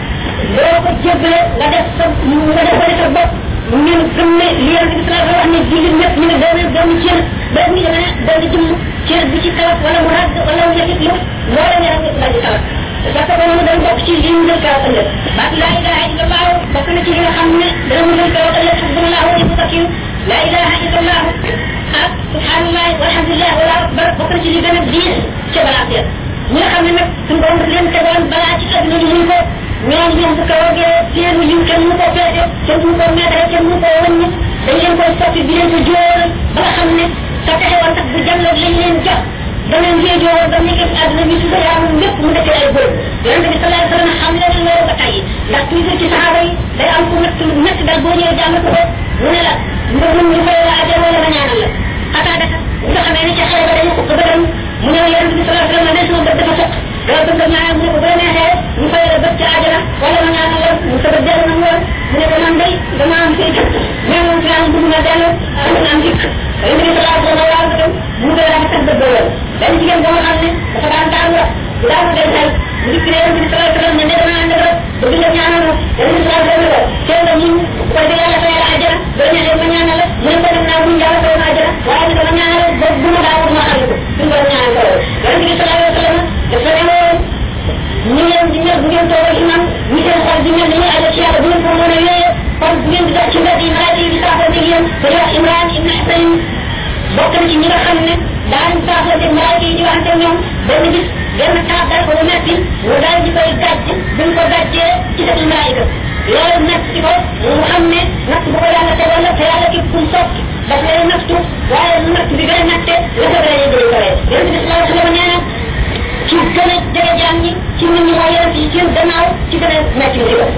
doo ko jébbale nga def sa nga def ko sa bopp ngeen gëm ne li yàlla bi sallallahu wax ne jullit ñëpp ñu ne doomu doomu cër boobu ñu demee doon jëm cër bi ci kawat wala mu ràgg wala mu yëkkit lu loola nga rek dal di kawat parce que moom dañ bokk ci li mu jël kawat ëllëg baat laa ilaha illallah bokk na ci li nga xam ne dana mu jël kawat ëllëg subhanallah wa yutakiyu laa ilaha illallah ak subhanallah walhamdulillah wala akbar bokk na ci li gën a diis ca balaa seet ñi nga xam ne nag suñu borom daf leen tegoon balaa ci àdduna ñu mun ko ñoom ñoom bu ko wagee seen liw kenn mu ko peese kenn mu ko meetare kenn mu ko wàññi dañ leen koy soppi di leen ko jóoral ba nga xam ne sa pexe woon sax bu jàlloog lañ leen jox da leen jee jóoral ba nekkee ci àdduna bi su ko yaamul lépp mu defee ay góor yonente bi sallallahu alayhi wa sallam xam leen loolu ba tey ndax toujours ci saxaaba yi day am ku métti métti dal boo ñëwee jàmm ko mu ne la nga mun ñu fay la ajal wala nga ñaanal la xataa daka bu nga xamee ne ca xale ba dañu ko bëggoon mu ne yonente bi sallallahu alayhi wa sallam ne sama bët dafa sëq doo bëgg a ñaanal mu ne ko bu la neexee ñu fay la bët ca ajala wala ma ñaanal la mu sa bët dellu na mu woon mu ne ko man day dama am fii mais moom fi am bëgg na dellu am na am dikk yonente bi sallallahu alayhi wa sallam waaw dem mu ngi laa sax bët ba woon benn jigéen boo xam ne dafa daan daan la bu daan dem xel mu dikk ne yonente bi sallallahu alayhi wa sallam ne ne dama ànd ak bëgg nga ñaanal ma yonente bi sallallahu alayhi wa sallam teel nga muñ bu ko defee yàlla fay la ajala boo neexee ma ñaanal la mu ne ko dem naa muñ yàlla fay ma ajala waaye ne dama ñaanal ba bu ma daawul ma xam ko suñu borom ñaanal ko yonente bi sallallahu alayhi wa sallam dafa ne woon ñu leen di ñëw bu ngeen toog imam ñu seen xol di mel ni ñuy aja ci yàlla bu ngeen ko mën a wéyee kon bu ngeen di dox ci mbedd yi malaaka yi di saafoo dégg yéen ko wax Imran ibn Husayn bokk na ci ñi nga xam ne daan saafoo dégg malaaka yi di waxante ñoom benn bis benn taab dal ko bu metti mu daal di koy gàjj buñ ko gàjjee ci sa malaayika loolu metti ko mu xam ne natt bu ko yàlla tegoon la te yàlla ki kum sopp daf lay nattu waaye natt bi gën a natte la ko gën a yëgale ko rek yonente bi sallallahu alayhi wa sallam nee na ci gën a jege jaam ñi ci nit ñi mooy yonente yi seen gannaaw ci gën a metti ci ko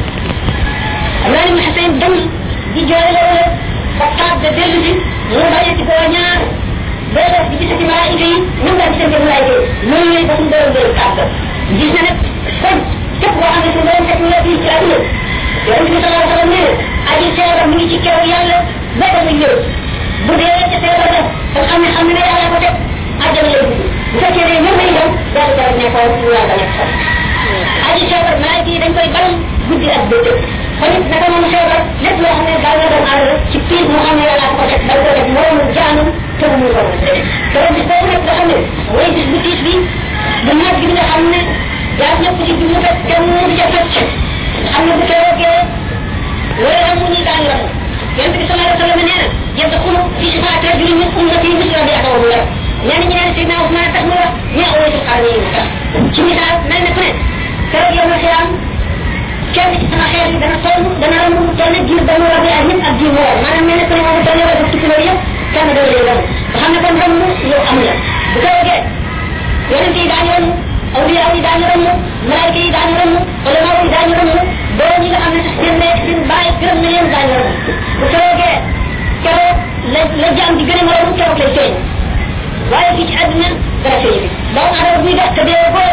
Imran ibn Husayn dem di jooy loolu ba taab de dellu si mu bàyyi ko ñaar boo def di gisati malaayika yi nan nga gisante malaayika yi loolu yooyu ba suñu borom jël taab gis na nag kon képp koo xam ne suñu borom fekk la fii ci àdduna yonente bi sallallahu alayhi wa sallam nee aji seera mu ngi ci kew yàlla ba ba muy ñëw bu dee ca seera ba te xam ne xam ne ne yàlla ko teg àjjana lay dugg bu fekkee ne ñoom lañ dem daal di daal nekkoon ñu yàlla nekk sax aji feebar malaayika yi dañ koy balam guddi ak bëccëg kon it naka moom feebar lépp loo xam ne daal na doon aadama ci piis mu xam ne yàlla ko teg dañ ko def moroomu jaanu te mu mun ko mën te bis boobu nag nga xam ne mooy bis bu tiis bi bu naaj bi nga xam ne jaar ñëpp ci bi mu fekk te mu di ca fecc xam ne bu keroogee loolu am mu ñuy daañu ram yonent bi sallallahu alayhi wa sallam nee na yadxulu fi shifaati rajulin min ummati misla bi atawu la ñenn ñi naan Seydina Ousmane tax mu wax ñi awaytul xaar yi mu tax ci misaal mel ne ku ne keroog yow na xiyaam kenn ci sama xeer yi dana toll dana ram mu toll jiir ba mu rabee ak ñëpp ak jiir mu war maanaam mel ne ku ne moom toll wala tukki loolu yëpp kenn doo lay ram nga xam ne kon ram yow am la bu keroogee yonent yi daañu ram awliya yi daañu ram malaayika yi daañu ram ulama yi daañu ram boo ñi nga xam ne sax seen ndey seen baay gërëm na leen daañu ram bu keroogee keroog la la jaam di gën a moromu keroog lay feeñ waaye fii ci àdduna dara feeñ bi doomu adama buy def te dee boo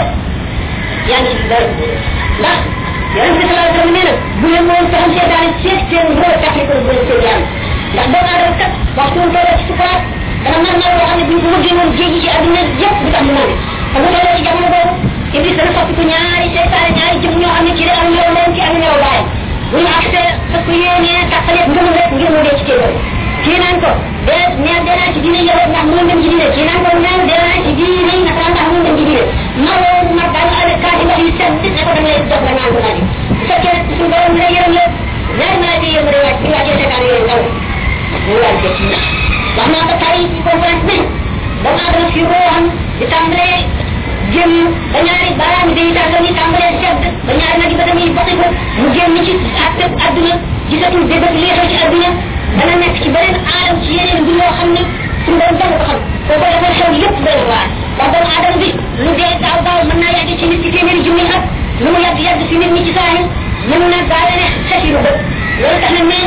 yaa ngi ci dara ndax yonente bi sallallahu alayhi wa sallam nee na bu leen woon saxam seetaan seet seen ngóor tax ko bu seen yaram ndax doomu adama kat waxtu mu tolloo ci sukuraat dana nar nar loo xam ne bu ñu ko wëggee woon jéegi ci àdduna yëpp du tax mu naan te bu tolloo ci jamono boobu iblis dana soppi ko ñaari seytaane ñaari jëm ñoo xam ne ci day am ñëw leen ci am ñëw baayam bu ñu accès parce que yéenee tàqaleeg ngëm rek ngir mu dee ci téeméer kii naan ko de neel dee naa ci diine yowet ndax mu dem ci diine kii naan ko neel dee naa ci diine yi nasaraan ndax mu dem ci diine ma loolu ma daal avec kaati ndox yu set ne ko dama lay jox la naan ko naan bu fekkee suñu borom dina yërëm la ñaari maa di yërëm rek ñu wàccee seetaan yooyu ndaw ñu wàcce ci wax naa ko tay ci conférence bi doomu aadama fi ko am di tàmbalee jëm ba ñaari baaraam yi day tàggal ni tàmbalee sedd ba ñaari nag yi ba tamit bokki ko mu génn ci àtte àdduna gisatul déggat li xew ci àdduna dana nekk ci beneen aadam ci yeneen bi yoo xam ne suñu borom danga ko xam koo ko defal xew yëpp doy waar ndax doomu aadama bi lu dee daaw daaw mën naa yàgg ci nit ci téeméeri junni at lu mu yàgg yàgg ci nit ñi ci saahir mën na gaale ne xesiru bët loolu tax na nee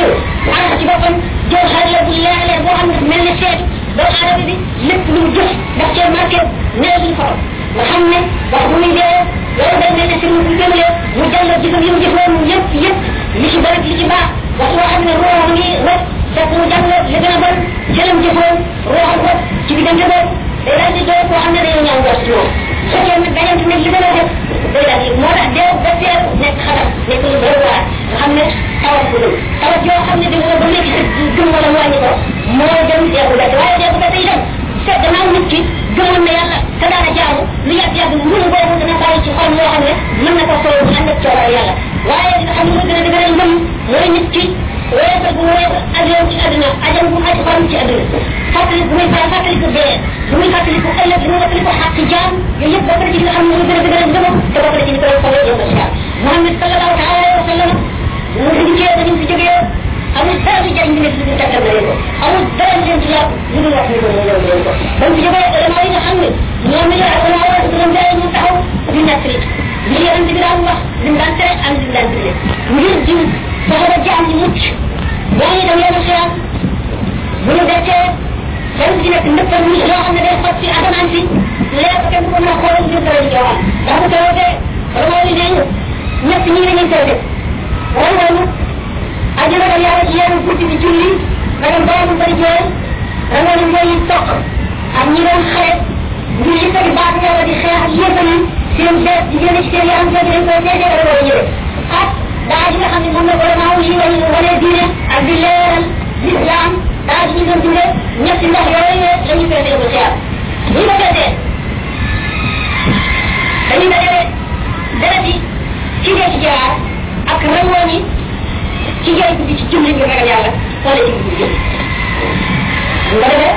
li ci bëri li ci baax wax loo xam ne roo ngi rek fekk mu jàng li gën a bon jëlam jëfoon roo ko ci diggante boobu day daal di doon koo xam ne dañoo ñaaw jot ci moom su fekkee nag dañante nag li gën a def day daal di moo tax deew ba teel nekk xatam nekk lu bëri waar nga xam ne tawat ko dul tawat yoo xam ne dina ba nekk sa gëm wala mu wàññi ko moo dem deebu bett waaye deebu bett itam fekk gannaaw nit ki gëmoon na yàlla te daana jaamu lu yàgg yàgg mënu boobu dana bàyyi ci xol yoo xam ne mën na ko solo bu ànd ak coobare yàlla waaye li nga xam ne moo gën a dëgëral ngëm mooy nit ki weesal bu weesal ajoom ci àdduna ajam bu aj xolam ci àdduna fàttali bu muy faa fàttali ko dee bu muy fàttali ko ëllëg bu muy fàttali ko xàq jaam yooyu yëpp bokk na ci li nga xam ne moo gën a dëgëral ngëmam te bokk na ci li koy xoloo yëpp la Muhammad sallallahu taala alayhi wa sallam mu fi dikkee dañu fi jógee amul dara lu jariñ nekk lu tàggal na leen ko amul dara lu leen ci yàpp lu dul wax ni ko ñëw leen ko ba mu fi jógee ulama yi nga xam ne ñoom ñoo ak ulama wala su leen ñu taxaw di nekk li li yonent bi daan wax li mu daan tere ak li mu daan digle ngir jiw fexe ba jaam ci mucc yaa ngi dem yenn xiyam bu ñu deccee kenn ci nekk ndëppal ni loo xam ne day xot ci asamaan si leer ko kenn ko mën a xool ngir dara di jawaan ndax bu tawatee ulama yi nee ñu ñett ñii dañuy taw def wala wala ajuna dal yàlla ci yenn guddi di julli ragal boobu bari jooy ragal mooy toq ak ñi doon xare ngir yëkkati baat yàlla di xeex ak yéefal yi seen bees di génn ci seen yaram jooju dañ koy seetee wala wala ñëwee ak daa ji nga xam ne moom la vraiment wu yi wañu wane diine ak di leeral l'islam daa ji ñu doon dundee ñetti ndox yooyu la ñu feetee ko xeex bu ñu ko feetee dañuy dajale deret yi ci dee ci jaar ak rangoon yi ci jaay guddi ci julli bi ragal yàlla wala ci guddi jëm nga defee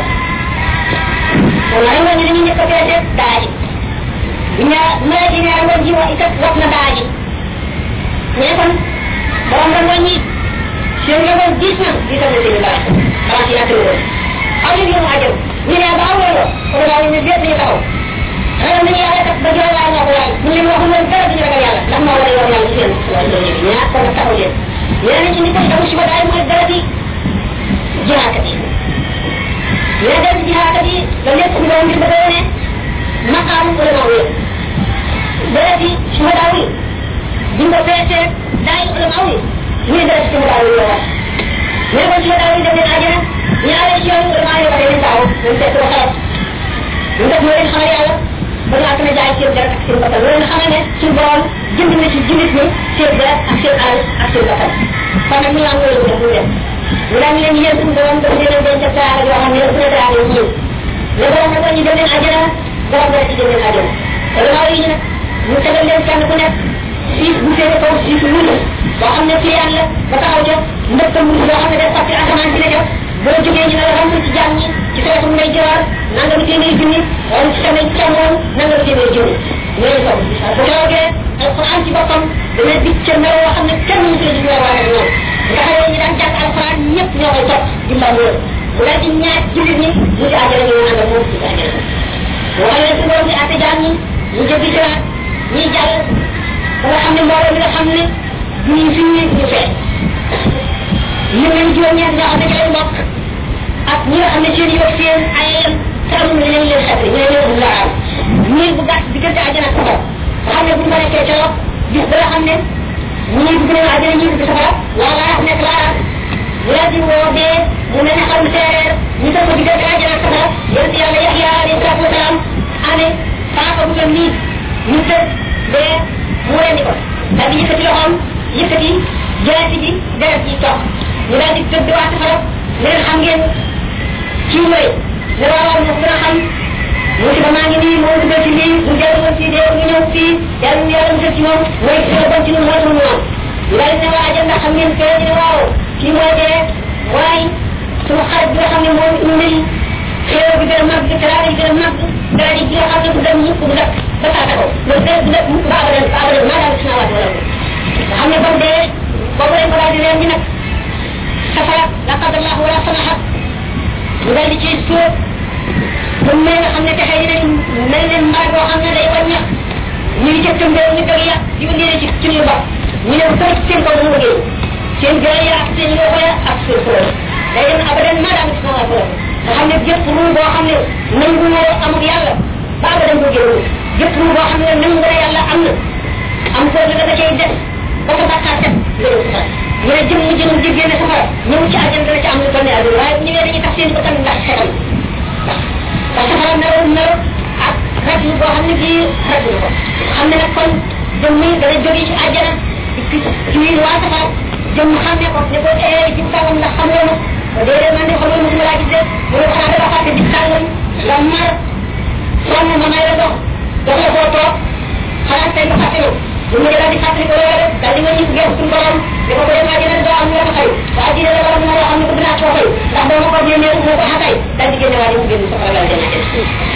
kon rangoon yi dañuy njëkk a feete daa ji bu ñaa mala ji ne rangoon ji wax itam wax na daa ji mais kon borom rangoon yi seen rangoon diis na diisal na seen i baax balaa ci yàq woon aw ñu yoonu ajam ñu ne ba awoo kon daal ñu bépp ñu taxaw ragal nañu yàlla kat ba jox laa ñoo ko waay ñu leen waxul woon dara duñu ragal yàlla ndax moo war a yor yàlla ci seen ñaar kon nag taxaw leen ñeneen ci ni koy damu suba daay mooy dara di jihaakat yi ñeneen dem jihaakat yi da lépp ñu doon ngir bëgg a wane maqaam ulama wi dara di suba daaw yi di nga feesee daay ulama wi ñuy dara ci suba daaw yi la wax ñene kon suba daaw yi dem leen àjjana ñaare ci yoon ulama yi waxee leen daaw dañ fekk ba xalat ñu def moo leen xamal yàlla ba nga xam ne jaay seen dara ak seen bakkan loolu xamal ne suñu borom jënd na ci jullit ñi seen dara ak seen alal ak seen bakkan kon nag ñu am loolu def ñu def ñu daan leen yéen suñu borom dafa leen doon def dara yoo xam ne su ne dara yi ñëw le borom nag ñu dem leen àjjana borom dara ci dem leen àjjana te gannaaw yi ñu nag ñu tegal leen kenn ku nekk siis bu féete kaw siis wulu boo xam ne ci yàlla ba taxaw ca ndëkkal wulu boo xam ne day fàtte asamaan ci la jot boo jógee ñu ne la xam ci jàmm ñi ci sa wetu ngay jëwaar nanga lu téeméeri junni wala ci sa càmmoon nanga lu téeméeri junni ñooñu kaw bu toogee alquran ci boppam dana dig ca melo yoo xam ne kenn mënu ci la waa ñoom nga xam ne ñu daan jàng alquran ñëpp ñoo koy topp di mbam loolu mu daal di ñaaj jullit ñi mu di àjjana ñu nanga moom ci àjjana wala leen su borom di àtte jaam ñi ñu jëggi siraat ñuy jàll ba nga xam ne mbooloo mi nga xam ne duñu fii ñu fee ñu leen juróom-ñeent ñoo xam ne ci lañ bokk ak ñi nga xam ne seen yow seen ayam te amul leen leen xetri ñu ne leen la am ñii bu gàtt diggante àjjana ak safara nga xam ne bu ñu ma nekkee ca lopp gis ba nga xam ne ñii dugg nañu àjjana ñii dugg safara laa laa nekk laa ñu daal di woo dee mu mel ne xam séeréer ñu teg ko diggante àjjana ak safara yonent yàlla Yaxya alayhi salaatu wasalaam amee paaka bu mel nii ñu tëj dee mu rendi ko daal di yëkkati loxoom yëkkati jaasi ji deret ji toog ñu daal di tëdd waa safara leen xam ngeen kii mooy ne waaw na gën a xam musiba maa ngi nii moo dugal ci lii mu dellu woon fii dee ñu ñëw fii yàlla ñu yàlla musal ci moom mooy gën a bon ci ñun moo tax mu am ñu daal ne waa ajal ndax xam ngeen kee ñu ne waaw kii mooy dee waaye suma xarit bi nga xam ne moom indil xéew bi gën a màgg teraanga yi gën a màgg dara ji nga xam ne bu dem mukk bu dakk ba saata ko loolu dee du nekk mukk ba abadan ba abadan maa daal sina waat wala nga xam ne bam dee boobu lañ ko daal di leen di nag safara la qadallah wala samaha mu daal di ciy suuf bu mel nga xam ne texe yi dañ mel ne mbaar boo xam ne day wàññeex ñu ngi jëkkam réew ñu dëgg yàq di ko liire ci ci ñu bopp ñu ne ko ci seen kaw mu liggéey seen gëy ya ak seen loxo ya ak seen xolal day dem abadan maa daal ci sama xolal nga xam ne jëpp ruu boo xam ne nangu woo amul yàlla ba abadan boo génn jëpp ruu boo xam ne nangu na yàlla am na am ko la da cay def ba ko bàkkaar set ngërëm si mu jënoon di génne safara ñëw ci àjjana dana ci am lu toll ne àdduna waaye bu ñëwee dañuy tax seen bakkan ndax xetal ndax ndax safara melo melo ak rek lu boo xam ne bii rek lu ko xam ne nag kon jëm mi dana jóge ci àjjana ci ci biir waa safara jëm xam ne ko ne ko eh ci sàngam ndax xam nga ma déedéet man de xam nga mosuma laa gis de mu ne xanaa dafa fàtte ci sàngam la mar sonn ma may la dox dox la koo toog xanaa tey nga fàtte yow bu mu daal di fàttali ko loolu daal di nga ñu gën suñu borom ne ko ko dem àjjana doo am nga ko xëy waa ji la borom moo xam ne ko dinaa koo xëy ndax doo ma ko génnee moo ko xatay daal di génne waa ji mu génn safara daal dem àjjana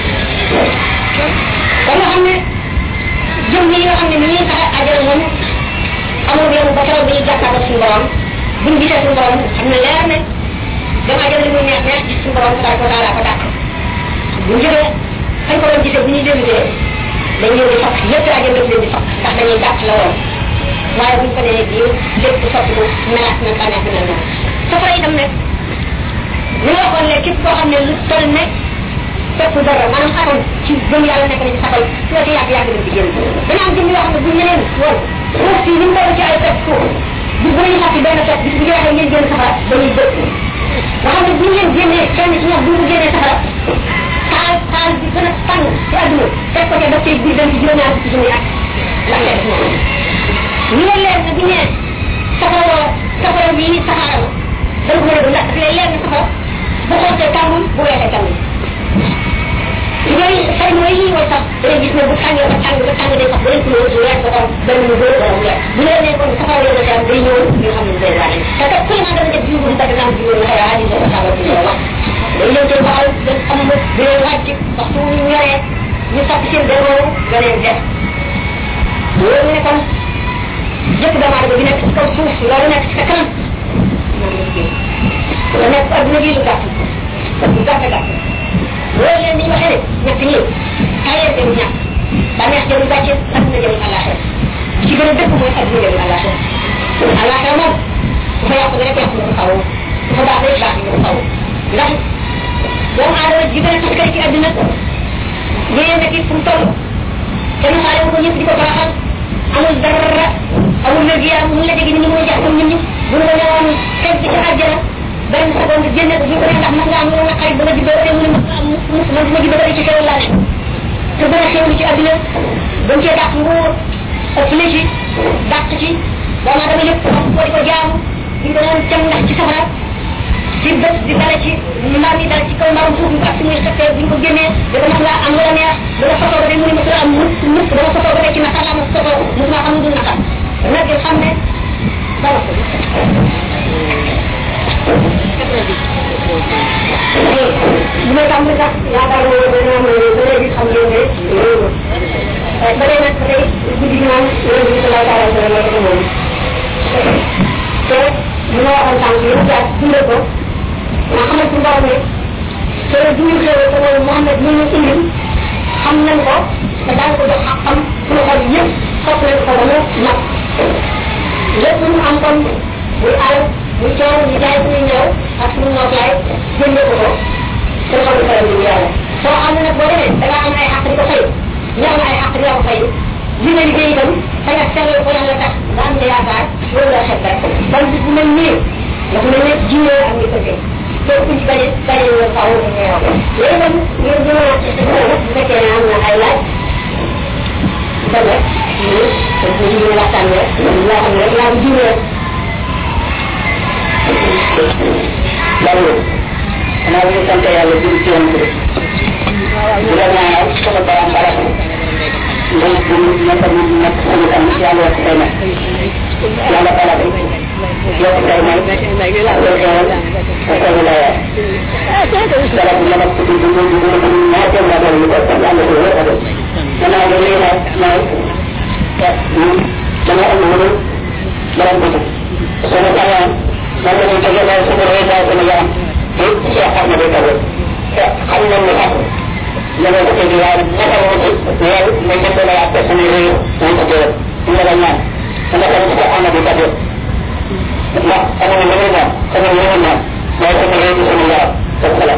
kon nga xam ne jëm yi nga xam ne ni ñuy taxe àjjana moom amul yoon ba keroog bi ñu jàkkaarloo suñu borom buñ gisee suñu borom xam ne leer ne dem àjjana li muy neex neex gis suñu borom tabaraka wa taala ko dàq buñ jógee fañ ko doon gisee bu ñuy dellusee dañ leen di fakk yëpp àjjana daf leen di fakk ndax dañuy gàtt la woon waaye buñ ko nee bii lépp soppiku melaat na bànneex bi mel noonu safara itam nag li nga waxoon ne képp koo xam ne lu toll ne fekk dara maanaam atom ci gëm yàlla nekk na ci safal su ci yàgg yàgg dañ ci génn dana am jëm yoo xam ne buñ ñeneen woon suuf si li mu toll ci ay fekk suuf bis bu ñu fàtti benn fekk bis bu jeexee ngeen génn safara dañuy dëkk nga xam ne buñ leen génnee kenn ci ñoom buñ ko génnee safara taal taal bi gën a tàng ci àdduna fekk ko ca daf cay biir dem ci juróom ñaar ci junni at la ngay def moom ñu leen leer na bu ñee safara safara bii saxaara la dañ ko mën a du ndax daf lay leer na safara bu xootee tàngul bu weexee tàngul yooyu xëy na yooyu mooy sax da ngay gis ne bu tàngee ba tàng ba tàng day sax beneen couleur bu weex ba xam benn mu góor wala mu weex bu leen nee kon safara yow da day ñëw ñu xam ne day waane te kat ku ma dama def jiwu bu dagg naan jiwu na xëy na ko safara ci wax day leen koy waxal dañ xam ne di leen wàcc waxtu ñu ñoree ñu sax seen démoo nga leen def loolu ne kon jëkk doomu aadama bi nekk ci kaw suuf loolu nekk ci sa kanam la nekk adduna gi lu gàtt lu gàtt gàtt loolu leen ni ñu waxee ne ñett ñi tayeer dem ñàkk bànneex jëmu gàcce adduna jëmu àllaaxira ci gën a dëkk mooy adduna jëmu àllaaxira àllaaxira moom bu fa yàqu rek yàqu na ko xaw bu fa baax rek baax na ko xaw ndax doomu aadama ji gën a taskare ci adduna yéen nekk fu mu toll kenn xaale ko ñëpp di ko baaxal amul dara amul wér gi yaram mun la jege ni muy jax comme nit ñi bu ñu ko ñëwoon xeet bi ci àjjana benn seconde génne ko bu ko ndax mën nga am lu naqari ba nga juddoo te mu ne mus man ma juddoo ci xewal laa ne te gën a xewlu ci àdduna dañ cee dàq nguur ëpp la ci dàq ci doomu aadama yëpp xam ko di ko jaamu di ko doon tem ndax ci safara di bët di dale ci mbaam yi dale ci kaw mbaam suuf ak muy xëttee buñ ko génnee da ko mën nga am la neex da nga sotoo ba de mu ne mësul am mukk mukk dama sotoo ba de ci naqar laa ma sotoo mosuma xam du naqar nag di xam ne dara ko bu may tam sax yaakaar naa ne dana am ba léegi xam ngeen ne loolu ba dee nag tey guddi gi moom loolu bi sallallahu alayhi wa sallam la moom te li ma waxoon sànq yëpp jaar dundal ko nga xamal ci borom ne te duñu xewee te mooy Mouhamed ñu ñu indil xam nañ ko te daan ko jox xam suñu xol yëpp sopp nañ ko ba mu mat lépp lu am kon muy àll muy coow ñu jaay suñuy ñëw ak suñu nootaay jënde ko ko te xam ne faral di yàlla soo xam ne nag boo demee da ngaa am ay xàq di ko fay ñu am ay xàq di ko fay li nga liggéey itam da nga sellal ko yàlla tax nga am nga yaakaar loolu la xet rek ban bis bu mel nii dafa mel ne jiwee ak ngi tëddee te kuñ ci bañe bañe ñu faaw ñu ñëw léegi nag ngeen gën a bu fekkee ne am na ay laaj kon rek ñu dañ ko jiwee waxtaan rek loo xam ne rek laa jiwee Lalu, kenapa kita sampai yang lebih tinggi itu? Bukannya kalau barang-barang yang punya permintaan kesulitan yang luar biasa, yang ada pada itu, dia tidak main, apa wilayah. Kalau punya waktu di dulu dulu macam mana juga yang lebih luar. Karena ada wilayah naik, jangan dulu dalam bentuk. Soalnya saya Maka menjaga dari sumber reda penegak itu siapa mereka itu? Kami melihat yang kejadian maka yang menjadi apa sendiri untuk dia tindakannya. Kenapa kita anak kita itu? Nah, kami menerima, kami menerima, bahawa sendiri itu semua tersalah.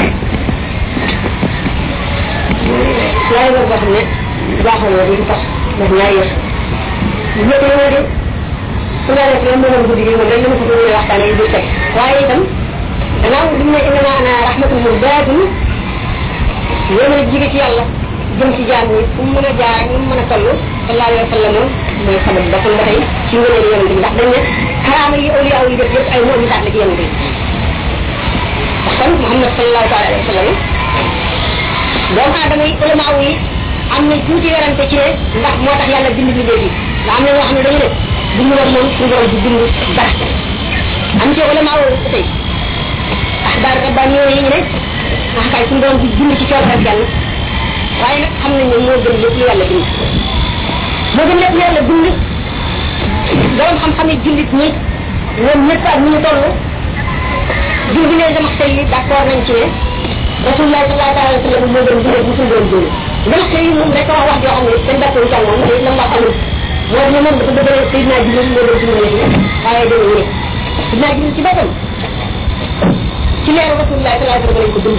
Saya berpahami bahawa kita bernaya. Jadi ini sudah rek la mënoon guddi gi moom rek la ma ko bëgg waxtaane yi du teg waaye itam gannaaw bi ne innama ana rahmatul muhdaatun yéen a jige ci yàlla jëm ci jaam yi fu mu mën a jaar ñu mën a toll sallallahu alayhi wa sallam mooy sabab ba kon ba tey ci ngëneel yonent bi ndax dañ ne karaama yi awliya yi def yëpp ay mu'jizaat la ci yonent bi kon Muhammad sallallahu alayhi wa sallam doomu aadama yi ulama yi am na tuuti werante ci ne ndax moo tax yàlla bind bi léegi ndax am na ñoo xam ne dañu ne bind woon moom suñu borom di bind dara am ci ulama yi tey axbaar rabbani yi ñu ne wax kay suñu borom di bind ci coor ak yàlla waaye nag xam nañ ne moo gën lépp lu yàlla bind moo gën lépp lu yàlla bind borom xam-xam yi jullit ñi ñoom ñëpp ak ñu ñu toll jur bi ne dama xëy yi d'accord nañ ci ne rasulullah sallallahu alayhi wa sallam moo gën bind bu suñu borom bind dama xëy yi moom rek wax wax joo xam ne dañ d'accord ci moom te lam wax amul moo ne moom dafa bëgg Seydina Jibril moo gën bind la waaye dañu ne Seydina Jibril ci boppam ci leeru rasulullah sallallahu alayhi wa sallam lañ ko bind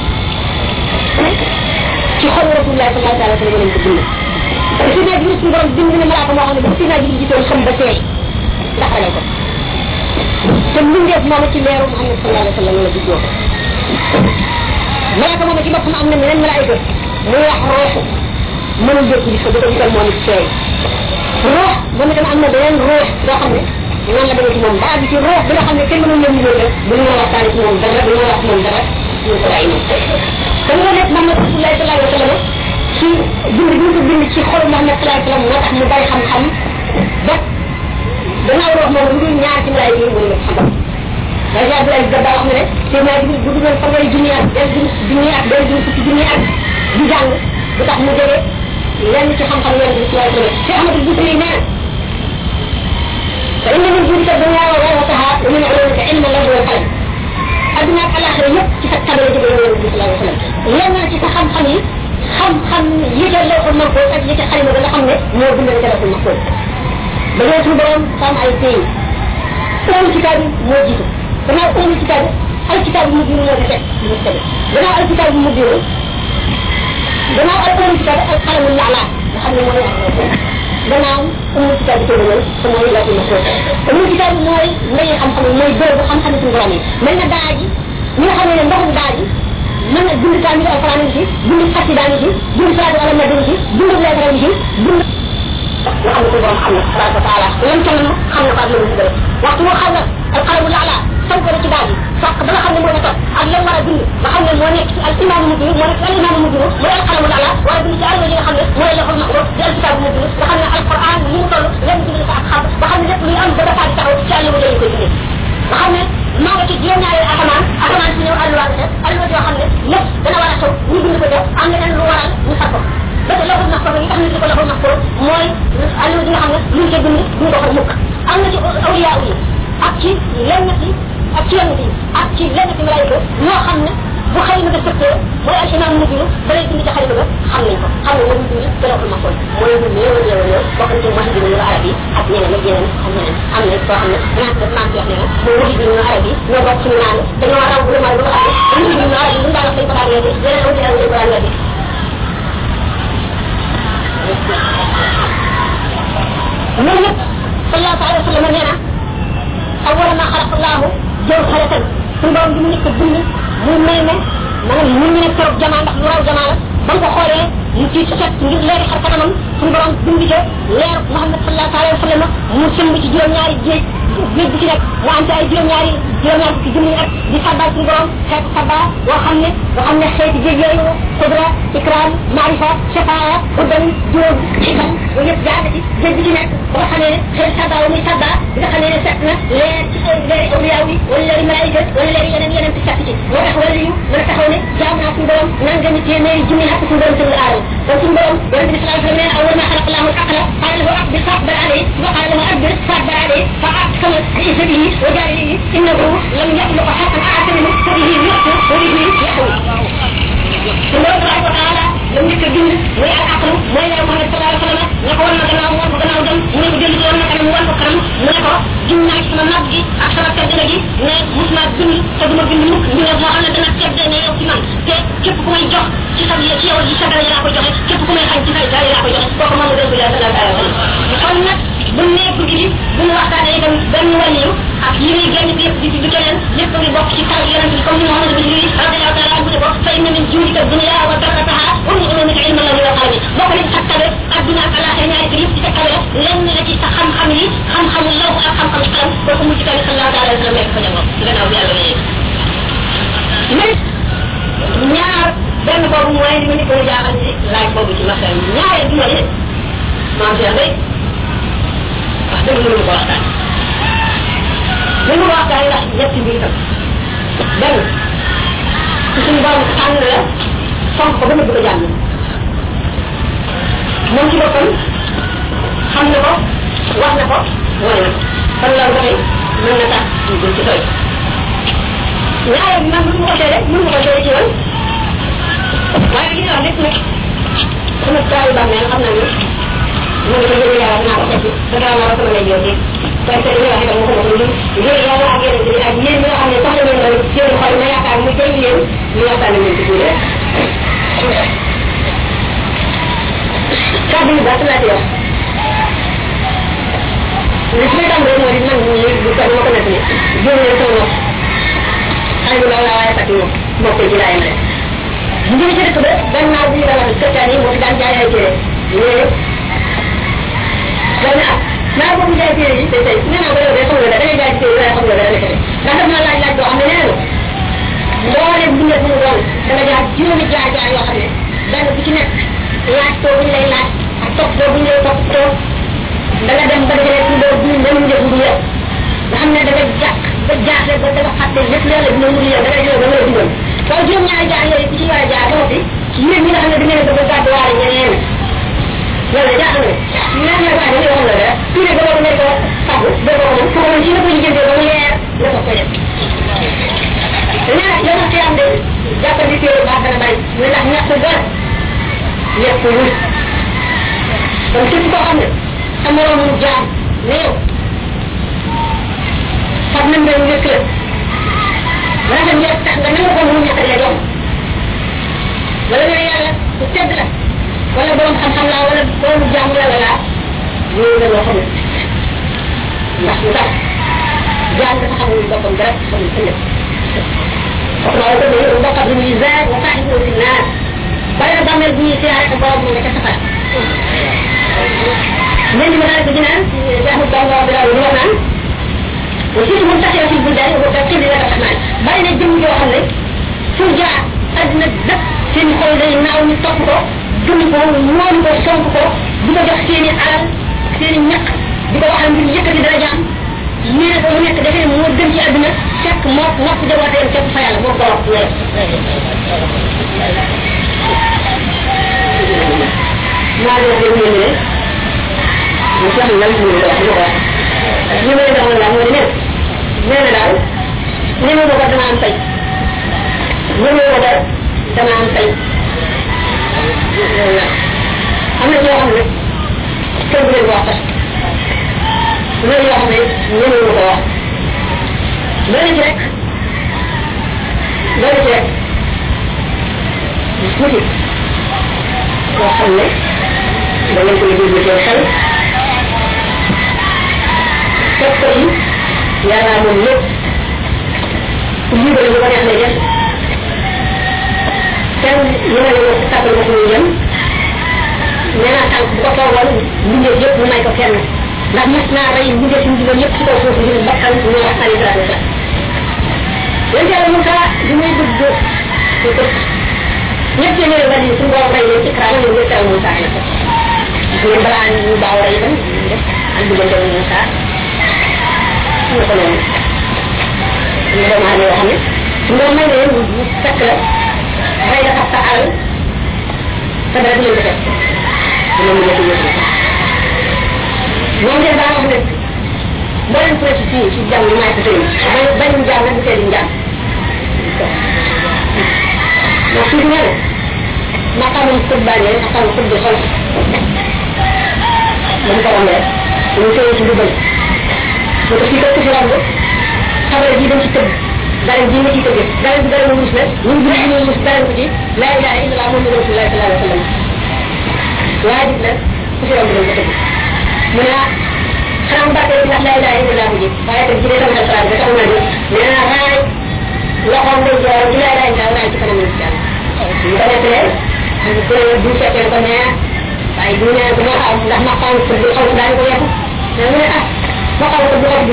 ci xol rasulullah sallallahu alayhi wa sallam lañ ko bind te Seydina Jibril suñu borom bind na malaaka moo xam ne bu Seydina Jibril gisoon xam ba seey ndax ragal ko te mbindeef moom ci leeru Muhammad sallallahu alayhi wa sallam la juddoo malaaka moom ci boppam am na meneen malaayika muy wax ruux mënul dégg gis ko da ko gisal moom it seey ruux moom itam am na beneen ruux boo xam ne noonu la demee ci moom ba àgg ci ruux bi nga xam ne kenn mënul leen ñëw rek bu ñu waxtaane ci moom dara bu ñu wax moom dara ñu ko bàyyi moom kon loolu lépp Muhammad sallallahu alayhi wa sallam ci bind bi ñu ko bind ci xolu Muhammad sallallahu alayhi wa sallam moo tax mu bari xam-xam ba gannaaw ruux moom lu dul ñaar ci malaayika yi mënu la xam waaye Abdou Aziz Dabba wax na ne Seydina Jibril bu dugoon fanweeri junni at benn junni at benn junni fukki junni at di jàng bu tax mu jóge lenn ci xam-xam yonent bi sallallahu alayhi wa sallam Cheikh Ahmadou Boussiri nee na fa inna min juudika dunya wa ghayataha wa min ulumika ilma al-lawhi wal qalam adduna ak alaxira yëpp ci sa tabale jóge yonent bi sallallahu alayhi wa sallam lenn ci sa xam-xam yi xam-xam yi ca lawhul mahfuz ak yi ca xalima ba nga xam ne moo bindal ca lawhul mahfuz dañoo suñu borom am ay pays ulul kitaab yi moo jiitu gannaaw ulul kitaab al kitaab mu diinu moo ci teg mu teg gannaaw al kitaab mu diinu gannaaw al ulul kitaab al qalamu la'la nga xam ne mooy gannaaw ulul kitaab bi tëdd te mooy la ma ko ulul kitaab mooy ndey xam-xam mooy bërëbu xam-xam suñu borom yi mel na daa ji ñi nga xam ne ndoxum daa ji mën na bind kaamil alquran ngi ci bind xasida ngi ci bind salaatu ala nabi ngi ci bind leetara ngi ci bind nga xam ne suñu borom xam na tabaraka wa taala lam toll xam na ko ak la mu ci bëri waxtu moo xam na alqalamu la'la sanko ci daal yi fàq ba nga xam ne moo topp ak lan war a bind nga xam ne moo nekk ci al imaamu mujj moo nekk ci al imaamu mujj mooy alqalamu la'la war a bind ci alwa yi nga xam ne mooy laful mahfuz di alkitaabu mujj nga xam ne alquran ni mu toll lenn bind ko ak xam nga xam ne lépp luy am ba dafa di taxaw ci àll bu lañu koy bindee nga xam ne maa nga ci juróom-ñaari asamaan asamaan si ñëw alluwa bi alluwa yoo xam ne lépp dana war a xew ñu bind ko def am leneen lu waral ñu far ko ba te laful mahfuz yi tax ñu ko laful mahfuz mooy alluwa yi nga xam ne luñ ca bind duñ ko xar mukk am na ci awliya yi ak ci lenn ci ak ci yenn yi ak ci lenn ci malaayika ñoo xam ne bu xalima ga sëppee mooy al imam mujj ba lay bind ci xalima ga xam nañ ko xam ne moom bind ci lawhul mahfuz mooy lu néew a néew a néew bokk na ci wax bi ñu arab yi ak ñeneen ak yeneen ak ñeneen am na koo xam ne naan def naan ci wax ne na mooy wax bi ñu arab yi ñoo bokk suñu naan dañoo raw bu demal ba nga xam ne ñu ñu arab yi ñu daan wax dañ ko daan weddi yeneen aw yeneen dañ ko daan weddi loolu yëpp sallallahu alayhi wa sallam nee na awwala ma xalaqa allahu jawharatan suñu borom bi mu nekk bind mu mel ne maanaam mu ñu ne toog jamaa ndax lu raw jamaa la ba nga ko xoolee mu ci set ngir leeri xar kanamam suñu borom bind ca leer Muhammad sallallahu alayhi wa sallam mu sëmb ci juróom-ñaari géej géej bi ci nekk mu am ci ay juróom-ñaari juróom-ñaari ci junni at di sabbal suñu borom xeetu sabba boo xam ne boo xam ne xeeti géej yooyu qudra ikram maarifa shafaa hudan jóob xikam yooyu yëpp jaar ci géej bi ci nekk ba nga xamee ne xeeti sabba wa muy sabba bi nga xamee ne fekk na leer ci leeri awliya yi wala leeri malaayika wala leeri yeneen yeneen ci fekk ci moo tax wala yu mën a taxaw ne jaam naa suñu borom nangami téeméeri junni at suñu borom tënk aadama kon suñu borom yonente bi sallallahu alayhi wa sallam nee na awwal ma xalaqa allahu al-aqla qala lahu aqbil faqbal alayhi wa qala lahu adbir faqbal alayhi fa aqsama bi'izzatihi wa jalalihi innahu lam yakhluq haqqan a'ata minhu fa bihi yu'tu wa bihi yahwi suñu borom tabaraka wa taala lam njëkk a bind mooy al aqlu mooy leer Muhammad sallallahu alayhi wa sallam ne ko wan na gannaaw wan ko gannaaw dem mu ne ko dellu wan na kanam wan ko kanam mu ne ko giñ naa ci sama mag gi ak sama tedd nga gi ne mus naa bind te duma bind mukk ñu ne moo xam ne dana tedd ne yow ci man te képp ku may jox ci sa ci yow ci sa dara laa koy joxe képp ku may xañ ci sa dara laa koy joxe kooku moom la dégg yàlla sallallahu alayhi wa sallam kon nag bu nekk gi bu ñu waxtaanee itam benn wàllu ak yi muy génn bi yëpp di di keneen lépp ngi bokk ci taw yonent bi comme ni Muhammad bin Yunus radiyallahu ta'ala anhu ko fa inna min juudika dunya wa barakataha wa min ulumika ilma Allah wa qalbi bokk nañ sa tabe adduna ak alaxira ñaari kër yëpp ci sa tabe lenn la ci sa xam-xam yi xam-xamu law ak xam-xamu xalam kooku mu ci kaw sallallahu ta'ala alayhi wa sallam nekk fa jamono ci gannaaw bi yàlla mayee mais ñaar benn boobu mooy li ma ni ko jaaxal ci laaj boobu ci masal ñaareel bi mooy maam Cheikh day wax dëgg mënu ko waxtaan mënu ko waxtaan ndax ñetti mbir tam benn ci suñu borom tànn la fonk ko ba nëbb ko jàmm moom ci boppam xam na ko wax na ko wane na kon loolu ba tey mën na tax ñu gën ci doy ñaareel bi man mënu ko seede mënu ko seede ci yoon waaye li nga wax lépp nag sama taal ba mel xam naa ne mu ngi ko jëlee yàlla dinaa ko fekk te daa war a sama lay yóbbee parce que li nga wax itam mu ko wax lu ngir yàlla ak yeneen bi ak yéen ñi nga xam ne soxla ngeen loolu seen xol ma yaakaar mu jël leen ñu waxtaane leen ci tuuti kàddu yu baax laa ci wax li ci may tàmbalee moo di man ñi bu ko ma ko nekk ni jéem leen sama nopp xale bu ndaw laa waaye fàtti moom mbokk ci laay ma bu ñu ci dëkk ba benn naa bu ñu la wax kërtaan yi moo fi daan jaay ay téere léegi loolu ah naa boobu jaay téere yi tey tey nee naa ko yow de xam nga da ngay jaay téere waaye xam nga dara nekk ndax daf naa laaj laaj boo xam ne nee na mbooleem bu nekk mu doon da nga jaar juróomi jaar jaar yoo xam ne benn bu ci nekk laaj too bu ñu lay laaj ak topp too bu ñu lay topp too da nga dem ba dajale ci loolu bu ñu dem def bu yow nga xam ne da nga jàq ba jaaxle ba dafa xatte lépp yàlla dina mu yow da ngay yow ba nga digal waaye juróom ñaari jaar yooyu ku ci war a jaar ba noppi yéen ñi nga xam ne da ngeen bëgg a gàddu waale ñeneen loolu de jaaxal na ñaan na waaye dañuy wax la dara tuuti ba boobu nekk fàggu ba boobu moom foofu ci la ko liggéey ba mu leer la ko koy def nee yow ci am de jàppal di téere baax dana bàyyi ñu ndax ñàkk dara ñàkk wul kon képp koo xam ne sa moroom jaam ne yow fab nañ leen wékk la rafet ñëpp tax nga nangu ko mu ñàkk la doom wala nga yàlla ku tedd la wala borom xam-xam laa wala borom jàmm la la laa ñëw nga loo xamul ndax lu tax jaam dafa xamul boppam dara xamul ëllëg wax naa ko ne mbokkat bu ñuy zaag wa saaxibu fi naar bari na bàmmeel bu ñuy siyaare ak borom nga ca safar ñen di ma daal ko dinaan jaxu bamba bi laa wax naan وفي منتشرة في البلدان وتبقي لله الرحمن بين الجن وحمله فرجع أدنى الدق سين خلدين ناو نطفقه جنبه ونوانبه صنبه بدا جخ سيني على سيني نق بدا وحن من يكتي درجان ميرا ko nek defé mo dem ci aduna fekk mo nopp jabaté fekk fa yalla mo ko wax wala ma do dem ni ne mo sax lan mo wax lo wax ni may daw la mo ne neena daal ni ma ko dama am tay ni ma ko dama am tay am na yoo xam ne kenn du leen wax sax loolu yoo xam ne ñëwee ko wax loolu ci rek loolu ci rek tuuti yoo xam ne da ngeen koy déglu seen xel fekk ko yi yàlla moom lépp libéré lu ko neex lay def kenn yemale ko si tàggal ko suñuy jëm nee naa tànk bu ko toogoon mbindeef yëpp mu may ko kenn ndax mas naa rey mbindeef suñu digal yëpp si kaw suuf ngir bakkan ñu wax alayhi salaatu wasalaam yéen yàlla Moussa bi muy dugg ci kër ñëpp ci ñëwee wàllu suñu borom rey leen ci kraa ñu ngi teral Moussa la ko ñu balaa ñu baaw rey itam def ak diggante Moussa ñu ko noonu ñu doomu aadama yoo xam ne suñu borom may leen ñu fekk la rey la xas sa alal te dara du leen ko fekk dina mu nekk yëpp moom de daa wax ne mboolem ku ci fii ci jàmm yi maay ko sëriñ bañ bañu jàmm nag du tee di njàng ndax fii nee na maqaamam xut bànnee maqaamam xut bi xol dañ ko rombee ñu tëye ci dugal mu ko fii ko fi romb xabar ji dañ ci tëgg dara ji nga ci tëgg dara bi dara mu mus la ñu bi ñu mus dara ko ci la ilaha illallah muhammadu rasulullah sallallahu alayhi wa sallam waajib la ku fi romb dañ ko tëgg mu ne xanaa mu bàttee ci ndax la ilaha illallah bu ji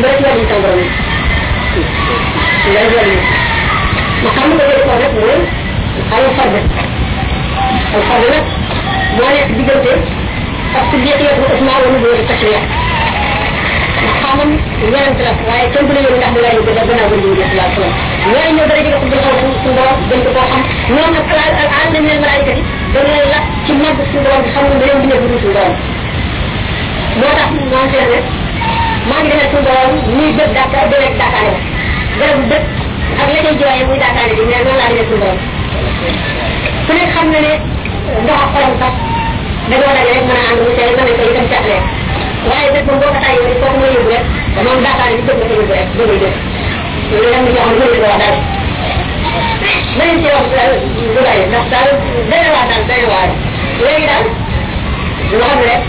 bëri ci wàllu sama borom ngay wàllu ma xam ko jël ko rek mooy ay farde ay farde nag moo nekk diggante ak ci biir yëpp Usmaan wala bu wër tashriya ma xamam ñaan la waaye kenn du la yëg ndax da ngay ko da gëna wëndu sallallahu alayhi wasallam ñooy ñëw dara jël ko bu xaw suñu borom gën ko xam ñoom nag al al al min al malaika yi dañu la ci mag suñu borom xam nga leen dina bu suñu borom moo tax maa ngi leen maa ngi demee suñu borom muy dëkk Dakar di rek Dakar la garabu dëkk ak la cay jooyee muy Dakar di mais noonu laa demee suñu borom ku nekk xam na ne ndox ak xolam sax dañoo daje rek mën a ànd mu tey mën a ko itam càqlee waaye dëkk moom boo ko tàyyee rek foofu nga yóbbu rek moom Dakar di dëkk la ko yóbbu rek dëgg dëkk loolu am na ñoo xam ne mënuñu ko wax daal ma leen ci wax lu bari ndax daal day waar daal day waar léegi daal loo xam ne rek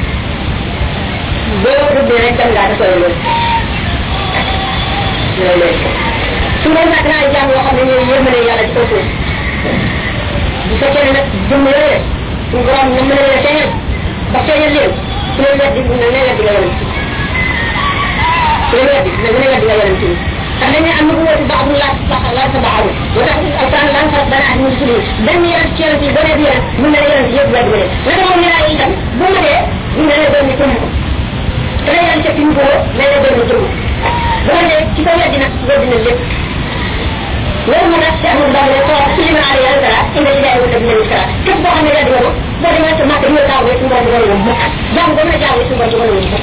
boo duggee rek dem ngaa dafa loolu loolu su ma nag naa jàng yoo xam ne ñooy yërmane yàlla ci kaw suuf bu fekkee ne nag jëmm yooyu suñu borom na mën a leen a feeñal ba feeñal leen su leen weddi na ne weddi nga yonent su leen weddi na ne weddi nga yonent ndax dañ ne am na bu wóotu baax bu laaj sax laaj sa baaxaru moo tax alquran lan farat dana ak mun suli benn yonent ci yonent yi boo nee bi yonent mun na la yonent yëpp weddi nga leen naka moom ñaar yi itam bu ma dee mun na la doon ni tëmm te la yonent ci mu ko na la doon ni tëmm bu ma dee ci ko weddi nag weddi na lépp loolu moo tax ci amul baax ne ko ci li ma aar yàlla dara indi ci jaay wala dina dara képp koo xam ne weddi nga ko boo demee sa màkk dina taw rek suñu borom dina la mukk jàng ba mën a jàng suñu borom dina la mukk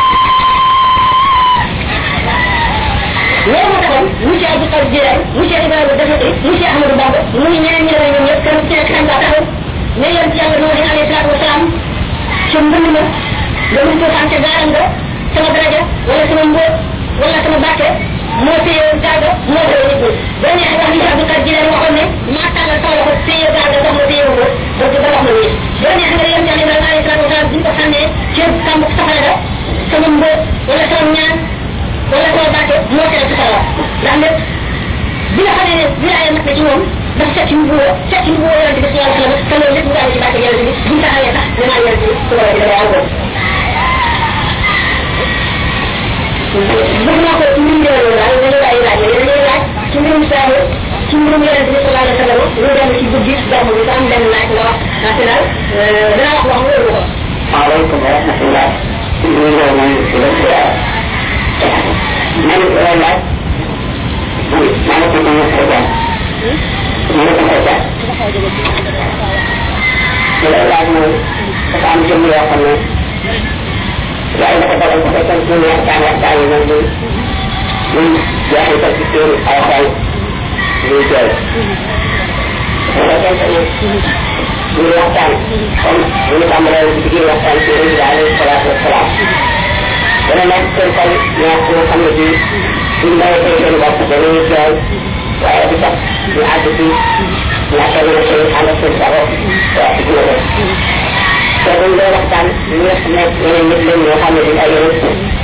loolu moo taxoon monsieur Abdou Khadre Djeylani monsieur Ibrahima Dafati monsieur Ahmadou Bamba muy ñeneen ñi demee ñoom ñëpp kenn ci nekk xam nga taxaw ne yéen ci yàlla moo di alayhi salaatu wasalaam ci mbënd ma nga mun ko xam ca gaaram nga sama daraja wala sama mbóot wala sama bàkke moo téye gaaga moo koy nit ñi boo neexee wax monsieur Abdou Khadre Djeylani waxoon ne maa tàllal sama loxo téye gaaga sax ma téye ko donc ba wax ma nii boo neexee nga yéen ci yàlla Ibrahima alayhi salaatu wasalaam buñ ko sànnee ci kàmb safara ga sama mbóot wala sama ñaan wala sama bàkke moo tere ci sawar ndax lépp bi nga xamee ne wilaaya mat na ci moom dafa set ci mbuur set ci mbuur yonente bi sallallahu alayhi wa sallam te loolu lépp mu daal ci bàkke yonente bi buñ taxawee sax ne maa yonente bi su ko defee dafay àggoon bëgg naa ko ci mbirum yooyu daal dañuy bàyyi laaj yooyu dañuy laaj ci mbirum saabu ci mbirum yonente bi sallallahu alayhi wa sallam lu dem ci guddi gàmmu bi sa am benn laaj nga wax ndaxte daal danaa wax wax wóoru ko waaleykum wa rahmatullah ñu ngi lay nuyu di la ziar man lay laaj man ko ko ko jàng man ko ko jàng lay laaj mooy dafa am jëm yoo xam ne yàlla dafa dogal ko fekkee ci waxtaan waxtaan yi moom muy muy jeexital ci seen ay xol muy jooy bu fekkente ne ñu waxtaan comme bu ñu tàmbalee ci biir waxtaan ci yonent bi alayhi salaatu wasalaam dana nekk seen xol ñaar ñoo xam ne bii suñ bàyyi seen bopp dañuy jooy waaye du tax ñu àgg ci ñàkk a mën a seen ànd ak seen sago waaw ci dina def te buñ dee waxtaan ñu nga xam ne ñeneen nit lañ ñoo xam ne duñ ay yonent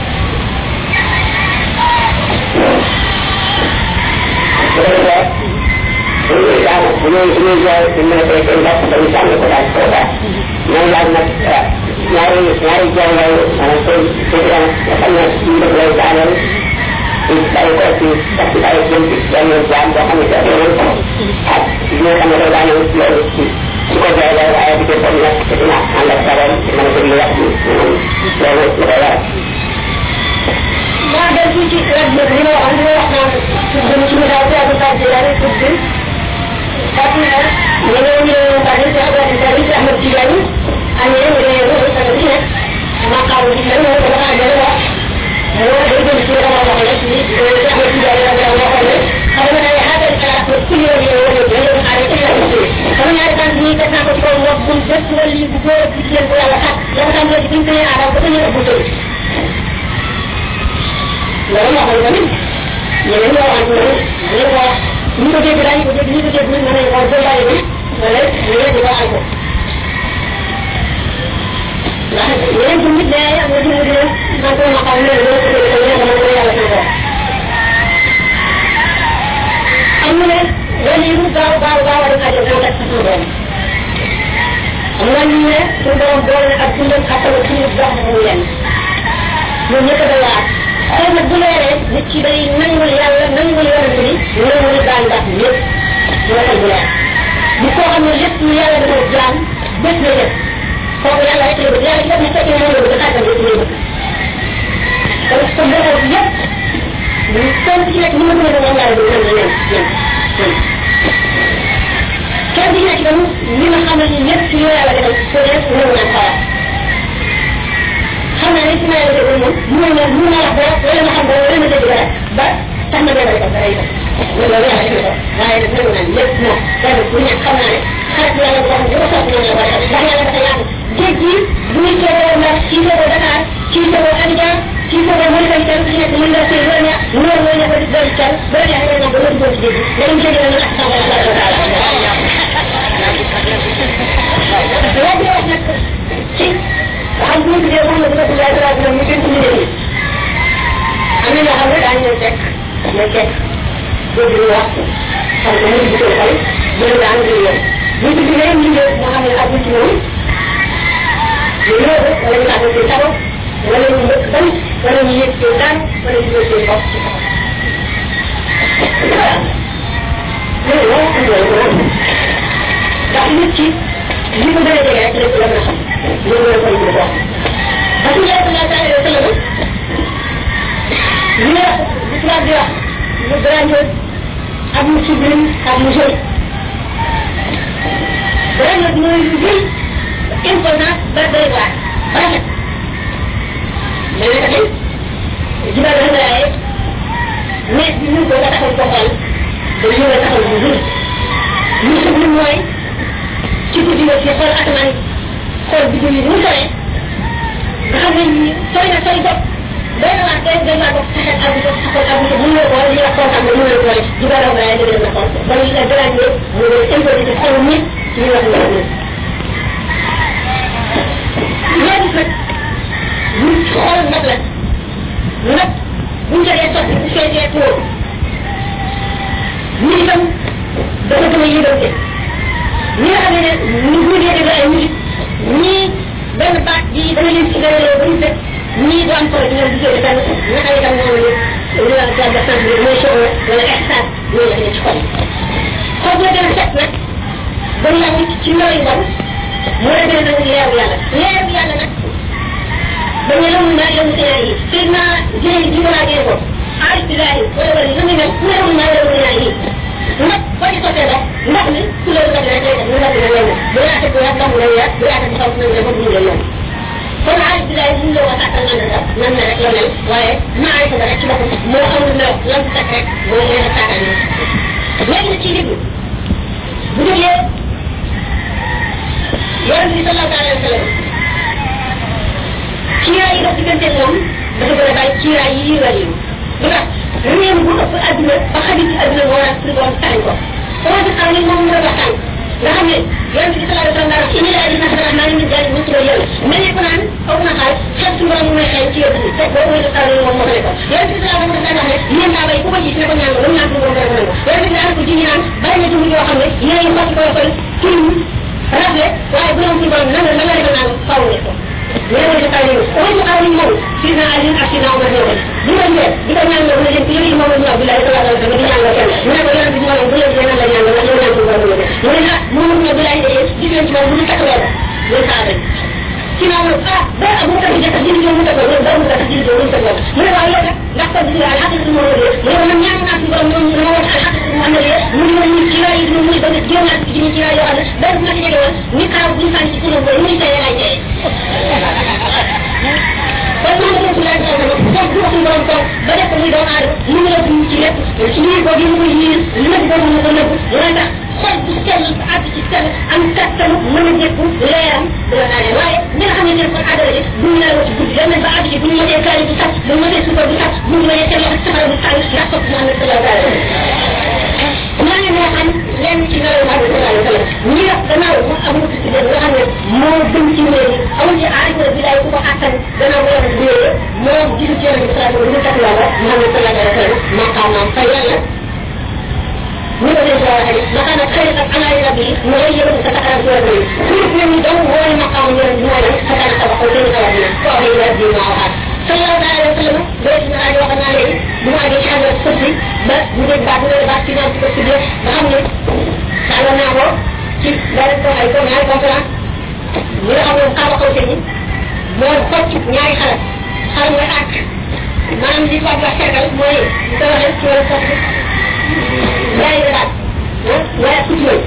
bu ko defee bu ñuy jàng bu ñuy bu ñuy jooy buñ mën a tey seen bopp dañu jàng ko daal ko daal mooy laaj nag ñaari ñaari jooy yooyu maanaam seen seen yaram nga xam ne ñu def lay daaneel ñu bàyyi ko ci sax ci bàyyi jëm ci benn jaam boo xam ne ci yonent ak li nga xam ne day daaneel loolu ci su ko jooy loolu waaye di ko bon nag te dina ànd ak sagoom mën a déglu wax bi loolu lu koy waral maa del fii ci rek nag li ma waxoon li ma wax naan dama ci misaal ci Abdou Khadre Djeylani pour que parce que ñeneen ñi leen bari ci Abdou Khadre Djeylani ci Ahmed Tidiane ak ñeneen ñi leen ñoo sa ci nekk ma xaw ci lan moo ko dafa jël wax moo day jëm ci dama wax rek ni ci Ahmed Tidiane la dafa waxoon ne xam nga ay xaaral ci xalaat pour ci yoon yoon yoon yoon xaar ci la ci sama ñaari tan ñi tek na ko ci kaw wax bu dëkk wala li bu góor ci leen ko yàlla xat la ko tam ci biñ adam ko ñu bu tëj loolu moo xam tamit ñeneen ñoo wax ne dañu ko wax ñu ko dégg dañu ko dégg ñu ko dégg mën nañu ko jël bàyyi bi wala ñu di ko ay ko ndax yeneen ci nit day am na ci nit man ko ma xam ne loolu ko dégg ñu dama ko yàlla ci ko am na ne wala yu gaaw gaaw gaaw a def ko tak ci doom am na ñu ne su doom boole ak dundam xatal ci dox mu yenn ñu ñëk da waat xëy na bu ci day nangul yàlla nangul yonent bi nangul daan baax yëpp dina xel bu leer bu koo xam ne lépp lu yàlla dafa jaam bés na lépp kooku yàlla rek la bëgg yàlla ci def ne fekkee moom la bëgg xaatam yëpp lay bëgg kon ko bëgg yëpp kenn ci nekk ni ma gën a moom yàlla bëgg nan leen leen kenn ci nekk tam li nga xam ne ni lépp lu yàlla defal ko def nangu naan xalaat xam naa ne ci ma yàlla defal moom mu ne mu ne wax dara wala nga xam dara wala nga dégg dara ba tax na benn rek dara itam loolu yàlla def na ko waaye nag nangu naan lépp moom kenn ku nekk xam naa ne xarit yàlla boo xam ne dafa sopp noonu la war a def ndax yàlla dafa yaatu géej gi bu ñu toogoo ndax ci toogoo Dakar ci toogoo Abidjan ci toogoo Mauritanie tam ci nekk mën nga sëy loolu neex loolu mooy nekk di doon kenn ba la neexee nga ba nga dugg ci géej gi dañu géej la ñu ak sama yàlla taala waaye di wax nag ci xam bu ñu tuddee moom la dina tuddee dara dina ñu gën ci nit ñi am na ñoo xam ne daañu leen fekk ne fekk dégg ñu wax xam ko mu di ko xol dina daan di yoon bu ñu tuddee ñu ñëw moo xam ne ak ci moom ñu ñëw wala ñu tàggat ci tabax wala ñu mbëkk ban wala ñu yëg ci daan wala ñu yëg ci bopp ci tabax loolu moo am loolu ndax nit ki li ko gën a jege rek lépp la mën a xam loolu la koy wax parce que yàlla sallallahu alayhi wa sallam li nga wax li tubaab di wax lu grandiose ak mu sublime ak mu joli grandiose mooy lu jël imposant ba doy waar rafet mais nag tey jibal la laaye mais bi ñu ko nga taxaw ko xool dañu nga taxaw bu jël lu sublime mooy ci guddi nga ci xool asamaan xool bi julli mu sore nga xam ne ni sori na sori bopp doy na waa doy doy waa bopp sa xel abu sa xool abu sa mënuloo ko wala li nga xool xam ne mënuloo ko wala di ko raw waaye dëgg na xool ba ñu la gëlaat ne mu ngi imposé ci xolu nit ci ñu wax ne nit léegi nag ñu xool nag la nag bu ñu jëlee sotti bu feesee tuur ñu itam dafa gën a yëgante ñi nga xam ne ñu bu dee déglu ay musique ñii benn baat bi dana leen ci gën a ba ñu fekk ñii du am solo ci ñoom di jóge fenn naka itam noonu la li wax la def sant mooy show wala extase ñooy def ne ci xol xob la gën a set nag ba ñu am ci ndaw yi bon mu la gën a nangu leeru yàlla leeru yàlla nag dañu la mun naa yëngu sa yi sëy naa jëlee ji ko laajee ko aarifilahi wala wala na muy mel ku la mun naa yëngu sa yi nag boo ci sottee ndox ndox mi ku la ndox rek lay def mu ndox dina lay def bu yaate bu yaat ndox mu lay yaat bu yaate bu xaw na nga bëgg lay yoon kon aarifilahi mun la wax sàkkal nan la nan la rek la mel waaye maarifa nga rek ci boppam moo amul mel lan sàkk rek moo leen a sàkkal ni léegi na ci déglu bu jógee yonent bi sallallahu alayhi wa sallam kiiraay yi dox diggante moom dafa gën a bàyyi kiiraay yi yi wàll yi lu tax réew bu ëpp adduna ba xajul ci adduna moo waral suñu borom taxañ ko comment que xam ne moom mu doon waxtaan nga xam ne yonent bi sallallahu alayhi wa sallam daal indi laa di nax dara naa ngi daal mu tuddoo yàlla mel ne ko naan foog na xaal xel suñu borom mu may xel ci yëpp fekk boo koy def moom moo ko nekkoon yonent bi sallallahu alayhi wa sallam wax ne yéen naa bay ku ko gis ne ko ñaan ko ñaan suñu borom dara ko nangu yonent bi daal ko ji naan bari na jumbi yoo xam ne yéen xotti koy koy tilim rafle waaye bu doon suñu borom nan la nan la defal naan faw ne ko ñoo ko defal ñu ko ñu xaw ñu moom sidna ali ak sidna umar ñoo ko di ko ñëw di ko ñaan nga leen ci yëri moom ñu abdullah sallallahu alayhi wa sallam di ñaan nga kenn mu ne ko yonent bi moom bu leen ñaan la ñaan la ñu ñaan ko borom mu ne ah moom ñu abdullah de gis leen ci moom bu ñu takk weer ñu saaba ci na ah ba abu ka ci jëk jël ñu takk ñu ba mu takk ci ñu takk mu ne waaw yow ndax ko di al haqqatu mo de mu ne man ñaan naa ci borom ñu ñu wax al haqqatu mo amé mu ne ñu ci lay ñu muy ba jël naa ci ñu ci lay yoo xam ne ba ma ci jëgé won ni kaaw bu ñu fan ci sunu borom muy tay lay tay kon mo ko lay tay ko bu wax borom ko ba def muy doon aar mu ngi la ci lépp ci ni ko gi mu koy yi li ma ko mu ko nepp wala tax xol bu sell ak ci sell am kattanu mën a jëkku leeram du la naane waaye ñi nga xam ne seen kon adara ji bu ñu laa ci guddi dem nañ ba àgg ci bu ñu mëtee kaari bu sax bu ñu mëtee sukar bu sax bu ñu mëtee seen loxo safara bu tàng ndax topp Muhammad sallallahu alayhi wa sallam maa ngi moo xam lenn ci nelaw Muhammad sallallahu alayhi wa sallam ñi wax gannaaw mu am ko ci nga xam ne moo gën ci wéer yi amul ci aarif bi lay ku ko àttan gannaaw bu yàlla wéer moo gisu ci yàlla bi sallallahu alayhi wa sallam takk yàlla Muhammad sallallahu alayhi wa sallam maqaamam fa yàlla ñu ko def wax rek maqaam ak xëy ak alaay rabbi mu lay yëngu sa taxaram ci rabbi suuf ñu ñu daw mooy maqaam ñu ñu mooy sa kana sa waxal seen xalaat na ko ay rabbi ma waxaat sallallahu alayhi wa sallam do ci na wax na lay bu ma def tubaab wax cercle mooy ko waxee ci wala sax yaay da daal wala couture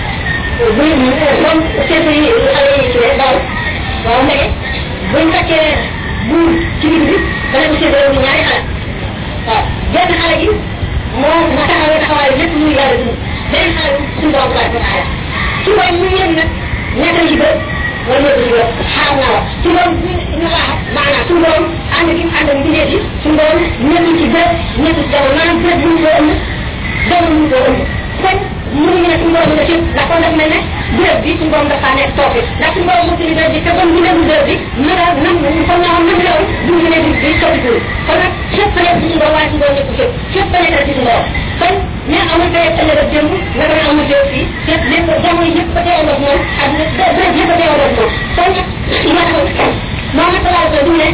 bu moom seetu yi xale yi ci daal waaw ndeke buñ fekkee buur ci biir bi dana ko séddale ñu ñaari xale waaw benn xale gi moo ma taxawee taxawaay lépp muy yàlla dund benn xale bi suñu borom tabaaraka wa taala ci mooy muy yéen nag ñaata yi ba wala ñoo ko ci xaar naa wax su borom ñu wax maanaam su borom ànd gi ànd gi bindee ci su borom ñëpp ci bët ñëpp ci jamono maanaam bët bu ñu ko ëmb jamono ñu ko ëmb kon mënuñu ne suñu borom la ci ndax kon daf mel ne bërëb bi suñu borom dafa nekk foofu ndax suñu borom moom bërëb bi te kon bu nekk bërëb bi mën a nam kon naa xam nam la woon bu ñu ne bi bi soppiku kon nag fépp nekk ci suñu borom waaye suñu borom nekk fépp fépp nekk ci suñu borom kon mais amul tey ëllëg ak démb naka la amul tey fii fépp lépp jamono yëpp ko teewal ak moom ak bërëb yëpp ko teewal ak moom kon nag ma taxaw moom nag laa ko du ne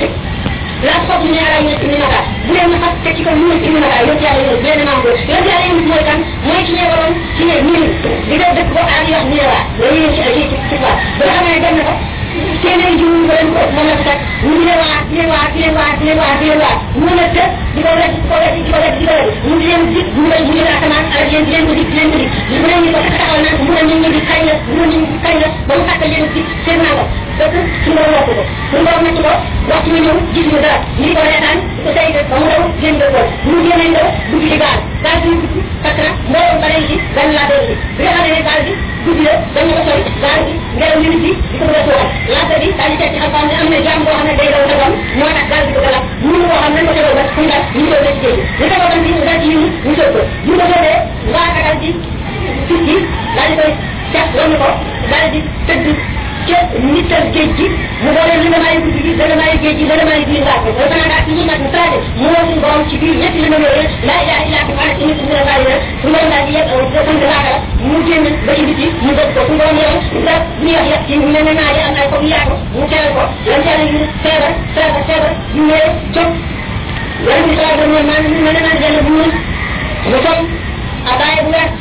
la xob ñu ñaara ñu ci naka bu leen ma fat ci ko ñu ci naka yow yàlla yow benn maam ko yow yàlla yow mooy kan mooy ci ñeewaloon ci ne ñu di def dëkk ko ak wax ñu la la ñu ci ci ci fa ba xam ne dem na ko téeméeri jiw ñu leen ko moom la ko teg ñu di leen waat di leen waat di leen waat di leen waat di leen waat mu la tëj di ko wet di ko wet di ko wet di ko wet mu di leen dig mu leen mu leen asamaan ak yéen di leen ko dig di leen ko dig mu leen ñu ko taxawal naan mu leen ñu di kañ la mu leen ñu kañ la ba mu fàttal leen dig seen naa ko donc suñu borom wax ko suñu borom nekk ko waxtu ñu ñëw gis ñu dara ñu ko reetaan ko say ba mu daw génn ko ñu génnañ ko dugg ci gaal gaal bi dugg parce que mbooloo bare ci gan laa doon ci bi nga xam ne gaal bi dugg la dañ ko sori gaal bi ngelaw ñu ci di ko bëgg a suuxal laata bi daal di teg ci xam-xam ne am na jaam boo xam ne day daw sa doom moo tax gaal bi ko galab mënu koo xam nañ ko tegal ba fu ñu dal ñu soog ci géej ñu tegal tam bi ñu dal ci ñu ñu soog ko ñu ko soobee waa dagal ci fit gi daal di koy teg wan ko daal di tëdd ci nital géej gi mu boole li nga may guddi gi dana may géej gi dana may biir ngaat ko dafa naa daal ci ñu nag mu traité mu woo suñu borom ci biir ñetti li ma yooyu laa ilaha illa anta ana ci nit mu la bàyyi su borom daal di yegg da sant laaka la mu génn ba ci biti mu dëgg ko suñu borom yow da bu ñuy wax yegg ci mel ne naa di am ay xob yaatu mu teral ko lan teral ñu feebar feebar feebar ñu ñëwee jóg yàlla bi saa doon man mel ne naa jël bu ñun mu toog abaye bu wet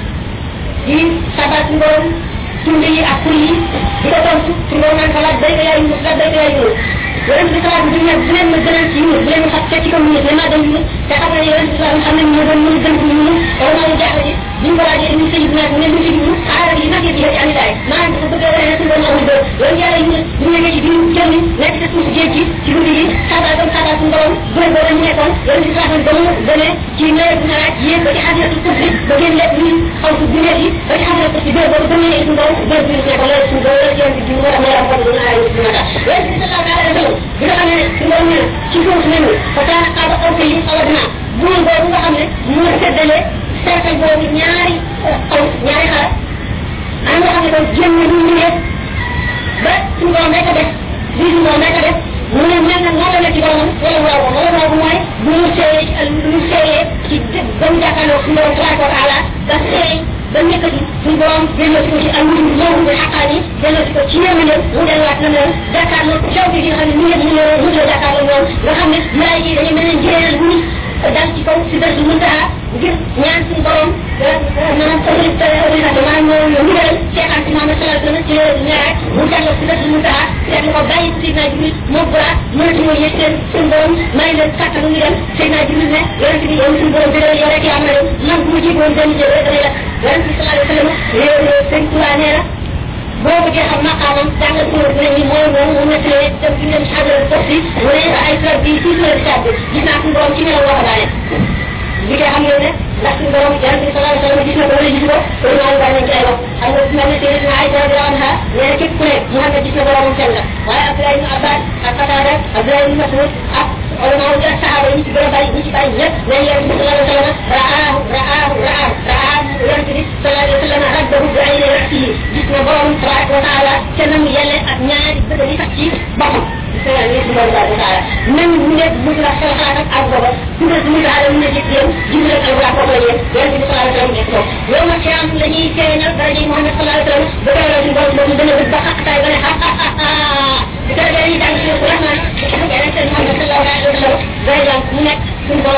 di sabat suñu borom tunde yi ak kur yi di ko tontu ci loolu naan xalaat day ko yaay ñu la day ko yaay ñu yonent bi salaatu bi ne bu leen ma gënal ci ñu bu leen ma xat ci ko ñu ne ma dem ñu te xam ne yonent bi salaatu xam ne ñu doon ñu gën ci ñu wala ma jaaxle ci ñu ko laajee ñu sëñ bi nag ne lu ci ñu xaaral yi nag yi ani daay maa ngi ko bëgg a wane ci doon amul dëgg loolu yàlla ñu ñu nekk ci biir jëm nekk ci suuf géej gi ci guddi gi xaaral comme xaaral suñu borom bëri boo ñu nekkoon yonent bi salaatu ba mu gënee ci nawet bu naaj yéen ba ci xadiratu kursi ba ngeen lekk ñu xaw ci biir yi ba ci xadiratu kursi bër boobu gënee suñu borom bër bi nekk loolu suñu borom loolu yonent bi moo tax may am ko dina ay ci naka yonent bi sallallahu alayhi wa sallam bi nga xam ne suñu borom ne ci suuf ne fa kaan xaaba aw ko yi awadna buur boobu nga xam ne moo seddale cercle boobu ñaari xaw ñaari xaar am nga xam ne kon génn ñu ñu ne ba suñu borom rek a def lii suñu borom rek a def mu ne mel na noonu la ci boromam wala waaw ko wala waaw mooy bu ñu seeyee lu seeyee ci ba mu jàkkaarloo suñu borom tabaraka wa taala ba seey ba nekk ci suñu borom delloo si ko ci am ñu ñëw bi xaqaan yi delloo si ko ci yéen ñëw mu delluwaat na leen jàkkaarloo caw bi nga xam ne ñu ngi ñu mu la jàkkaarloo ñoom nga xam ne malaay yi dañuy mel ne njëriñal bu dal ci kaw si dal muntaha ngir ñaan suñu borom maanaam autorité organisation maanaam moo ndigal Cheikh Anta Mohamed sallallahu alayhi wa sallam ci ñaar mu jàlloo si dal muntaha seetlu ko bàyyi Seydina Jibril moo bura mënatu moo yëg seen suñu borom may leen kàttanu ñu dem Seydina Jibril ne yonente bi yow suñu borom dëgg yow rek yaa am na yow man bu ma jiboon benn jël rek damay la yonente bi sallallahu alayhi wa sallam réew sëñ Tuubaa nee na boo bëggee xam maqaamam jàngal suñu bu ne ni mooy moom mu nettalee dem ci leen xajar forsi mu ne ay sura bi ci sura bi tàbbi gis naa suñu borom ci melaw wax daane li koy xam ngeen ne ndax suñu borom yonente bi sallallahu alayhi wa sallam gis na ko wala gis ko loolu maa ngi bàyyi nañ ci ay wax xam nga su mel ne Seydina Aïcha radiyallahu anha nee na képp ku ne mu xam ne gis na boromam sell la waaye Abdoulaye ibn Abbas ak Qatada Abdoulaye ibn Mas'ud ak ulama yi ak saxaaba yi ñu ci gën a bari ñu ci bari ñëpp ne yonente bi sallallahu alayhi wa sallam raahu raahu raahu raahu yonente bi sallallahu alayhi wa sallam rabbahu bi ayni ra'sihi gis na borom tabaraka wa taala te nam yelle ak ñaari bëgg yi sax ci boppam sëñ bi subhanahu wa taala même bu nekk bu la xel xalaat ak ak booba ku ne suñu daal mu ne ci yéen jibril ak alquran foofu la yéen yonente bi sallallahu alayhi wa sallam nekk foofu yow nag xiyam la ñuy feeñal dara ji Muhammad sallallahu alayhi wa sallam ba tey la suñu borom boobu dana ba xaqtaay ba ne ha ha ha ha bi tey dañuy jàng ci rahman yonente Muhammad sallallahu alayhi wa sallam day jàng mu nekk suñu borom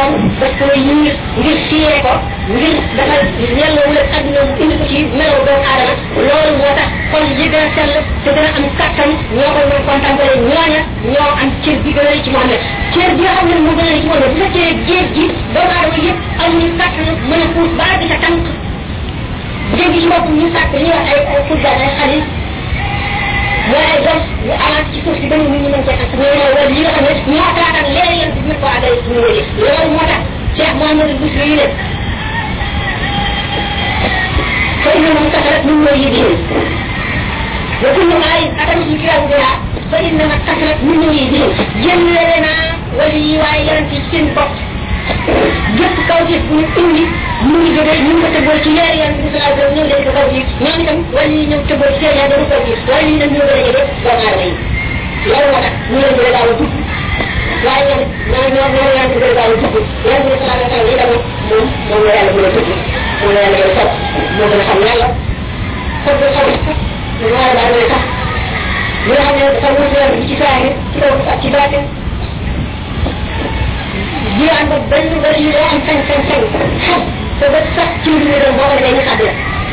daf koy ñuul ngir fiire ko ngir dafa yellowul ak àdduna mu indi ko ci melaw doomu aadama loolu moo tax xol yi gën a sell te gën a am kattan ñoo koy mën contemplé ñooña ñoo am cër bi gën a ci Muhammad cër bi nga xam ne moo gën a ci Muhammad bu fekkee géej gi doomu aadama yëpp amuñu kattan mën a puus ba di sa tànk géej gi ci bopp ñu sàkk li ñuy wax ay ay fulgaan ay xalis mooy ay doom yu amaat ci suuf si ba nit ñi mën cee ak ñoo ñoo wala yi nga xam ne ñoo xalaataan léegi yéen bi ko àggale suñu wéri loolu moo tax Cheikh Mouhamadou Boussiri yi ne fay na moom kasarat min mooy yi diin wa kullu ayin atam ci kiram biha fa inna ma kasarat min mooy yi diin jëllale naa wala yi waaye yonent ci seen bopp gépp kaw ci bu ñu indi mu ngi jógee ñu ngi ko tëbbal ci leer yan bi sallallahu alayhi wa sallam ñëw leen ko kaw ci ñoom itam wala yi ñëw tëbbal ci seen yaa dañu kaw ci wala yi nag ñoo gën a jege doomu aadama yi loolu moo tax ñu leen gën a gaaw a dugg waaye ñoom ñoo ñoo ñoo leen gën a gaaw a dugg yan bi sallallahu alayhi wa sallam itam moom moom la yàlla gën a dugg moom la yàlla gën a sopp moo gën a xam yàlla foog nga xam sax ñu war a baax ne sax li nga xam ne dafa wut yoon bi ci saahir ci kaw ak ci baatin jiwaan ba benn bëri yu doo am sañ sañ sañ xam te ba sax ci lu ñu doon boo ko defee ñu xàdd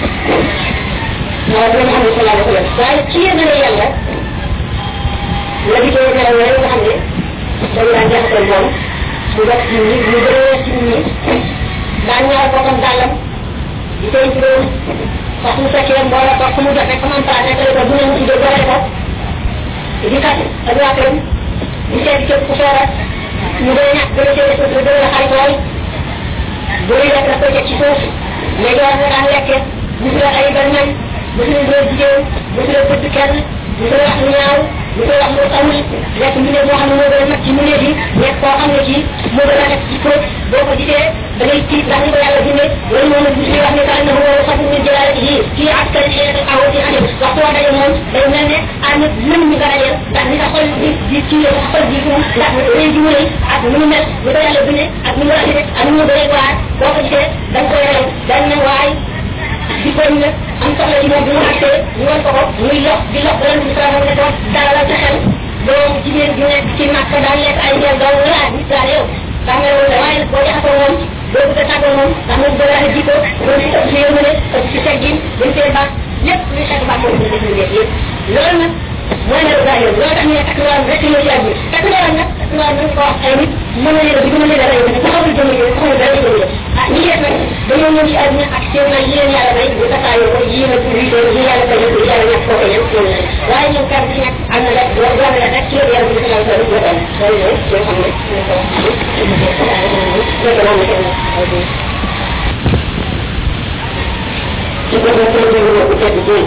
la waaw dina xam ne sallallahu alayhi wa sallam waaye ci yéen ne yàlla la di koy nelaw yooyu nga xam ne dañ daan jaxasal moom mu bokk ci ñi ñu gën ci ñi daan ñaar boppam dàllam di koy juróom wax mu fekkee mbooloo toog fu mu jot rek comme am place rek ko bu ne mu tuddee boole ko di kat ak waa këram di seeti képp ku feebar ñu gën a ñàkk gën a seeti suuf gën a xarit lool bu ñu lekk daf koy teg ci suuf mais door nga daan lekke gis nga ay barñam gis nga góor jigéen gis nga bëgg kenn gis nga wax lu ñaaw gis nga wax lu amul nekk mu ne moo xam ne moo gën a mag ci mu ne fi nekk koo xam ne ci moo gën a nekk ci ko boo ko gisee da ngay tiit ndax ni ko yàlla bindee loolu moom nag gis nga wax ne ka annahu xafu min jalaalatihi fii askari xeetu aw ci anim waxtu waa daje moom day mel ne ànd mën ñu nga dajeel ndax ni sa xol di di ci sa xol di fu ndax rëy ji mu rëy ak ni mu mel ni ko yàlla bindee ak ni mu rafetee ak ni mu bëree waar boo ko gisee da nga koy rew dañ ne waay di ko ñu am soxla ci moom bi mu accès ñu wan ko ko muy lox di lox ba leen di sa ne ko dalal sa xel doomu jigéen ju nekk ci màkk daan lekk ay ñeel doom laaj nit daal yow xam nga loolu la waaye nag boo jaxasoo moom doo bëgg a tàggoo moom ndax moom bëgg a jikko doo ci ëpp si yërmande ëpp si teggin dañ see baax lépp luy xeetu baax moom dina def lépp loolu nag mooy ne daa yow loolu tax ñu ne takk loolu rek ñoo ci àgg takk loolu nag takk loolu nañ ko wax ay nit mën na leen a mën na leen a rey ko xamul jëmm yi xamul dara jëmm yi ah ñi def nag dañoo ñëw ci àdduna ak seen na yi leen yàlla may bu tasaayoo ko yi na pour yi yi yàlla koy def yàlla ñàkk koo koy def loolu la waaye ñoom kenn ci nekk am na rek doo doo la rek ci loolu yàlla bi sallallahu alayhi wa sallam loolu la yoo xam ne ñu ko wax nekk naa ne kenn ci ko ko ko ko ko tedd ci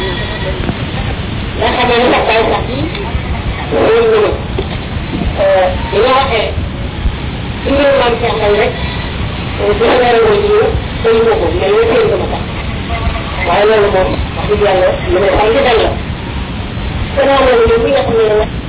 nga xam ne nag day sax loolu ñu euh li nga waxee ci ñu man ci xel rek bu la leeral ko ci day ko ko mais ñu tey ko ma tax waaye loolu moom wax dëgg yàlla lu ne xam ci dal la ko na loolu ñu nga xam ne